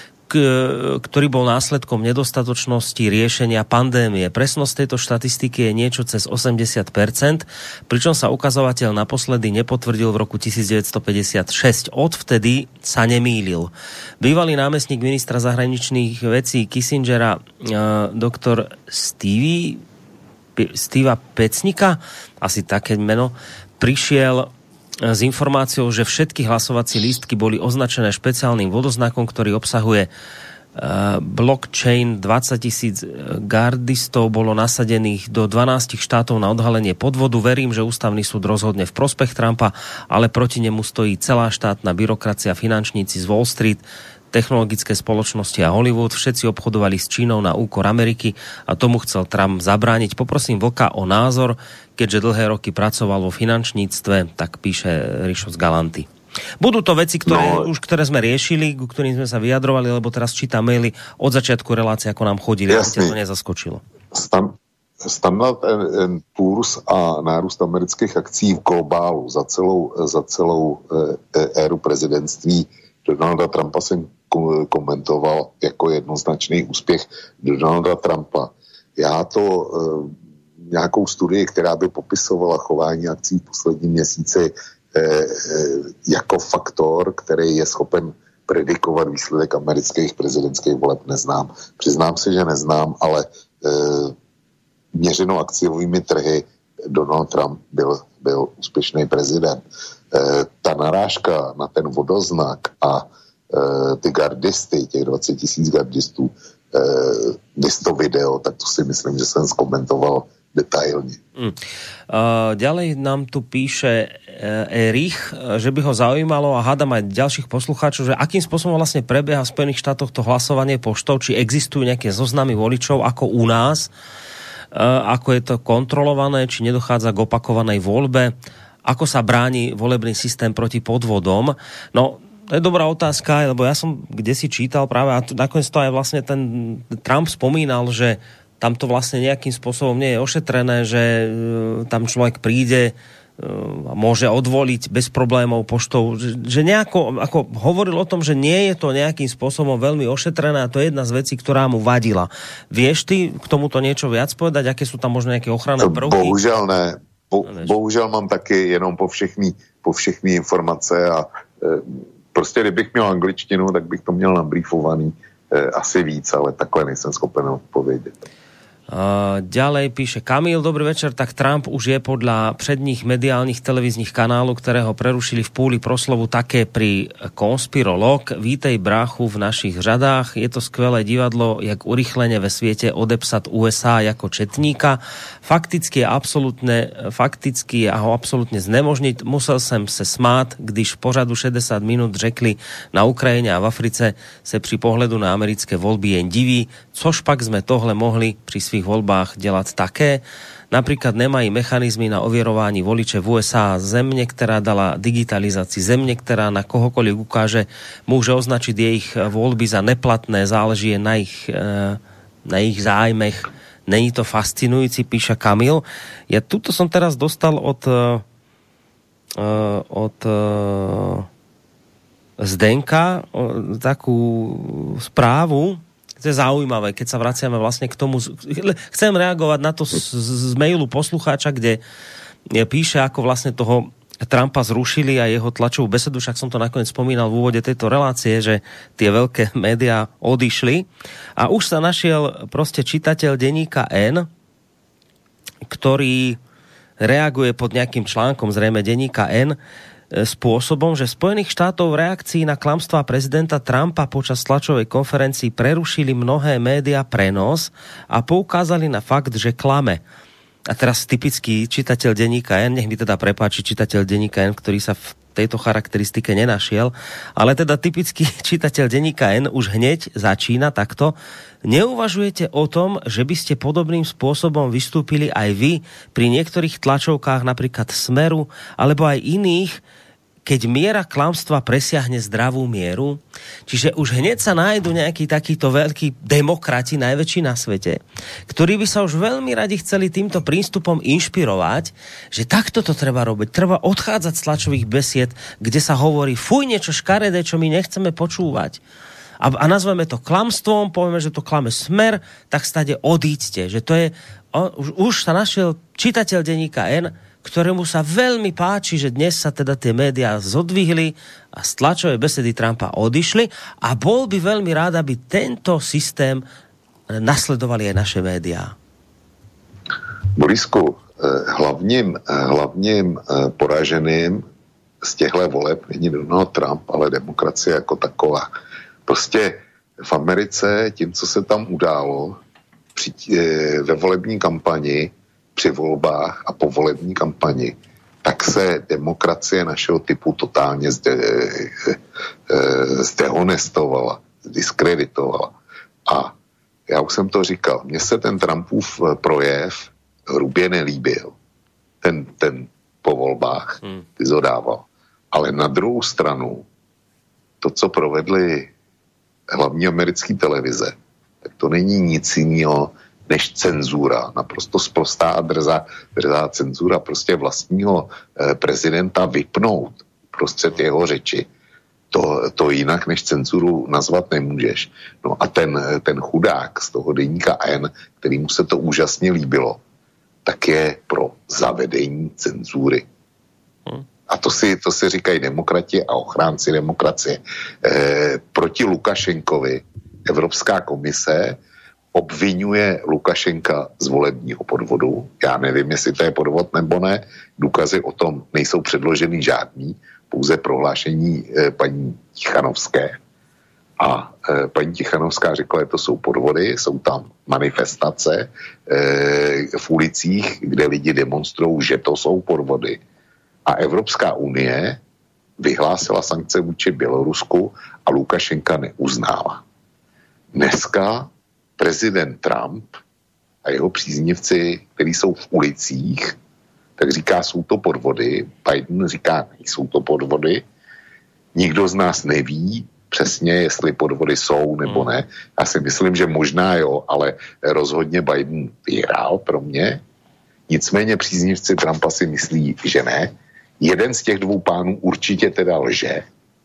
k- ktorý bol následkom nedostatočnosti riešenia pandémie. Presnosť tejto štatistiky je niečo cez osemdesiat percent, pričom sa ukazovateľ naposledy nepotvrdil v roku devätnásťstopäťdesiatšesť. Odvtedy sa nemýlil. Bývalý námestník ministra zahraničných vecí Kissingera, doktor Stevie Steva Pecnika, asi také meno, prišiel s informáciou, že všetky hlasovacie lístky boli označené špeciálnym vodoznakom, ktorý obsahuje uh, blockchain. dvadsaťtisíc gardistov bolo nasadených do dvanásť štátov na odhalenie podvodu. Verím, že ústavný súd rozhodne v prospech Trumpa, ale proti nemu stojí celá štátna byrokracia, finančníci z Wall Street, technologické spoločnosti a Hollywood. Všetci obchodovali s Čínou na úkor Ameriky a tomu chcel Trump zabrániť. Poprosím Vlka o názor, keďže dlhé roky pracoval vo finančníctve, tak píše Rišo z Galanty. Budú to veci, ktoré, no, už, ktoré sme riešili, ku ktorým sme sa vyjadrovali, lebo teraz čítam maily od začiatku relácie, ako nám chodili, aby ťa to nezaskočilo. Stan- Standard and Poor's a nárůst amerických akcí v globálu za celou, za celou e, éru prezidentství Donalda Trumpa jsem komentoval jako jednoznačný úspěch Donalda Trumpa. Já to e, nějakou studii, která by popisovala chování akcí v posledním měsíci e, e, jako faktor, který je schopen predikovat výsledek amerických prezidentských voleb, neznám. Přiznám se, že neznám, ale e, měřeno akciovými trhy Donald Trump byl, byl úspěšný prezident. E, ta narážka na ten vodoznak a e, ty gardisty, těch dvacet tisíc gardistů, e, vys to video, tak to si myslím, že jsem zkomentoval detailne. Mm. Uh, ďalej nám tu píše uh, Erich, že by ho zaujímalo a hádam aj ďalších poslucháčov, že akým spôsobom vlastne prebieha v Spojených štátoch to hlasovanie poštou, či existujú nejaké zoznamy voličov ako u nás, uh, ako je to kontrolované, či nedochádza k opakovanej voľbe, ako sa bráni volebný systém proti podvodom. No, to je dobrá otázka, lebo ja som kdesi čítal práve, a nakoniec to aj vlastne ten Trump spomínal, že tam to vlastne nejakým spôsobom nie je ošetrené, že tam človek príde a môže odvoliť bez problémov poštou. Že nejako, ako hovoril o tom, že nie je to nejakým spôsobom veľmi ošetrené a to je jedna z vecí, ktorá mu vadila. Vieš ty k tomuto niečo viac povedať? Aké sú tam možno nejaké ochranné prvky? Bohužel ne. Bo, bohužel mám taky jenom po všechny, po všechny informace a e, prostě kdybych měl angličtinu, tak bych to měl nabrýfovaný e, asi víc, ale takhle nejsem schopen odpovědět. Uh, ďalej píše Kamil, dobrý večer, tak Trump už je podľa predních mediálnych televíznych kanálov, ktoré ho prerušili v púli proslovu, také pri konspirolog. Vítej bráchu v našich řadách, je to skvelé divadlo, jak urychlene ve sviete odepsat ú es á ako četníka. Fakticky je absolútne, fakticky a ho absolútne znemožniť. Musel som se smát, když v pořadu šedesát minút řekli na Ukrajine a v Africe se pri pohledu na americké voľby jen diví, což pak sme tohle mohli pri svých voľbách delať také. Napríklad nemají mechanizmy na ovierování voliče v ú es á. Země, ktorá dala digitalizácii, země, ktorá na kohokoľvek ukáže, môže označiť ich voľby za neplatné, záleží na ich, na ich zájmech. Není to fascinujúci, píše Kamil. Ja tuto som teraz dostal od od Zdenka takú správu. To je zaujímavé, keď sa vraciame vlastne k tomu. Chcem reagovať na to z, z mailu poslucháča, kde píše, ako vlastne toho Trumpa zrušili a jeho tlačovú besedu, však som to nakoniec spomínal v úvode tejto relácie, že tie veľké médiá odišli. A už sa našiel proste čitateľ denníka N, ktorý reaguje pod nejakým článkom, zrejme denníka N, spôsobom, že Spojených štátov v reakcii na klamstvá prezidenta Trumpa počas tlačovej konferencii prerušili mnohé médiá prenos a poukázali na fakt, že klame. A teraz typický čitateľ denníka N, nech mi teda prepáči čitateľ denníka N, ktorý sa v tejto charakteristike nenašiel, ale teda typický čitateľ denníka N už hneď začína takto. Neuvažujete o tom, že by ste podobným spôsobom vystúpili aj vy pri niektorých tlačovkách, napríklad Smeru, alebo aj iných, keď miera klamstva presiahne zdravú mieru? Čiže už hneď sa nájdu nejakí takíto veľkí demokrati, najväčší na svete, ktorí by sa už veľmi radi chceli týmto prístupom inšpirovať, že takto to treba robiť. Treba odchádzať z tlačových besied, kde sa hovorí fuj, niečo škaredé, čo my nechceme počúvať. A, a nazveme to klamstvom, povieme, že to klame Smer, tak stade odíďte. Že to je, o, už, už sa našiel čitateľ denníka N, ktorému sa veľmi páči, že dnes sa teda tie médiá zodvihli a z tlačovej besedy Trumpa odišli a bol by veľmi rád, aby tento systém nasledovali aj naše médiá. Borisku, hlavním, hlavním poraženým z těchto voleb není Donald Trump, ale demokracie jako taková. Prostě v Americe tím, co se tam událo při, ve volební kampani, při volbách a po volební kampani, tak se demokracie našeho typu totálně zde, zdehonestovala, zdiskreditovala. A já už jsem to říkal, mně se ten Trumpův projev hrubě nelíbil. Ten, ten po volbách, hmm. ty zodával. Ale na druhou stranu, to, co provedly hlavní americké televize, tak to není nic jiného než cenzura, naprosto sprostá a drzá, drzá cenzura prostě vlastního eh, prezidenta vypnout prostřed jeho řeči. To, to jinak než cenzuru nazvat nemůžeš. No a ten, ten chudák z toho deníka N, kterýmu se to úžasně líbilo, tak je pro zavedení cenzury. Hmm. A to si, to si říkají demokrati a ochránci demokracie. Eh, proti Lukašenkovi Evropská komise obvinuje Lukašenka z volebního podvodu. Já nevím, jestli to je podvod nebo ne. Důkazy o tom nejsou předloženy žádný, pouze prohlášení eh, paní Tichanovské. A eh, paní Tichanovská řekla, že to jsou podvody, jsou tam manifestace eh, v ulicích, kde lidi demonstrují, že to jsou podvody. A Evropská unie vyhlásila sankce vůči Bělorusku a Lukašenka neuznala. Dneska prezident Trump a jeho příznivci, kteří jsou v ulicích, tak říká, jsou to podvody. Biden říká, nejsou to podvody. Nikdo z nás neví přesně, jestli podvody jsou nebo ne. Já si myslím, že možná jo, ale rozhodně Biden vyhrál pro mě. Nicméně příznivci Trumpa si myslí, že ne. Jeden z těch dvou pánů určitě teda lže.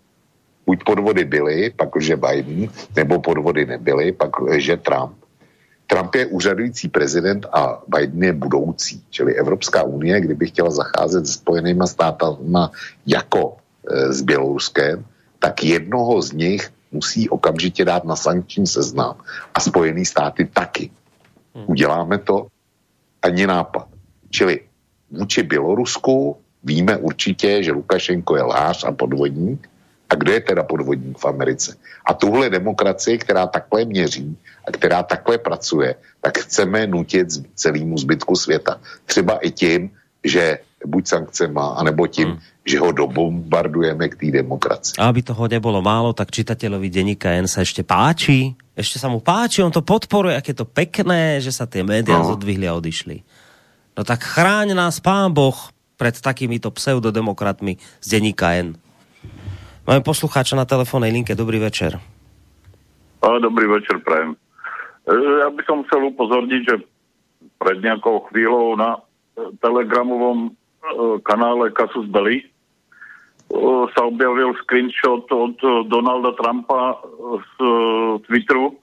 Buď podvody byly, pak lže Biden, nebo podvody nebyly, pak lže Trump. Trump je úřadující prezident a Biden je budoucí. Čili Evropská unie, kdyby chtěla zacházet s Spojenýma státama jako e, s Běloruskem, tak jednoho z nich musí okamžitě dát na sankční seznam. A Spojený státy taky. Uděláme to? Ani nápad. Čili vůči Bělorusku víme určitě, že Lukašenko je lhář a podvodník. A kdo je teda podvodník v Americe? A tuhle demokracii, která takhle měří a která takhle pracuje, tak chceme nutit celému zbytku světa. Třeba i tím, že buď sankcema, anebo tím, hmm. že ho dobombardujeme k té demokracii. A aby toho nebolo málo, tak čitateľovi denníka N sa ešte páči. Ešte sa mu páči, on to podporuje, aké to pekné, že sa tie médiá no. zodvihli a odišli. No tak chráň nás Pán Boh pred takýmito pseudodemokratmi z denníka N. Máme poslucháča na telefónnej linke. Dobrý večer. Dobrý večer, prajem. Ja by som chcel upozorniť, že pred nejakou chvíľou na telegramovom kanále Casus Belli sa objavil screenshot od Donalda Trumpa z Twitteru,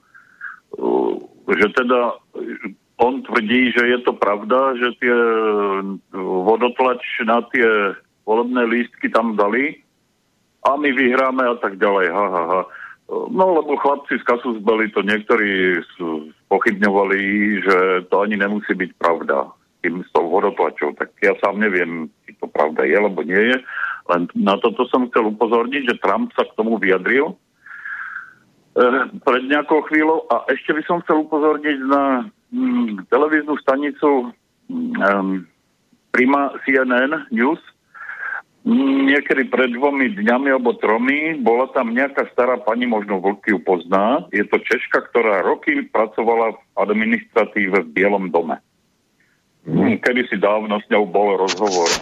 že teda on tvrdí, že je to pravda, že tie vodotlač na tie volebné lístky tam dali a my vyhráme a tak ďalej. Ha, ha, ha. No, lebo chlapci z Casus Belli to niektorí pochybňovali, že to ani nemusí byť pravda s tým s tou vodotlačou. Tak ja sám neviem, či to pravda je, alebo nie je. Len na toto som chcel upozorniť, že Trump sa k tomu vyjadril pred nejakou chvíľou a ešte by som chcel upozorniť na mm, televíznu stanicu mm, Prima C N N News. Mm, niekedy pred dvomi dňami alebo tromi bola tam nejaká stará pani, možno Vlk ju pozná. Je to Češka, ktorá roky pracovala v administratíve v Bielom dome. Mm, kedy si dávno s ňou bol rozhovor.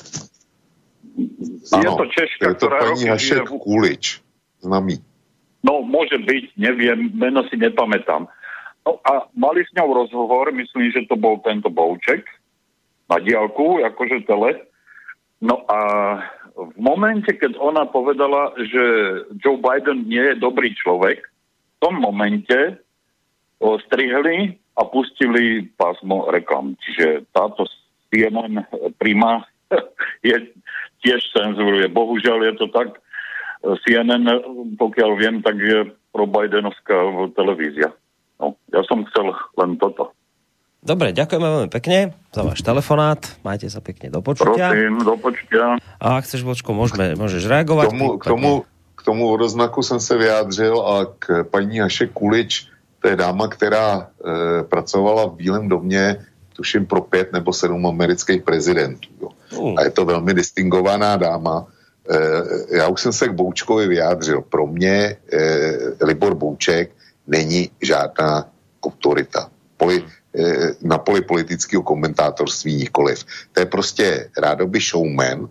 Ano, je to Češka, je to ktorá pani roky Hašek žije v... Kulič, známý. No, môže byť, neviem, meno si nepamätám. No a mali s ňou rozhovor, myslím, že to bol tento Bouček, na diaľku, akože tele. No a v momente, keď ona povedala, že Joe Biden nie je dobrý človek, v tom momente ho strihli a pustili pásmo reklam. Čiže táto C N N Prima je, tiež cenzuruje. Bohužiaľ je to tak, C N N, pokiaľ viem, tak je pro Bidenovská televízia. No, ja som chcel len toto. Dobre, ďakujeme veľmi pekne za váš telefonát. Majte sa pekne, do počutia. Prosím, do počutia. A ak chceš, Vočko, môžeme, môžeš reagovať. K tomu, k tomu, k tomu odoznaku jsem se vyjádřil a k paní Hašek Kulič, to je dáma, která e, pracovala v Bílém domě, tuším pro pět nebo sedm amerických prezidentů. Jo. Uh. A je to velmi distingovaná dáma. E, já už jsem se k Boučkovi vyjádřil. Pro mě e, Libor Bouček není žádná autorita. Poli, e, na poli politického komentátorství nikoliv. To je prostě rádoby showman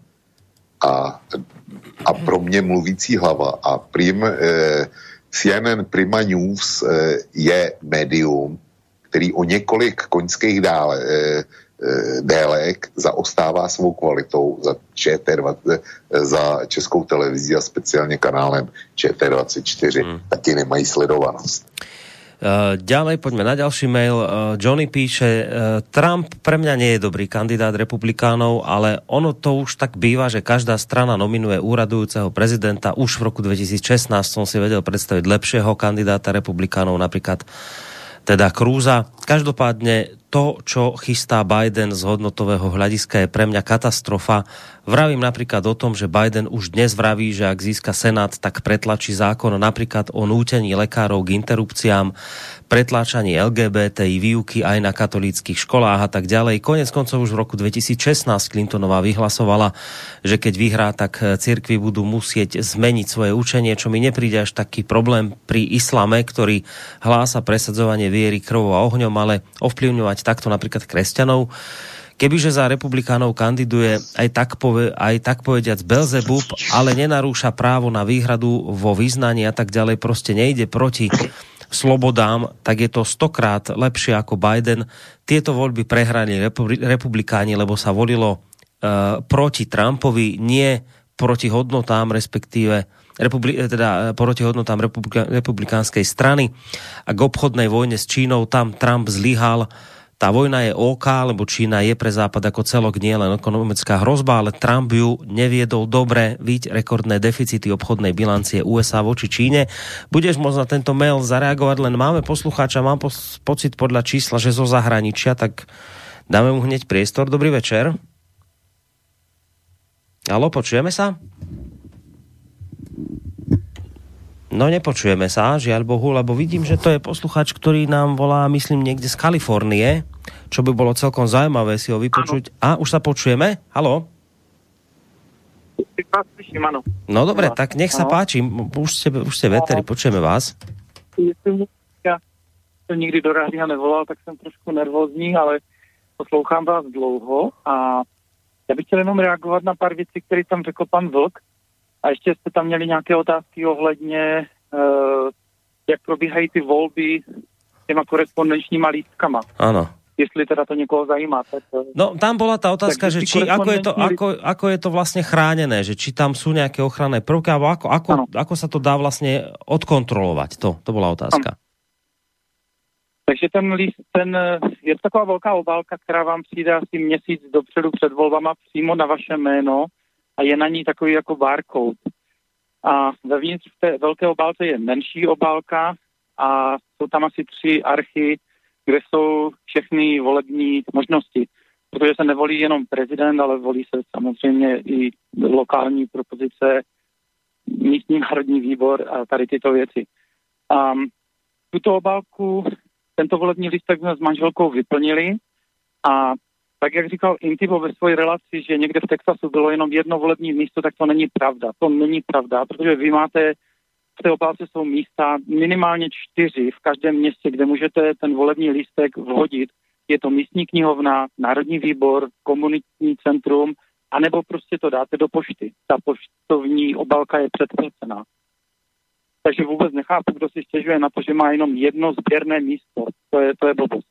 a, a pro mě mluvící hlava. A prim, e, C N N Prima News e, je médium, který o několik koňských dále, e, délek zaostává svou kvalitou za, Č T dvacet, za Českou televizí a speciálně kanálem Č T dvacet čtyři. Hmm. Taky nemají sledovanost. Uh, ďalej, poďme na ďalší mail. Uh, Johnny píše, uh, Trump pre mňa nie je dobrý kandidát republikánov, ale ono to už tak býva, že každá strana nominuje úradujúceho prezidenta. Už v roku dvetisícšestnásť som si vedel predstaviť lepšieho kandidáta republikánov, napríklad teda Crúza. Každopádne to, čo chystá Biden z hodnotového hľadiska, je pre mňa katastrofa. Vravím napríklad o tom, že Biden už dnes vraví, že ak získa Senát, tak pretlačí zákon napríklad o nútení lekárov k interrupciám, pretláčaní el gé bé té í výuky aj na katolíckych školách a tak ďalej. Konec koncov už v roku dvetisícšestnásť Clintonová vyhlasovala, že keď vyhrá, tak cirkvi budú musieť zmeniť svoje učenie, čo mi nepríde až taký problém pri islame, ktorý hlása presadzovanie viery krvou a ohňom, ale ovplyvňovať takto napríklad kresťanov. Kebyže za republikánov kandiduje aj tak, pove, aj tak povediac Belzebub, ale nenarúša právo na výhradu vo vyznaní a tak ďalej, proste nejde proti slobodám, tak je to stokrát lepšie ako Biden. Tieto voľby prehrali republikáni, lebo sa volilo uh, proti Trumpovi, nie proti hodnotám, respektíve republi- teda proti hodnotám republika- republikánskej strany. A k obchodnej vojne s Čínou tam Trump zlyhal. Tá vojna je OK, lebo Čína je pre Západ ako celok nie len ekonomická hrozba, ale Trump ju neviedol dobre, vidť rekordné deficity obchodnej bilancie ú es á voči Číne. Budeš môcť na tento mail zareagovať, len máme poslucháča, mám pos- pocit podľa čísla, že zo zahraničia, tak dáme mu hneď priestor. Dobrý večer. Haló, počujeme sa? No nepočujeme sa, žiaľ Bohu, lebo vidím, že to je poslucháč, ktorý nám volá, myslím, niekde z Kalifornie, čo by bolo celkom zaujímavé si ho vypočuť. A už sa počujeme? Haló? No dobre, tak nech sa páči. Už ste, už ste veteri, počujeme vás. Ja som nikdy do rádia nevolal, tak som trošku nervózní, ale poslouchám vás dlouho a já bych chtěl jenom reagovat na pár věcí, které tam řekl pan Vlk. A ještě jste tam měli nějaké otázky ohledně, uh, jak probíhají ty volby těma korespondenčníma lístkama. Áno. Jestli teda to někoho zajímá. Tak, no tam bola tá otázka, že či, ako, je to, ako, ako je to vlastne chránené, že či tam sú nejaké ochranné prvky, alebo ako, ako, ako sa to dá vlastne odkontrolovať. To, to bola otázka. Ano. Takže ten líst, ten, je to taková velká obálka, která vám přijde asi měsíc dopředu před volbama přímo na vaše jméno, a je na ní takový jako barcode. A vevnitř v té velké obálce je menší obálka a jsou tam asi tři archy, kde jsou všechny volební možnosti. protože se nevolí jenom prezident, ale volí se samozřejmě i lokální propozice, místní národní výbor a tady tyto věci. A tuto obálku, tento volební lístek jsme s manželkou vyplnili a tak, jak říkal Intibo ve své relaci, že někde v Texasu bylo jenom jedno volební místo, tak to není pravda. To není pravda, protože vy máte, v té obálce jsou místa minimálně čtyři v každém městě, kde můžete ten volební lístek vhodit. Je to místní knihovna, národní výbor, komunitní centrum, anebo prostě to dáte do pošty. Ta poštovní obálka je předplacená. Takže vůbec nechápu, kdo si stěžuje na to, že má jenom jedno sběrné místo. To je, to je blbost.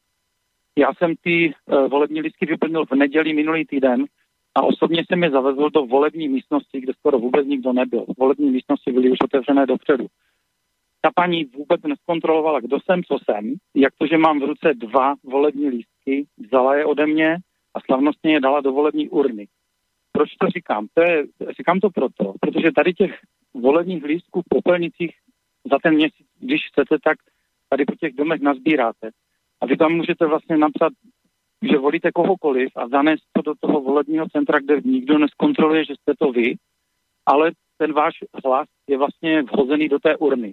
Já jsem ty uh, volební lístky vyplnil v neděli minulý týden a osobně jsem je zavezl do volební místnosti, kde skoro vůbec nikdo nebyl. Volební místnosti byly už otevřené dopředu. Ta paní vůbec neskontrolovala, kdo jsem, co jsem, jak to, že mám v ruce dva volební lístky, vzala je ode mě a slavnostně je dala do volební urny. Proč to říkám? To je, říkám to proto, protože tady těch volebních lístků v popelnicích za ten měsíc, když chcete, tak tady po těch domech nazbíráte. A vy tam můžete vlastně napsat, že volíte kohokoliv a zanést to do toho volebního centra, kde nikdo neskontroluje, že jste to vy, ale ten váš hlas je vlastně vhozený do té urny.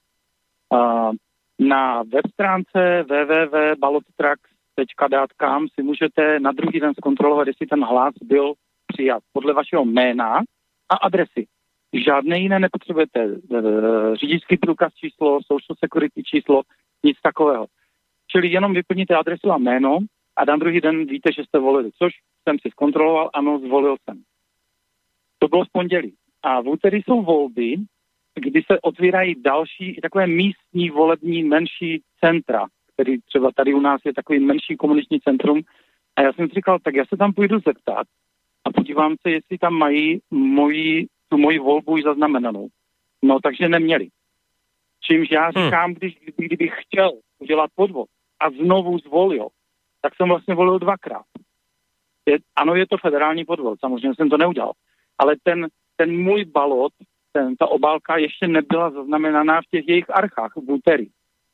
Uh, na web stránce w w w tečka ballottrax tečka d a t si můžete na druhý den zkontrolovat, jestli ten hlas byl přijat podle vašeho jména a adresy. Žádné jiné nepotřebujete. Řidičský průkaz číslo, social security číslo, nic takového. Čili jenom vyplníte adresu a jméno a na druhý den víte, že jste volili, což jsem si zkontroloval, ano, zvolil jsem. To bylo v pondělí. A v úterý jsou volby, kdy se otvírají další takové místní volební menší centra, který třeba tady u nás je takový menší komunitní centrum. A já jsem si říkal, tak já se tam půjdu zeptat a podívám se, jestli tam mají moji, tu moji volbu už zaznamenanou. No, takže neměli. Čímž já říkám, když, kdybych chtěl udělat podvod a znovu zvolil, tak jsem vlastně volil dvakrát. Je, ano, je to federální podvod, samozřejmě jsem to neudělal. Ale ten, ten můj balot, ten, ta obálka ještě nebyla zaznamenaná v těch jejich archách v úterý.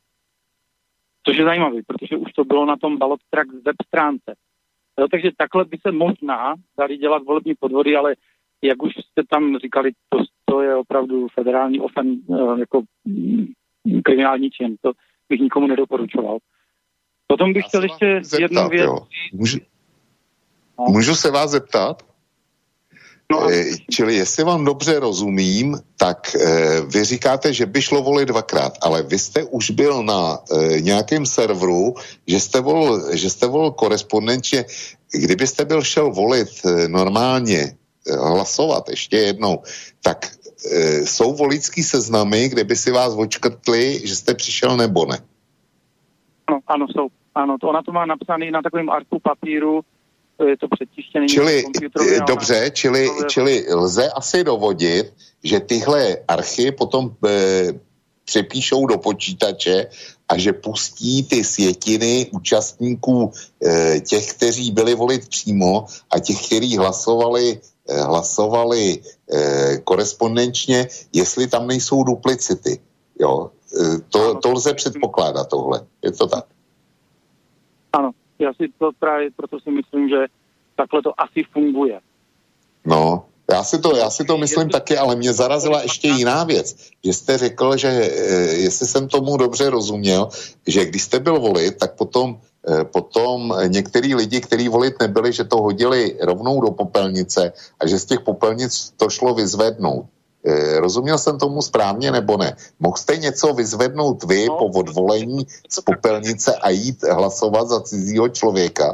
Což je zajímavé, protože už to bylo na tom Ballottrax web stránce. No, takže takhle by se možná dali dělat volební podvody, ale jak už jste tam říkali, to, to je opravdu federální ofen, jako kriminální čin. To bych nikomu nedoporučoval. Potom bych chtěl ještě zeptat, jednu věc. Můžu, no. můžu se vás zeptat? No, e, čili jestli vám dobře rozumím, tak e, vy říkáte, že by šlo volit dvakrát, ale vy jste už byl na e, nějakém serveru, že jste volil, že jste volil korespondenčně. Kdybyste byl šel volit e, normálně, e, hlasovat ještě jednou, tak e, jsou voličský seznamy, kde by si vás očkrtli, že jste přišel nebo ne? Ano, ano, jsou. Ano, to ona to má napsaný na takovém arku papíru, je to přetištěný. Čili, dobře, čili, čili lze asi dovodit, že tyhle archy potom e, přepíšou do počítače a že pustí ty sjetiny účastníků e, těch, kteří byli volit přímo a těch, kteří hlasovali, e, hlasovali e, korespondenčně, jestli tam nejsou duplicity. Jo? E, to, to lze předpokládat tohle. Je to tak? Ano. Já si to právě, proto si myslím, že takhle to asi funguje. No, já si to, já si to myslím taky, ale mě zarazila ještě jiná věc, že jste řekl, že jestli jsem tomu dobře rozuměl, že když jste byl volit, tak potom, potom některý lidi, kteří volit nebyli, že to hodili rovnou do popelnice a že z těch popelnic to šlo vyzvednout. Rozuměl jsem tomu správně nebo ne? Mohl jste něco vyzvednout vy no, po odvolení z popelnice a jít hlasovat za cizího člověka?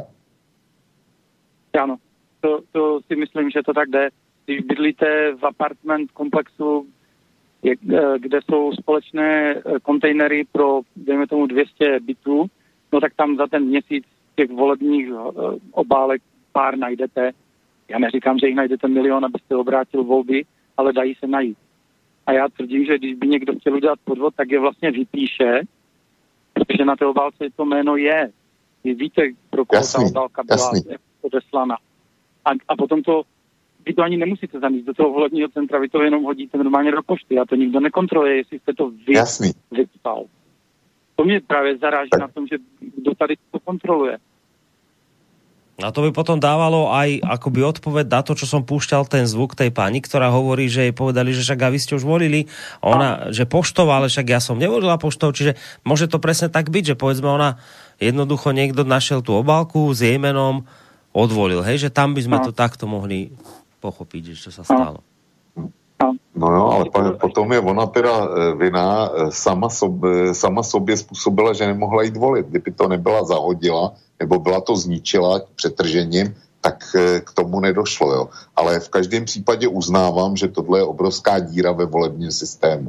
Ano, to, to si myslím, že to tak jde. Když bydlíte v apartment komplexu, kde jsou společné kontejnery pro, dejme tomu, dvě stě bytů, no tak tam za ten měsíc těch volebních obálek pár najdete. Já neříkám, že jich najdete milion, abyste obrátil volby, ale dají se najít. A já tvrdím, že když by někdo chtěl udělat podvod, tak je vlastně vypíše, protože na té obálce to jméno je. Vy víte, pro koho jasný, ta obálka byla odeslaná. A, a potom to, vy to ani nemusíte zanést do toho volebního centra, vy to jenom hodíte normálně do pošty a to nikdo nekontroluje, jestli jste to vy jasný. vypsal. To mě právě zaráží tak. na tom, že kdo tady to kontroluje. A to by potom dávalo aj akoby odpoveď na to, čo som púšťal ten zvuk tej pani, ktorá hovorí, že jej povedali, že však a vy ste už volili, a ona, že poštou, ale však ja som nevolila poštou, čiže môže to presne tak byť, že povedzme ona jednoducho niekto našiel tú obálku s jej menom, odvolil, hej, že tam by sme to takto mohli pochopiť, že čo sa stalo. No jo, ale potom je ona teda vina sama sobě, sama sobě způsobila, že nemohla jít volit. Kdyby to nebyla zahodila, nebo byla to zničila přetržením, tak k tomu nedošlo. Jo. Ale v každém případě uznávám, že tohle je obrovská díra ve volebním systému.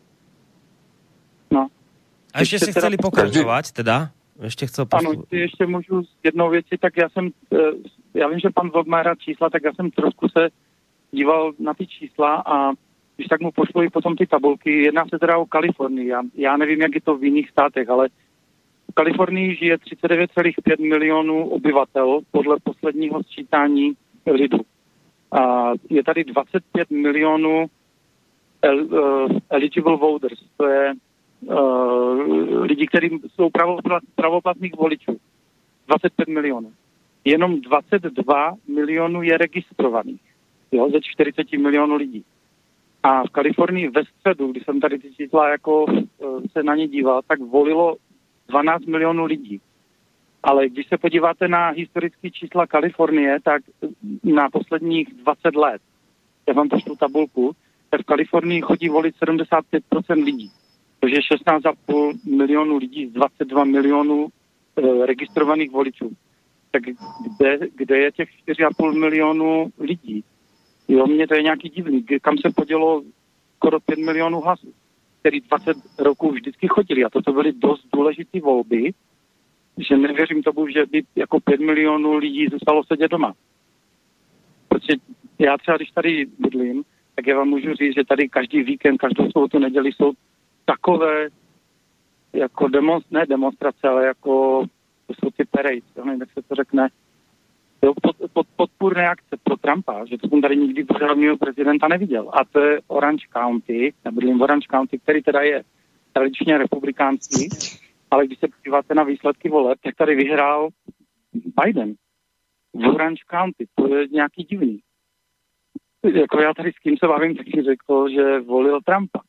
No. A ještě si chceli pokračovat, teda? Ještě chcel postup... Ano, ještě můžu s jednou věcí, tak já jsem, já vím, že pan Vlk má rád čísla, tak já jsem trošku se díval na ty čísla a když tak mu pošlu i potom ty tabulky. Jedná se teda o Kalifornii. Já, já nevím, jak je to v jiných státech, ale v Kalifornii žije třicet devět celá pět milionů obyvatel podle posledního sčítání lidu. A je tady dvacet pět milionů el, uh, eligible voters, to je uh, lidi, kteří jsou pravoplatných voličů. dvacet pět milionů. Jenom dvacet dva milionů je registrovaných. Jo, ze čtyřicet milionů lidí. A v Kalifornii ve středu, když jsem tady ty čísla jako se na ně díval, tak volilo dvanáct milionů lidí. Ale když se podíváte na historické čísla Kalifornie, tak na posledních dvacet let, já vám pošlu tabulku, tak v Kalifornii chodí volit sedmdesát pět procent lidí. což je šestnáct celá pět milionů lidí z dvacet dva milionů e, registrovaných voličů. Tak kde, kde je těch čtyři celá pět milionů lidí? Jo, mně to je nějaký divný. Kam se podělo skoro pět milionů hlasů, který dvacet roků vždycky chodili. A toto byly dost důležité volby, že nevěřím tomu, že by jako pět milionů lidí zůstalo sedět doma. Protože já třeba, když tady bydlím, tak já vám můžu říct, že tady každý víkend, každou sobotu, neděli jsou takové jako demonst, ne demonstrace, ale jako to jsou ty parades, jak se to řekne, pod, pod, podpůrné akce pro Trumpa, že to jsem tady nikdy pořádného prezidenta neviděl. A to je Orange County, já bydlím v Orange County, který teda je tradičně republikánský, ale když se podíváte na výsledky voleb, tak tady vyhrál Biden v Orange County. To je nějaký divný. Jako já tady s kým se bavím, tak si řekl, že volil Trumpa.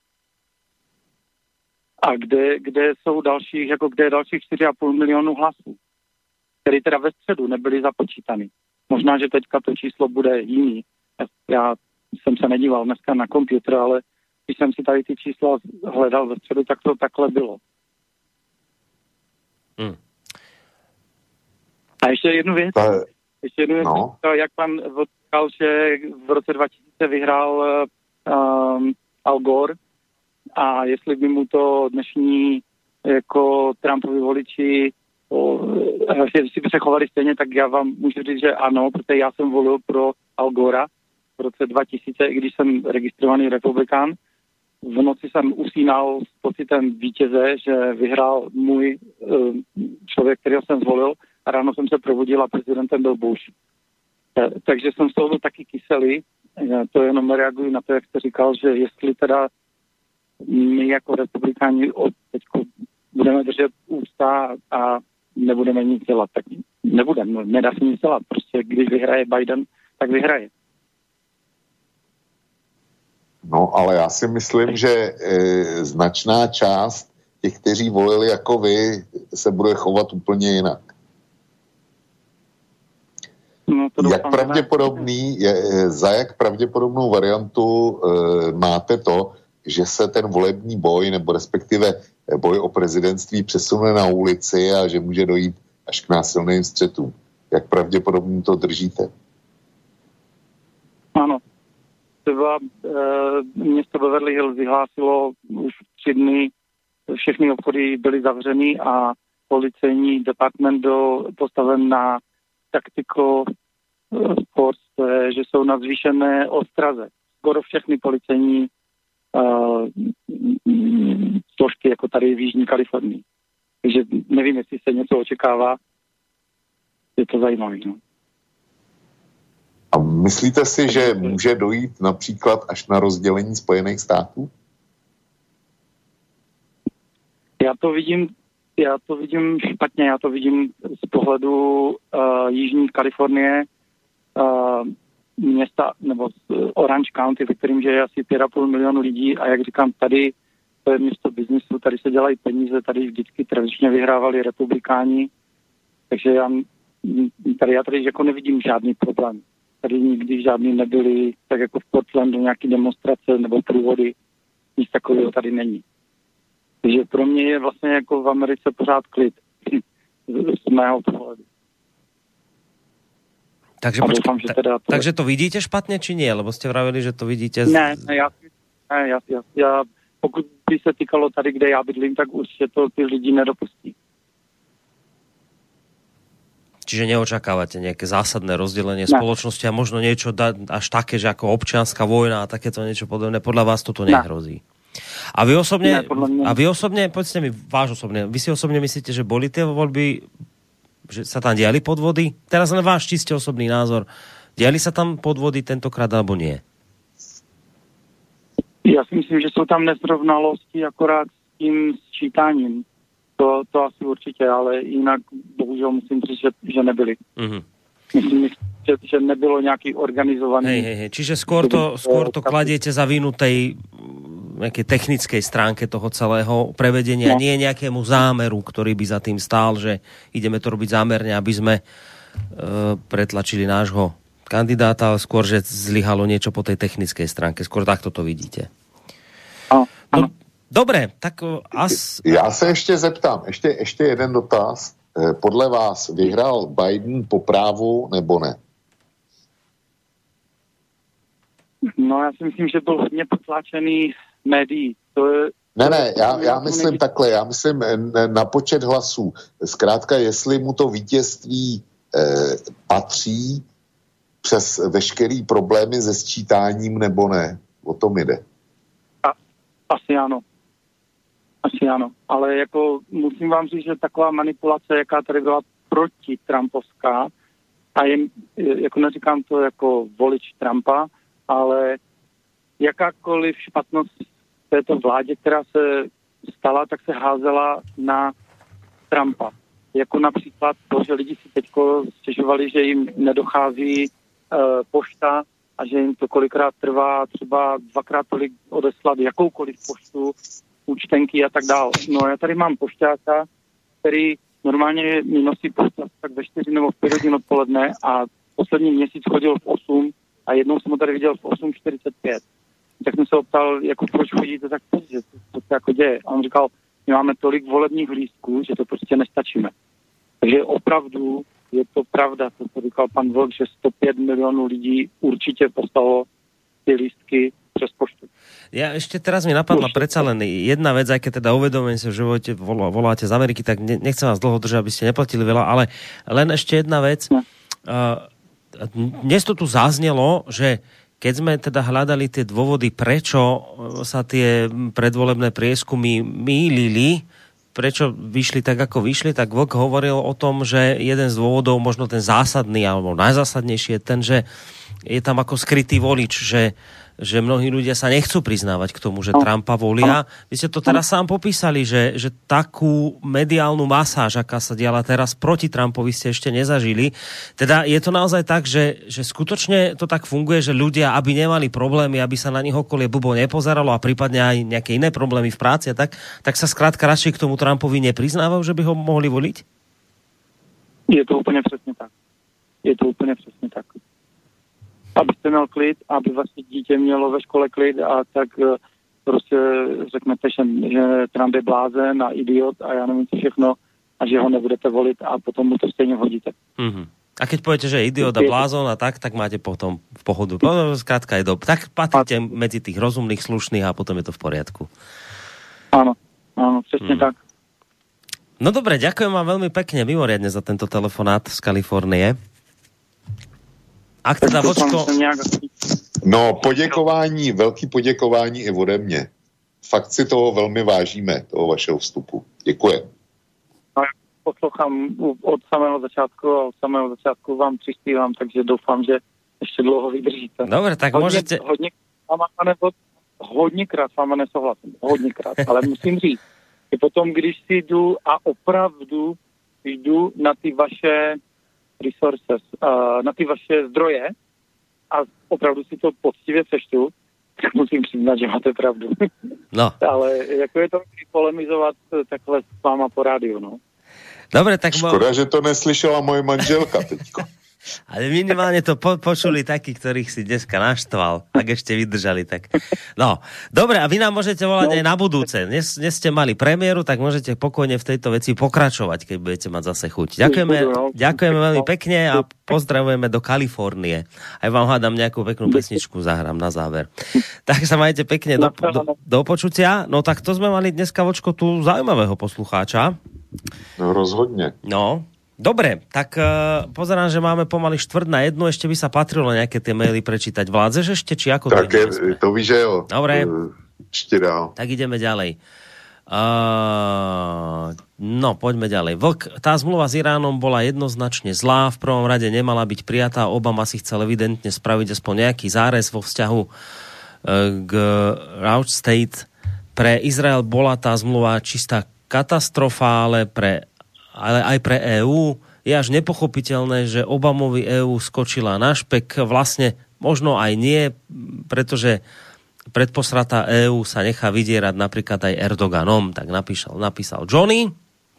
A kde, kde jsou dalších, jako kde je dalších čtyři celá pět milionů hlasů, které teda ve středu nebyly započítány. Možná, že teďka to číslo bude jiný. Já jsem se nedíval dneska na počítač, ale když jsem si tady ty čísla hledal ve středu, tak to takhle bylo. Hmm. A ještě jednu věc. Ještě jednu věc, no. Jak pan říkal, že v roce dva tisíce vyhrál um, Al Gore a jestli by mu to dnešní jako Trumpovi voliči jestli by se chovali stejně, tak já vám můžu říct, že ano, protože já jsem volil pro Al Gora v roce dva tisíce, i když jsem registrovaný republikán. V noci jsem usínal s pocitem vítěze, že vyhrál můj uh, člověk, kterého jsem zvolil, a ráno jsem se probudil a prezidentem byl Bush. Takže jsem z toho byl taky kyselý. To jenom reaguji na to, jak jste říkal, že jestli teda my jako republikáni od teďko budeme držet ústa a nebudeme nic dělat, tak nebudeme, nedá se nic dělat. Prostě když vyhraje Biden, tak vyhraje. No, ale já si myslím, že e, značná část těch, kteří volili jako vy, se bude chovat úplně jinak. No, to jak pravděpodobný, je, za jak pravděpodobnou variantu e, máte to, že se ten volební boj, nebo respektive boj o prezidentství přesune na ulici a že může dojít až k násilným střetům. Jak pravděpodobně to držíte? Ano. Třeba e, město Beverly Hills vyhlásilo už tři dny, všechny obchody byly zavřeny a policejní department byl postaven na tactical force, to je, že jsou na zvýšené ostraze. Skoro všechny policejní uh, složky, jako tady v Jižní Kalifornii. Takže nevím, jestli se něco očekává. Je to zajímavé. No. A myslíte si, že může dojít například až na rozdělení Spojených států? Já to vidím, já to vidím špatně, já to vidím z pohledu uh, Jižní Kalifornie, uh, města, nebo Orange County, ve kterým žije asi pět a půl milionu lidí a jak říkám, tady to je město biznisu, tady se dělají peníze, tady vždycky tradičně vyhrávali republikáni, takže já tady, já tady jako nevidím žádný problém. Tady nikdy žádný nebyly, tak jako v Portlandu nějaký demonstrace nebo průvody, nic takového tady není. Takže pro mě je vlastně jako v Americe pořád klid z mého pohledu. Takže, počkej, doufám, ta, teda to... takže to vidíte špatne, či nie? Lebo ste vravili, že to vidíte... Z... Ne, ne, ja, ne ja, ja, ja, pokud by se týkalo tady, kde já bydlím, tak určite to ty lidi nedopustí. Čiže neočakávate nejaké zásadné rozdelenie ne. spoločnosti a možno niečo da, až také, že ako občianska vojna a takéto niečo podobné. Podľa vás toto nehrozí. A vy osobne, ne, a vy osobne, povedzte mi, váš osobne, vy si osobne myslíte, že boli tie voľby, že sa tam diali podvody? Teraz len váš čiste osobný názor. Diali sa tam podvody tentokrát, alebo nie? Ja si myslím, že sú tam nesrovnalosti akorát s tým sčítaním. To, to asi určite, ale inak bohužiaľ musím říct, že, že nebyli. Uh-huh. Myslím, že, že nebylo nejaký organizovaný... Hej, hej, hej. Čiže skôr to, skôr to kladiete za vinu tej nejakej technickej stránke toho celého prevedenia, no. Nie nejakému zámeru, ktorý by za tým stál, že ideme to robiť zámerne, aby sme e, pretlačili nášho kandidáta, ale skôr, že zlyhalo niečo po tej technickej stránke. Skôr takto to vidíte. No, no, dobre, tak as... Já se ještě zeptám, ještě, ještě jeden dotaz. Podle vás vyhrál Biden po právu nebo ne? No, já si myslím, že byl hodně potlačený médií. To je, ne, ne, já, já myslím takhle, já myslím na počet hlasů. Zkrátka, jestli mu to vítězství eh, patří přes veškerý problémy se sčítáním nebo ne. O tom jde. A, asi ano. Asi ano. Ale jako musím vám říct, že taková manipulace, jaká tady byla proti Trumpovská, a je, jako neříkám to jako volič Trumpa, ale jakákoliv špatnost této vládě, která se stala, tak se házela na Trumpa. Jako například to, že lidi si teďko stěžovali, že jim nedochází uh, pošta a že jim to kolikrát trvá třeba dvakrát tolik odeslat jakoukoliv poštu, účtenky a tak dále. No já tady mám pošťáka, který normálně mi nosí poštu tak ve čtyři nebo v pět hodin odpoledne a poslední měsíc chodil v osm a jednou jsem ho tady viděl v osm čtyřicet pět. Tak jsem se optal, jako proč chodíte tak pozdě, co se jako děje. A on říkal, my máme tolik volebních lístků, že to prostě nestačíme. Takže opravdu je to pravda, to, co říkal pan Vlk, že sto pět milionů lidí určitě poslalo ty lístky přes poštu. Ja ešte teraz mi napadla predsa len jedna vec, aj keď teda uvedomujem si, že voláte, voláte z Ameriky, tak nechcem vás dlho držať, aby ste neplatili veľa, ale len ešte jedna vec. No. Uh, dnes to tu zaznelo, že keď sme teda hľadali tie dôvody, prečo sa tie predvolebné prieskumy mýlili, prečo vyšli tak, ako vyšli, tak Vlk hovoril o tom, že jeden z dôvodov, možno ten zásadný, alebo najzásadnejší je ten, že je tam ako skrytý volič, že že mnohí ľudia sa nechcú priznávať k tomu, že Trumpa volia. Vy ste to teraz sám popísali, že, že takú mediálnu masáž, aká sa diala teraz proti Trumpovi, ste ešte nezažili. Teda je to naozaj tak, že, že skutočne to tak funguje, že ľudia, aby nemali problémy, aby sa na nich okolie bubo nepozeralo a prípadne aj nejaké iné problémy v práci a tak, tak sa skrátka radšej k tomu Trumpovi nepriznávajú, že by ho mohli voliť? Je to úplne presne tak. Je to úplne presne tak. Abyste měl klid, aby vlastně dítě mělo ve škole klid a tak prostě řeknete, že, že Trump je blázen a idiot a já nevím co všechno a že ho nebudete volit a potom mu to stejně hodíte. Mm-hmm. A keď poviete, že je idiot a blázon a tak, tak máte potom v pohodu. Skrátka je dob. Tak patríte medzi tých rozumných, slušných a potom je to v poriadku. Áno, áno, přesně mm. tak. No dobre, ďakujem vám veľmi pekne, mimoriadne za tento telefonát z Kalifornie. Ak teda Vočko... No, poděkování, velký poděkování i ode mě. Fakt si toho velmi vážíme, toho vašeho vstupu. Děkuji. No, poslouchám od samého začátku a od samého začátku vám přispívám, takže doufám, že ještě dlouho vydržíte. Dobre, tak hodně, můžete... Hodně, hodněkrát s váma nesouhlasím, hodněkrát, ale musím říct, Je potom, když si jdu a opravdu jdu na ty vaše resources, uh, na ty vaše zdroje a opravdu si to poctivě přečtu, tak musím přiznat, že máte pravdu. No. Ale jako je to polemizovat takhle s váma po rádiu, no. Dobre, tak... Škoda, že to neslyšela moje manželka teďko. Ale minimálne to po- počuli takí, ktorých si dneska naštval, ak ešte vydržali, tak... No, dobre, a vy nám môžete volať no. aj na budúce. Dnes, dnes ste mali premiéru, tak môžete pokojne v tejto veci pokračovať, keď budete mať zase chuť. Ďakujeme, ďakujeme veľmi pekne a pozdravujeme do Kalifornie. Aj vám hádam nejakú peknú pesničku, zahrám na záver. Tak sa majte pekne, do, do, do počutia. No tak to sme mali dneska, Vočko, tu zaujímavého poslucháča. No rozhodne. No, dobre, tak uh, pozerám, že máme pomaly štvrt na jednu, ešte by sa patrilo nejaké tie maily prečítať. Vládzeš ešte, či ako? Tak je, to víš, že jo. Dobre, ešte dál. Tak ideme ďalej. Uh, no, poďme ďalej. Vlk, tá zmluva s Iránom bola jednoznačne zlá, v prvom rade nemala byť prijatá, Obama si chcel evidentne spraviť aspoň nejaký zárez vo vzťahu uh, k Route State. Pre Izrael bola tá zmluva čistá katastrofa, ale, pre, ale aj pre EÚ je až nepochopiteľné, že Obamovi EÚ skočila na špek. Vlastne možno aj nie, pretože predposratá EÚ sa nechá vydierať napríklad aj Erdoganom. Tak napísal, napísal Johnny.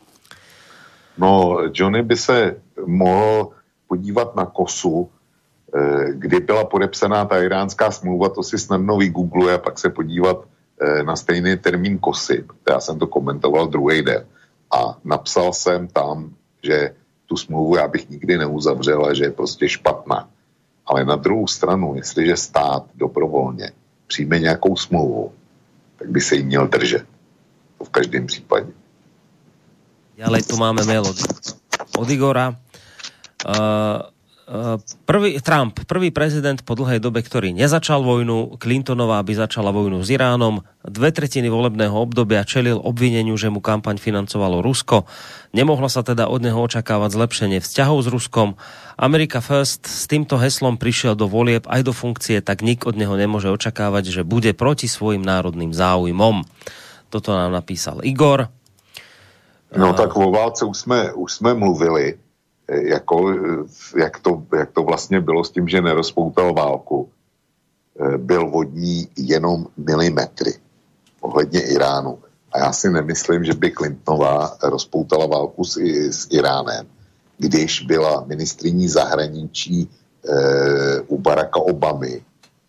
No, Johnny by se mohl podívat na Kosu, kdy byla podepsaná ta iránská smlouva, to si snadno vygoogluje a pak se podívat na stejný termín Kosy. Já jsem to komentoval druhý den. A napsal jsem tam, že tu smlouvu já bych nikdy neuzavřel a že je prostě špatná. Ale na druhou stranu, jestliže stát dobrovolně přijme nějakou smlouvu, tak by se jí měl držet. To v každém případě. Ďalej tu máme mail od, od Igora. Uh... Prvý, Trump, prvý prezident po dlhej dobe, ktorý nezačal vojnu, Clintonová by začala vojnu s Iránom, dve tretiny volebného obdobia čelil obvineniu, že mu kampaň financovalo Rusko. Nemohlo sa teda od neho očakávať zlepšenie vzťahov s Ruskom. America First s týmto heslom prišiel do volieb aj do funkcie, tak nik od neho nemôže očakávať, že bude proti svojim národným záujmom. Toto nám napísal Igor. No tak o válce už jsme, už jsme mluvili, Jako, jak, to, jak to vlastně bylo s tím, že nerozpoutal válku. Byl vodní jenom milimetry ohledně Iránu. A já si nemyslím, že by Clintonová rozpoutala válku s, s Iránem, když byla ministryní zahraničí e, u Baracka Obamy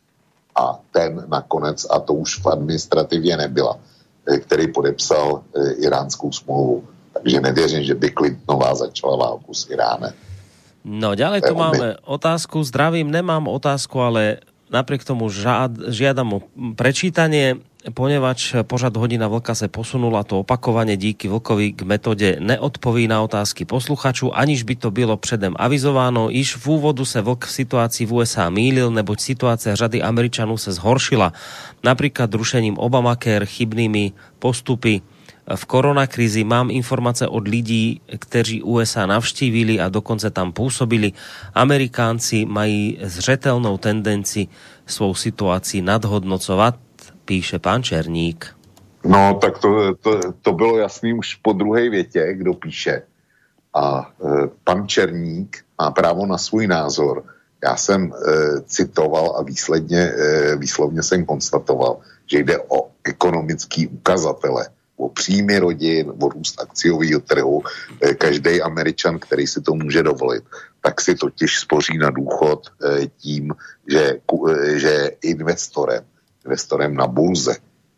a ten nakonec, a to už v administrativě nebyla, e, který podepsal e, iránskou smlouvu. Takže nevěřím, že by Clintonová začala válku s Iránem. No, ďalej tu máme otázku. Zdravím, nemám otázku, ale napriek tomu žád, žiadam o prečítanie, ponevač pořad Hodina vlka sa posunula to opakovane díky Vlkovi k metóde neodpoví na otázky posluchaču, aniž by to bylo předem avizováno. Iž v úvodu sa Vlk v situácii v ú es á mýlil, neboť situácia řady Američanů sa zhoršila. Napríklad rušením Obamacare, chybnými postupy v koronakrízi. Mám informácie od lidí, kteří ú es á navštívili a dokonce tam pôsobili. Amerikánci mají zřetelnou tendenci svou situácii nadhodnocovat, píše pán Černík. No, tak to, to, to bylo jasný už po druhé větě, kdo píše. A e, pan Černík má právo na svůj názor. Já jsem e, citoval a výsledně, e, výslovně jsem konstatoval, že jde o ekonomický ukazatele, o příjmy rodin, o růst akciového trhu. Každý Američan, který si to může dovolit, tak si totiž spoří na důchod tím, že, že investorem, investorem na burze,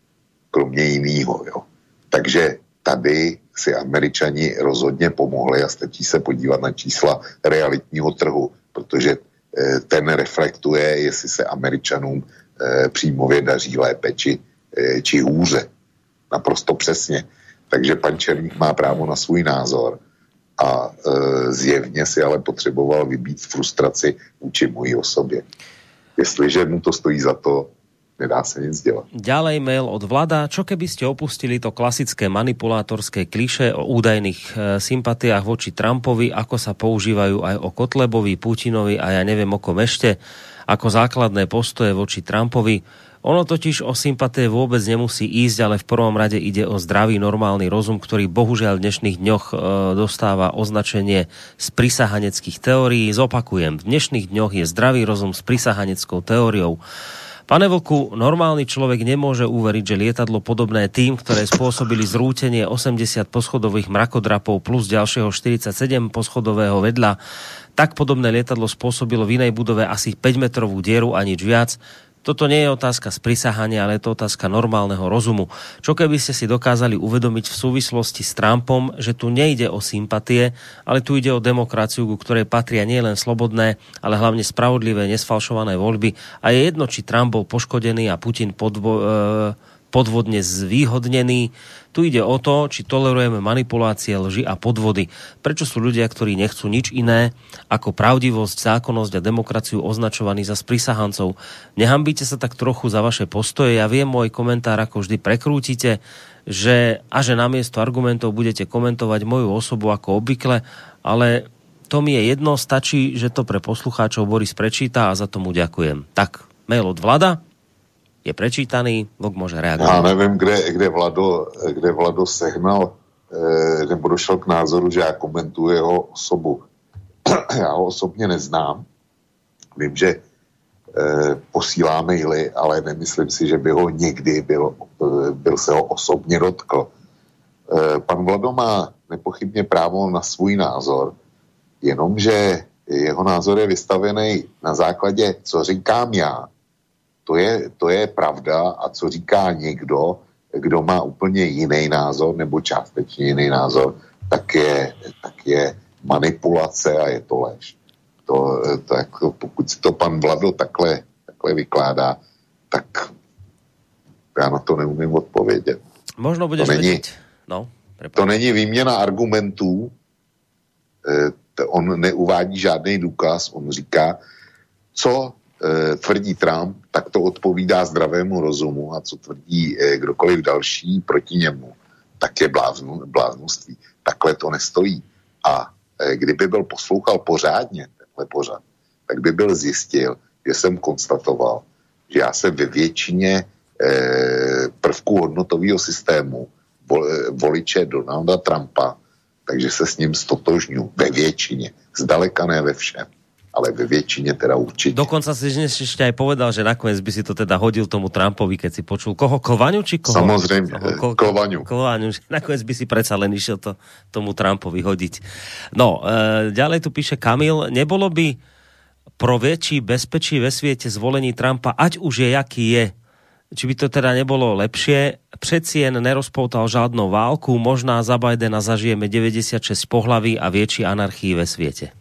kromě jinýho. Jo. Takže tady si Američani rozhodně pomohli a stačí se podívat na čísla realitního trhu, protože ten reflektuje, jestli se Američanům příjmově daří lépe či, či hůře. Naprosto přesně. Takže pan Černík má právo na svůj názor a e, zjevně si ale potřeboval vybít frustraci vůči mojí osobě. Jestliže mu to stojí za to, nedá sa nic dělat. Ďalej mail od Vlada. Čo keby ste opustili to klasické manipulátorské klišé o údajných e, sympatiách voči Trumpovi, ako sa používajú aj o Kotlebovi, Putinovi a ja neviem o kom ešte, ako základné postoje voči Trumpovi. Ono totiž o sympatie vôbec nemusí ísť, ale v prvom rade ide o zdravý, normálny rozum, ktorý bohužiaľ v dnešných dňoch e, dostáva označenie z prisahaneckých teórií. Zopakujem, v dnešných dňoch je zdravý rozum s prisahaneckou teóriou. Pane Vlku, normálny človek nemôže uveriť, že lietadlo podobné tým, ktoré spôsobili zrútenie osemdesiat poschodových mrakodrapov plus ďalšieho štyridsaťsedem poschodového vedľa, tak podobné lietadlo spôsobilo v inej budove asi päťmetrovú dieru a nič viac. Toto nie je otázka sprisahania, ale je to otázka normálneho rozumu. Čo keby ste si dokázali uvedomiť v súvislosti s Trumpom, že tu nejde o sympatie, ale tu ide o demokraciu, ku ktorej patria nielen slobodné, ale hlavne spravodlivé, nesfalšované voľby. A je jedno, či Trump bol poškodený a Putin podvo- podvodne zvýhodnený. Tu ide o to, či tolerujeme manipulácie, lži a podvody. Prečo sú ľudia, ktorí nechcú nič iné ako pravdivosť, zákonnosť a demokraciu označovaní za sprisahancov? Nehambíte sa tak trochu za vaše postoje? Ja viem, môj komentár ako vždy prekrútite, že, a že namiesto argumentov budete komentovať moju osobu ako obvykle, ale to mi je jedno, stačí, že to pre poslucháčov Boris prečíta a za tomu ďakujem. Tak, mail od Vlada je prečítaný, Vlk môže reagovať. Já nevím, kde, kde, Vlado, kde Vlado sehnal, eh, nebo došel k názoru, že já komentuji jeho osobu. Já ho osobně neznám. Vím, že eh, posílá maily, ale nemyslím si, že by ho někdy byl, byl se ho osobně dotkl. Eh, pan Vlado má nepochybně právo na svůj názor, jenomže jeho názor je vystavený na základě, co říkám já. To je, to je pravda a co říká někdo, kdo má úplně jiný názor nebo částečně jiný názor, tak je, tak je manipulace a je to lež. To, to jako, pokud si to pan Vlado takhle, takhle vykládá, tak já na to neumím odpovědět. Možno budeš to není, vedieť. No, to není výměna argumentů, e, on neuvádí žádný důkaz, on říká, co tvrdí Trump, tak to odpovídá zdravému rozumu a co tvrdí kdokoliv další proti němu, tak je bláznu, bláznoství. Takhle to nestojí. A kdyby byl poslouchal pořádně tenhle pořad, tak by byl zjistil, že jsem konstatoval, že já se ve většině prvků hodnotového systému voliče Donalda Trumpa, takže se s ním stotožňuji ve většině, zdaleka ne ve všem. Ale ve väčšine teda určite. Dokonca si dnes ešte aj povedal, že nakoniec by si to teda hodil tomu Trumpovi, keď si počul koho? Klvaňu či koho? Samozrejme, koho, Klvaňu. Klvaňu, že nakoniec by si predsa len išiel to tomu Trumpovi hodiť. No, e, ďalej tu píše Kamil, nebolo by pro väčší bezpečí ve svete zvolení Trumpa, ať už je, jaký je, či by to teda nebolo lepšie, přeci jen nerozpoutal žádnou válku, možná za Bidena zažijeme deväťdesiatšesť pohlaví a väčší anarchii ve svete.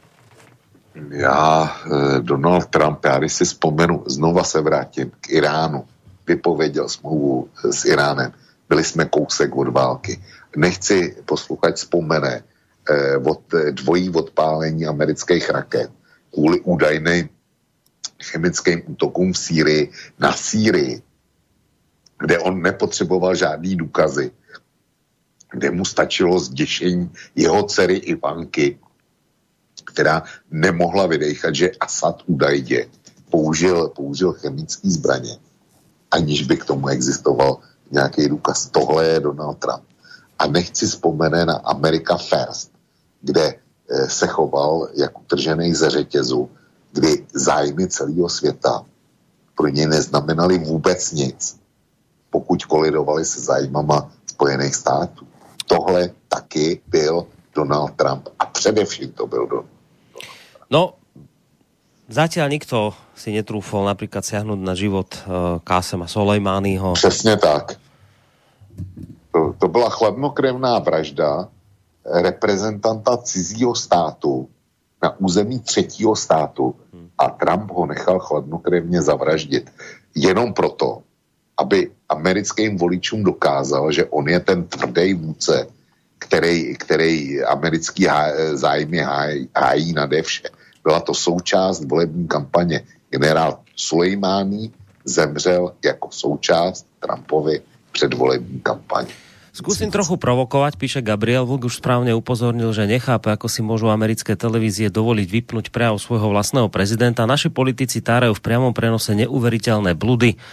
Já, Donald Trump, já když si vzpomenu, znova se vrátím k Iránu, vypověděl smlouvu s Iránem, byli jsme kousek od války. Nechci posluchač vzpomene eh, od dvojí odpálení amerických raket kvůli údajným chemickým útokům v Sýrii na Sýrii, kde on nepotřeboval žádný důkazy, kde mu stačilo zděšení jeho dcery Ivanky, která nemohla vydejchat, že Asad údajně použil, použil chemické zbraně, aniž by k tomu existoval nějaký důkaz. Tohle je Donald Trump. A nechci vzpomenout na America First, kde eh, se choval jak utržený ze řetězu, kdy zájmy celého světa pro něj neznamenaly vůbec nic, pokud kolidovali se zájmama Spojených států. Tohle taky byl Donald Trump a především to byl Donald. No, zatiaľ nikto si netrúfol napríklad siahnuť na život uh, Kásema Soleimányho. Přesně tak. To, to byla chladnokrevná vražda reprezentanta cizího státu na území třetího státu a Trump ho nechal chladnokrevně zavraždit. Jenom proto, aby americkým voličům dokázal, že on je ten tvrdý vůdce, který, který americký zájmy hájí, hájí nade vše. Byla to součást volební kampaně. Generál Sulejmání zemřel jako součást Trumpovy předvolební kampaně. Skúsim trochu provokovať, píše Gabriel. Vlk už správne upozornil, že nechápe, ako si môžu americké televízie dovoliť vypnúť prejav svojho vlastného prezidenta. Naši politici tárajú v priamom prenose neuveriteľné bludy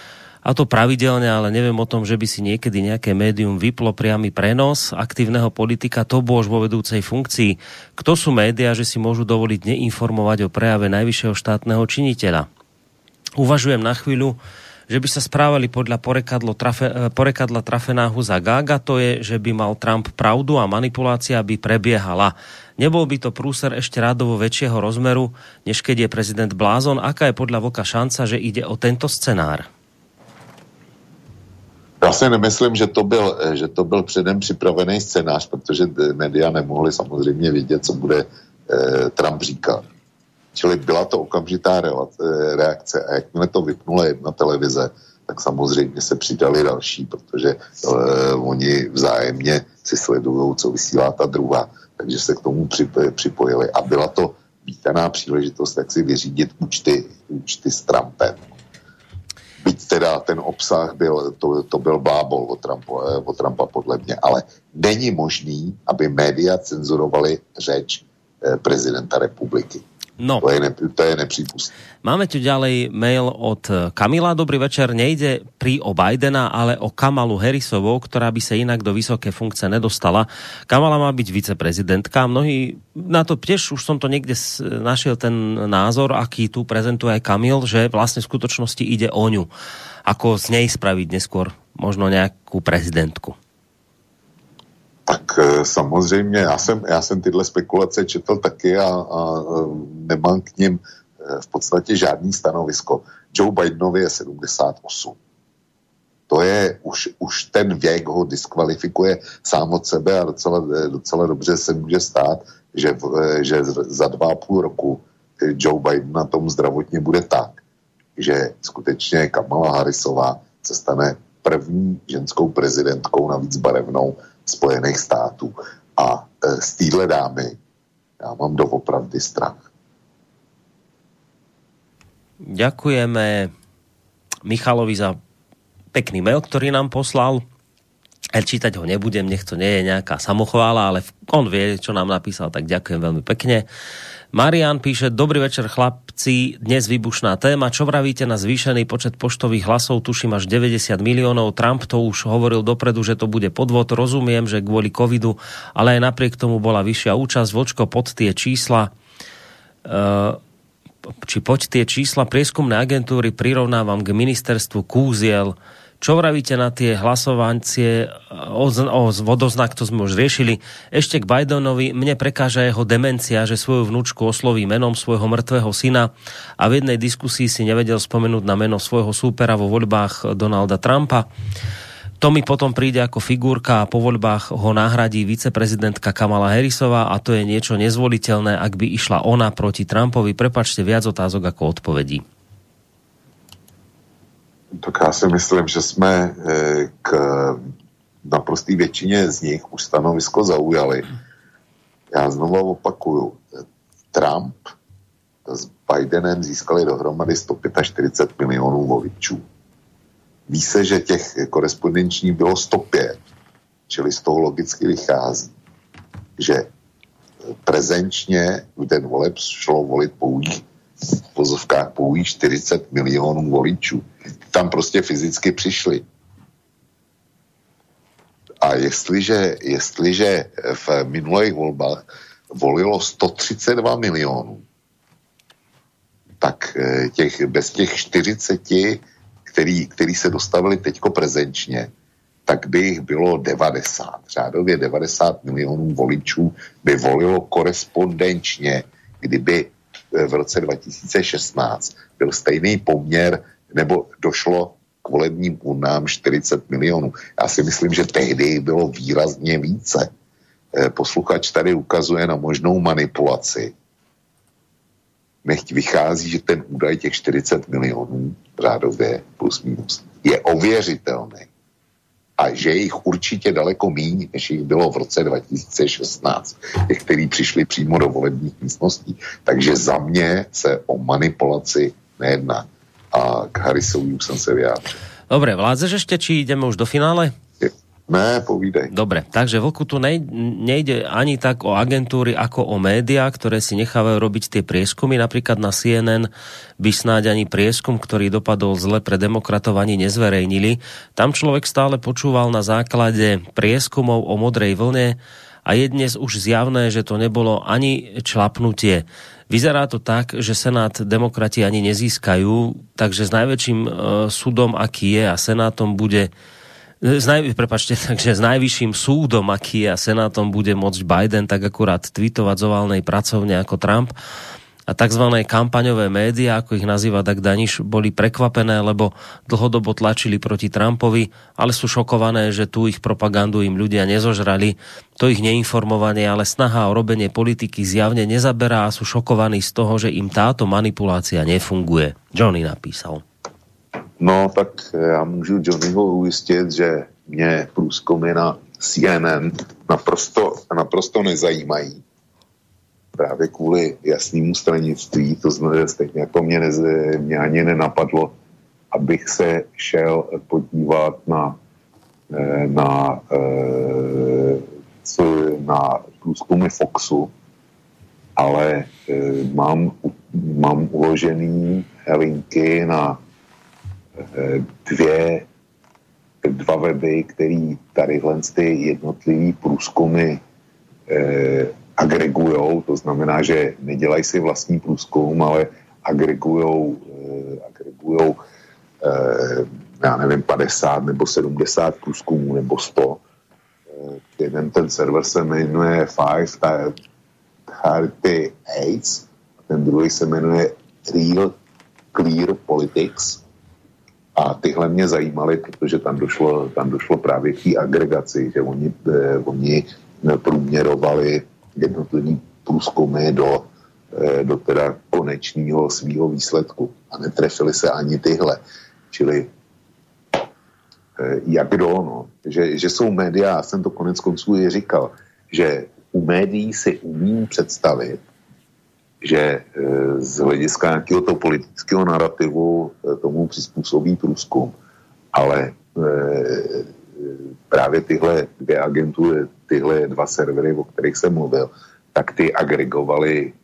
a to pravidelne, ale neviem o tom, že by si niekedy nejaké médium vyplo priamy prenos aktívneho politika, to bôž vo vedúcej funkcii. Kto sú médiá, že si môžu dovoliť neinformovať o prejave najvyššieho štátneho činiteľa? Uvažujem na chvíľu, že by sa správali podľa porekadlo trafe, porekadla trafenáhu za Gága, to je, že by mal Trump pravdu a manipulácia by prebiehala. Nebol by to prúser ešte rádovo väčšieho rozmeru, než keď je prezident blázon? Aká je podľa Vlka šanca, že ide o tento scenár? Já si nemyslím, že to byl, že to byl předem připravený scénář, protože média nemohli samozřejmě vědět, co bude eh, Trump říkat. Čili byla to okamžitá reakce a jakmile to vypnula jedna televize, tak samozřejmě se přidali další, protože eh, oni vzájemně si sledují, co vysílá ta druhá, takže se k tomu připojili a byla to vítaná příležitost, jak si vyřídit účty, účty s Trumpem. Byť teda ten obsah byl, to, to byl blábol od Trumpa, od Trumpa podle mě, ale není možný, aby média cenzurovali řeč eh, prezidenta republiky. No. To je, ne, to je nepřípustné. Máme tu ďalej mail od Kamila. Dobrý večer. Nejde pri o Bidena, ale o Kamalu Harrisovou, ktorá by sa inak do vysoké funkcie nedostala. Kamala má byť viceprezidentka. Mnohí na to tiež, už som to niekde našiel ten názor, aký tu prezentuje aj Kamil, že vlastne v skutočnosti ide o ňu. Ako z nej spraviť neskôr možno nejakú prezidentku. Tak samozřejmě, já jsem, já jsem tyhle spekulace četl taky a, a nemám k nim v podstatě žádný stanovisko. Joe Bidenovi je sedmdesát osm. To je, už, už ten věk ho diskvalifikuje sám od sebe a docela, docela dobře se může stát, že, že za dva a půl roku Joe Biden na tom zdravotně bude tak, že skutečně Kamala Harrisová se stane první ženskou prezidentkou, navíc barevnou, Spojených států. A e, z téhle dámy já mám doopravdy strach. Ďakujeme Michalovi za pekný mail, ktorý nám poslal. Čítať ho nebudem, nech to nie je nejaká samochvála, ale on vie, čo nám napísal, tak ďakujem veľmi pekne. Marian píše, dobrý večer chlapci, dnes výbušná téma, čo vravíte na zvýšený počet poštových hlasov, tuším až deväťdesiat miliónov, Trump to už hovoril dopredu, že to bude podvod, rozumiem, že kvôli covidu, ale aj napriek tomu bola vyššia účasť, Vočko, pod tie čísla, uh, či poď tie čísla prieskumné agentúry prirovnávam k ministerstvu kúziel. Čo vravíte na tie hlasovancie o, o vodoznak, to sme už riešili. Ešte k Bidenovi, mne prekáža jeho demencia, že svoju vnúčku osloví menom svojho mŕtvého syna a v jednej diskusii si nevedel spomenúť na meno svojho súpera vo voľbách Donalda Trumpa. To mi potom príde ako figurka a po voľbách ho nahradí viceprezidentka Kamala Harrisová a to je niečo nezvoliteľné, ak by išla ona proti Trumpovi. Prepáčte, viac otázok ako odpovedí. Tak já si myslím, že jsme k naprosté většině z nich už stanovisko zaujali. Já znovu opakuju, Trump s Bidenem získali dohromady sto čtyřicet pět milionů voličů. Ví se, že těch korespondenční bylo sto pět, čili z toho logicky vychází, že prezenčně v den voleb šlo volit pouhých v pozovkách pouhých čtyřicet milionů voličů. Tam prostě fyzicky přišli. A jestliže, jestliže v minulých volbách volilo sto třicet dva milionů, tak těch, bez těch čtyřiceti, který, který se dostavili teďko prezenčně, tak by jich bylo devadesát. Řádově devadesát milionů voličů by volilo korespondenčně, kdyby v roce dva tisíce šestnáct byl stejný poměr, nebo došlo k volebním urnám čtyřicet milionů. Já si myslím, že tehdy bylo výrazně více. Posluchač tady ukazuje na možnou manipulaci. Nechť vychází, že ten údaj těch čtyřicet milionů řádově plus minus je ověřitelný. A že jich určitě daleko míň, než jich bylo v roce dva tisíce šestnáct, těch, kteří přišli přímo do volebních místností. Takže za mě se o manipulaci nejedná. A k Harrisovi už jsem se vyjádřil. Dobre, vládzeš ešte, či ideme už do finále? Ne, povídej. Dobre, takže Vlku, tu nejde ani tak o agentúry, ako o médiá, ktoré si nechávajú robiť tie prieskumy. Napríklad na C N N by snáď ani prieskum, ktorý dopadol zle pre demokratov, ani nezverejnili. Tam človek stále počúval na základe prieskumov o modrej vlne a je dnes už zjavné, že to nebolo ani člapnutie. Vyzerá to tak, že Senát demokrati ani nezískajú, takže s najväčším e, súdom, aký je, a Senátom bude S naj, prepačte, takže s najvyšším súdom, aký je, a Senátom bude môcť Biden tak akurát tweetovať z oválnej pracovne ako Trump. A takzvané kampaňové médiá, ako ich nazýva Dag Daniš, boli prekvapené, lebo dlhodobo tlačili proti Trumpovi, ale sú šokované, že tú ich propagandu im ľudia nezožrali. To ich neinformovanie, ale snaha o robenie politiky zjavne nezaberá a sú šokovaní z toho, že im táto manipulácia nefunguje. Johnny napísal. No, tak já můžu Johnnyho ujistit, že mě průzkumy na C N N naprosto, naprosto nezajímají. Právě kvůli jasnému stranictví, to znamená, stejně jako mě, nez, mě ani nenapadlo, abych se šel podívat na, na, co, na průzkumy Foxu, ale mám, mám uložený linky na dvě, dva weby, který tadyhle ty jednotlivý průzkumy eh, agregujou, to znamená, že nedělají si vlastní průzkum, ale agregujou, eh, agregujou eh, já nevím, padesát nebo sedmdesát průzkumů nebo sto. Eh, jeden ten server se jmenuje Five Thirty Eight a ten druhý se jmenuje Real Clear Politics. A tyhle mě zajímaly, protože tam došlo, tam došlo právě k té agregaci, že oni, eh, oni průměrovali jednotlivý průzkumy do, eh, do teda konečného svýho výsledku. A netrefili se ani tyhle. Čili eh, jak kdo, no. Že, že jsou média, já jsem to konec konců i říkal, že u médií si umím představit, že z hlediska nějakého toho politického narrativu tomu přizpůsobí průzkum. Ale právě tyhle dvě agentury, tyhle dva servery, o kterých jsem mluvil, tak ty agregovali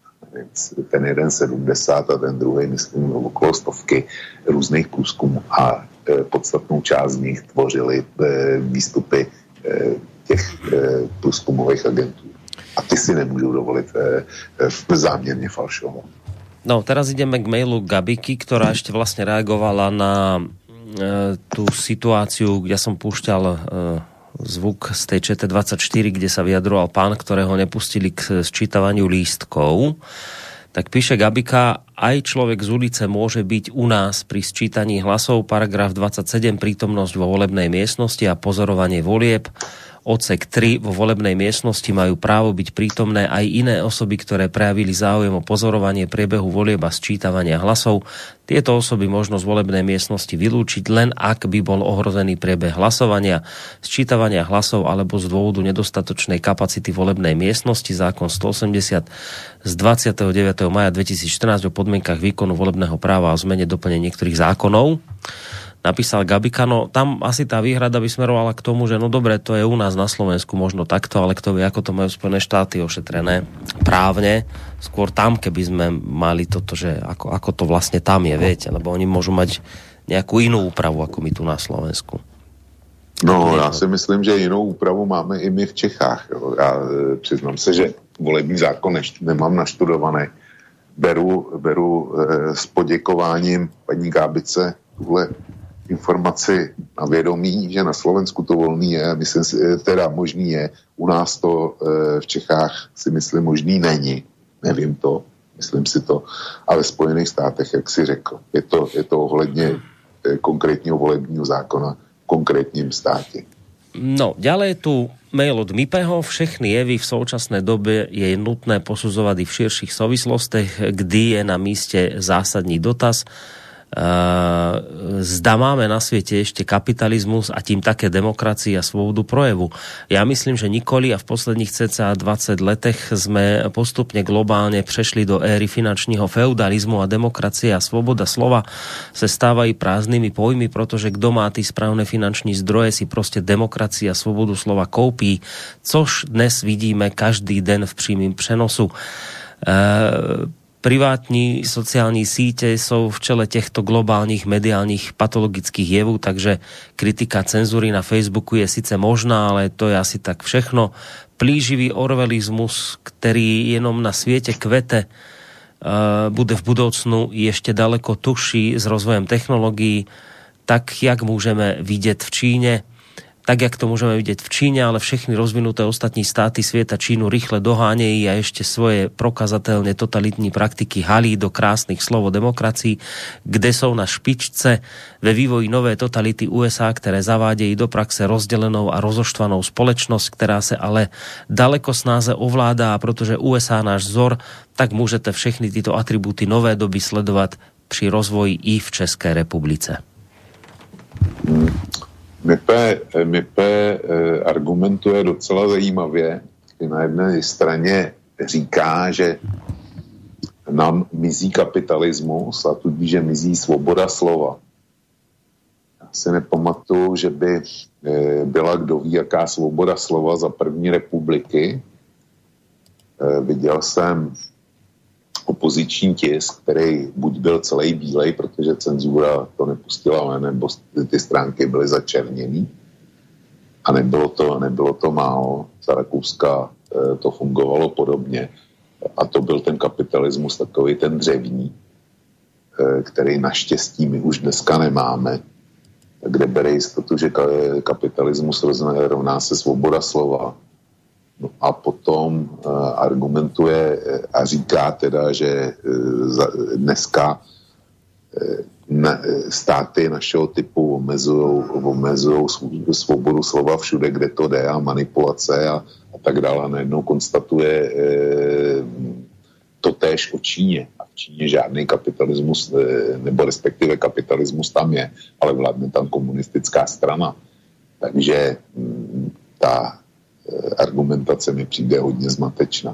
ten jeden sedmdesát a ten druhý, myslím, okolo stovky různých průzkumů a podstatnou část z nich tvořili výstupy těch průzkumových agentů. A ty si nemôžu dovoliť e, e, zámerne falšovať. No, teraz ideme k mailu Gabiky, ktorá ešte vlastne reagovala na e, tú situáciu, kde som púšťal e, zvuk z tej Č T dvadsaťštyri, kde sa vyjadroval pán, ktorého nepustili k sčítavaniu lístkov. Tak píše Gabika, aj človek z ulice môže byť u nás pri sčítaní hlasov, paragraf dvadsaťsedem, prítomnosť vo volebnej miestnosti a pozorovanie volieb. Odsek tri, vo volebnej miestnosti majú právo byť prítomné aj iné osoby, ktoré prejavili záujem o pozorovanie priebehu volieb a sčítavania hlasov. Tieto osoby možno z volebnej miestnosti vylúčiť len ak by bol ohrozený priebeh hlasovania, sčítavania hlasov alebo z dôvodu nedostatočnej kapacity volebnej miestnosti, zákon stoosemdesiat z dvadsiateho deviateho mája dvetisícštrnásť o podmienkach výkonu volebného práva a o zmene doplnenia niektorých zákonov. Napísal Gabika, no tam asi tá výhrada by smerovala k tomu, že no dobre, to je u nás na Slovensku možno takto, ale kto vie, ako to majú Spojené štáty ošetrené právne. Skôr tam, keby sme mali toto, že ako, ako to vlastne tam je, viete, lebo oni môžu mať nejakú inú úpravu, ako my tu na Slovensku. No, já si myslím, že jinou úpravu máme i my v Čechách. Jo. Já přiznám se, že volební zákon ještě nemám naštudovaný. Beru, beru eh, s poděkováním paní Gábice tuhle informaci na vědomí, že na Slovensku to volný je, myslím si, teda možný je, u nás to e, v Čechách si myslím možný není, nevím to, myslím si to, ale v Spojených státech, jak si řekl, je to, je to ohledně e, konkrétního volebního zákona v konkrétním státě. No, ďalej tu mail od Mipeho. Všechny jevy v současné dobe je nutné posudzovať i v širších súvislostech, kdy je na míste zásadní dotaz. zda máme na svete ešte kapitalizmus a tým také demokracii a slobodu projevu. Ja myslím, že nikoli a v posledných cca dvadsať letech sme postupne globálne prešli do éry finančného feudalizmu a demokracie a sloboda slova sa stávajú prázdnymi pojmy, pretože kto má tí správne finanční zdroje, si proste demokracia a slobodu slova koupí, což dnes vidíme každý den v prímym přenosu. E- Privátní sociální síte jsou v čele těchto globálních mediálních patologických jevů, takže kritika cenzury na Facebooku je sice možná, ale to je asi tak všechno. Plíživý orwellismus, který jenom na světě kvete, uh, bude v budoucnu ještě daleko tužší s rozvojem technologií, tak jak můžeme vidět v Číně, tak, jak to môžeme vidieť v Číne, ale všechny rozvinuté ostatní státy sveta Čínu rýchle doháňají a ešte svoje prokazateľne totalitní praktiky halí do krásnych slov o demokracii, kde sú na špičce ve vývoji nové totality U S A, ktoré zavádejí do praxe rozdelenou a rozoštvanou společnosť, ktorá sa ale daleko snáze ovládá, a protože U S A náš vzor, tak môžete všechny tyto atributy nové doby sledovať pri rozvoji i v České republice. Hmm. Mipe, Mipe argumentuje docela zajímavě. Na jedné straně říká, že nám mizí kapitalismus a tudíž, že mizí svoboda slova. Já si nepamatuju, že by byla kdo ví, jaká svoboda slova za první republiky. Viděl jsem opoziční tisk, který buď byl celý bílej, protože cenzura to nepustila, nebo ty stránky byly začerněný. A nebylo to, nebylo to málo. Za Rakouska to fungovalo podobně. A to byl ten kapitalismus, takový ten dřevní, který naštěstí my už dneska nemáme, kde bere jistotu, že kapitalismus rovná se svoboda slova. No a potom uh, argumentuje a říká teda, že uh, dneska uh, na, státy našeho typu omezují svobodu slova všude, kde to jde, a manipulace a, a tak dále. Najednou konstatuje uh, to též o Číně. A v Číně žádný kapitalismus, uh, nebo respektive kapitalismus tam je, ale vládne tam komunistická strana. Takže um, ta argumentace mi přijde hodne zmatečná.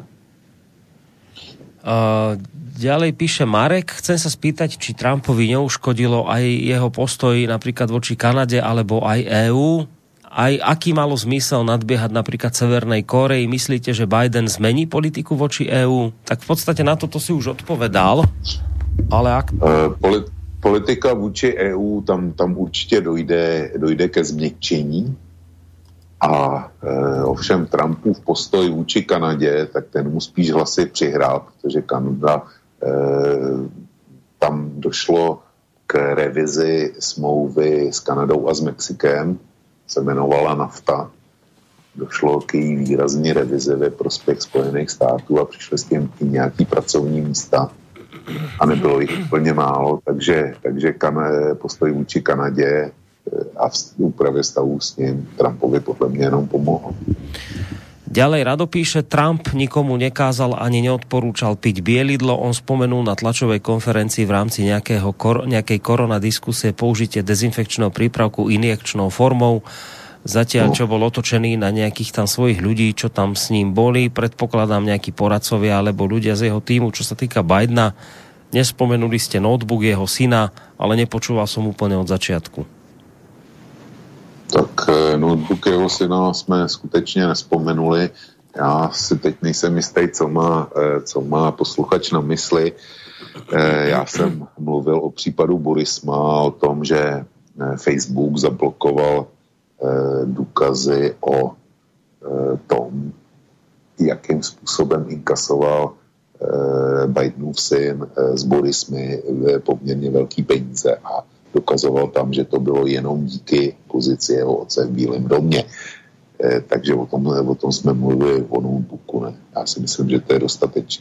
Uh, ďalej píše Marek, chcem sa spýtať, či Trumpovi neuškodilo aj jeho postoj napríklad voči Kanade alebo aj é ú. Aj aký malo zmysel nadbiehať napríklad Severnej Kórei? Myslíte, že Biden zmení politiku voči é ú? Tak v podstate na toto si už odpovedal. Ale ak... Uh, polit- politika vůči é ú, tam, tam určitě dojde, dojde ke změkčení. A e, ovšem Trumpův postoj vůči Kanadě, tak ten mu spíš hlasy přihrál, protože Kanada, e, tam došlo k revizi smlouvy s Kanadou a s Mexikem, se jmenovala NAFTA. Došlo k její výrazné revizi ve prospěch Spojených států a přišly s tím i nějaký pracovní místa a nebylo jich úplně málo, takže, takže kan, postoj vůči Kanadě a v úprave stavu s ním Trumpovi podľa mňa jenom pomohol. Ďalej Rado píše, Trump nikomu nekázal ani neodporúčal piť bielidlo. On spomenul na tlačovej konferencii v rámci nejakého, nejakej korona diskusie použitie dezinfekčného prípravku injekčnou formou. Zatiaľ, čo bol otočený na nejakých tam svojich ľudí, čo tam s ním boli, predpokladám nejakí poradcovia alebo ľudia z jeho týmu. Čo sa týka Bidena, nespomenuli ste notebook jeho syna, ale nepočúval som úplne od začiatku. Tak notebook jeho syna jsme skutečně nespomenuli. Já si teď nejsem jistý, co má, co má posluchač na mysli. Já jsem mluvil o případu Burisma, o tom, že Facebook zablokoval důkazy o tom, jakým způsobem inkasoval Bidenův syn s Burismy poměrně velký peníze a dokazoval tam, že to bylo jenom díky pozici jeho otce v Bílém domě. E, takže o tom, o tom jsme mluvili o notebooku. Ne? Já si myslím, že to je dostatečné.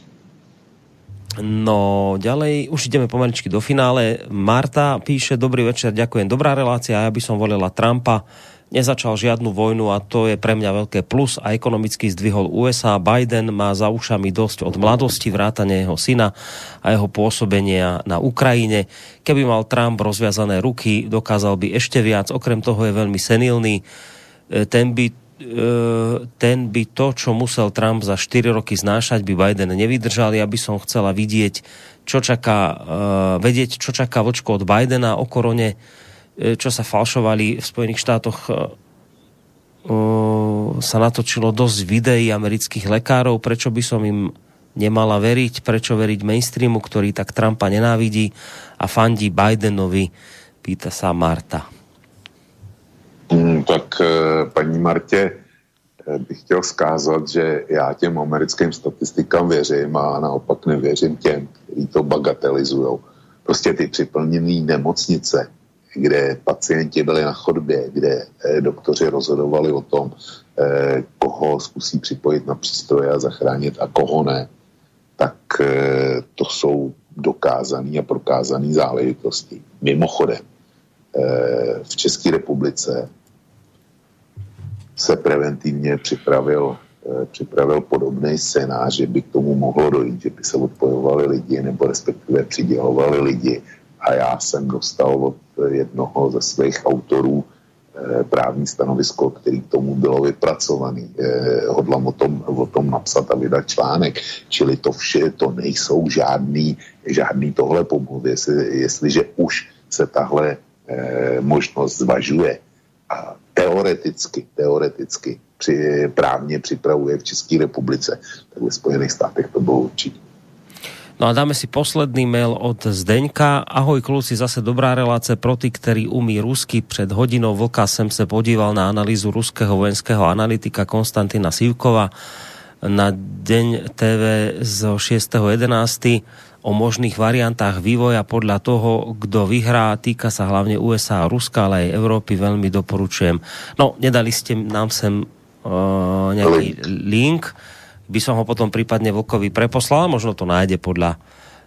No, ďalej, už ideme pomaličky do finále. Marta píše, dobrý večer, ďakujem, dobrá relácia, ja by som volila Trumpa. nezačal žiadnu vojnu a to je pre mňa veľké plus a ekonomicky zdvihol ú es á. Biden má za ušami dosť od mladosti, vrátane jeho syna a jeho pôsobenia na Ukrajine. Keby mal Trump rozviazané ruky, dokázal by ešte viac. Okrem toho je veľmi senilný. Ten by, ten by to, čo musel Trump za štyri roky znášať, by Biden nevydržal. Ja by som chcela vidieť, čo čaká, vedieť, čo čaká vočko od Bidena o korone, čo sa falšovali v Spojených štátoch. Sa natočilo dosť videí amerických lekárov, prečo by som im nemala veriť, prečo veriť mainstreamu, ktorý tak Trumpa nenávidí a fandí Bidenovi, pýta sa Marta. Hmm, tak paní Martě bych chtěl vzkázat, že já těm americkým statistikám věřím a naopak nevěřím těm, kteří to bagatelizujou. Prostě ty připlněné nemocnice, kde pacienti byli na chodbě, kde eh, doktoři rozhodovali o tom, eh, koho zkusí připojit na přístroje a zachránit a koho ne, tak eh, to jsou dokázané a prokázané záležitosti. Mimochodem, eh, v České republice se preventivně připravil, eh, připravil podobný scénář, že by k tomu mohlo dojít, že by se odpojovali lidi nebo respektive přidělovali lidi. A já jsem dostal od jednoho ze svých autorů eh, právní stanovisko, který k tomu bylo vypracovaný. Eh, hodlám o tom, o tom napsat a vydat článek. Čili to vše, to nejsou žádný, žádný tohle pomluvy, jestli, jestliže už se tahle eh, možnost zvažuje a teoreticky, teoreticky při, právně připravuje v České republice, tak ve Spojených státech to bylo určitě. No a dáme si posledný mail od Zdeňka. Ahoj kluci, zase dobrá relácia pro tí, ktorí umí rusky. Pred hodinou vlka sem sa podíval na analýzu ruského vojenského analytika Konstantina Sivkova na Deň té vé zo šiesteho jedenásteho o možných variantách vývoja podľa toho, kto vyhrá. Týka sa hlavne ú es á a Ruska, ale aj Európy. Veľmi doporučujem. No, nedali ste nám sem uh, nejaký link. By som ho potom prípadne Vlkovi preposlal, možno to nájde podľa e,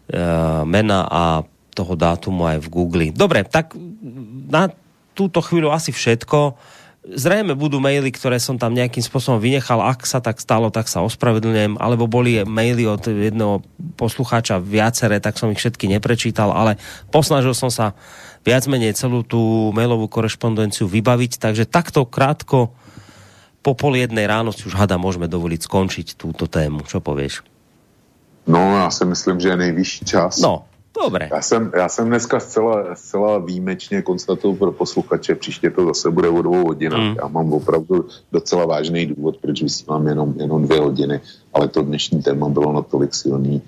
mena a toho dátumu aj v Google. Dobre, tak na túto chvíľu asi všetko. Zrejme budú maily, ktoré som tam nejakým spôsobom vynechal. Ak sa tak stalo, tak sa ospravedlňujem. Alebo boli maily od jedného poslucháča viaceré, tak som ich všetky neprečítal, ale posnažil som sa viac menej celú tú mailovú korešpondenciu vybaviť, takže takto krátko po pol jednej ráno si už hada môžeme dovoliť skončiť túto tému. Čo povieš? No, já si myslím, že je nejvyšší čas. No, dobré. Já jsem, já jsem dneska zcela, zcela výjimečně konstatuju pro posluchače, příště to zase bude o dvou hodinách. Mm. Já mám opravdu docela vážný důvod, proč vysílám jenom, jenom dvě hodiny, ale to dnešní téma bylo natolik silný,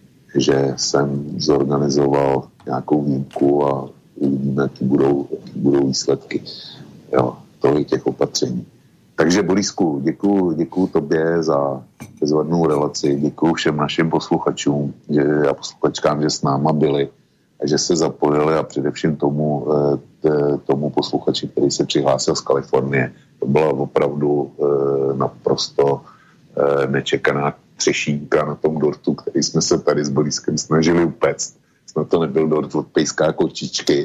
že jsem zorganizoval nějakou výjimku a uvidíme, jaký budou, jaký budou výsledky. Jo, tolik těch opatření. Takže Borisku, děkuju, děkuju tobě za bezvadnou relaci, děkuju všem našim posluchačům že, a posluchačkám, že s náma byli a že se zapojili a především tomu, t, tomu posluchači, který se přihlásil z Kalifornie. To byla opravdu e, naprosto e, nečekaná třešínka na tom dortu, který jsme se tady s Boriskem snažili upéct. Snad to nebyl dort od pejská kočičky.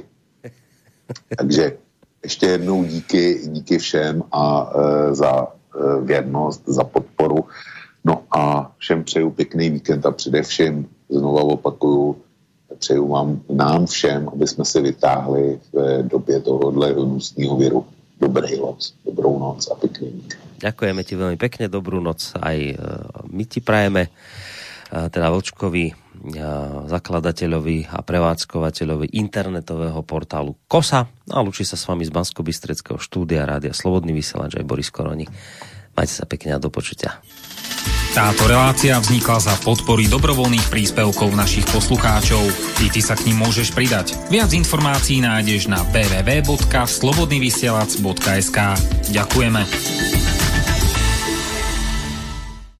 Takže ještě jednou díky, díky všem a e, za e, věrnost, za podporu. No a všem přeju pěkný víkend a především, znova opakuju, přeju vám, nám všem, aby jsme se vytáhli v době tohohle hnusného viru. Dobrý noc, dobrou noc a pěkný víkend. Ďakujeme ti veľmi pekne, dobrú noc aj e, my ti prajeme, e, teda Vlčkovi, zakladateľovi a prevádzkovateľovi internetového portálu Kosa. A lúči sa s vami z Banskobystrického štúdia Rádia Slobodný vysielač aj Boris Koroni. Majte sa pekne a do počutia. Táto relácia vznikla za podpory dobrovoľných príspevkov našich poslucháčov. I ty sa k nim môžeš pridať. Viac informácií nájdeš na w w w bodka slobodnyvysielac bodka es ka. Ďakujeme.